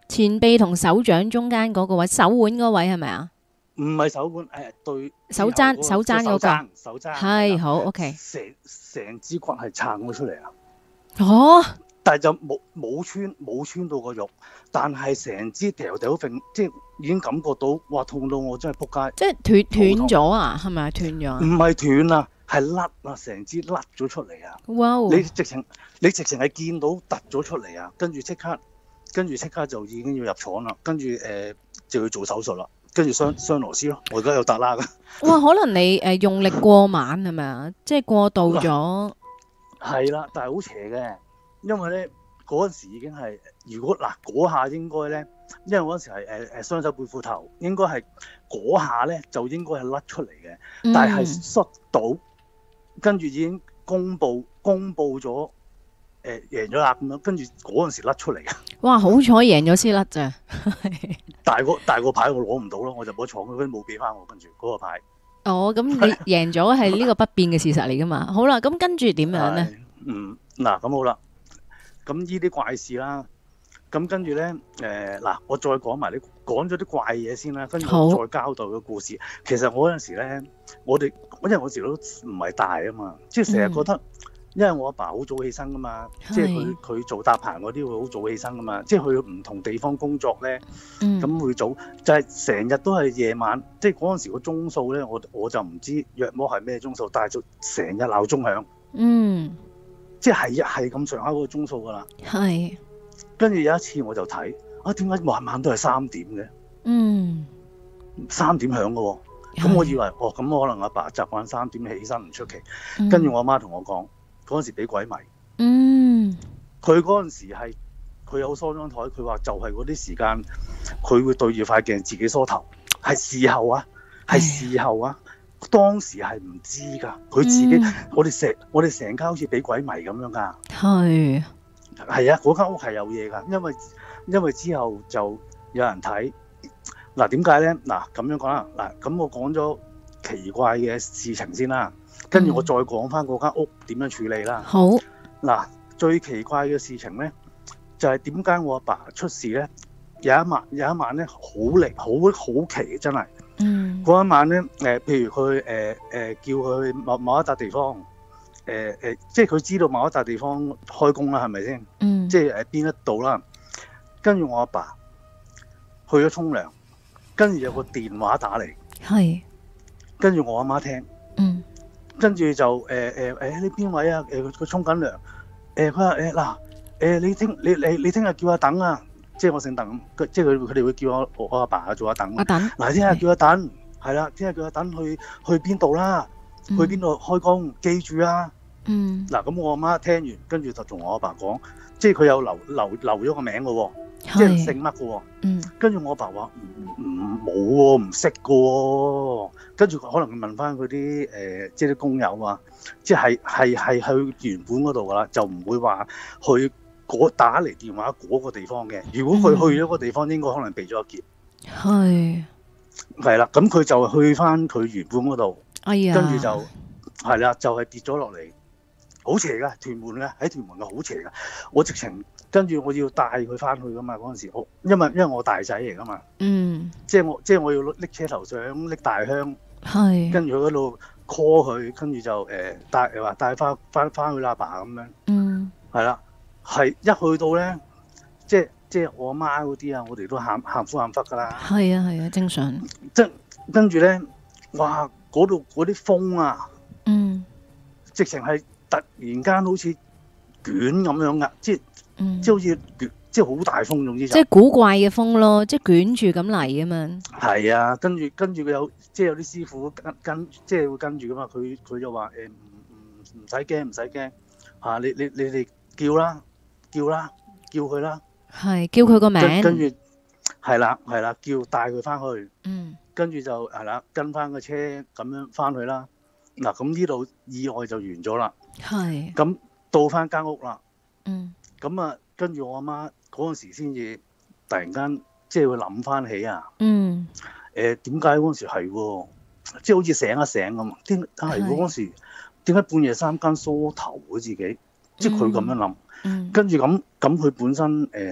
前臂同手掌中間嗰個位，手腕嗰位係咪啊？ 唔係手腕，誒對手踭之後嗰個手踭嗰個手踭手踭係好 OK。 成成支骨係撐咗出嚟啊！ 哦， 但係就冇冇穿冇穿到個肉，但係成支條條揈，即係已經感覺到，哇痛到我真係仆街！ 即係斷斷咗啊？係咪啊？斷咗啊？ 唔係斷啊，係甩啊，成支甩咗出嚟啊！ 哇！ 你直情你直情係見到突咗出嚟啊！跟住即刻跟住即刻就已經要入廠啦，跟住誒、呃、就要做手術啦，跟住雙雙螺絲咯，我而家有突啦㗎。 哇！可能你誒、呃、用力過猛係咪啊？即係過度咗。 係啦，但係好邪嘅，因為咧嗰陣時已經係，如果嗱嗰下應該咧，因為嗰陣時係誒誒雙手背褲頭，應該係嗰下咧就應該係甩出嚟嘅， 嗯但係摔到，跟住已經公佈公佈咗誒贏咗啦咁樣，跟住嗰陣時甩出嚟嘅。 哇！好彩贏咗先甩咋。 大個大個牌我攞唔到咯，我就冇闖，佢冇俾翻我，跟住嗰個牌。 哦，咁你贏咗係呢個不變嘅事實嚟噶嘛？好啦，咁跟住點樣咧？ 嗯，嗱咁好啦，咁呢啲怪事啦，咁跟住咧，誒嗱，我再講埋你講咗啲怪嘢先啦，跟住好再交代個故事。其實我嗰陣時咧，我哋因為我嗰時都唔係大啊嘛，即係成日覺得，因為我阿爸好早起身噶嘛，即係佢佢做搭棚嗰啲會好早起身噶嘛，即係去唔同地方工作咧，咁、 嗯會早，就係成日都係夜晚，即係嗰陣時個鐘數咧，我我就唔知約摸係咩鐘數，但係就成日鬧鐘響。 嗯， 即係一係咁上下嗰個鐘數噶啦， 係， 跟住有一次我就睇啊，點解晚晚都係三點嘅？ 嗯， 三點響嘅喎，咁我以為哦，咁可能阿爸習慣三點起身唔出奇。跟住我阿媽同我講，嗰陣時俾鬼迷。 嗯， 佢嗰陣時係佢有梳妝台，佢話就係嗰啲時間，佢會對住塊鏡自己梳頭，係事後啊，係事後啊。當時係唔知㗎，佢自己，嗯、我哋成我哋成間好似俾鬼迷咁樣㗎。 係係啊，嗰間屋係有嘢㗎，因為因為之後就有人睇。嗱點解咧？嗱咁樣講啦，嗱咁我講咗奇怪嘅事情先啦，跟住我再講翻嗰間屋點樣處理啦。 好。 嗱最奇怪嘅事情咧，就係點解我阿爸出事咧？有一晚有一晚咧，好離好好奇真係。 嗯， 嗰一晚咧，誒、呃，譬如佢誒誒叫佢去某某一笪地方，誒、呃、誒、呃，即係佢知道某一笪地方開工啦，係咪先？ 嗯， 即係誒邊一度啦。跟住我阿爸，爸去咗沖涼，跟住有個電話打嚟， 係， 跟住我阿媽聽， 嗯， 跟住就誒誒誒，你邊位啊？誒佢沖緊涼，誒佢話誒嗱，誒你聽你你你聽日叫阿等啊。即係我姓鄧，即係佢佢哋會叫我我阿爸做阿鄧。 阿鄧， 嗱，聽日叫阿鄧，係啦，聽日叫阿鄧去去邊度啦？去邊度開工？記住啊！ 嗯。 嗱，咁我阿媽聽完，跟住就同我阿爸講，即係佢有留留留咗個名嘅喎，即係姓乜嘅喎。 嗯。跟住我阿爸話唔唔冇喎，唔識嘅喎。跟住可能問翻佢啲誒，即係啲工友啊，即係係係去原本嗰度㗎啦，就唔會話去。打嚟電話嗰個地方嘅，如果佢去咗個地方，嗯、應該可能避咗一劫。 係係啦，咁佢就去翻佢原本嗰度， 哎呀， 跟住就係啦，就係、是、跌咗落嚟，好邪噶，屯門嘅喺屯門嘅好邪噶。我直情跟住我要帶佢翻去噶嘛，嗰陣時我因為因為我大仔嚟噶嘛， 嗯， 即係我即係我要拎車頭相拎大香， 係跟住佢嗰度 call 佢，跟住就誒、呃、帶話帶翻翻翻去阿爸咁樣， 嗯， 係啦。係一去到咧，即係即係我阿媽嗰啲啊，我哋都喊喊苦喊忽噶啦。 係啊係啊，正常。 即跟住咧，哇！嗰度嗰啲風啊， 嗯， 直情係突然間好似捲咁樣噶，即係、 嗯、 即係好似捲，即係好大風，總之就即係古怪嘅風咯，即係捲住咁嚟啊嘛。 係啊，跟住跟住佢有即係有啲師傅跟跟，即係會跟住噶嘛。佢佢就話誒唔唔唔使驚唔使驚嚇，你你你哋叫啦。叫啦，叫佢啦， 係叫佢個名， 跟住係啦係啦，叫帶佢翻去， 嗯， 跟住就係啦，跟翻個車咁樣翻去啦。嗱，咁呢度意外就完咗啦， 係， 咁到翻間屋啦， 嗯， 咁啊，跟住我阿媽嗰陣時先至突然間即係會諗翻起啊， 嗯， 誒點解嗰陣時係喎，即係好似醒一醒咁，點係嗰陣時點解半夜三更梳頭嘅自己，即係佢咁樣諗。 嗯、 跟住咁咁佢本身誒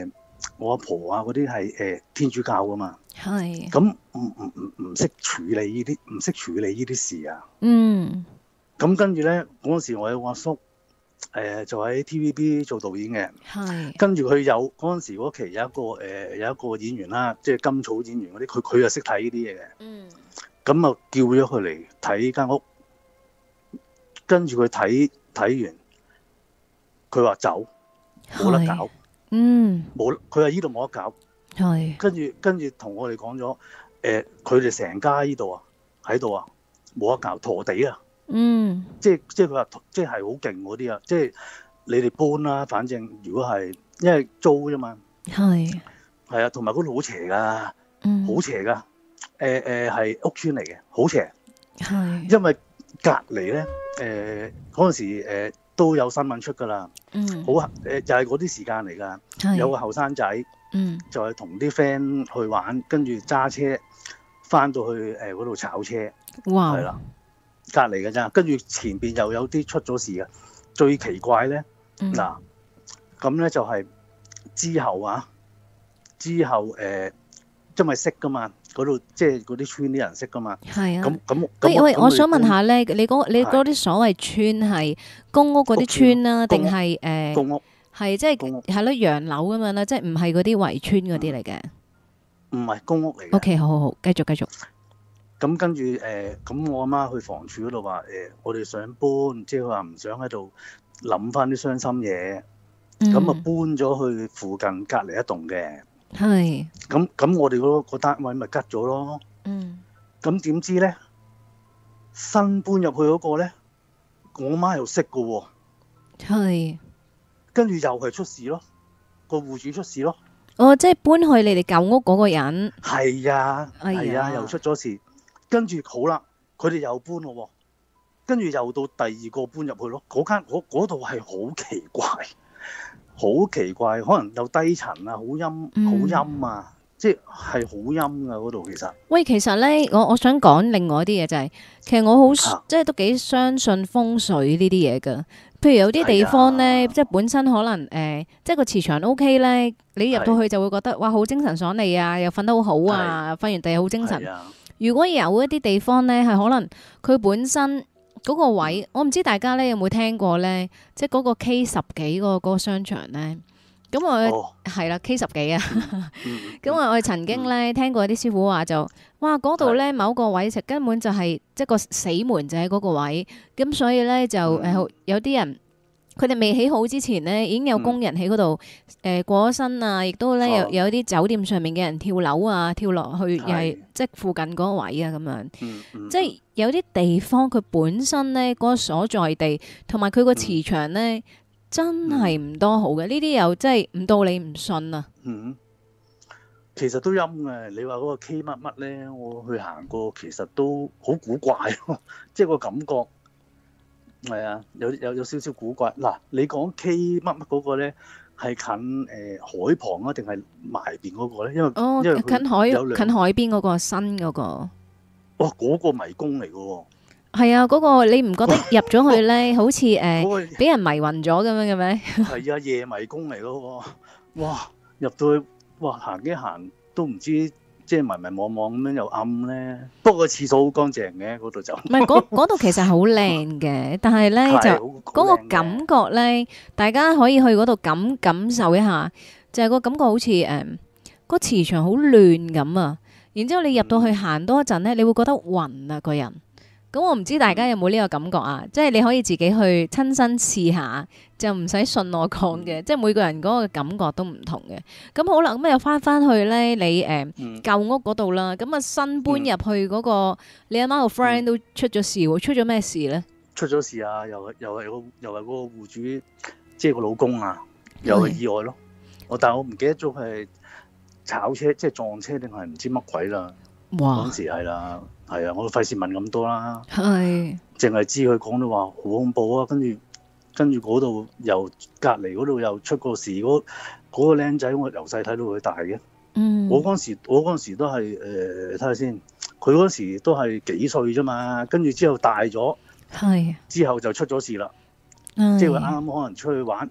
我阿婆啊嗰啲係誒天主教噶嘛， 係咁唔唔唔唔識處理呢啲，唔識處理呢啲事啊。 嗯咁跟住咧嗰陣時，我有個阿叔誒、呃、就喺 T V B 做導演嘅， 係跟住佢有嗰陣時嗰期有一個誒、呃、有一個演員啦，即係甘草演員嗰啲，佢佢又識睇呢啲嘢嘅。 嗯咁啊叫咗佢嚟睇間屋，跟住佢睇睇完，佢話走冇得搞， 嗯冇佢話依度冇得搞。 係跟住跟住同我哋講咗，誒佢哋成家依度啊喺度啊冇得搞，陀地啊， 嗯即係即係佢話即係好勁嗰啲啊，即係你哋搬啦，反正如果係因為租啫嘛， 係係啊，同埋嗰度好邪㗎， 嗯好邪㗎，誒誒係屋村嚟嘅，好邪， 係因為隔離咧誒嗰陣時誒、呃、都有新聞出㗎啦， 嗯好誒、呃、就係嗰啲時間嚟㗎， 係有個後生仔。 嗯就係同啲 friend 去玩，跟住揸車翻到去誒嗰度炒車， 哇係啦，隔離嘅咋，跟住前邊又有啲出咗事嘅。最奇怪咧， 嗯嗱咁咧就係之後啊，之後誒、呃，因為識噶嘛，嗰度即係嗰啲村啲人識噶嘛， 係啊咁咁咁喂喂， 咁我想問佢下咧，你嗰你嗰啲所謂村係公屋嗰啲村啦，定公屋係誒公屋係即係公屋係咯洋樓咁樣啦，即係唔係嗰啲圍村嗰啲嚟嘅唔係公屋嚟嘅。 ？OK，好好好，繼續繼續。 咁跟住誒，咁、我阿媽去房署嗰度話誒，我哋想搬，即係佢話唔想喺度諗翻啲傷心嘢，咁啊、 嗯搬咗去附近隔離一棟嘅， 係咁咁我哋嗰個單位咪吉咗咯。 嗯咁點知咧，新搬入去嗰個咧，我媽又識嘅喎， 係跟住又係出事咯，個戶主出事咯， 哦，即係搬去你哋舊屋嗰個人。 係啊， 哎呀係啊，又出咗事，跟住好啦，佢哋又搬咯喎，跟住又到第二個搬入去咯，嗰間嗰嗰度係好奇怪，好奇怪，可能有低層啊，好陰嗯好陰啊，即係係好陰噶嗰度其實。 喂，其實咧，我我想講另外一啲嘢就係、其實我好、 啊即係都幾相信風水呢啲嘢噶。譬如有啲地方咧， 係啊即係本身可能誒、呃即係個磁場 O K 咧，你入到去就會覺得哇，好精神爽利啊，又瞓得好好啊，瞓完地好精神。 係啊， 如果有一啲地方咧，係可能佢本身嗰個位，我唔知大家咧有冇聽過咧，即係嗰個 K 十幾嗰個嗰個商場咧。咁我哦， 係啦 K 十幾啊。 嗯咁我我曾經咧聽過啲師傅話就，哇嗰度咧某個位就根本就係即係個死門就喺嗰個位，咁所以咧就誒、 嗯有啲人佢哋未起好之前咧已經有工人喺嗰度誒過咗身啊，亦都咧有哦有啲酒店上面嘅人跳樓啊，跳落去又係係即係附近嗰個位啊咁樣， 嗯嗯即係有啲地方佢本身咧嗰、個所在地同埋佢個磁場咧。真係唔多好嘅，呢啲又真係唔到你唔信啊！ 嗯，其實都陰嘅。你話嗰個 K 乜乜咧，我去行過，其實都好古怪咯，即係個感覺係啊，有有有少少古怪。嗱，你講 K 乜乜嗰個咧，係近誒、呃、海旁啊，定係埋邊嗰個咧？因為哦， 因為佢近海有兩近海邊嗰個新嗰個， 哇，嗰、個迷宮嚟嘅喎， 係啊，嗰個你唔覺得入咗去咧，好似誒嗰、個俾人迷暈咗咁樣嘅咩？ 係啊，夜迷宮嚟嘅喎，哇！入到去哇，行幾行都唔知，即係迷迷惘惘咁樣又暗咧。不過個廁所好乾淨嘅，嗰度就唔係嗰嗰度其實好靚嘅，但係咧係就好嗰個好靚嘅感覺咧，大家可以去嗰度感感受一下，就係個感覺好似誒個磁場好亂咁啊。然之後你入到去行多一陣咧，你會覺得暈啊個人。咁我唔知大家有冇呢個感覺啊？即係你可以自己去親身試下，就唔使信我講嘅。即係每個人嗰個感覺都唔同嘅。咁好啦，咁又翻翻去咧，你誒、 嗯舊屋嗰度啦。咁啊新搬入去嗰、個，你阿媽個 friend 都出咗事喎，出咗咩事咧？ 出咗事啊！又係又係個又係嗰個戶主，即係個老公啊，又係意外咯。我但係我唔記得咗佢係炒車，即係撞車定係唔知乜鬼啦。 哇嗰！陣時係啦，係啊，我費事問咁多啦。 係淨係知佢講到話好恐怖啊，跟住跟住嗰度又隔離嗰度又出過事，嗰、嗰個僆仔我由細睇到佢大嘅。 嗯， 我嗰陣時我嗰陣時都係誒睇下先，佢嗰陣時都係幾歲啫嘛，跟住之後大咗， 係， 之後就出咗事啦。 嗯即係佢啱啱可能出去玩，即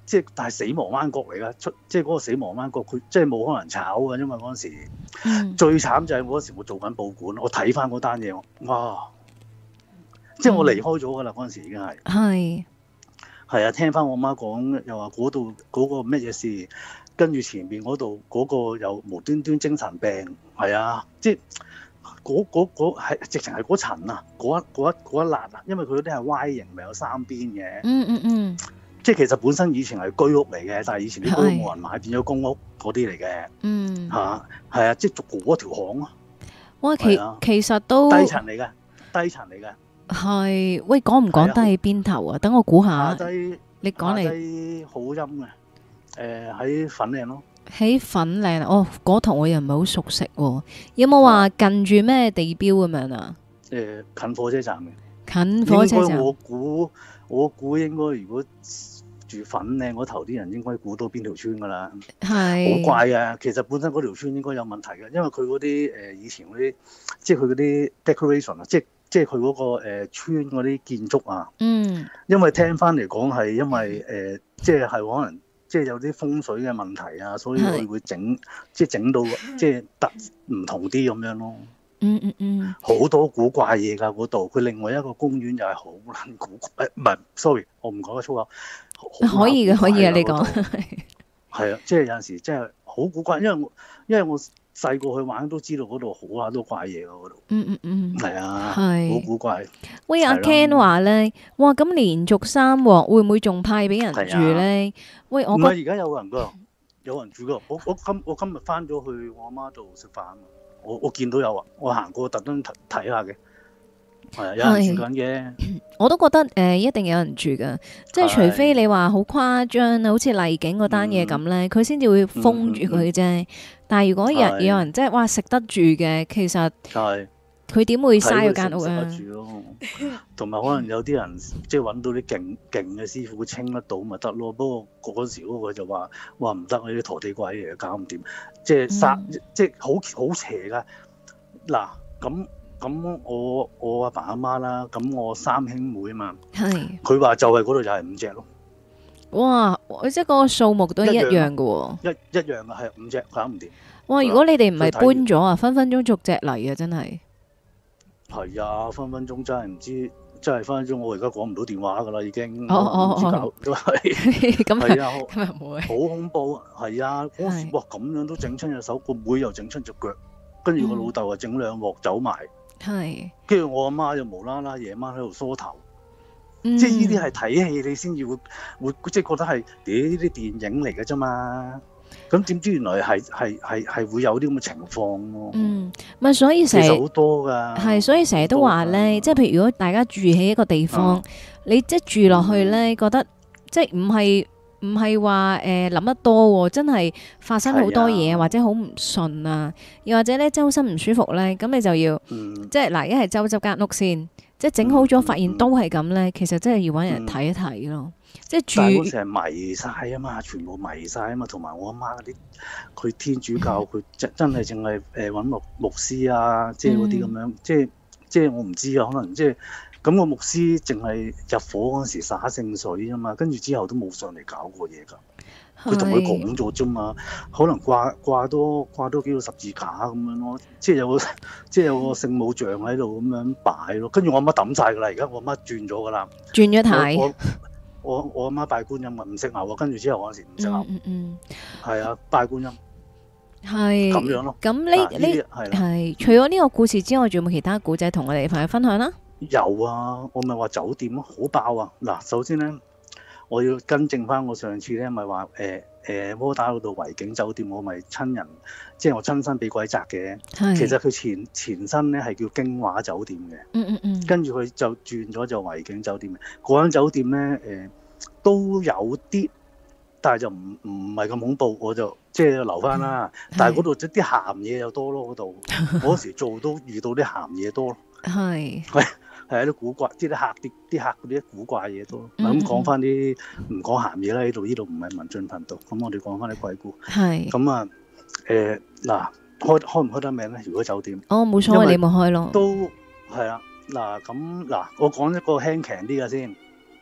即係但係死亡灣角嚟㗎，出即係嗰個死亡灣角，佢即係冇可能炒㗎，因為嗰陣時、 嗯、 最慘就係嗰陣時我做緊報館，我睇翻嗰單嘢，哇！即係我離開咗㗎啦，嗰陣時已經係係係啊，聽翻我媽講，又話嗰度嗰個乜嘢事，跟住前面嗰度嗰個又無端端精神病，係啊，即係嗰嗰嗰係直情係嗰層啊，嗰一嗰一嗰一辣啊，因為佢嗰啲係 Y 型，咪有三邊嘅。 嗯嗯嗯， 即係其實本身以前係居屋嚟嘅，但係以前啲居屋冇人買，變咗公屋嗰啲嚟嘅。 嗯， 嚇係啊，即係逐嗰條巷咯。 哇，其其實都低層嚟嘅，低層嚟嘅。 係，喂，講唔講得喺邊頭啊？等我估下。 下低你講嚟。 下低好陰嘅，誒喺粉嶺咯。 喺粉嶺哦，嗰頭我又唔係好熟悉喎。有冇話近住咩地標咁樣啊？ 誒近火車站嘅。 近火車站。 我估我估應該如果住粉嶺嗰頭啲人應該估到邊條村㗎啦。 係。 好怪啊！其實本身嗰條村應該有問題嘅，因為佢嗰啲誒以前嗰啲，即係佢嗰啲 decoration 啊，即係即係佢嗰個誒、呃、村嗰啲建築啊。 嗯。 因為聽翻嚟講係因為誒、呃，即係係可能即係有啲風水嘅問題啊，所以佢會整即係整到即係特唔同啲咁樣咯。 嗯嗯嗯。 好多古怪嘢㗎嗰度，佢另外一個公園又係好撚古怪，誒唔係 sorry，我唔講得粗口。 可以嘅，可以啊，你講。 係啊，即係有陣時真係好古怪，因為我因為我細個去玩都知道嗰度好啊多怪嘢㗎嗰度。 嗯嗯嗯。 係啊。 係。 好古怪。 喂，阿 Ken 話咧，哇，咁連續三鑊會唔會仲派俾人住咧？喂，我唔係而家有人㗎，有人住㗎。我我今我今日翻咗去我阿媽度食飯，我我見到有啊，我行過特登睇下嘅。係啊，有人住緊嘅。 我都覺得誒、呃，一定有人住噶，即係除非你話好誇張啊，好似麗景嗰單嘢咁咧，佢先至會封住佢啫、嗯嗯。但係如果日有人即係哇食得住嘅，其實佢點會嘥嗰間屋啊？ 食得住咯，同埋可能有啲人即係揾到啲勁勁嘅師傅清得到咪得咯。不過嗰時嗰個就話話唔得，呢啲陀地鬼嚟嘅，搞唔掂，即係殺、嗯、即係好好邪噶。嗱咁。咁我我阿爸阿媽啦，咁我三兄妹啊嘛，係佢話就係嗰度就係五隻咯。 哇！即係嗰個數目都係一樣嘅喎， 一一樣嘅係五隻搞唔掂。 哇！如果你哋唔係搬咗啊，分分鐘逐隻嚟啊，真係。 係啊，分分鐘真係唔知，真係分分鐘我而家講唔到電話㗎啦，已經。 哦哦哦， 搞都係。 咁係啊， 咁又唔會。 好恐怖，係啊！嗰時哇咁樣都整親隻手，個妹又整親隻腳，跟住個老豆又整兩鑊走埋。係，跟住我阿媽就無啦啦夜晚喺度梳頭，嗯、即係呢啲係睇戲你先至會會即係覺得係啲呢啲電影嚟嘅啫嘛。咁點知原來係係係係會有啲咁嘅情況咯。 嗯，咪所以成日好多㗎， 係所以成日都話咧，即係譬如如果大家住喺一個地方，嗯、你即係住落去咧，覺得即係唔係。唔係話誒諗得多喎，真係發生好多嘢、啊、或者好唔順啊，又或者咧周身唔舒服咧，咁你就要、嗯、即係嗱，一係周執間屋先，即係整好咗、嗯，發現都係咁咧，其實真係要搵人睇一睇咯。嗯、即係住。但係成日迷晒啊嘛，全部迷晒啊嘛，同埋我阿媽嗰啲，佢天主教佢真真係淨係誒搵牧牧師啊，即係嗰啲咁樣，即係即係我唔知啊，可能即係。咁個牧師淨係入伙嗰陣時灑聖水啊嘛，跟住之後都冇上嚟搞過嘢㗎。佢同佢講咗啫嘛，可能掛掛多掛多幾個十字架咁樣咯，即係有個即係有個聖母像喺度咁樣擺咯。跟住我阿媽抌晒㗎啦，而家我阿媽轉咗㗎啦。 轉咗睇。 我我我阿媽拜觀音啊，唔識牛啊，跟住之後嗰陣時唔識牛。嗯嗯。係啊，拜觀音。係。咁樣咯。咁呢呢係除咗呢個故事之外，仲有冇其他故仔同我哋朋友分享啦？ 有啊，我咪話酒店咯，好爆啊！嗱，首先咧，我要更正翻我上次咧，咪話誒誒窩打老道維景酒店，我咪親人，即係我親身俾鬼責嘅。其實佢前前身咧係叫京華酒店嘅。嗯嗯嗯。跟住佢就轉咗就維景酒店嘅。嗰間酒店咧誒、呃、都有啲，但係就唔唔係咁恐怖，我就即係留翻啦。但係嗰度即啲鹹嘢又多咯，嗰度嗰時做都遇到啲鹹嘢多咯。係。係。係啲古怪，啲啲客啲啲客嗰啲古怪嘢多。咁講翻啲唔講鹹嘢啦，呢度呢度唔係文進頻道，咁我哋講翻啲鬼故。係。咁啊，誒嗱，開開唔開得名咧？如果酒店。 哦，冇所謂，你冇開咯。 都係啊，嗱咁嗱，我講一個輕強啲嘅先。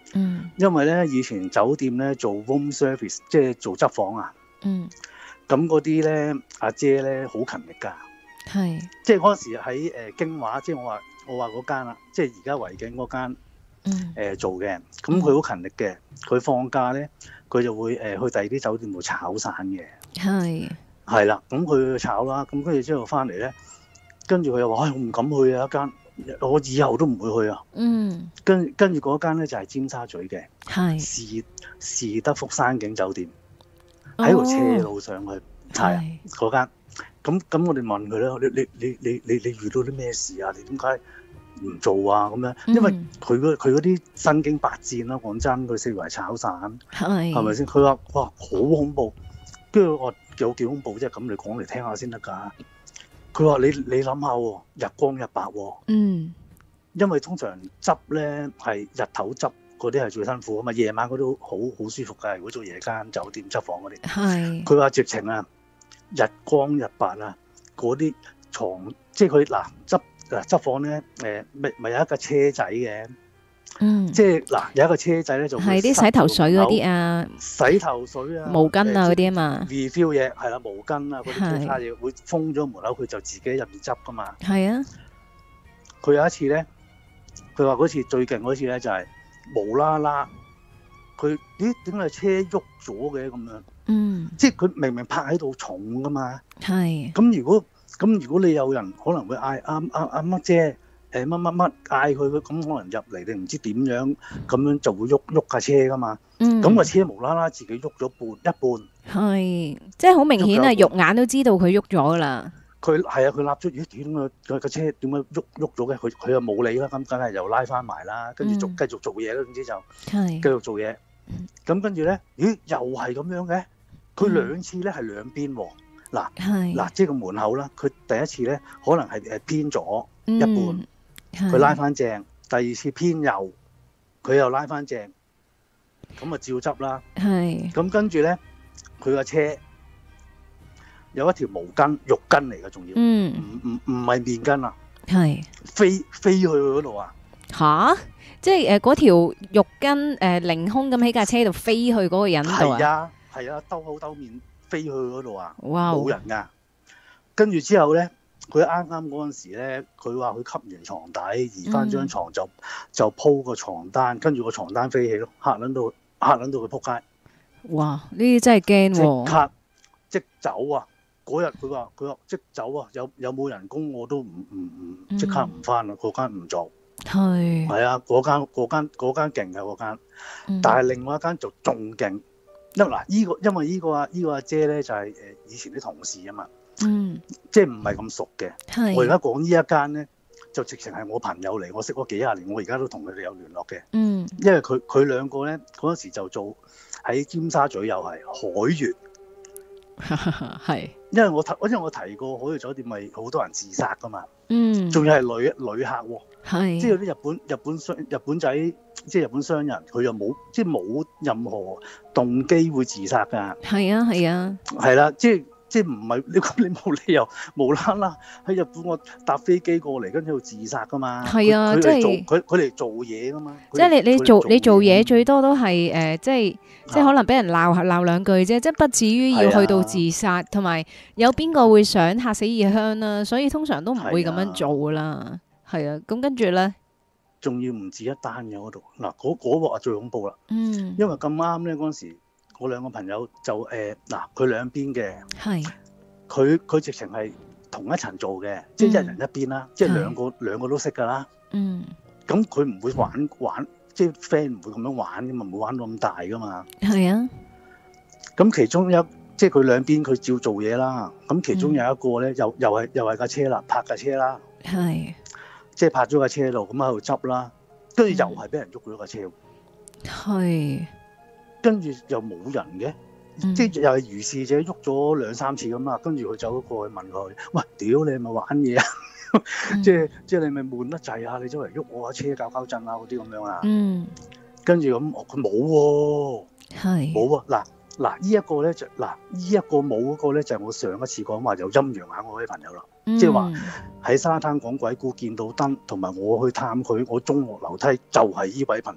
嗯， 因為咧以前酒店咧做 room service，即係做執房啊。 嗯， 咁嗰啲咧阿姐咧好勤力㗎， 係， 即係嗰陣時喺誒、呃、京華，即係我話我話嗰間啦，即係而家維景嗰間。 嗯， 誒、呃、做嘅，咁佢好勤力嘅，佢放假咧，佢就會誒、呃、去第二啲酒店度炒散嘅， 係， 係啦，咁佢去炒啦，咁跟住之後翻嚟咧，跟住佢又話：，唉、哎，我唔敢去啊，一間，我以後都唔會去啊。 嗯， 跟跟住嗰間咧就係、是、尖沙咀嘅， 係， 士士德福山景酒店，喺條斜路上去，係啊嗰間。咁咁我哋問佢咧，你你你你你你遇到啲咩事啊？你點解唔做啊？咁樣，因為佢嗰佢嗰啲身經百戰啦，講真，佢四圍炒散， 係， 係咪先？佢話：哇，好恐怖！跟住我有幾恐怖啫？咁你講嚟聽下先得㗎。佢話：你你諗下喎，日光日白喎， 嗯， 因為通常執咧係日頭執嗰啲係最辛苦啊嘛，夜晚嗰啲好好舒服㗎。如果做夜間酒店執房嗰啲， 係， 佢話直情啊，日光日白啊，嗰啲床即係佢嗱執。嗱執房咧，誒咪咪有一架車仔嘅， 嗯， 即係嗱有一個車仔咧就係啲洗頭水嗰啲啊， 洗頭水啊、 毛巾啊嗰啲啊嘛 ，refill 嘢係啦，毛巾啊嗰啲其他嘢會封咗門口，佢就自己入面執噶嘛。 係啊， 佢有一次咧，佢話嗰次最勁嗰次咧就係、是、無啦啦，佢咦點解車喐咗嘅咁樣？ 嗯， 即係佢明明泊喺度重噶嘛， 係， 咁如果。咁如果你有人可能會嗌阿阿阿乜姐誒乜乜乜嗌佢，咁可能入嚟你唔知點樣，咁樣就會喐喐架車噶嘛。 嗯， 咁個車無啦啦自己喐咗半一半， 係，即係好明顯啊，肉眼都知道佢喐咗噶啦。 佢係啊，佢立咗咦點啊個個車點解喐喐咗嘅？佢佢又冇理啦，咁梗係又拉翻埋啦，跟住續繼續做嘢啦，總之就係繼續做嘢。咁跟住咧，咦又係咁樣嘅？佢兩次咧係兩邊喎。嗱嗱，即係個門口啦。佢第一次咧，可能係誒偏左一半，佢、嗯、拉翻正；第二次偏右，佢又拉翻正。咁啊，照執啦。係。咁跟住咧，佢個車有一條毛巾、浴巾嚟嘅，仲要，唔唔唔係面巾啊。係。飛飛去嗰度啊！ 吓？即係誒嗰條浴巾誒凌空咁喺架車度飛去嗰個人度啊？ 係啊，係啊，兜口兜面。飛去嗰度啊！冇人噶，跟住之後咧，佢啱啱嗰陣時咧，佢話佢吸完床底，移翻張床就、嗯、就鋪個床單，跟住個床單飛起咯，嚇撚到嚇撚到佢仆街。哇！呢啲真係驚喎！即刻即走啊！嗰日佢話佢話即走啊！有有冇人工我都唔唔唔即刻唔翻啦，嗰間唔做。係係啊，嗰間嗰間嗰間勁嘅嗰間，但係另外一間就仲勁。因嗱，依個因為依個啊依個阿姐咧就係誒以前啲同事啊嘛，嗯，即係唔係咁熟嘅。係我而家講呢一間咧，就直情係我朋友嚟，我識咗幾廿年，我而家都同佢哋有聯絡嘅。嗯，因為佢佢兩個咧嗰陣時就做喺尖沙咀又係海悅，係，因為我提因為我提過海悅酒店咪好多人自殺噶嘛，嗯，仲要係女旅客喎，係，即係有啲日本日本商日本仔。即係日本商人，佢又冇即係冇任何動機會自殺㗎。係啊，係啊，係啦，即係即係唔係你咁你冇理由無啦啦喺日本我搭飛機過嚟跟住自殺㗎嘛？係啊，即係佢佢嚟做嘢㗎嘛。即係你你做你做嘢最多都係誒、呃，即係即係可能俾人鬧鬧兩句啫，即係不至於要去到自殺，同埋有邊個會想嚇死異鄉啦？所以通常都唔會咁樣做㗎啦。係啊，咁跟住咧。仲要唔止一單嘅嗰度，嗱嗰嗰鑊啊最恐怖啦，嗯，因為咁啱咧嗰陣時，我兩個朋友就誒嗱佢兩邊嘅，係，佢佢直情係同一層做嘅，即係一人一邊啦，即係兩個兩個都識㗎啦，嗯，咁佢唔會玩玩，即係 friend 唔會咁樣玩㗎嘛，唔會玩到咁大㗎嘛，係啊，咁其中一即係佢兩邊佢照做嘢啦，咁其中有一個咧又又係又係架車啦，泊架車啦，係。即係泊咗架車度，咁喺度執啦，跟住又係俾人喐咗架車，係、嗯，跟住又冇人嘅、嗯，即係又係如是者喐咗兩三次咁啦，跟住佢走咗過去問佢：喂，屌你係咪玩嘢啊？嗯、即係即係你咪悶得滯啊！你周圍喐我架車搞搞震啊嗰啲咁樣啊？嗯，跟住咁，佢冇喎，係冇啊！嗱嗱，呢一個咧就嗱，呢一個冇嗰個咧就係我上一次講話有陰陽眼嗰位朋友啦。即係話喺沙灘講鬼故見到燈，同埋我去探佢，我中學樓梯就係呢位朋友啦。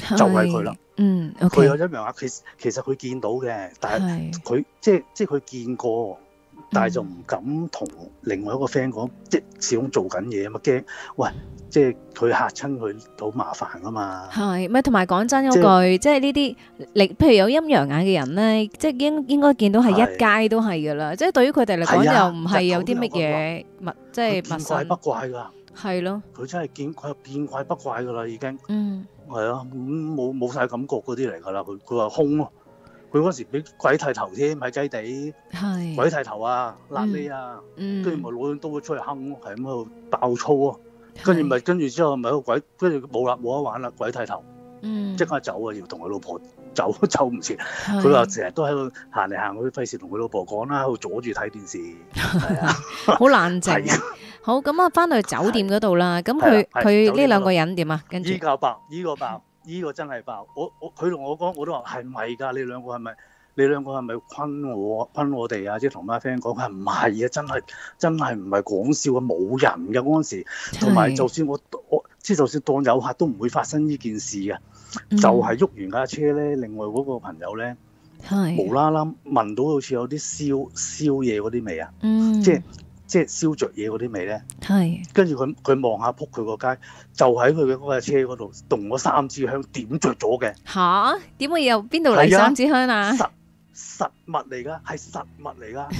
就係佢啦。 嗯佢 ，OK， 有一樣啊，其實其實佢見到嘅，但係係， 佢即係即係佢見過，但係就嗯唔敢同另外一個 friend 講，即係始終做緊嘢啊嘛，驚喂，即係佢嚇親佢好麻煩啊嘛。 係，咪同埋講真嗰即係句，即係呢啲，你譬如有陰陽眼嘅人咧，即係應應該見到係一係街都係噶啦，即係對於佢哋嚟講係啊， 又唔係有啲乜日頭都有個話， 嘢陌，即佢係陌見怪不生， 怪㗎， 係咯， 佢真係見佢見怪不怪㗎啦，已經嗯係啊，咁冇冇曬感覺嗰啲嚟㗎啦。佢佢話空咯，佢嗰時俾鬼剃頭添喺雞地，鬼係， 剃頭啊，辣痢啊，跟住嗯咪攞張刀出去哼咯，係咁喺度爆粗啊！跟住咪跟住之後咪個鬼，跟住冇啦冇得玩啦，鬼剃頭嗯即刻走啊！要同佢老婆走走唔切， 係佢話成日都喺度行嚟行去，費事同佢老婆講啦，喺度阻住睇電視，係啊， 好冷靜係啊， 好，咁啊，翻去酒店嗰度啦，咁佢係啦係佢酒店嗰度呢兩個人點啊？跟住依個爆，依個爆，依個真係爆！我我佢同我講，我都話係咪㗎？你兩個係咪？你兩個係咪昆我昆我哋啊？即係同班 friend 講，佢話唔係啊，真係真係唔係講笑啊，冇人嘅嗰陣時，同埋就算我我即係就算當有客都唔會發生呢件事嘅， 嗯就係喐完架車咧，另外嗰個朋友咧係無啦啦聞到好似有啲燒燒嘢嗰啲味啊， 嗯即係即係燒着嘢嗰啲味咧。 係跟住佢佢望下撲佢個街，就喺佢嘅嗰架車嗰度動咗三支香，點着咗嘅， 吓？點會有邊度嚟係啊三支香啊？ 實實物嚟㗎，係實物嚟㗎。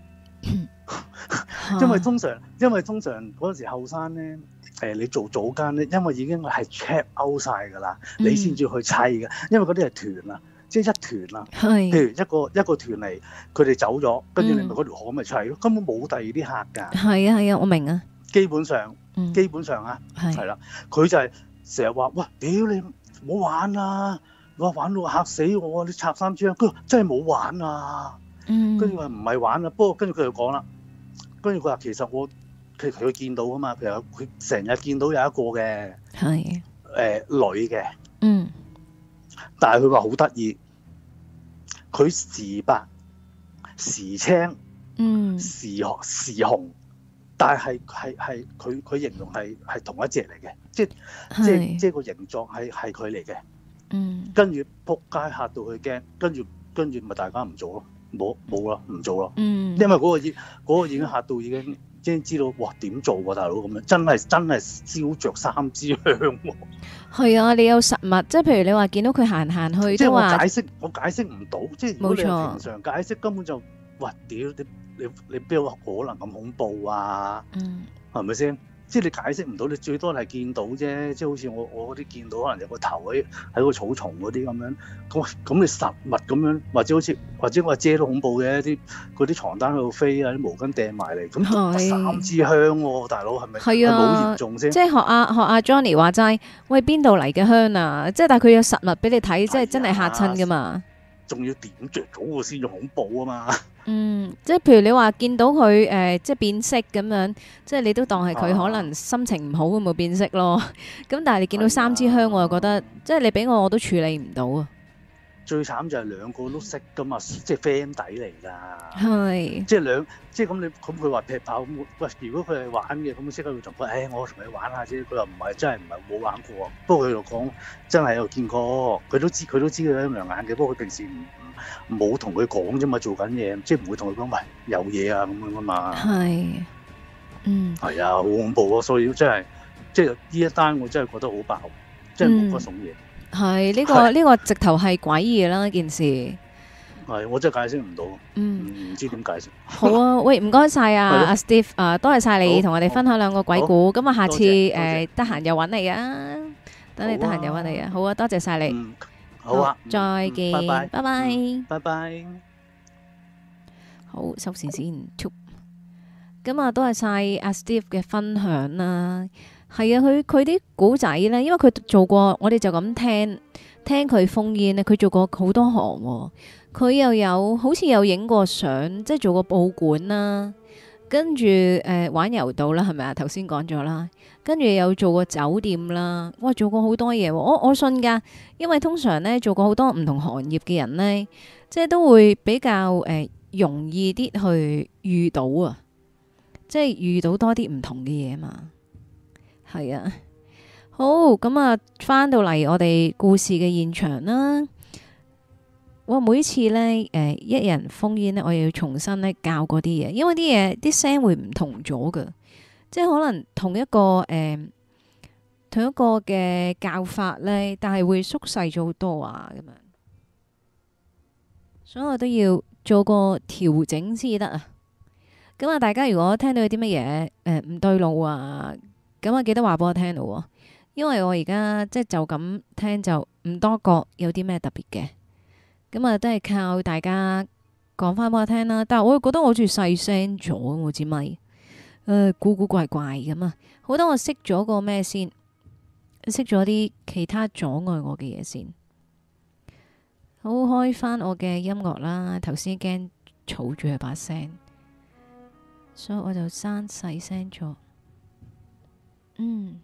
因為通常因為通常嗰陣時後生咧，誒、你做早間咧，因為已經係 check out 晒㗎啦， 嗯你先至去砌嘅，因為嗰啲係團啊，即係一團啊。 係譬如一個一個團嚟，佢哋走咗，跟住你咪嗯嗰條河咪砌咯，根本冇第二啲客㗎。 係啊係啊，我明啊， 基本上嗯基本上啊，係係啦，佢就係成日話：喂，屌你唔好玩啊！哇，玩到嚇死我啊！你插三支香，佢話真係冇玩啊！ 嗯跟住話唔係玩啊，不過跟住佢就講啦，跟住佢話其實我佢佢見到啊嘛，譬如佢成日見到有一個嘅係誒女嘅， 嗯但係佢話好得意，佢時白時青嗯時時紅，但係係係佢佢形容係係同一隻嚟嘅，即即係即個形狀係係佢嚟嘅。 嗯跟住撲街嚇到佢驚，跟住跟住咪大家唔做咯，冇冇啦，唔做咯。 嗯因為嗰個已嗰個已經嚇到已經已經知道，哇點做喎大佬咁樣，真係真係燒着三支香喎。 係啊，你有實物，即係譬如你話見到佢行行去即係我都話解釋我解釋唔到，即係如果你冇錯係平常解釋根本就，哇屌你你你邊有可能咁恐怖啊？ 嗯係咪先？即係你解釋唔到，你最多係見到啫。即係好似我我嗰啲見到可能有個頭喺喺個草叢嗰啲咁樣，咁咁你實物咁樣，或者好似或者我遮都恐怖嘅，啲嗰啲床單喺度飛啊，啲毛巾掟埋嚟，咁係三支香喎、大佬係咪？ 係啊係咪好嚴重先？ 即係學阿學阿 Johnny 話齋，喂邊度嚟嘅香啊？即係但係佢有實物俾你睇，即係真係嚇親噶嘛。 仲要點着咗個先至恐怖啊嘛！ 嗯，即係譬如你話見到佢誒、呃即係變色咁樣，即係你都當係佢可能心情唔好咁咪變色咯。咁但係你見到三支香，我又覺得即係你俾我我都處理唔到啊。 最慘就係兩個都識噶嘛，即係 friend 底嚟㗎。 係即係兩，即係咁你咁佢話劈炮咁，喂，如果佢係玩嘅，咁即刻會同佢，誒、哎，我同你玩下啫。佢話唔係，真係唔係冇玩過。不過佢又講真係有見過，佢都知佢都知佢有陰陽眼嘅。不過佢平時唔冇同佢講啫嘛，做緊嘢，即係唔會同佢講，喂，有嘢啊咁樣噶嘛。 係，嗯係啊，好恐怖啊！所以真係，即係呢一單我真係覺得好爆，真係冇乜種嘢。 係呢個係呢個直頭係詭異啦件事。 係，我真係解釋唔到， 嗯， 唔知點解釋。 好啊，喂，唔該晒啊， 係咯阿 Steve 啊，多謝晒你好同我哋分享兩個鬼故。咁啊，下次多謝多謝誒得閒又揾你啊，等你得閒又揾你啊。好啊，多謝晒你。 嗯，好啊， 再嗯見， 拜拜， 拜拜。 嗯拜拜。 好，收線先。咁啊，多謝晒阿 Steve 嘅分享啦。係啊，佢佢啲古仔呢，因為佢做過，我哋就咁聽聽佢烽煙咧，佢做過好多行喎。佢又有好似有影過相，即係做過報館啦，跟住誒、呃、玩柔道啦，係咪啊？頭先講咗啦，跟住有做過酒店啦，哇，做過好多嘢喎。我我信㗎，因為通常呢，做過好多唔同行業嘅人呢，即係都會比較誒、呃、容易啲去遇到啊，即係遇到多啲唔同嘅嘢嘛。係啊，好好，咁啊，翻到嚟我哋故事嘅現場啦。我每次呢，誒、呃，一人封煙呢，我又要重新呢教嗰啲嘢，因為啲嘢啲聲會唔同咗噶，即係可能同一個誒、呃、同一個嘅教法呢，但係會縮細咗好多啊，咁樣，所以我都要做個調整先得啊。咁啊，大家如果聽到有啲乜嘢誒唔對路啊，咁啊記得話俾我聽咯。因為我而家即係就咁聽就唔多覺有啲咩特別嘅，咁啊都係靠大家講翻俾我聽啦。但係我又覺得我好似細聲咗我支咪，誒、呃、古古怪怪咁啊。好多我熄咗個咩先，熄咗啲其他阻礙我嘅嘢先。好，開翻我嘅音樂啦，頭先驚嘈住佢把聲，所以我就刪細聲咗。嗯。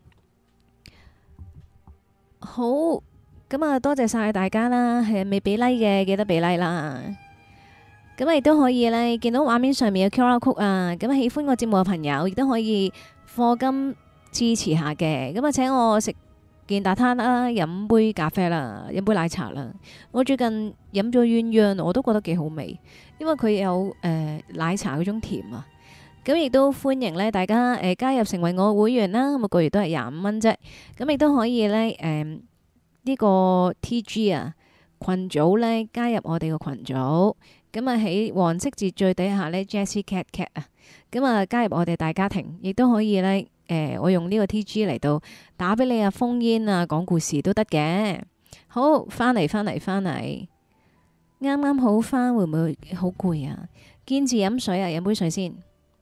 好，咁啊，多謝晒大家啦，係未俾 like 嘅記得俾 like 啦。咁啊，亦都可以呢，見到畫面上面嘅 Q R code 啊，咁喜歡我節目嘅朋友亦都可以課金支持下嘅。咁啊，請我食件大餐啦，飲杯咖啡啦，飲杯奶茶啦。我最近飲咗鴛鴦，我都覺得幾好味，因為佢有誒、呃、奶茶嗰種甜啊。咁亦都歡迎咧，大家誒、呃、加入成為我會員啦，每個月都係廿五蚊啫。咁亦都可以咧，誒、呃、呢、這個 T G 啊群組咧加入我哋個群組。咁啊喺黃色字最底下咧 Jessie Cat Cat 啊，咁啊加入我哋大家庭，亦都可以咧，誒、呃、我用呢個 T G 嚟到打俾你啊，烽煙啊，講故事都得嘅。好，翻嚟翻嚟翻嚟，啱啱好翻，會唔會好攰啊？堅持飲水啊，飲杯水先。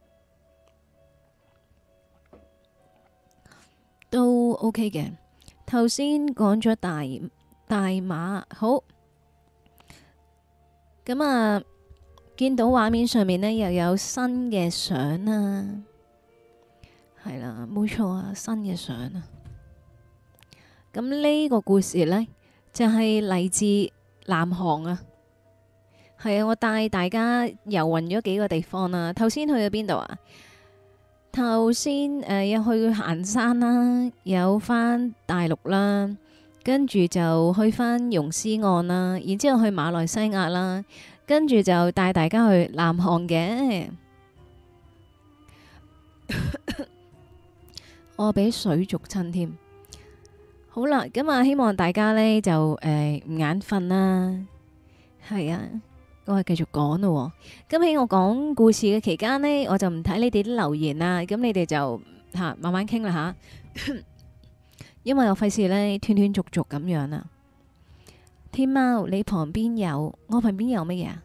都 OK 嘅，頭先講咗大大馬，好，咁啊，見到畫面上面呢又有新嘅相啊，係啦，冇錯啊，新嘅相啊，咁呢個故事呢，就係、是、嚟自南韓啊，係啊，我帶大家遊勻咗幾個地方啊，頭先去咗邊度啊？頭先誒有去行山啦，有返大陸啦，跟住就去返溶獅岸啦，然之後去馬來西亞啦，跟住就帶大家去南韓嘅。我俾水濁親添。好啦，咁啊，希望大家呢就誒唔眼瞓啦，係啊。我係繼續講咯，咁喺我講故事嘅期間呢，我就唔睇你哋啲留言啦，咁你哋就吓慢慢傾啦吓，因為我費事呢斷斷續續咁樣啊。天貓，你旁邊有我旁邊有乜嘢啊？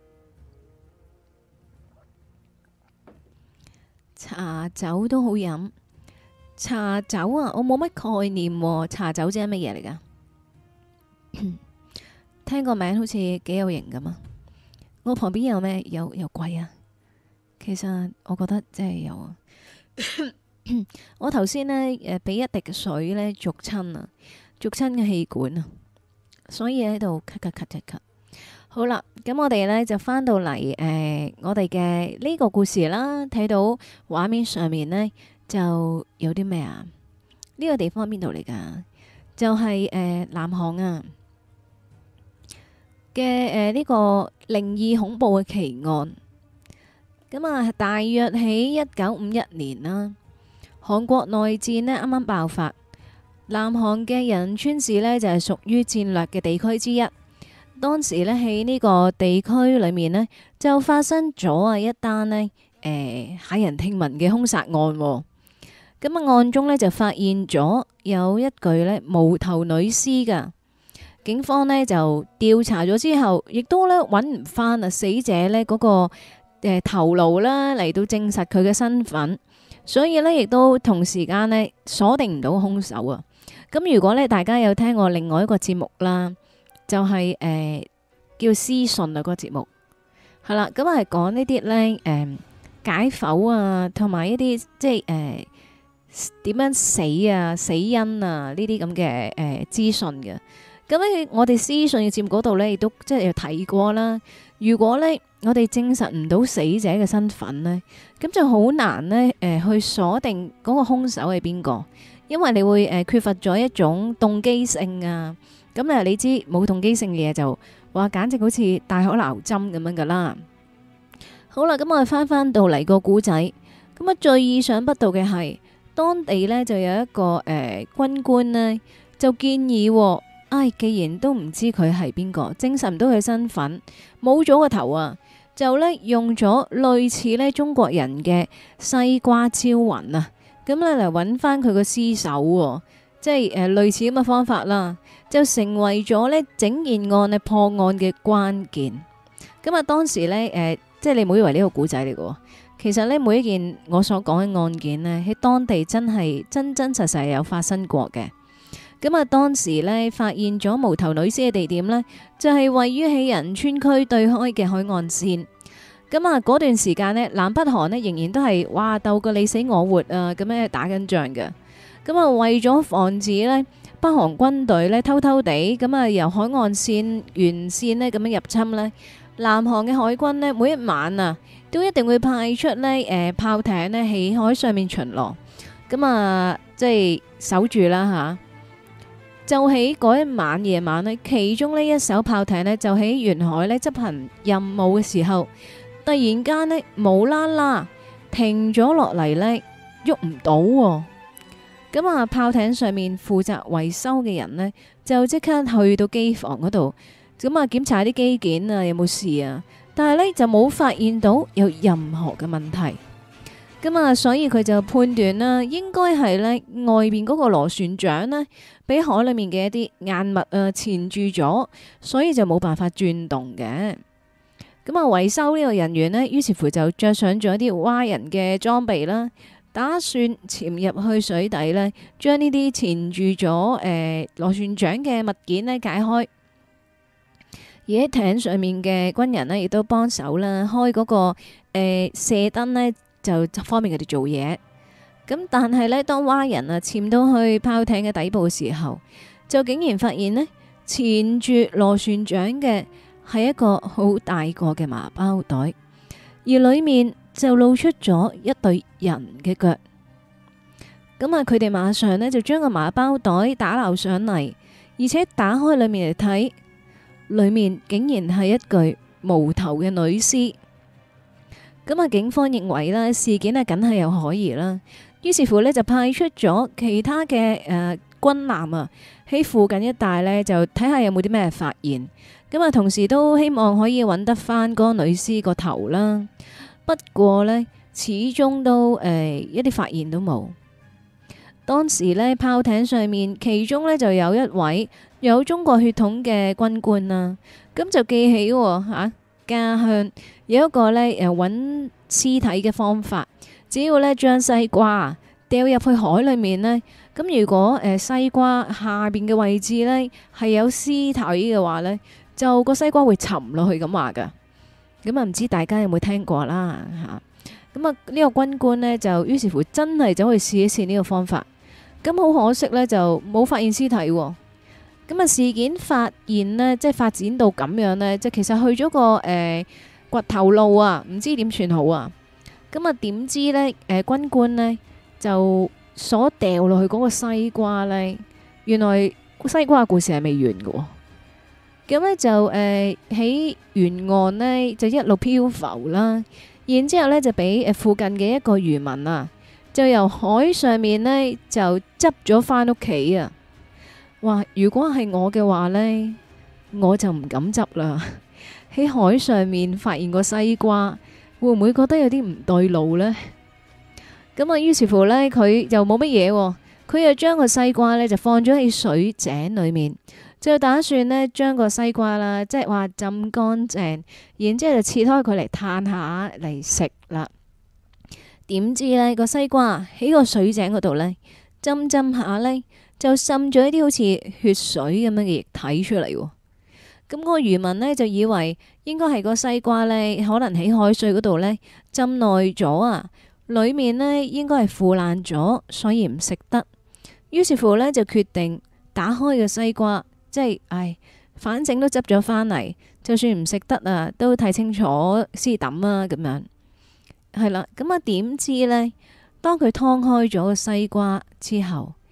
茶酒都好飲，茶酒啊，我冇乜概念喎，茶酒即係乜嘢嚟噶？聽個名好似幾有型咁啊！我旁邊有咩？有有貴啊！其實我覺得真係有啊！我頭先呢，誒，俾一滴水呢，逐親啊，逐親嘅氣管啊，所以喺度咳咳咳咳咳。好啦，咁我哋呢就翻到嚟誒、呃，我哋嘅呢個故事啦，睇到畫面上面呢，就有啲咩啊？呢、這個地方邊度嚟噶？就係、是、誒、呃、南韓啊！嘅誒呢個靈異恐怖嘅奇案，咁啊大約喺一九五一年啦，韓國內戰呢啱啱爆發，南韓嘅仁川市呢就係屬於戰略嘅地區之一。當時呢喺呢個地區裏面呢，就發生咗啊一單呢誒駭人聽聞嘅兇殺案。咁啊案中呢，就發現咗有一具呢無頭女屍噶。警方呢就調查咗之後，亦都呢揾唔翻啊死者呢嗰、那個誒、呃、頭顱啦，嚟到證實佢嘅身份，所以呢，亦都同時間呢鎖定唔到兇手啊。咁如果呢，大家有聽過另外一個節目啦，就係、是、誒、呃、叫屍訊啊個節目，係啦，咁係講呢啲呢誒、呃、解剖啊，同埋一啲即係誒點樣死啊死因啊呢啲咁嘅誒資訊嘅。咁喺我哋屍訊嘅節目嗰度呢，亦都即係有提過啦。如果呢，我哋證實唔到死者嘅身份呢，咁就好難呢誒、呃、去鎖定嗰個兇手係邊個， 因為你會誒、呃、缺乏咗一種動機性啊。咁啊，你知冇動機性嘅嘢就話簡直好似大海撈針咁樣噶啦。好啦，咁我哋翻翻到嚟個古仔，咁啊最意想不到嘅係當地呢就有一個誒、呃、軍官呢，就建議、哦，唉、哎，既然都唔知佢係邊個，證實唔到佢身份，冇咗個頭啊，就呢用咗類似呢中國人嘅西瓜招魂啊，咁咧嚟揾翻佢個屍首喎，即係誒、呃、類似咁嘅方法啦。就成為咗呢整件案嘅破案嘅關鍵。咁啊，當時呢，誒、呃，即係你唔好以為呢個古仔嚟嘅，其實呢，每一件我所講嘅案件呢，喺當地真係真真實實有發生過嘅。咁啊，當時呢，發現咗無頭女屍嘅地點呢，就係、是、位於喺仁川區對開嘅海岸線。咁啊，嗰段時間呢，南北韓呢仍然都係哇鬥個你死我活啊，咁樣打緊仗嘅。咁啊，為咗防止呢，北韓軍隊呢偷偷地咁啊由海岸線沿線呢咁樣入侵呢，南韓嘅海軍呢每一晚啊都一定會派出呢誒、呃、炮艇呢喺海上面巡邏，咁啊即係守住啦吓。就喺嗰一晚夜晚呢，其中呢一艘炮艇呢就喺沿海呢執行任務嘅時候，突然間呢無啦啦停咗落嚟呢，喐唔到喎。咁啊，炮艇上面負責維修嘅人呢，就即刻去到機房嗰度，咁啊檢查啲機件啊有冇事啊，但係呢，就冇發現到有任何嘅問題。咁啊，所以佢就判斷啦，應該係呢外邊嗰個螺旋槳呢，俾海裏面嘅一啲硬物啊纏住咗，所以就冇辦法轉動嘅。咁啊，維修呢個人員呢，於是乎就着上咗一啲蛙人嘅裝備啦。打算潛入去水底呢，將呢啲纏住咗誒螺旋槳嘅物件呢解開。而喺艇上面嘅軍人呢，亦都幫手啦，開嗰、那個誒、呃、射燈呢，就方便佢哋做嘢。咁但係呢，當蛙人啊潛到去炮艇嘅底部嘅時候，就竟然發現呢，纏住螺旋槳嘅係一個好大個嘅麻包袋，而裏面就露出咗一對人嘅腳。咁啊，佢哋馬上呢就將個麻包袋打撈上嚟，而且打開裏面嚟睇，裏面竟然係一具無頭嘅女屍。咁啊，警方認為呢事件啊，梗係有可疑啦。於是乎呢，就派出咗其他嘅誒、呃、軍艦啊，喺附近一帶呢，就睇下有冇啲咩發現。咁啊，同時都希望可以揾得翻嗰個女屍個頭啦。不過呢，始終都誒、呃、一啲發現都冇。當時呢，炮艇上面其中呢就有一位有中國血統嘅軍官啦，咁就記起吓、啊、家鄉有一個呢誒揾屍體嘅方法，只要呢將西瓜掉入去海裏面呢，咁如果誒、呃、西瓜下邊嘅位置呢係有屍體嘅話呢，就個西瓜會沉落去咁話噶。咁啊，唔知大家有冇聽過啦吓？咁啊，呢個軍官呢，就於是乎真係走去試一試呢個方法。咁好可惜呢，就冇發現屍體。咁啊，事件發現呢，即係發展到咁樣呢，即係其實去咗個誒、呃、掘頭路啊，唔知點算好啊。咁啊，點知呢？誒、呃，軍官呢，就所掉落去嗰個西瓜呢，原來西瓜嘅故事係未完嘅。咁呢就誒喺沿岸呢，就一路漂浮啦，然之後呢就俾誒附近嘅一個漁民啊，就由海上面呢，就執咗翻屋企啊！哇！如果係我嘅話呢，我就唔敢執啦。喺海上面發現個西瓜，會唔會覺得有啲唔對路呢？咁啊，於是乎呢，佢又冇乜嘢，佢又將個西瓜呢，就放咗喺水井裏面。就打算呢將個西瓜啦，即係話浸乾淨，然之後就切開佢嚟嘆下嚟食啦。點知呢個西瓜喺個水井嗰度呢，浸浸下呢，就滲咗一啲好似血水咁樣嘅液體出嚟。咁嗰個漁民呢，就以為應該係個西瓜呢，可能喺海水嗰度呢浸耐咗啊，裏面呢應該係腐爛咗，所以唔食得。於是乎呢，就決定打開個西瓜。即係，唉，反正都執咗返嚟，就算唔食得啊，都睇清楚先抌啊，咁樣係啦。咁啊，點知呢？當佢劏開咗個西瓜之後，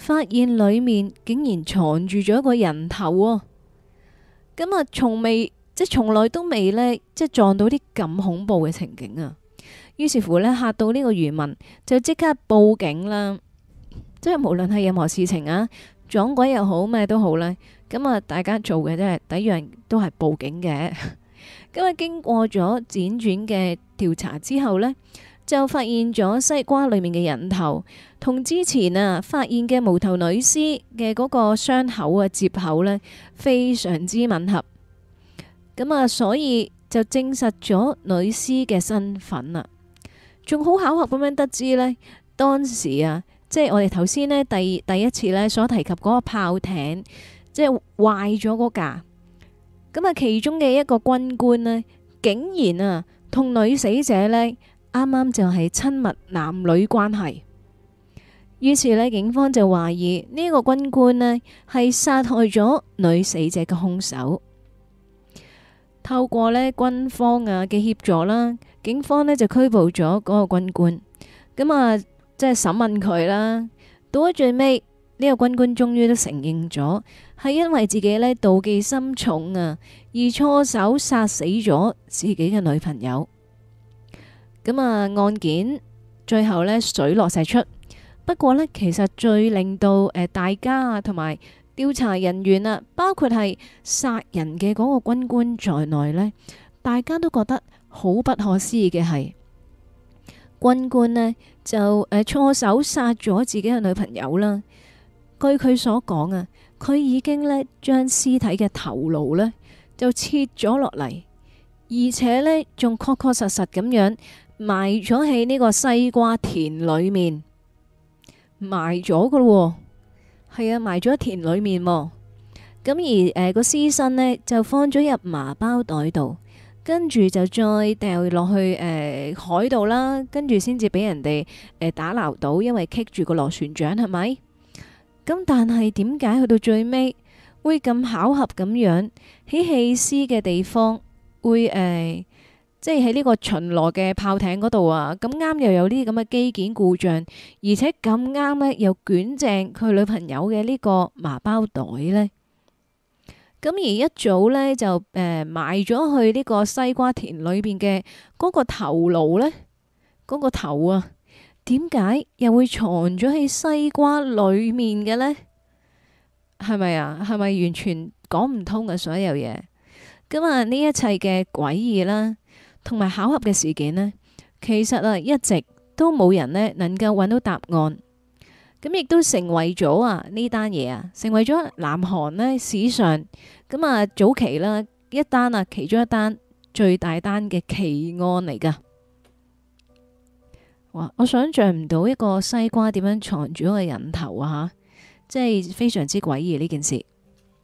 發現裏面竟然藏住咗一個人頭喎。咁啊，從未即係從來都未呢，即係撞到啲咁恐怖嘅情景啊！於是乎呢，嚇到呢個漁民就即刻報警啦。即係無論係任何事情啊，撞鬼又好咩都好咧，咁啊大家做嘅即係第一樣都係報警嘅。咁啊經過咗輾轉嘅調查之後呢，就發現咗西瓜裏面嘅人頭同之前啊發現嘅無頭女屍嘅嗰個傷口啊接口呢，非常之吻合。咁啊，所以就證實咗女屍嘅身份啦。仲好巧合咁樣得知呢，當時啊，即係我哋頭先呢第第一次呢所提及嗰個炮艇，即係壞咗嗰架。咁啊，其中嘅一個軍官呢，竟然啊同女死者呢啱啱就係親密男女關係。於是呢，警方就懷疑呢個軍官呢係殺害咗女死者嘅兇手。透過呢軍方啊嘅協助啦，警方呢就拘捕咗嗰個軍官。咁啊，即係審問佢啦。到咗最尾，呢個軍官終於都承認咗，係因為自己呢妒忌心重啊，而錯手殺死咗自己嘅女朋友。咁啊，案件最後呢水落石出。不過呢，其實最令到誒大家同埋調查人員啊，包括係殺人嘅嗰個軍官在內呢，大家都覺得好不可思議嘅係，軍官呢就誒錯手殺咗自己嘅女朋友啦。據佢所講啊，佢已經呢將屍體嘅頭顱呢就切咗落嚟，而且呢仲確確實實咁樣埋咗喺呢個西瓜田裏面，埋咗噶咯。係啊，埋咗喺田裏面。咁而誒個屍身呢就放咗入麻包袋度，跟住就再掉落去誒、呃、海度啦，跟住先至俾人哋誒、呃、打撈到，因為棘住個螺旋槳係咪？咁但係點解去到最尾會咁巧合咁樣喺棄屍嘅地方會誒、呃，即係喺呢個巡邏嘅炮艇嗰度啊？咁啱又有呢啲咁嘅機件故障，而且咁啱呢又捲正佢女朋友嘅呢個麻包袋呢。咁而一早呢，就誒、呃、埋咗去呢個西瓜田裏邊嘅嗰個頭顱呢，嗰、嗰個頭啊，點解又會藏咗喺西瓜裏面嘅呢？係咪啊？係咪完全講唔通嘅所有嘢？咁啊，呢一切嘅詭異啦，同埋巧合嘅事件呢，其實啊一直都冇人呢能夠揾到答案。咁亦都成為咗啊呢單嘢啊，成為咗南韓呢史上咁啊早期啦一單啊其中一單最大單嘅奇案嚟噶。哇！我想象唔到一個西瓜點樣藏住一個人頭啊吓，即係非常之詭異呢件事。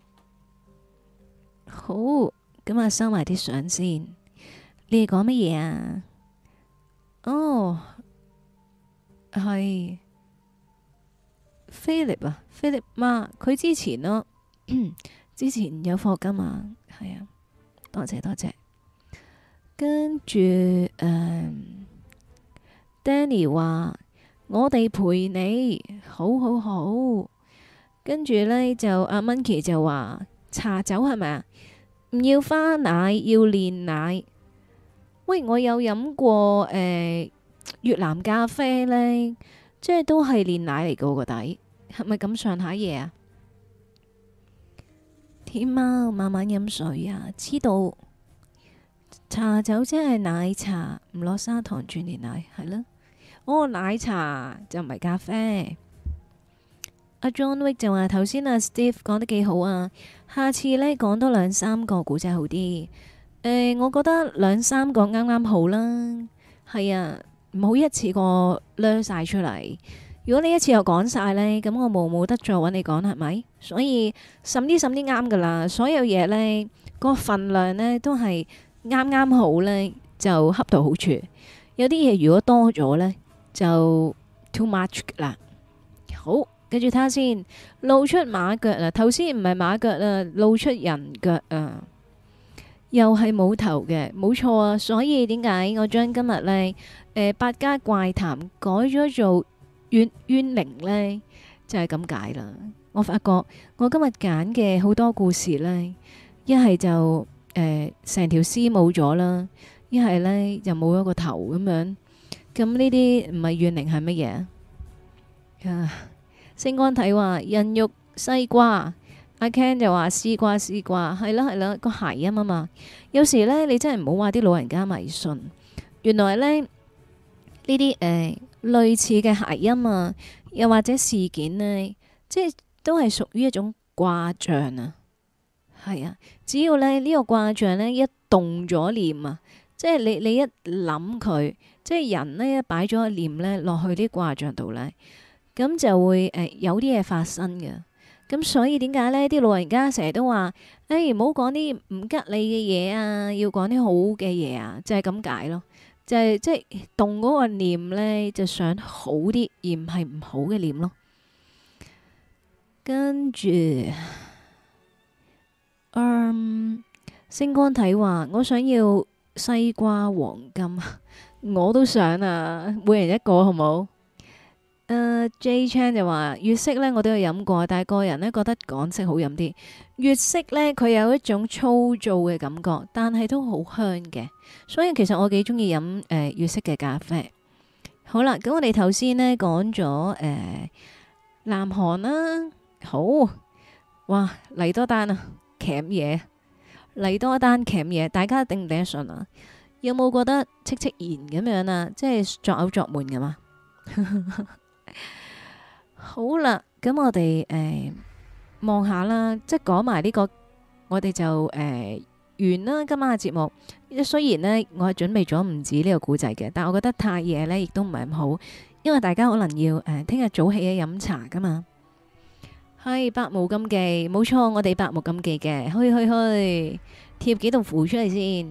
好，咁啊收埋啲相先。你哋講乜嘢啊？哦，係。Philip 啊，Philip 媽，佢之前咯，之前有課金啊，係啊，多謝多謝。跟住誒、嗯、Danny 話我哋陪你，好好好。跟住呢，就阿 Monkey 就話茶酒係咪啊？唔要花奶，要煉奶。喂，我有飲過誒、呃、越南咖啡呢。即係都係煉奶嚟噶個底，係咪咁上下嘢啊？天貓慢慢飲水啊，知道茶酒即係奶茶，唔落砂糖轉煉奶係咯。哦，奶茶就唔係咖啡。阿 John Wick 就話頭先阿 Steve 講得幾好啊，下次呢講多兩三個古仔好啲。誒、呃，我覺得兩三個啱啱好啦。係啊。唔好一次過掠晒出嚟。如果你一次又講晒呢，咁我冇冇得再揾你講係咪？所以滲啲滲啲啱噶啦。所有嘢呢，個份量呢都係啱啱好呢，就恰到好處。有啲嘢如果多咗呢，就 too much 啦。好，跟住睇下先，露出馬腳啦。頭先唔係馬腳啦，露出人腳啊。又係冇頭嘅，冇錯啊。所以點解我將今日呢？誒，百家怪談改咗做怨冤靈呢， 就係咁解啦。我發覺我今日揀嘅好多故事呢，一係就誒成條絲冇咗啦，一係呢就冇咗個頭咁樣。咁呢啲唔係怨靈係乜嘢啊？星光體話人肉西瓜，阿 Ken 就話絲瓜絲瓜，係啦係啦，個諧音啊嘛。有時呢，你真係唔好話啲老人家迷信，原來呢，呢啲誒類似嘅諧音啊，又或者事件呢，即係都係屬於一種卦象啊。係啊，只要咧呢、這個卦象呢，一動咗念啊，即係你你一諗佢，即係人呢，一擺咗個念呢落去啲卦象度呢，咁就會誒、呃、有啲嘢發生嘅。咁所以點解呢啲老人家成日都話，誒唔好講啲唔吉利嘅嘢啊，要講啲好嘅嘢啊，就係咁解咯。就係即係動嗰個念呢，就想好啲，而唔係唔好嘅念咯。跟住，嗯，星光體話我想要西瓜黃金，我都想啊，每人一個好冇？誒、uh, J Chan 就話粵式呢我都有飲過，但係個人呢覺得港式好飲啲。粵式呢，佢有一種粗糙嘅感覺，但係都好香嘅，所以其實我幾中意飲誒粵式嘅咖啡。好啦，咁我哋頭先呢講咗誒南韓啦，好，哇嚟多單啊，鉗嘢嚟多單鉗嘢，大家頂唔頂得順啊？有冇覺得戚戚然咁樣啊？即係作嘔作悶㗎嘛？好啦，咁我哋誒望下啦，即係講埋呢個，我哋就誒、呃、完啦今晚嘅節目。雖然呢，我係準備咗唔止呢個古仔嘅，但我覺得太夜呢亦都唔係咁好，因為大家可能要誒聽日早起嘅飲茶噶嘛。係百無禁忌，冇錯，我哋百無禁忌嘅，去去去，貼幾道符出嚟先。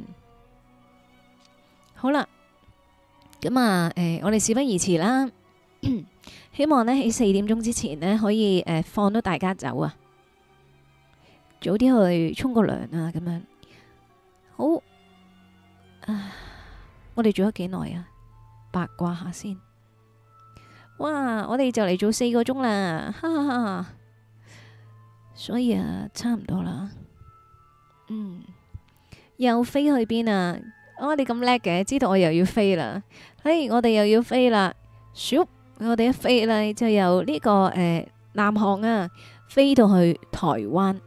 好啦，咁啊，誒、呃，我哋事不宜遲啦。希望呢喺四點鐘之前呢，可以誒、呃、放到大家走啊，早啲去沖個涼啊，咁樣好啊。我哋做咗幾耐啊？八卦下先。哇！我哋就嚟做四個鐘啦，哈哈哈。所以啊，差唔多啦。嗯，又飛去邊啊？哦，你咁叻嘅，知道我又要飛啦。嘿，我哋又要飛啦，咻！我哋一飛呢，就由呢、這個誒、呃、南韓啊，飛到去台灣。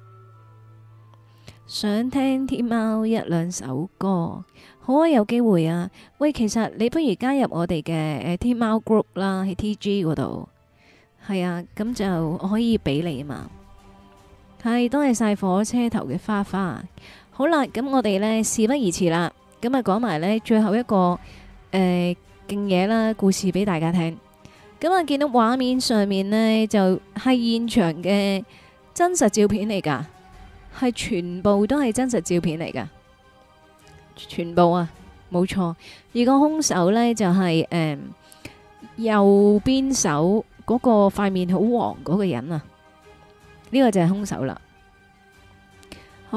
想聽天貓一兩首歌，好啊，有機會啊。喂，其實你不如加入我哋嘅誒天貓 group 啦，喺 T G 嗰度。係啊，咁就我可以俾你啊嘛。係，多謝晒火車頭嘅花花。好啦，咁我哋呢，事不宜遲啦，咁啊講埋呢最後一個誒勁嘢啦，故事俾大家聽。咁啊，見到畫面上面呢，就係現場嘅真實照片嚟噶，係全部都係真實照片嚟噶，全部啊，冇錯。而個兇手呢，就係、是、誒、呃、右邊手嗰個塊面好黃嗰個人啊，呢、這個就係兇手啦。好，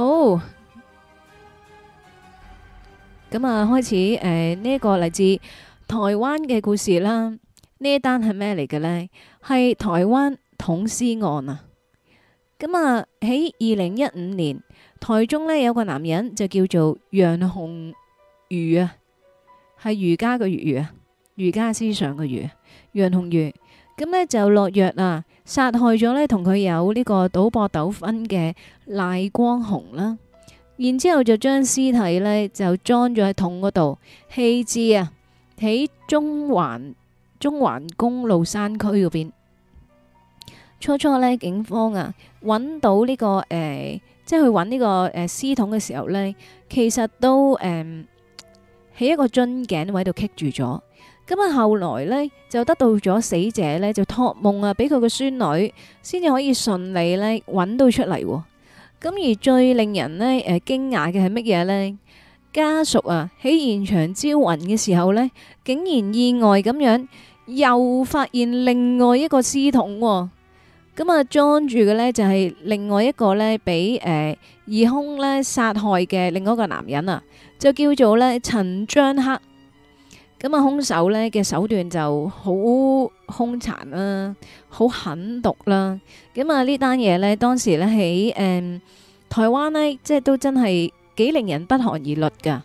咁啊，開始誒呢一個嚟自台灣嘅故事啦。呢一單係咩嚟嘅呢？係台灣捅屍案啊！咁啊喺二零一五年，台中呢有個男人就叫做楊鴻儒啊，係儒家嘅儒啊，儒家思想嘅儒，楊鴻儒。咁呢就落藥啊，殺害咗呢同佢有呢個賭博糾紛嘅賴光雄啦。然之後就將屍體呢就裝咗喺桶嗰度棄置啊，喺中環。中環公路山區嗰邊，初初呢警方啊揾到呢、這個誒、呃，即係去揾呢、這個誒屍、呃、桶嘅時候呢，其實都誒喺、呃、一個樽頸位度棘住咗。咁啊，後來呢，就得到咗死者呢，就託夢啊，俾佢個孫女先至可以順利呢揾到出嚟。咁而最令人呢誒驚訝嘅係乜嘢呢？家屬啊喺現場招魂嘅時候呢，竟然意外咁樣又發現另外一個屍桶，咁啊裝住嘅呢，就係另外一個呢，俾誒疑兇呢殺害嘅另外一個男人啊，就叫做呢陳章克。 咁啊，兇手呢嘅手段就好兇殘啦，好狠毒啦。咁啊，呢單嘢呢，當時呢喺誒台灣呢，即係都真係幾令人不寒而栗噶。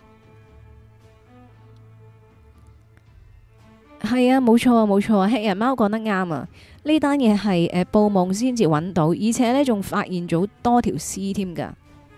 係啊，冇錯啊，冇錯啊，黑人貓講得啱啊！呢單嘢係誒報夢先至揾到，而且呢仲發現咗多條屍添噶。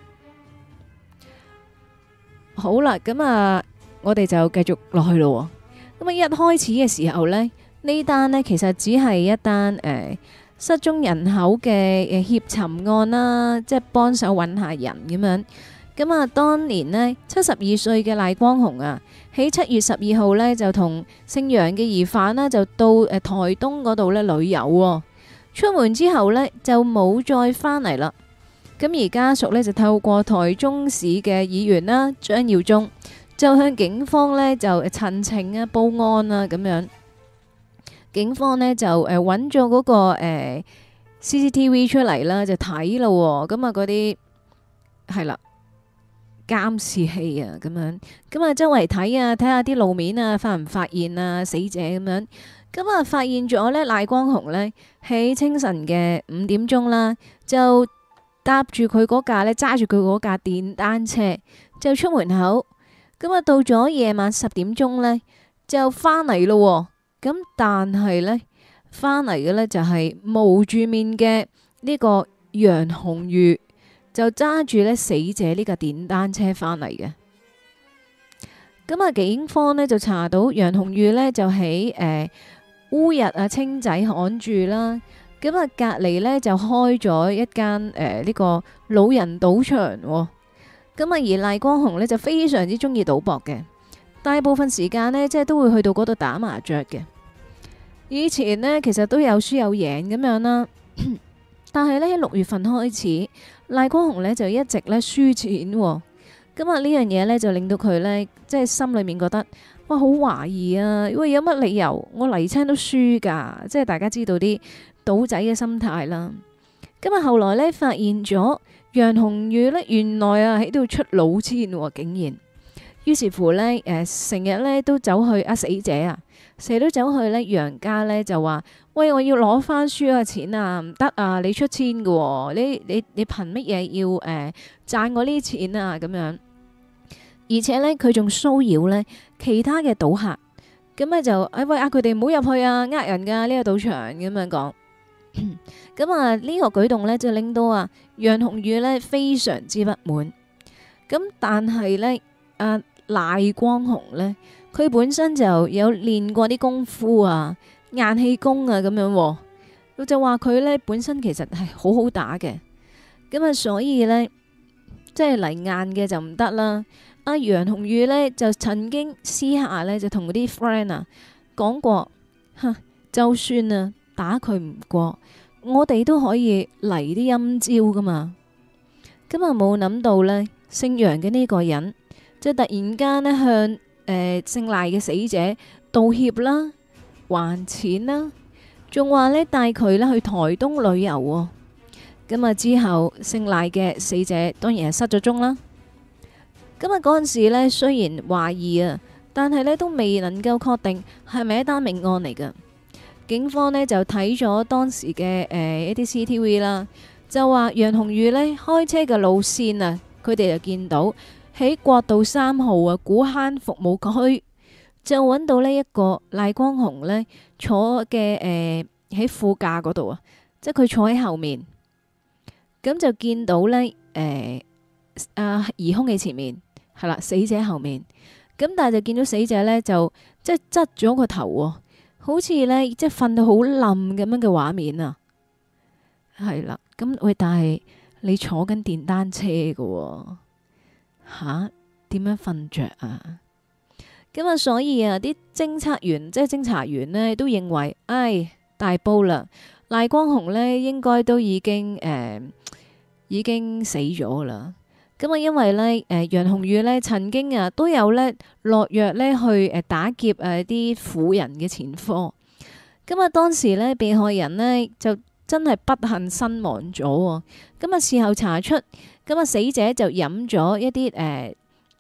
好啦，咁啊，我哋就繼續落去咯。咁啊，一開始嘅時候呢，呢單呢其實只係一單誒、呃、失蹤人口嘅誒協尋案啦，即係幫手揾下人咁樣。咁啊，當年呢，七十二歲嘅賴光雄啊，喺七月十二號呢，就同姓楊嘅疑犯呢，就到誒台東嗰度呢旅遊喎。出門之後呢，就冇再返嚟啦。咁而家屬呢，就透過台中市嘅議員啦張耀忠，就向警方呢，就陳情啊報案啊咁樣。警方呢，就誒揾咗嗰個、呃、C C T V 出嚟啦，就睇咯。咁啊嗰啲係啦。監視器啊，咁樣咁啊，周圍睇啊，睇下啲路面啊，發唔發現啊死者咁樣，咁啊發現咗呢賴光雄呢，喺清晨嘅五點鐘啦，就搭住佢嗰架呢，揸住佢嗰架電單車就出門口，咁啊到咗夜晚十點鐘呢，就翻嚟咯，咁但係呢，翻嚟嘅呢，就係蒙住面嘅呢個楊紅玉。就揸住咧死者呢架電單車返嚟嘅，咁啊警方呢就查到楊紅玉呢就喺誒烏日啊清仔巷住啦，咁啊隔籬呢就開咗一間誒呢個老人賭場，咁啊而賴光雄呢就非常之中意賭博嘅，大部分時間呢，即係都會去到嗰度打麻雀嘅，以前呢，其實都有輸有贏咁樣啦。但係呢，喺六月份開始，賴光雄呢就一直呢輸錢，咁啊呢樣嘢呢，就令到佢呢，即係心裏面覺得哇好懷疑啊，喂有乜理由我嚟親都輸噶？即係大家知道啲賭仔嘅心態啦。咁啊後來呢，發現咗楊紅玉呢，原來啊喺度出老千，竟然，於是乎呢，誒成日呢都走去啊死者啊，成日都走去呢楊家呢，就話。喂，我要攞翻輸嘅錢啊，唔得啊！你出千嘅、哦，你你你憑乜嘢要誒、呃、賺我呢啲錢啊？咁樣，而且呢，佢仲騷擾呢其他嘅賭客，咁咧就誒、哎、喂啊，佢哋唔好入去啊，呃人噶呢、這個賭場咁樣講。咁啊呢個舉動呢，就令到啊楊紅玉呢非常之不滿。咁但係呢，阿、啊、賴光雄呢，佢本身就有練過啲功夫啊。硬氣功啊咁樣，佢就話佢呢本身其實係好好打嘅，咁啊所以呢，即係嚟硬嘅就唔得啦。阿楊紅玉呢，就曾經私下呢，就同嗰啲 friend 啊講過，吓就算啊打佢唔過，我哋都可以嚟啲陰招噶嘛。咁啊冇諗到呢，姓楊嘅呢個人，就突然間呢，向誒、呃、姓賴嘅死者道歉啦。還錢啦，仲話呢帶佢呢去台東旅遊喎。咁啊之後姓賴嘅死者當然係失咗蹤啦。咁啊嗰陣時呢雖然懷疑啊，但係呢都未能夠確定係咪一單命案嚟㗎。警方呢就睇咗當時嘅誒、呃、一啲 C C T V 啦，就話楊紅玉呢開車嘅路線啊，佢哋就見到喺國道三號啊古坑服務區。就揾到呢一個賴光雄呢坐嘅誒喺副駕嗰度啊，即係佢坐喺後面，咁就見到呢誒啊疑兇嘅前面係啦，死者後面，咁但係就見到死者呢，就即係側咗個頭喎，好似呢，即係瞓到好冧咁樣嘅畫面啊，係啦，咁喂，但係你坐緊電單車㗎喎，吓點樣瞓着啊？咁啊，所以啊，啲偵測員即係偵查員呢，都認為，唉，大煲啦，賴光雄呢應該都已經誒、呃、已經死咗啦。咁啊，因為呢，誒、呃、楊紅玉呢曾經啊都有呢落藥呢去誒打劫誒啲婦人嘅前科。咁啊，當時呢，被害人呢就真係不幸身亡咗。咁啊，事後查出，咁啊死者就飲咗一啲誒。呃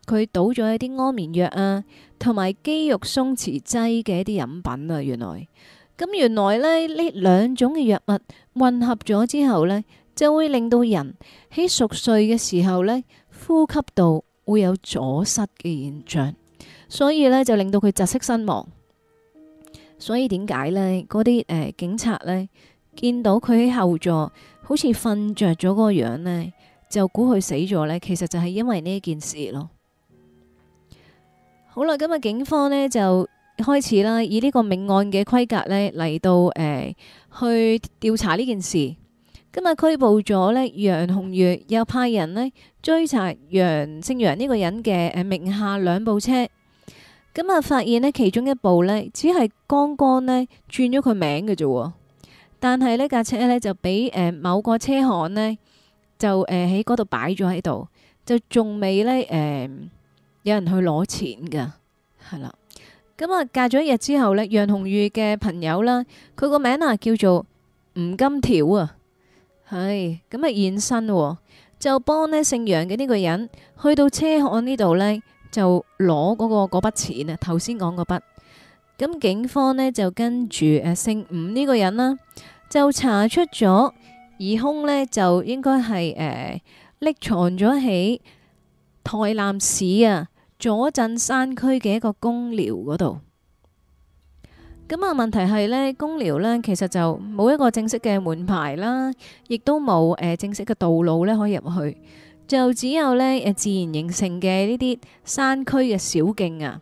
佢倒咗一啲安眠藥啊，同埋肌肉鬆弛劑嘅一啲飲品啊。原來咁原來咧呢兩種嘅藥物混合咗之後呢，就會令到人喺熟睡嘅時候呢，呼吸道會有阻塞嘅現象，所以呢，就令到佢窒息身亡。所以點解呢？嗰啲誒警察呢，見到佢喺後座好似瞓着咗嗰個樣呢，就估佢死咗呢。其實就係因為呢件事咯。好啦，咁啊，警方呢就開始啦，以呢個命案嘅規格呢嚟到誒、呃、去調查呢件事。今日拘捕咗呢楊紅月，又派人呢追查楊姓楊呢個人嘅誒名下兩部車。咁啊，發現呢其中一部呢，只係剛剛呢轉咗佢名嘅啫，但係呢架車呢，就俾誒、呃、某個車行呢，就誒喺嗰度擺咗喺度，就仲未呢誒、呃、有人去攞錢噶，係啦。咁啊，隔咗一日之後呢，楊紅玉嘅朋友啦，佢個名啊叫做吳金條啊，係咁啊現身、哦，就幫呢姓楊嘅呢個人去到車行呢度呢。就攞嗰、那個嗰筆錢啊，頭先講嗰筆。咁警方呢，就跟住誒姓吳呢個人啦，就查出咗疑兇呢，就應該係誒匿藏咗喺台南市啊左鎮山區嘅一個公寮嗰度。咁啊問題係呢，公寮呢，其實就冇一個正式嘅門牌啦，亦都冇誒正式嘅道路呢可以入去。就只有呢誒自然形成嘅呢啲山區嘅小徑啊，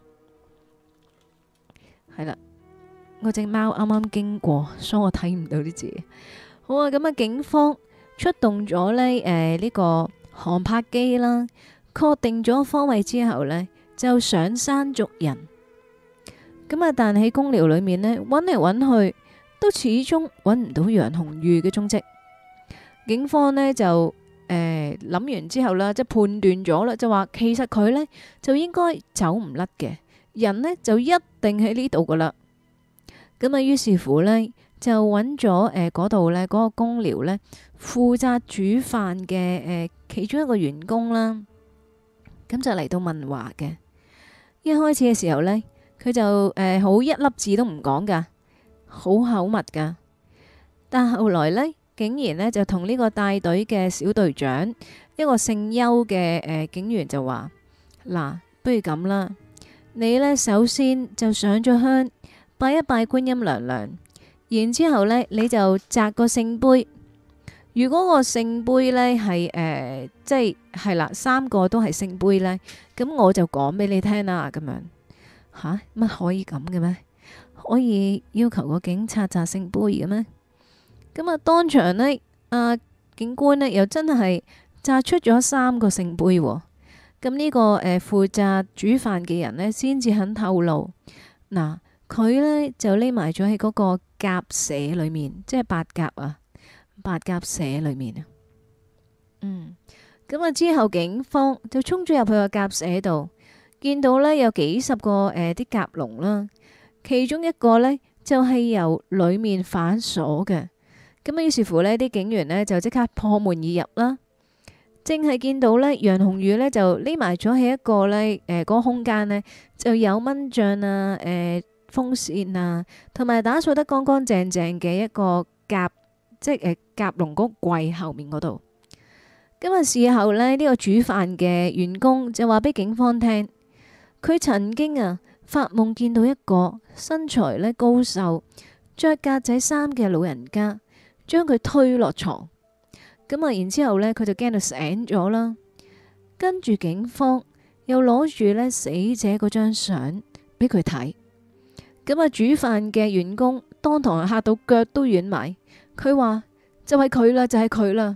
係啦，我隻貓啱啱經過，所以我睇唔到啲字。好啊，咁啊，警方出動咗呢誒呢個航拍機啦，確定咗方位之後呢，就上山捉人。咁啊，但喺公寮裏面呢，揾嚟揾去，都始終揾唔到楊紅玉嘅蹤跡。警方呢就。誒，諗完之後啦，即係判斷咗啦，就話其實佢呢就應該走唔甩嘅，人呢就一定喺呢度噶啦。咁啊，於是乎呢，就揾咗誒嗰度呢嗰個公寮呢負責煮飯嘅誒其中一個員工啦，咁就嚟到問話嘅。一開始嘅時候呢，佢就誒好、呃、一粒字都唔講噶，好口密噶，但後來呢。竟然呢，就同呢個帶隊嘅小隊長一個姓邱嘅誒警員就話：嗱，不如咁啦，你呢首先就上咗香，拜一拜觀音娘娘，然之後呢你就擲個聖杯。如果個聖杯呢係誒即係係啦，三個都係聖杯呢，咁我就講俾你聽啦。咁樣吓乜可以咁嘅咩？可以要求個警察擲聖杯嘅咩？咁啊，當場呢，啊警官呢又真係擲出咗三個聖杯，哦。咁呢、這個誒、呃、負責煮飯嘅人呢，先至肯透露。嗱，佢呢就匿埋咗喺嗰個鴿舍裏面，即係白鴿啊，白鴿舍裏面啊。嗯，咁啊之後警方就衝咗入去個鴿舍度，見到呢有幾十個誒啲鴿籠啦，其中一個呢就係、是、由裏面反鎖嘅。咁啊，於是乎呢啲警員呢就即刻破門而入啦。正係見到呢楊紅玉呢就匿埋咗喺一個呢誒嗰個空間呢，就有蚊帳啊、誒、呃、風扇啊，同埋打掃得乾乾淨淨嘅一個夾，即係誒夾籠嗰櫃後面嗰度。今日事後呢，呢、呢個煮飯嘅員工就話俾警方聽，佢曾經啊發夢見到一個身材呢高瘦、着格仔衫嘅老人家。將佢推落床，咁啊，然之後呢佢就驚到醒咗啦。跟住警方又攞住呢死者嗰張相俾佢睇，咁啊，煮飯嘅員工當堂嚇到腳都軟埋。佢話就係佢啦，就係佢啦。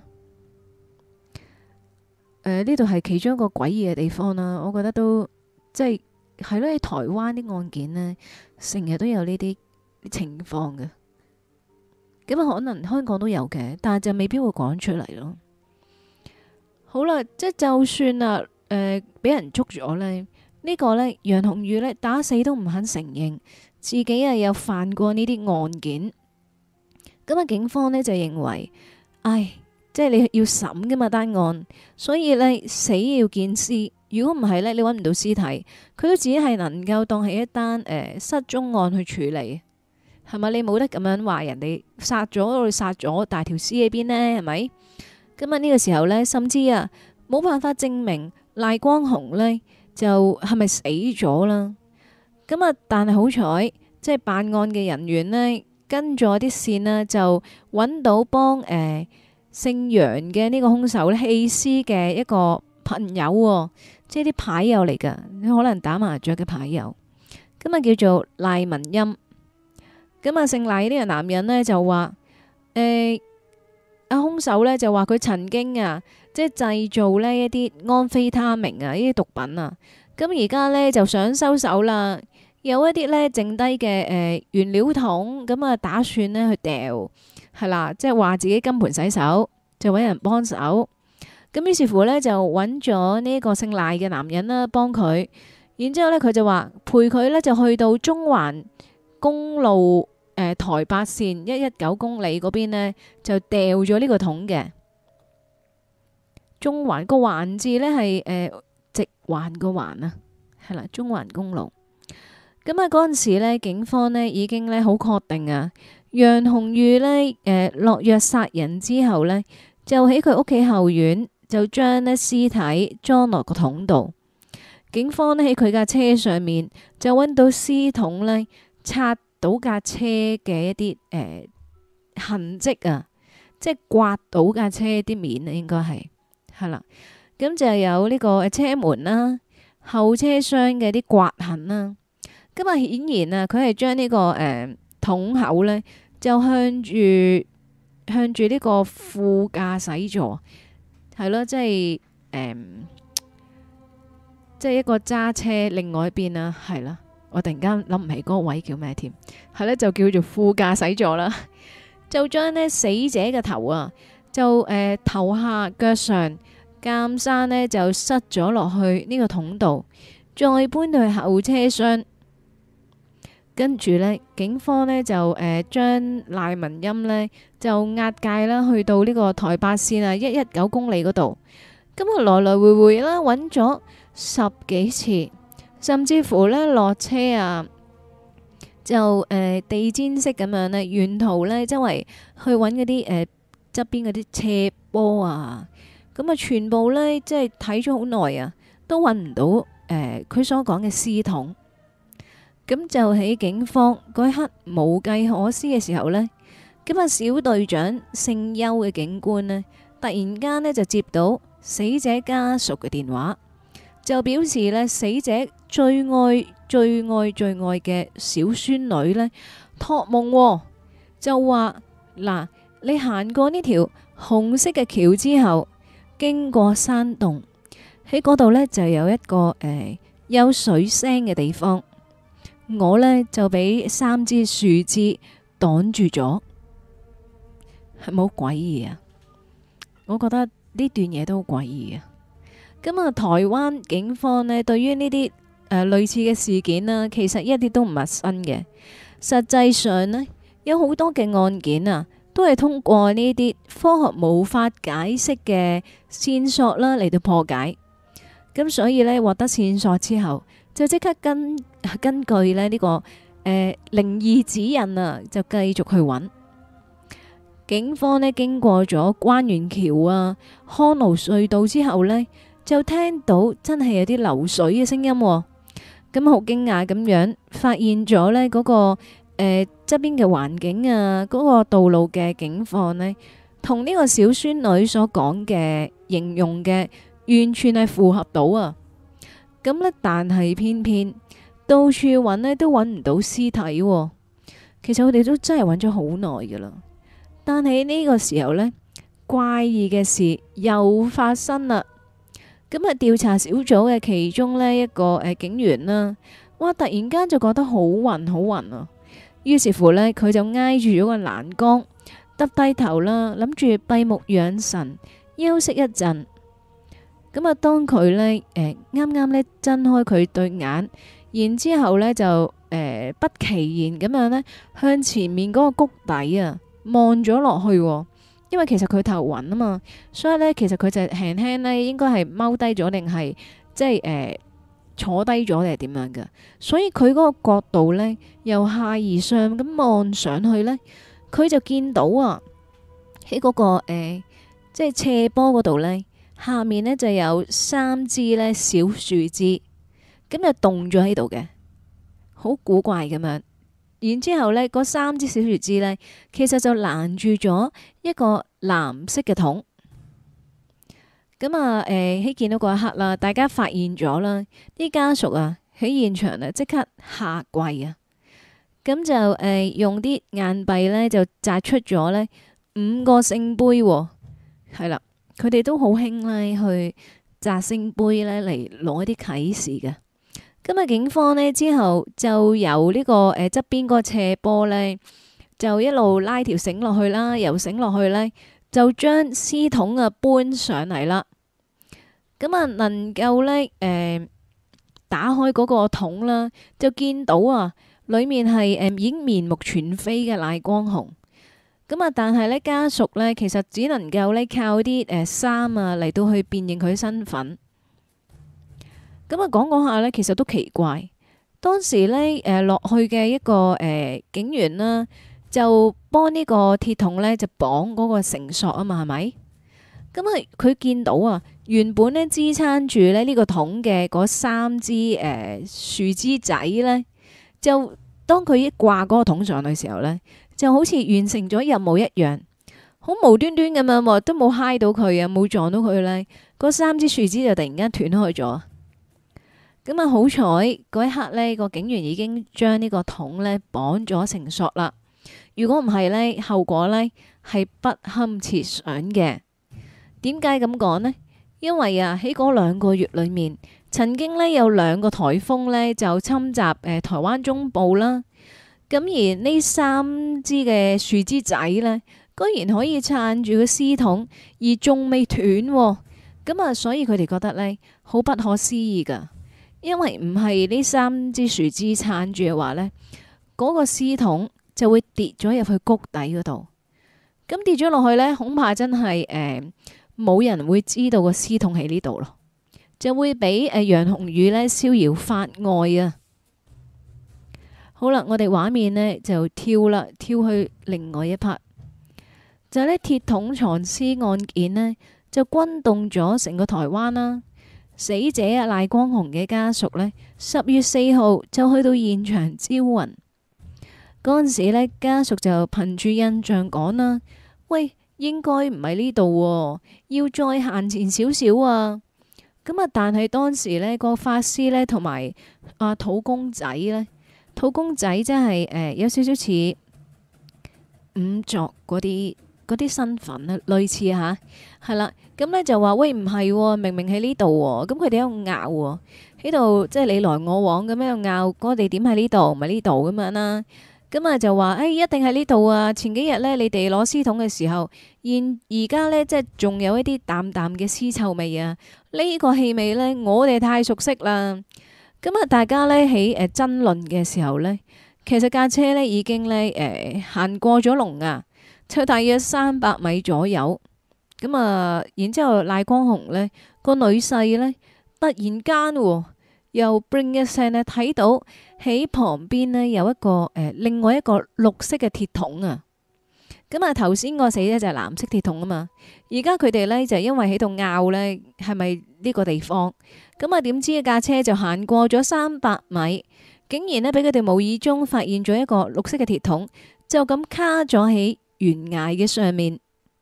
誒，呢度係其中一個詭異嘅地方啦。我覺得都即係係咯，喺台灣啲案件呢，成日都有呢啲情況嘅。咁啊，可能香港都有嘅，但係就未必會講出嚟咯。好啦，即係就算啊，誒、呃，俾人捉咗呢，呢、呢個呢，楊紅玉呢，打死都唔肯承認自己啊有犯過呢啲案件。咁啊，警方呢就認為，唉，即係你要審噶嘛單案，所以呢，死要見屍， 如果唔係呢，你揾唔到屍體，佢都只係能夠當係一單誒、呃、失蹤案去處理，係咪？你冇得咁樣話人哋殺咗，我哋殺咗，但係條屍喺邊呢？係咪？咁啊呢個時候呢，甚至啊冇辦法證明賴光雄呢就係咪死咗啦？咁啊，但係好彩，即係辦案嘅人員呢，跟咗啲線呢，就揾到幫誒、呃、姓楊嘅呢個兇手呢棄屍嘅一個朋友、喎，即係啲牌友嚟㗎，可能打麻雀嘅牌友。咁啊叫做賴文欽。咁啊姓賴呢個男人呢，就話誒阿兇手呢，就話佢曾經啊即係製造呢一啲安非他命啊呢啲毒品啊，咁而家呢，就想收手啦。有一啲咧剩低嘅誒原料桶，咁啊打算咧去掉，係啦，即係話自己金盆洗手，就揾人幫手。咁於是乎咧就揾咗呢個姓賴嘅男人啦，幫佢。然之後咧佢就話陪佢咧就去到中環公路誒、呃、台八線一一九公里嗰邊呢，就掉咗呢個桶嘅。中環個環字咧係誒直環個環啊，係啦，中環公路。咁啊，嗰陣時咧，警方呢已經咧好確定啊，楊紅玉呢誒落藥殺人之後呢，就喺佢屋企後院就將呢屍體裝落個桶度。警方呢喺佢架車上面就揾到屍桶呢擦到架車嘅一啲誒、呃、痕跡啊，即係刮到架車啲面啊，應該係係啦。咁就有呢個車門啦、後車廂嘅啲刮痕啦。咁啊，顯然啊，佢係將呢個誒、呃、桶口呢，就向住向住呢個副駕駛座，係咯，即係誒、呃，即係一個揸車另外一邊啊，係啦，我突然間諗唔起嗰個位叫咩添，係咧就叫做副駕駛座啦，就將呢死者嘅頭啊，就誒、呃、頭下腳上鑑生呢，就塞咗落去呢個桶度，再搬到去後車廂。跟住呢，警方呢就誒將賴文欽呢就押解啦，去到呢個台八線啊一一九公里嗰度。咁啊來來回回啦，揾咗十幾次，甚至乎呢落車啊，就誒、呃、地氈式咁樣呢，沿途呢周圍去揾嗰啲誒側邊嗰啲斜坡啊，咁啊全部呢，即係睇咗好耐啊，都揾唔到誒佢、呃、所講嘅屍桶。咁就喺警方嗰一刻無計可施嘅時候呢，咁啊小隊長姓邱嘅警官呢，突然間呢就接到死者家屬嘅電話，就表示呢死者最愛最愛最愛嘅小孫女呢託夢、哦，就話嗱，你行過呢條紅色嘅橋之後，經過山洞，喺嗰度呢就有一個誒、呃、有水聲嘅地方。我呢就俾三支樹枝擋住咗，係咪好詭異啊？我覺得呢段嘢都好詭異啊！咁啊，台灣警方呢對於呢啲誒類似嘅事件啦，其實一啲都唔陌生嘅。實際上呢，有好多嘅案件啊，都係通過呢啲科學無法解釋嘅線索啦嚟到破解。咁所以呢，獲得線索之後，就即刻根根據咧呢、這個誒靈異指引啊，就繼續去揾。警方呢經過咗關元橋啊、康盧隧道之後呢，就聽到真係有啲流水嘅聲音、哦。咁好驚訝咁樣，發現咗呢嗰、那個誒側邊嘅環境啊，嗰、那個道路嘅景況呢，同呢個小孫女所講嘅形容嘅完全係符合到啊！咁呢，但係偏偏到處揾呢都揾唔到屍體喎。其實我哋都真係揾咗好耐噶啦。但係呢個時候呢，怪異嘅事又發生啦。咁啊，調查小組嘅其中呢一個誒警員啦，哇！突然間就覺得好暈好暈啊。於是乎呢，佢就挨住咗個欄杆，耷低頭啦，諗住閉目養神，休息一陣。咁啊，當佢呢誒啱啱呢睜開佢對眼，然之後呢就誒、呃、不其然咁樣呢向前面嗰個谷底啊望咗落去，因為其實佢頭暈啊嘛，所以呢，其實佢就輕輕呢應該係踎低咗定係即係誒、呃、坐低咗定係點樣嘅，所以佢嗰個角度呢，由下而上咁望上去呢，佢就見到啊喺嗰、嗰個誒、呃、即係斜坡嗰度呢，下面呢就有三支呢小樹枝，咁就凍咗喺度嘅，好古怪咁樣。然之後呢，嗰三支小樹枝呢，其實就攔住咗一個藍色嘅桶。咁啊，誒喺見到嗰一刻啦，大家發現咗啦，啲家屬啊喺現場啊即刻下跪啊，咁就誒、呃、用啲硬幣呢，就擲出咗呢五個聖杯，係啦，佢哋都好興呢去擲聖杯呢嚟攞一啲啟示嘅。咁啊，警方呢之後就由呢、這個誒側邊嗰個斜坡呢，就一路拉條繩落去啦，由繩落去呢，就將屍桶啊搬上嚟啦。咁啊，能夠呢誒、呃、打開嗰個桶啦，就見到啊，裡面係誒、呃、已經面目全非嘅賴光雄。咁啊，但係呢家屬呢，其實只能夠呢靠啲誒衫啊嚟到去辨認佢身份。咁啊，講講下呢，其實都奇怪。當時呢，誒、呃、落去嘅一個誒、呃、警員啦，就幫呢個鐵桶呢，就綁嗰個繩索啊嘛，係咪？咁啊，佢見到啊，原本呢支撐住咧呢個桶嘅嗰三支誒、呃、樹枝仔呢，就當佢一掛嗰個桶上去嘅時候呢，就好似完成咗任務一樣，好無端端咁樣，都冇揩到佢啊，冇撞到佢呢，嗰三支樹枝就突然間斷開咗。咁啊，好彩嗰一刻呢個警員已經將呢個桶呢綁咗繩索啦。如果唔係呢，後果呢係不堪設想嘅。點解咁講呢？因為啊，喺嗰兩個月裏面，曾經呢有兩個颱風呢就侵襲誒、呃、台灣中部啦。咁而呢三支嘅樹枝仔呢，居然可以撐住個屍桶，而仲未斷喎。咁啊，所以佢哋覺得呢好不可思議噶。因為唔係呢三支樹枝撐住嘅話呢，嗰、嗰個屍桶就會跌咗入去谷底嗰度。咁跌咗落去呢，恐怕真係誒冇人會知道個屍桶喺呢度咯，就會俾誒、呃、楊紅宇呢逍遙法外啊！好啦，我哋畫面呢就跳啦，跳去另外一 part，就係呢鐵桶藏屍案件呢，就轟動咗成個台灣啦。死者啊賴光雄嘅家屬呢，十月四號就去到現場招魂。嗰陣時呢，家屬就憑住印象講啦：喂，應該唔係呢度，要再行前少少啊！咁啊，但係當時呢個法師呢，同埋啊土公仔呢，土公仔真係誒有少少似仵作嗰啲嗰啲身份啊，類似吓係啦。咁呢就話喂，唔係，明明喺呢度喎，咁佢哋喺度拗喎，喺度即係你來我往咁樣拗，嗰個地點喺呢度，唔係呢度咁樣啦。咁啊就話誒、哎，一定喺呢度啊！前幾日呢，你哋攞屍桶嘅時候，現而家呢，即係仲有一啲淡淡嘅屍臭味啊！呢、呢個氣味呢，我哋太熟悉啦。咁啊，大家呢，喺誒爭論嘅時候呢，其實架車呢已經呢誒行過咗龍啊，就大約三百米左右。咁啊，然之後賴光雄呢個女婿呢，突然間喎，又 bring 一聲呢，睇到喺旁邊呢有一個誒、呃、另外一個綠色嘅鐵桶啊。咁啊，頭先個死者就係藍色鐵桶啊嘛。而家佢哋呢，就因為喺度拗呢，係咪呢個地方？咁啊，點知架車就行過咗三百米，竟然呢，俾佢哋無意中發現咗一個綠色嘅鐵桶，就咁卡咗喺懸崖嘅上面。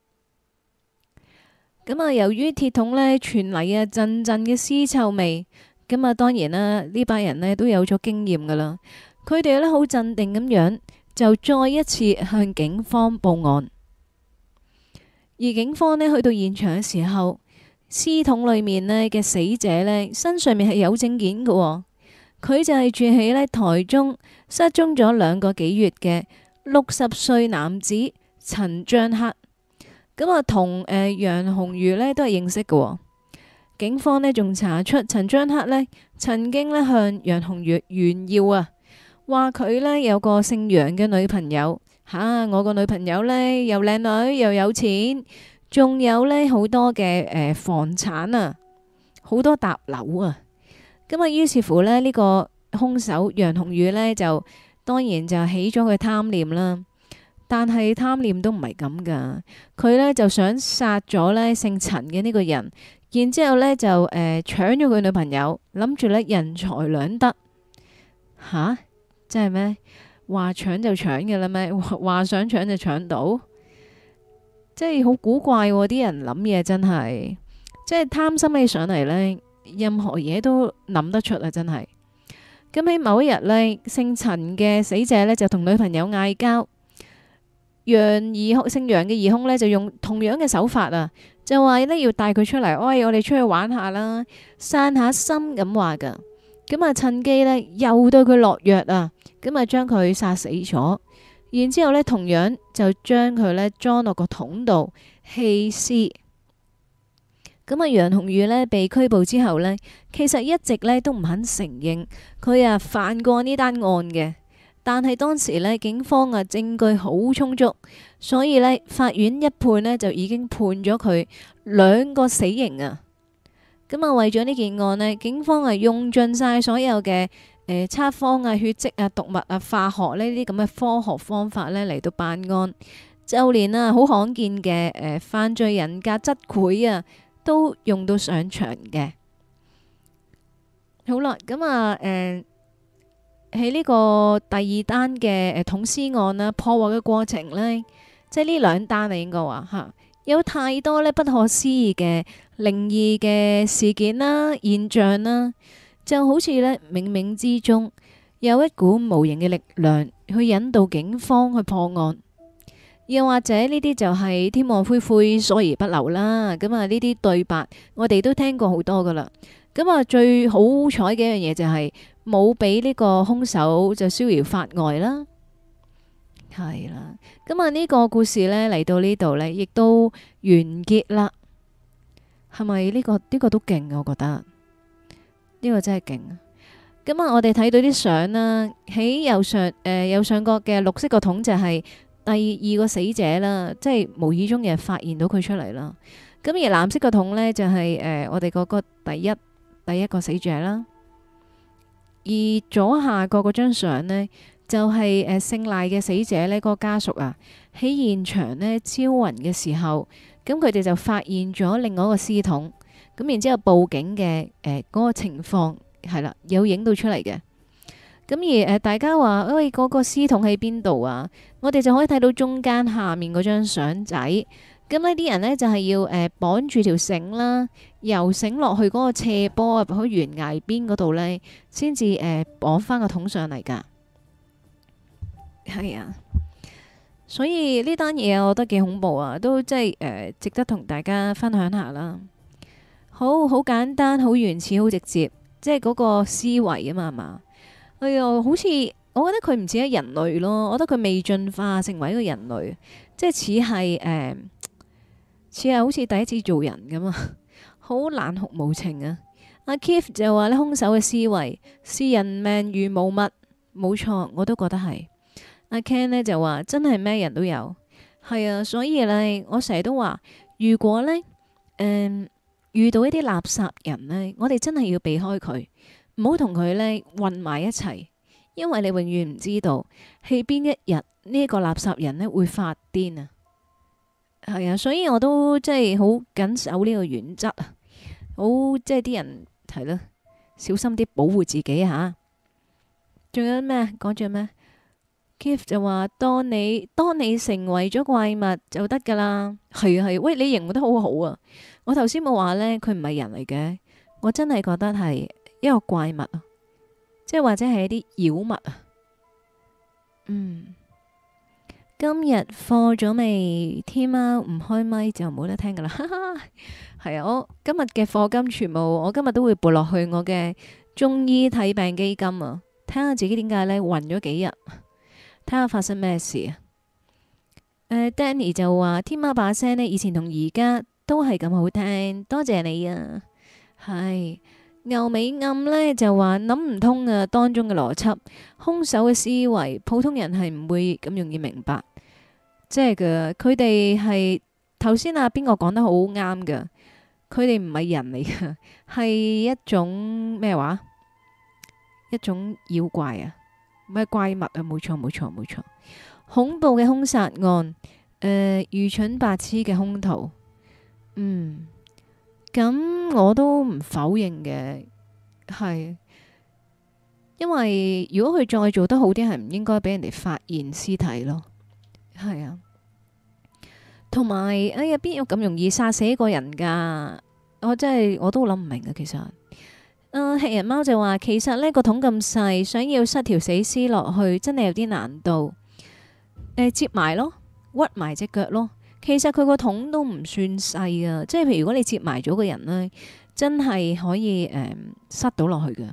咁啊，由於鐵桶呢傳嚟啊陣陣嘅屍臭味，咁啊當然啦，呢班人呢都有咗經驗噶啦，佢哋呢好鎮定咁樣，就再一次向警方報案。而警方呢去到現場嘅時候，屍桶裏面呢嘅死者呢身上面係有證件嘅，佢就係住喺呢台中失蹤咗兩個幾月嘅六十歲男子陳章克。咁啊，同誒楊紅瑜呢都係認識嘅，哦。警方呢仲查出陳章克呢曾經呢向楊紅瑜炫耀啊，話佢呢有個姓楊嘅女朋友吓，啊，我個女朋友呢又靚女又有錢，仲有呢好多嘅誒房產啊，好多搭樓啊。 咁啊，於是乎咧，呢、這個兇手楊紅宇呢，就當然就起咗佢貪念啦。但係貪念都唔係咁噶，佢呢就想殺咗呢姓陳嘅呢個人，然之後呢就誒、呃、搶咗佢女朋友，諗住呢人財兩得。吓，真係咩？話搶就搶嘅啦咩？話想搶就搶到，即係好古怪喎！啲人諗嘢真係，即係貪心起上嚟呢，任何嘢都諗得出啊！真係。咁喺某一日呢，姓陳嘅死者呢就同女朋友嗌交。楊疑兇姓楊嘅疑兇呢，就用同樣嘅手法啊，就話呢要帶佢出嚟，喂，我哋出去玩下啦，散下心咁話噶。咁啊，趁機呢，又對佢落藥啊，咁啊將佢殺死咗，然之後呢同樣就將佢呢裝落個桶度棄屍。咁啊，楊紅宇呢被拘捕之後呢，其實一直呢都唔肯承認佢啊犯過呢單案嘅。但係當時呢，警方啊證據好充足，所以呢，法院一判呢，就已經判咗佢兩個死刑啊。咁啊，為咗呢件案呢，警方啊用盡晒所有嘅誒測謊啊、血跡啊、毒物啊、化學呢啲咁嘅科學方法呢嚟到辦案，就連啊好罕見嘅誒、呃、犯罪人格質繪啊都用到上場嘅。好啦，咁啊誒。呃喺呢個第二單嘅誒捅屍案啦，破獲嘅過程呢，即係呢兩單啊，應該話嚇有太多呢不可思議嘅靈異嘅事件啦、現象啦，就好似呢冥冥之中有一股無形嘅力量去引導警方去破案，又或者呢啲就係天網恢恢，疏而不漏啦。咁啊，呢啲對白我哋都聽過好多噶啦。咁啊，最好彩嘅一樣嘢就係冇俾呢個兇手就逍遙法外啦，係啦。咁啊，呢個故事呢嚟到呢度呢，亦都完結啦。係咪呢個呢個都勁啊？我覺得呢個真係勁啊！咁啊，我哋睇到啲相啦，喺右上誒右上角嘅綠色個桶就係第二個死者啦，即係無意中嘅發現到佢出嚟啦。咁而藍色個桶呢，就係誒我哋嗰個第一。第一個死者啦，而左下角嗰張相呢，就係誒姓賴嘅死者呢，嗰個家屬啊喺現場呢招魂嘅時候，咁佢哋就發現咗另外一個屍桶，咁然之後報警嘅誒嗰個情況係啦，有影到出嚟嘅。咁而誒大家話，喂，嗰個屍桶喺邊度啊？我哋就可以睇到中間下面嗰張相仔。咁呢啲人呢，就係、是、要誒綁住條繩啦，由繩落去嗰個斜坡入去懸崖邊嗰度呢，先至誒綁翻個桶上嚟噶。係啊，所以呢單嘢我覺得幾恐怖啊，都即係誒值得同大家分享下啦。好好簡單，好原始，好直接，即係嗰個思維啊嘛，係嘛？哎呀，好似我覺得佢唔似係人類咯，我覺得佢未進化成為一個人類，即係似係誒。呃似係好似第一次做人咁啊，好冷酷無情啊！阿 Keith 就話呢，兇手嘅思維視人命如無物，冇錯，我都覺得係。阿 Ken 呢就話真係咩人都有，係啊，所以呢，我成日都話，如果呢，誒、嗯、遇到一啲垃圾人呢，我哋真係要避開佢，唔好同佢呢混埋一齊，因為你永遠唔知道喺邊一日呢個垃圾人呢會發癲啊！係啊，所以我都即係好緊守呢個原則啊，好即係啲人係咯，小心啲保護自己吓。仲有咩講住咩 Keith 就話，當你當你成為咗怪物就得噶啦。係啊係，喂，你形容得好好啊！我頭先冇話呢，佢唔係人嚟嘅，我真係覺得係一個怪物啊，即係或者係一啲妖物啊。嗯。今日課咗未？天喵唔開咪就冇得聽噶啦，係啊！我今日嘅課金全部，我今日都會撥落去我嘅中醫睇病基金啊，睇下自己點解呢暈咗幾日，睇下發生咩事啊！誒、uh,，Danny 就話天喵把聲呢，以前同而家都係咁好聽，多謝你啊！係牛尾暗呢，就話諗唔通啊，當中嘅邏輯，兇手嘅思維，普通人係唔會咁容易明白。即係嘅，佢哋係頭先啊，邊個講得好啱㗎？佢哋唔係人嚟㗎，係一種咩話？ 一種妖怪啊，唔係怪物啊，冇錯冇錯冇錯，恐怖嘅兇殺案，誒、呃、愚蠢白痴嘅兇徒，嗯，咁我都唔否認嘅，係，因為如果佢再做得好啲，係唔應該俾人哋發現屍體咯，係啊。同埋，哎呀，邊有咁容易殺死一個人㗎？我真係我都諗唔明啊，其實。啊，吃人貓就話，其實呢個桶咁細，想要塞條死屍落去，真係有啲難度。誒，接埋咯，屈埋隻腳咯。其實佢個桶都唔算細啊，即係譬如如果你接埋咗個人呢，真係可以誒塞到落去㗎。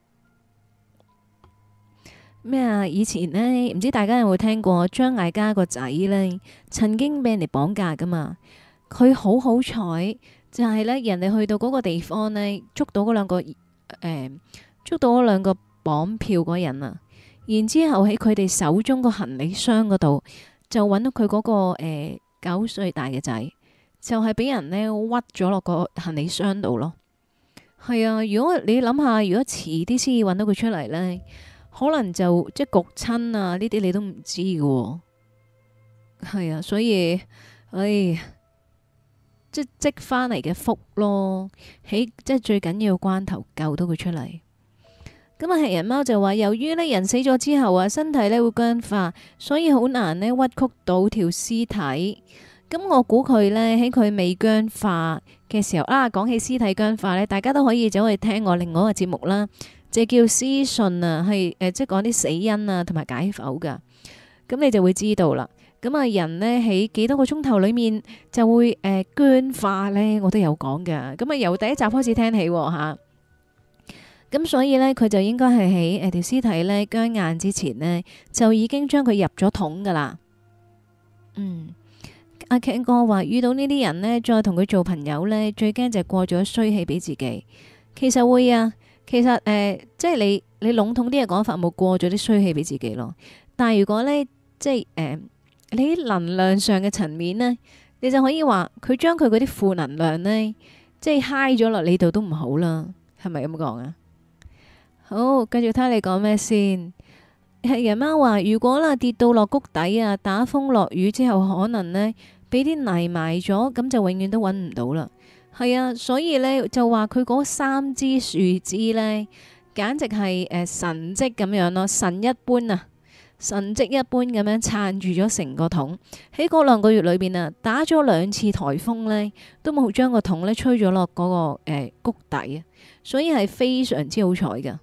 咩啊？以前呢，唔知大家有冇聽過張艾嘉個仔呢，曾經俾人哋綁架噶嘛？佢好好彩，就係呢，人哋去到嗰個地方呢，捉到嗰兩個誒、呃，捉到嗰兩個綁票嗰人啊。然之後喺佢哋手中個行李箱嗰度，就揾到佢嗰、嗰個誒九歲大嘅仔，就係、是、俾人呢屈咗落個行李箱度咯。係啊，如果你諗下，如果遲啲先至揾到佢出嚟呢。可能就即係焗親啊！呢啲你都唔知嘅喎，係啊，所以，唉，即係積翻嚟嘅福咯，喺即係最緊要關頭救到佢出嚟。咁啊，係人貓就話，由於呢人死咗之後啊，身體呢會僵化，所以好難呢屈曲到條屍體。咁我估佢呢，喺佢未僵化嘅時候啊，講起屍體僵化呢，大家都可以走去聽我另外一個節目啦。就叫屍訊啊，係誒、呃，即係講啲死因啊，同埋解剖噶。咁你就會知道啦。咁啊，人呢喺幾多個鐘頭裏面就會誒、呃、僵化呢，我都有講噶。咁啊，由第一集開始聽起吓。咁所以呢，佢就應該係喺誒條屍體呢僵硬之前呢，就已經將佢入咗桶噶啦。嗯，阿 Ken 哥話遇到呢啲人呢，再同佢做朋友呢，最驚就係過咗衰氣俾自己。其實會啊。其實誒、呃，即係你你籠統啲嘅講法，冇過咗啲衰氣俾自己咯。但係如果呢，即係誒、呃，你喺能量上嘅層面呢，你就可以話佢將佢嗰啲負能量呢，即係嗨咗落你度都唔好啦。係咪咁講啊？好，繼續睇你講咩先。係人貓話，如果啦跌到落谷底啊，打風落雨之後，可能呢，俾啲泥埋咗，咁就永遠都揾唔到啦。係啊，所以呢，就話佢嗰三支樹枝呢，簡直係誒、呃、神蹟咁樣咯，神一般啊，神蹟一般咁樣撐住咗成個桶。喺嗰兩個月裏邊啊，打咗兩次颱風呢，都冇將個桶呢吹咗落嗰個誒、呃、谷底啊，所以係非常之好彩噶。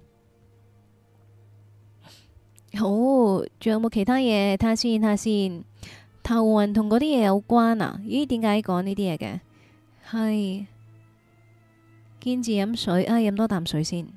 好，仲有冇其他嘢？睇下先，睇下先。頭暈同嗰啲嘢有關啊？咦，點解講呢啲嘢嘅？係堅持飲水啊！飲多啖水先。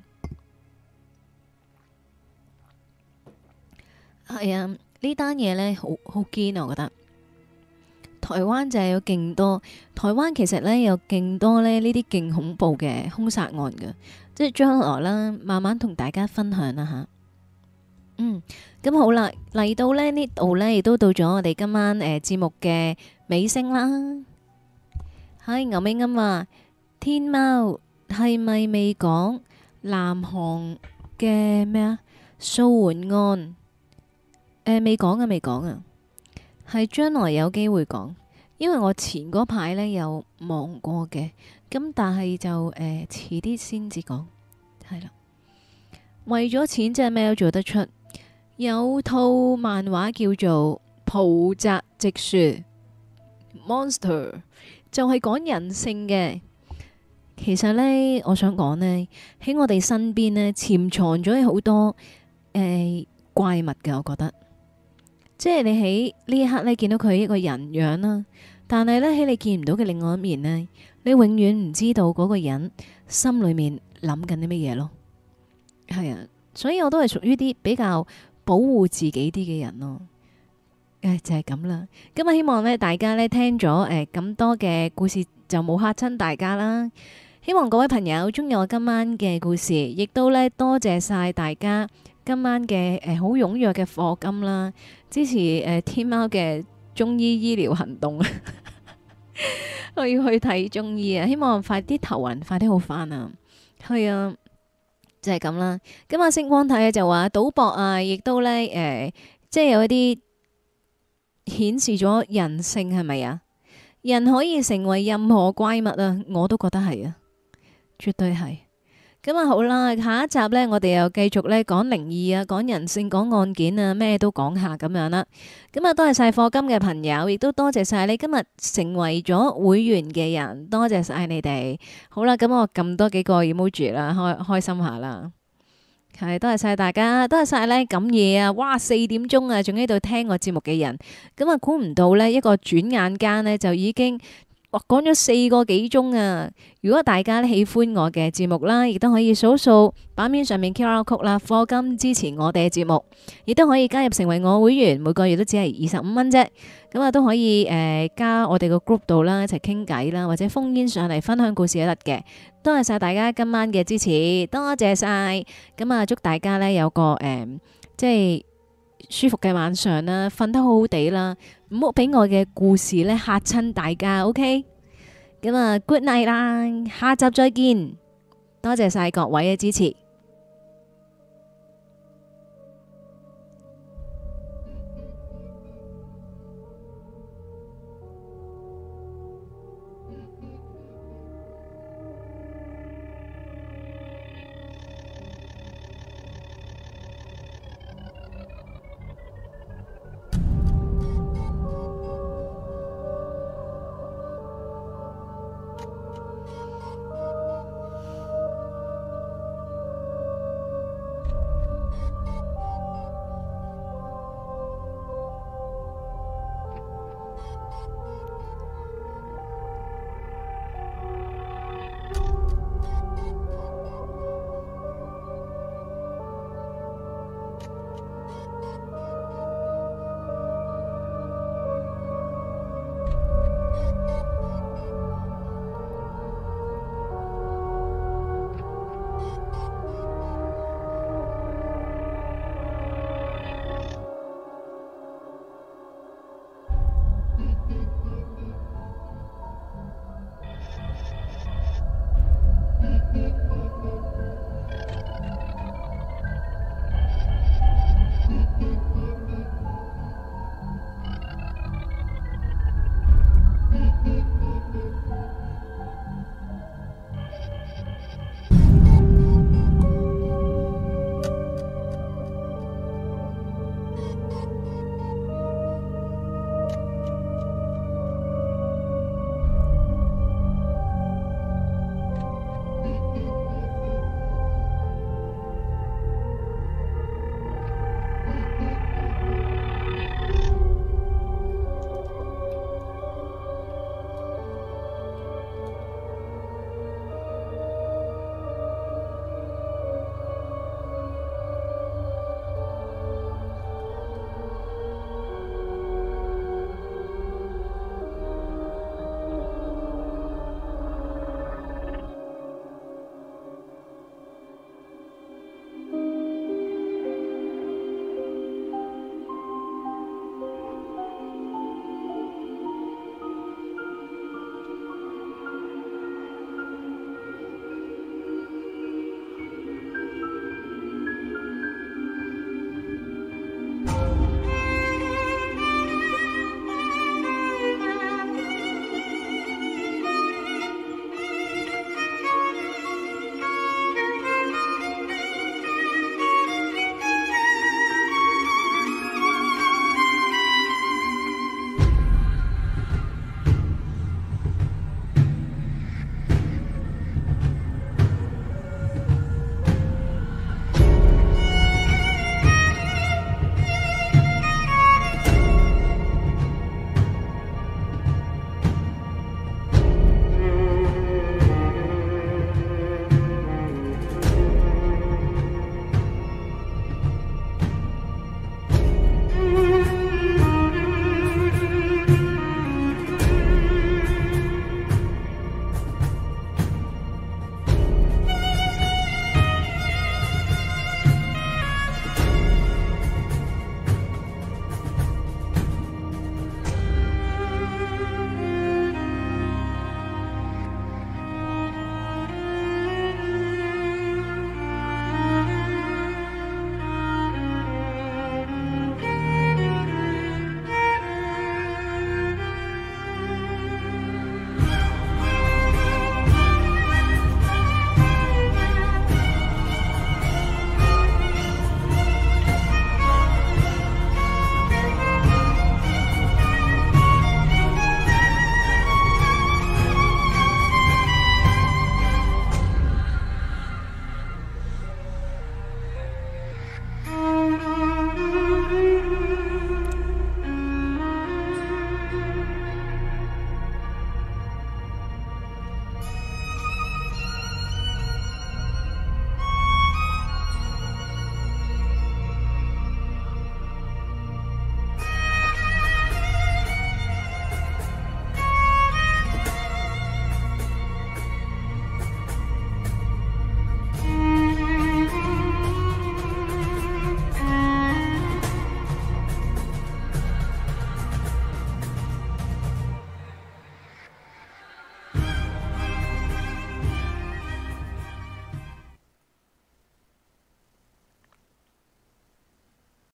係啊，呢單嘢呢，好好堅啊！我覺得台灣就係有勁多，台灣其實呢，有勁多呢呢啲勁恐怖嘅兇殺案嘅，即係將來啦，慢慢同大家分享啦吓。嗯，咁好啦，嚟到呢呢度呢，亦都到咗我哋今晚誒節、呃、目嘅尾聲啦。係牛尾啱話，天貓係咪未講南韓嘅咩啊？素媛案誒未講啊，未講啊，係將來有機會講，因為我前嗰排呢有忙過嘅，咁但係就誒遲啲先至講，係啦。為咗錢真係咩都做得出，有套漫畫叫做《浦澤直樹》Monster。就係講人性嘅，其實呢，我想講呢，喺我哋身邊呢，潛藏咗好多誒、呃、怪物嘅。我覺得，即係你喺呢一刻呢，見到佢一個人樣啦，但係呢，喺你見唔到嘅另外一面呢，你永遠唔知道嗰個人心裏面諗緊啲乜嘢咯。係啊，所以我都係屬於啲比較保護自己啲嘅人咯。誒，就係咁啦。咁啊，希望咧大家咧聽咗誒咁多嘅故事就冇嚇親大家啦。希望各位朋友中意我今晚嘅故事，亦都咧多謝晒大家今晚嘅誒好踴躍嘅課金啦，支持誒天貓嘅中醫醫療行動。我要去睇中醫啊！希望快啲頭暈，快啲好返啊！係啊。 就係咁啦。咁啊，星光睇就話賭博啊，亦都咧誒、呃，即係有一啲顯示咗人性係咪啊？人可以成為任何怪物啊，我都覺得係啊，絕對係。咁啊好啦，下一集呢，我哋又繼續咧講靈異啊，講人性，講案件啊，咩都講下咁樣啦。咁啊，多謝晒課金嘅朋友，亦都多謝晒你今日成為咗會員嘅人，多謝晒你哋。好啦，咁我撳多幾個 emoji 啦，開開心下啦。係，多謝晒大家，多謝晒咧咁夜啊，哇四點鐘啊，仲喺度聽我節目嘅人，咁啊估唔到呢，一個轉眼間呢，就已經。哇，講咗四個幾鐘啊！如果大家喜歡我嘅節目啦，亦都可以掃掃版面上面 Q R code 啦，課金支持我哋嘅節目，亦都可以加入成為我會員，每個月都只係二十五蚊啫。咁啊都可以誒、呃、加我哋個 group 度啦，一齊傾偈啦，或者烽煙上嚟分享故事都得嘅。多謝晒大家今晚嘅支持，多謝晒。咁啊祝大家呢有個誒、呃、即係舒服嘅晚上啦，瞓得好好地啦，唔好俾我嘅故事咧嚇親大家，OK？咁啊，good night 啦，下集再見，多謝晒各位嘅支持。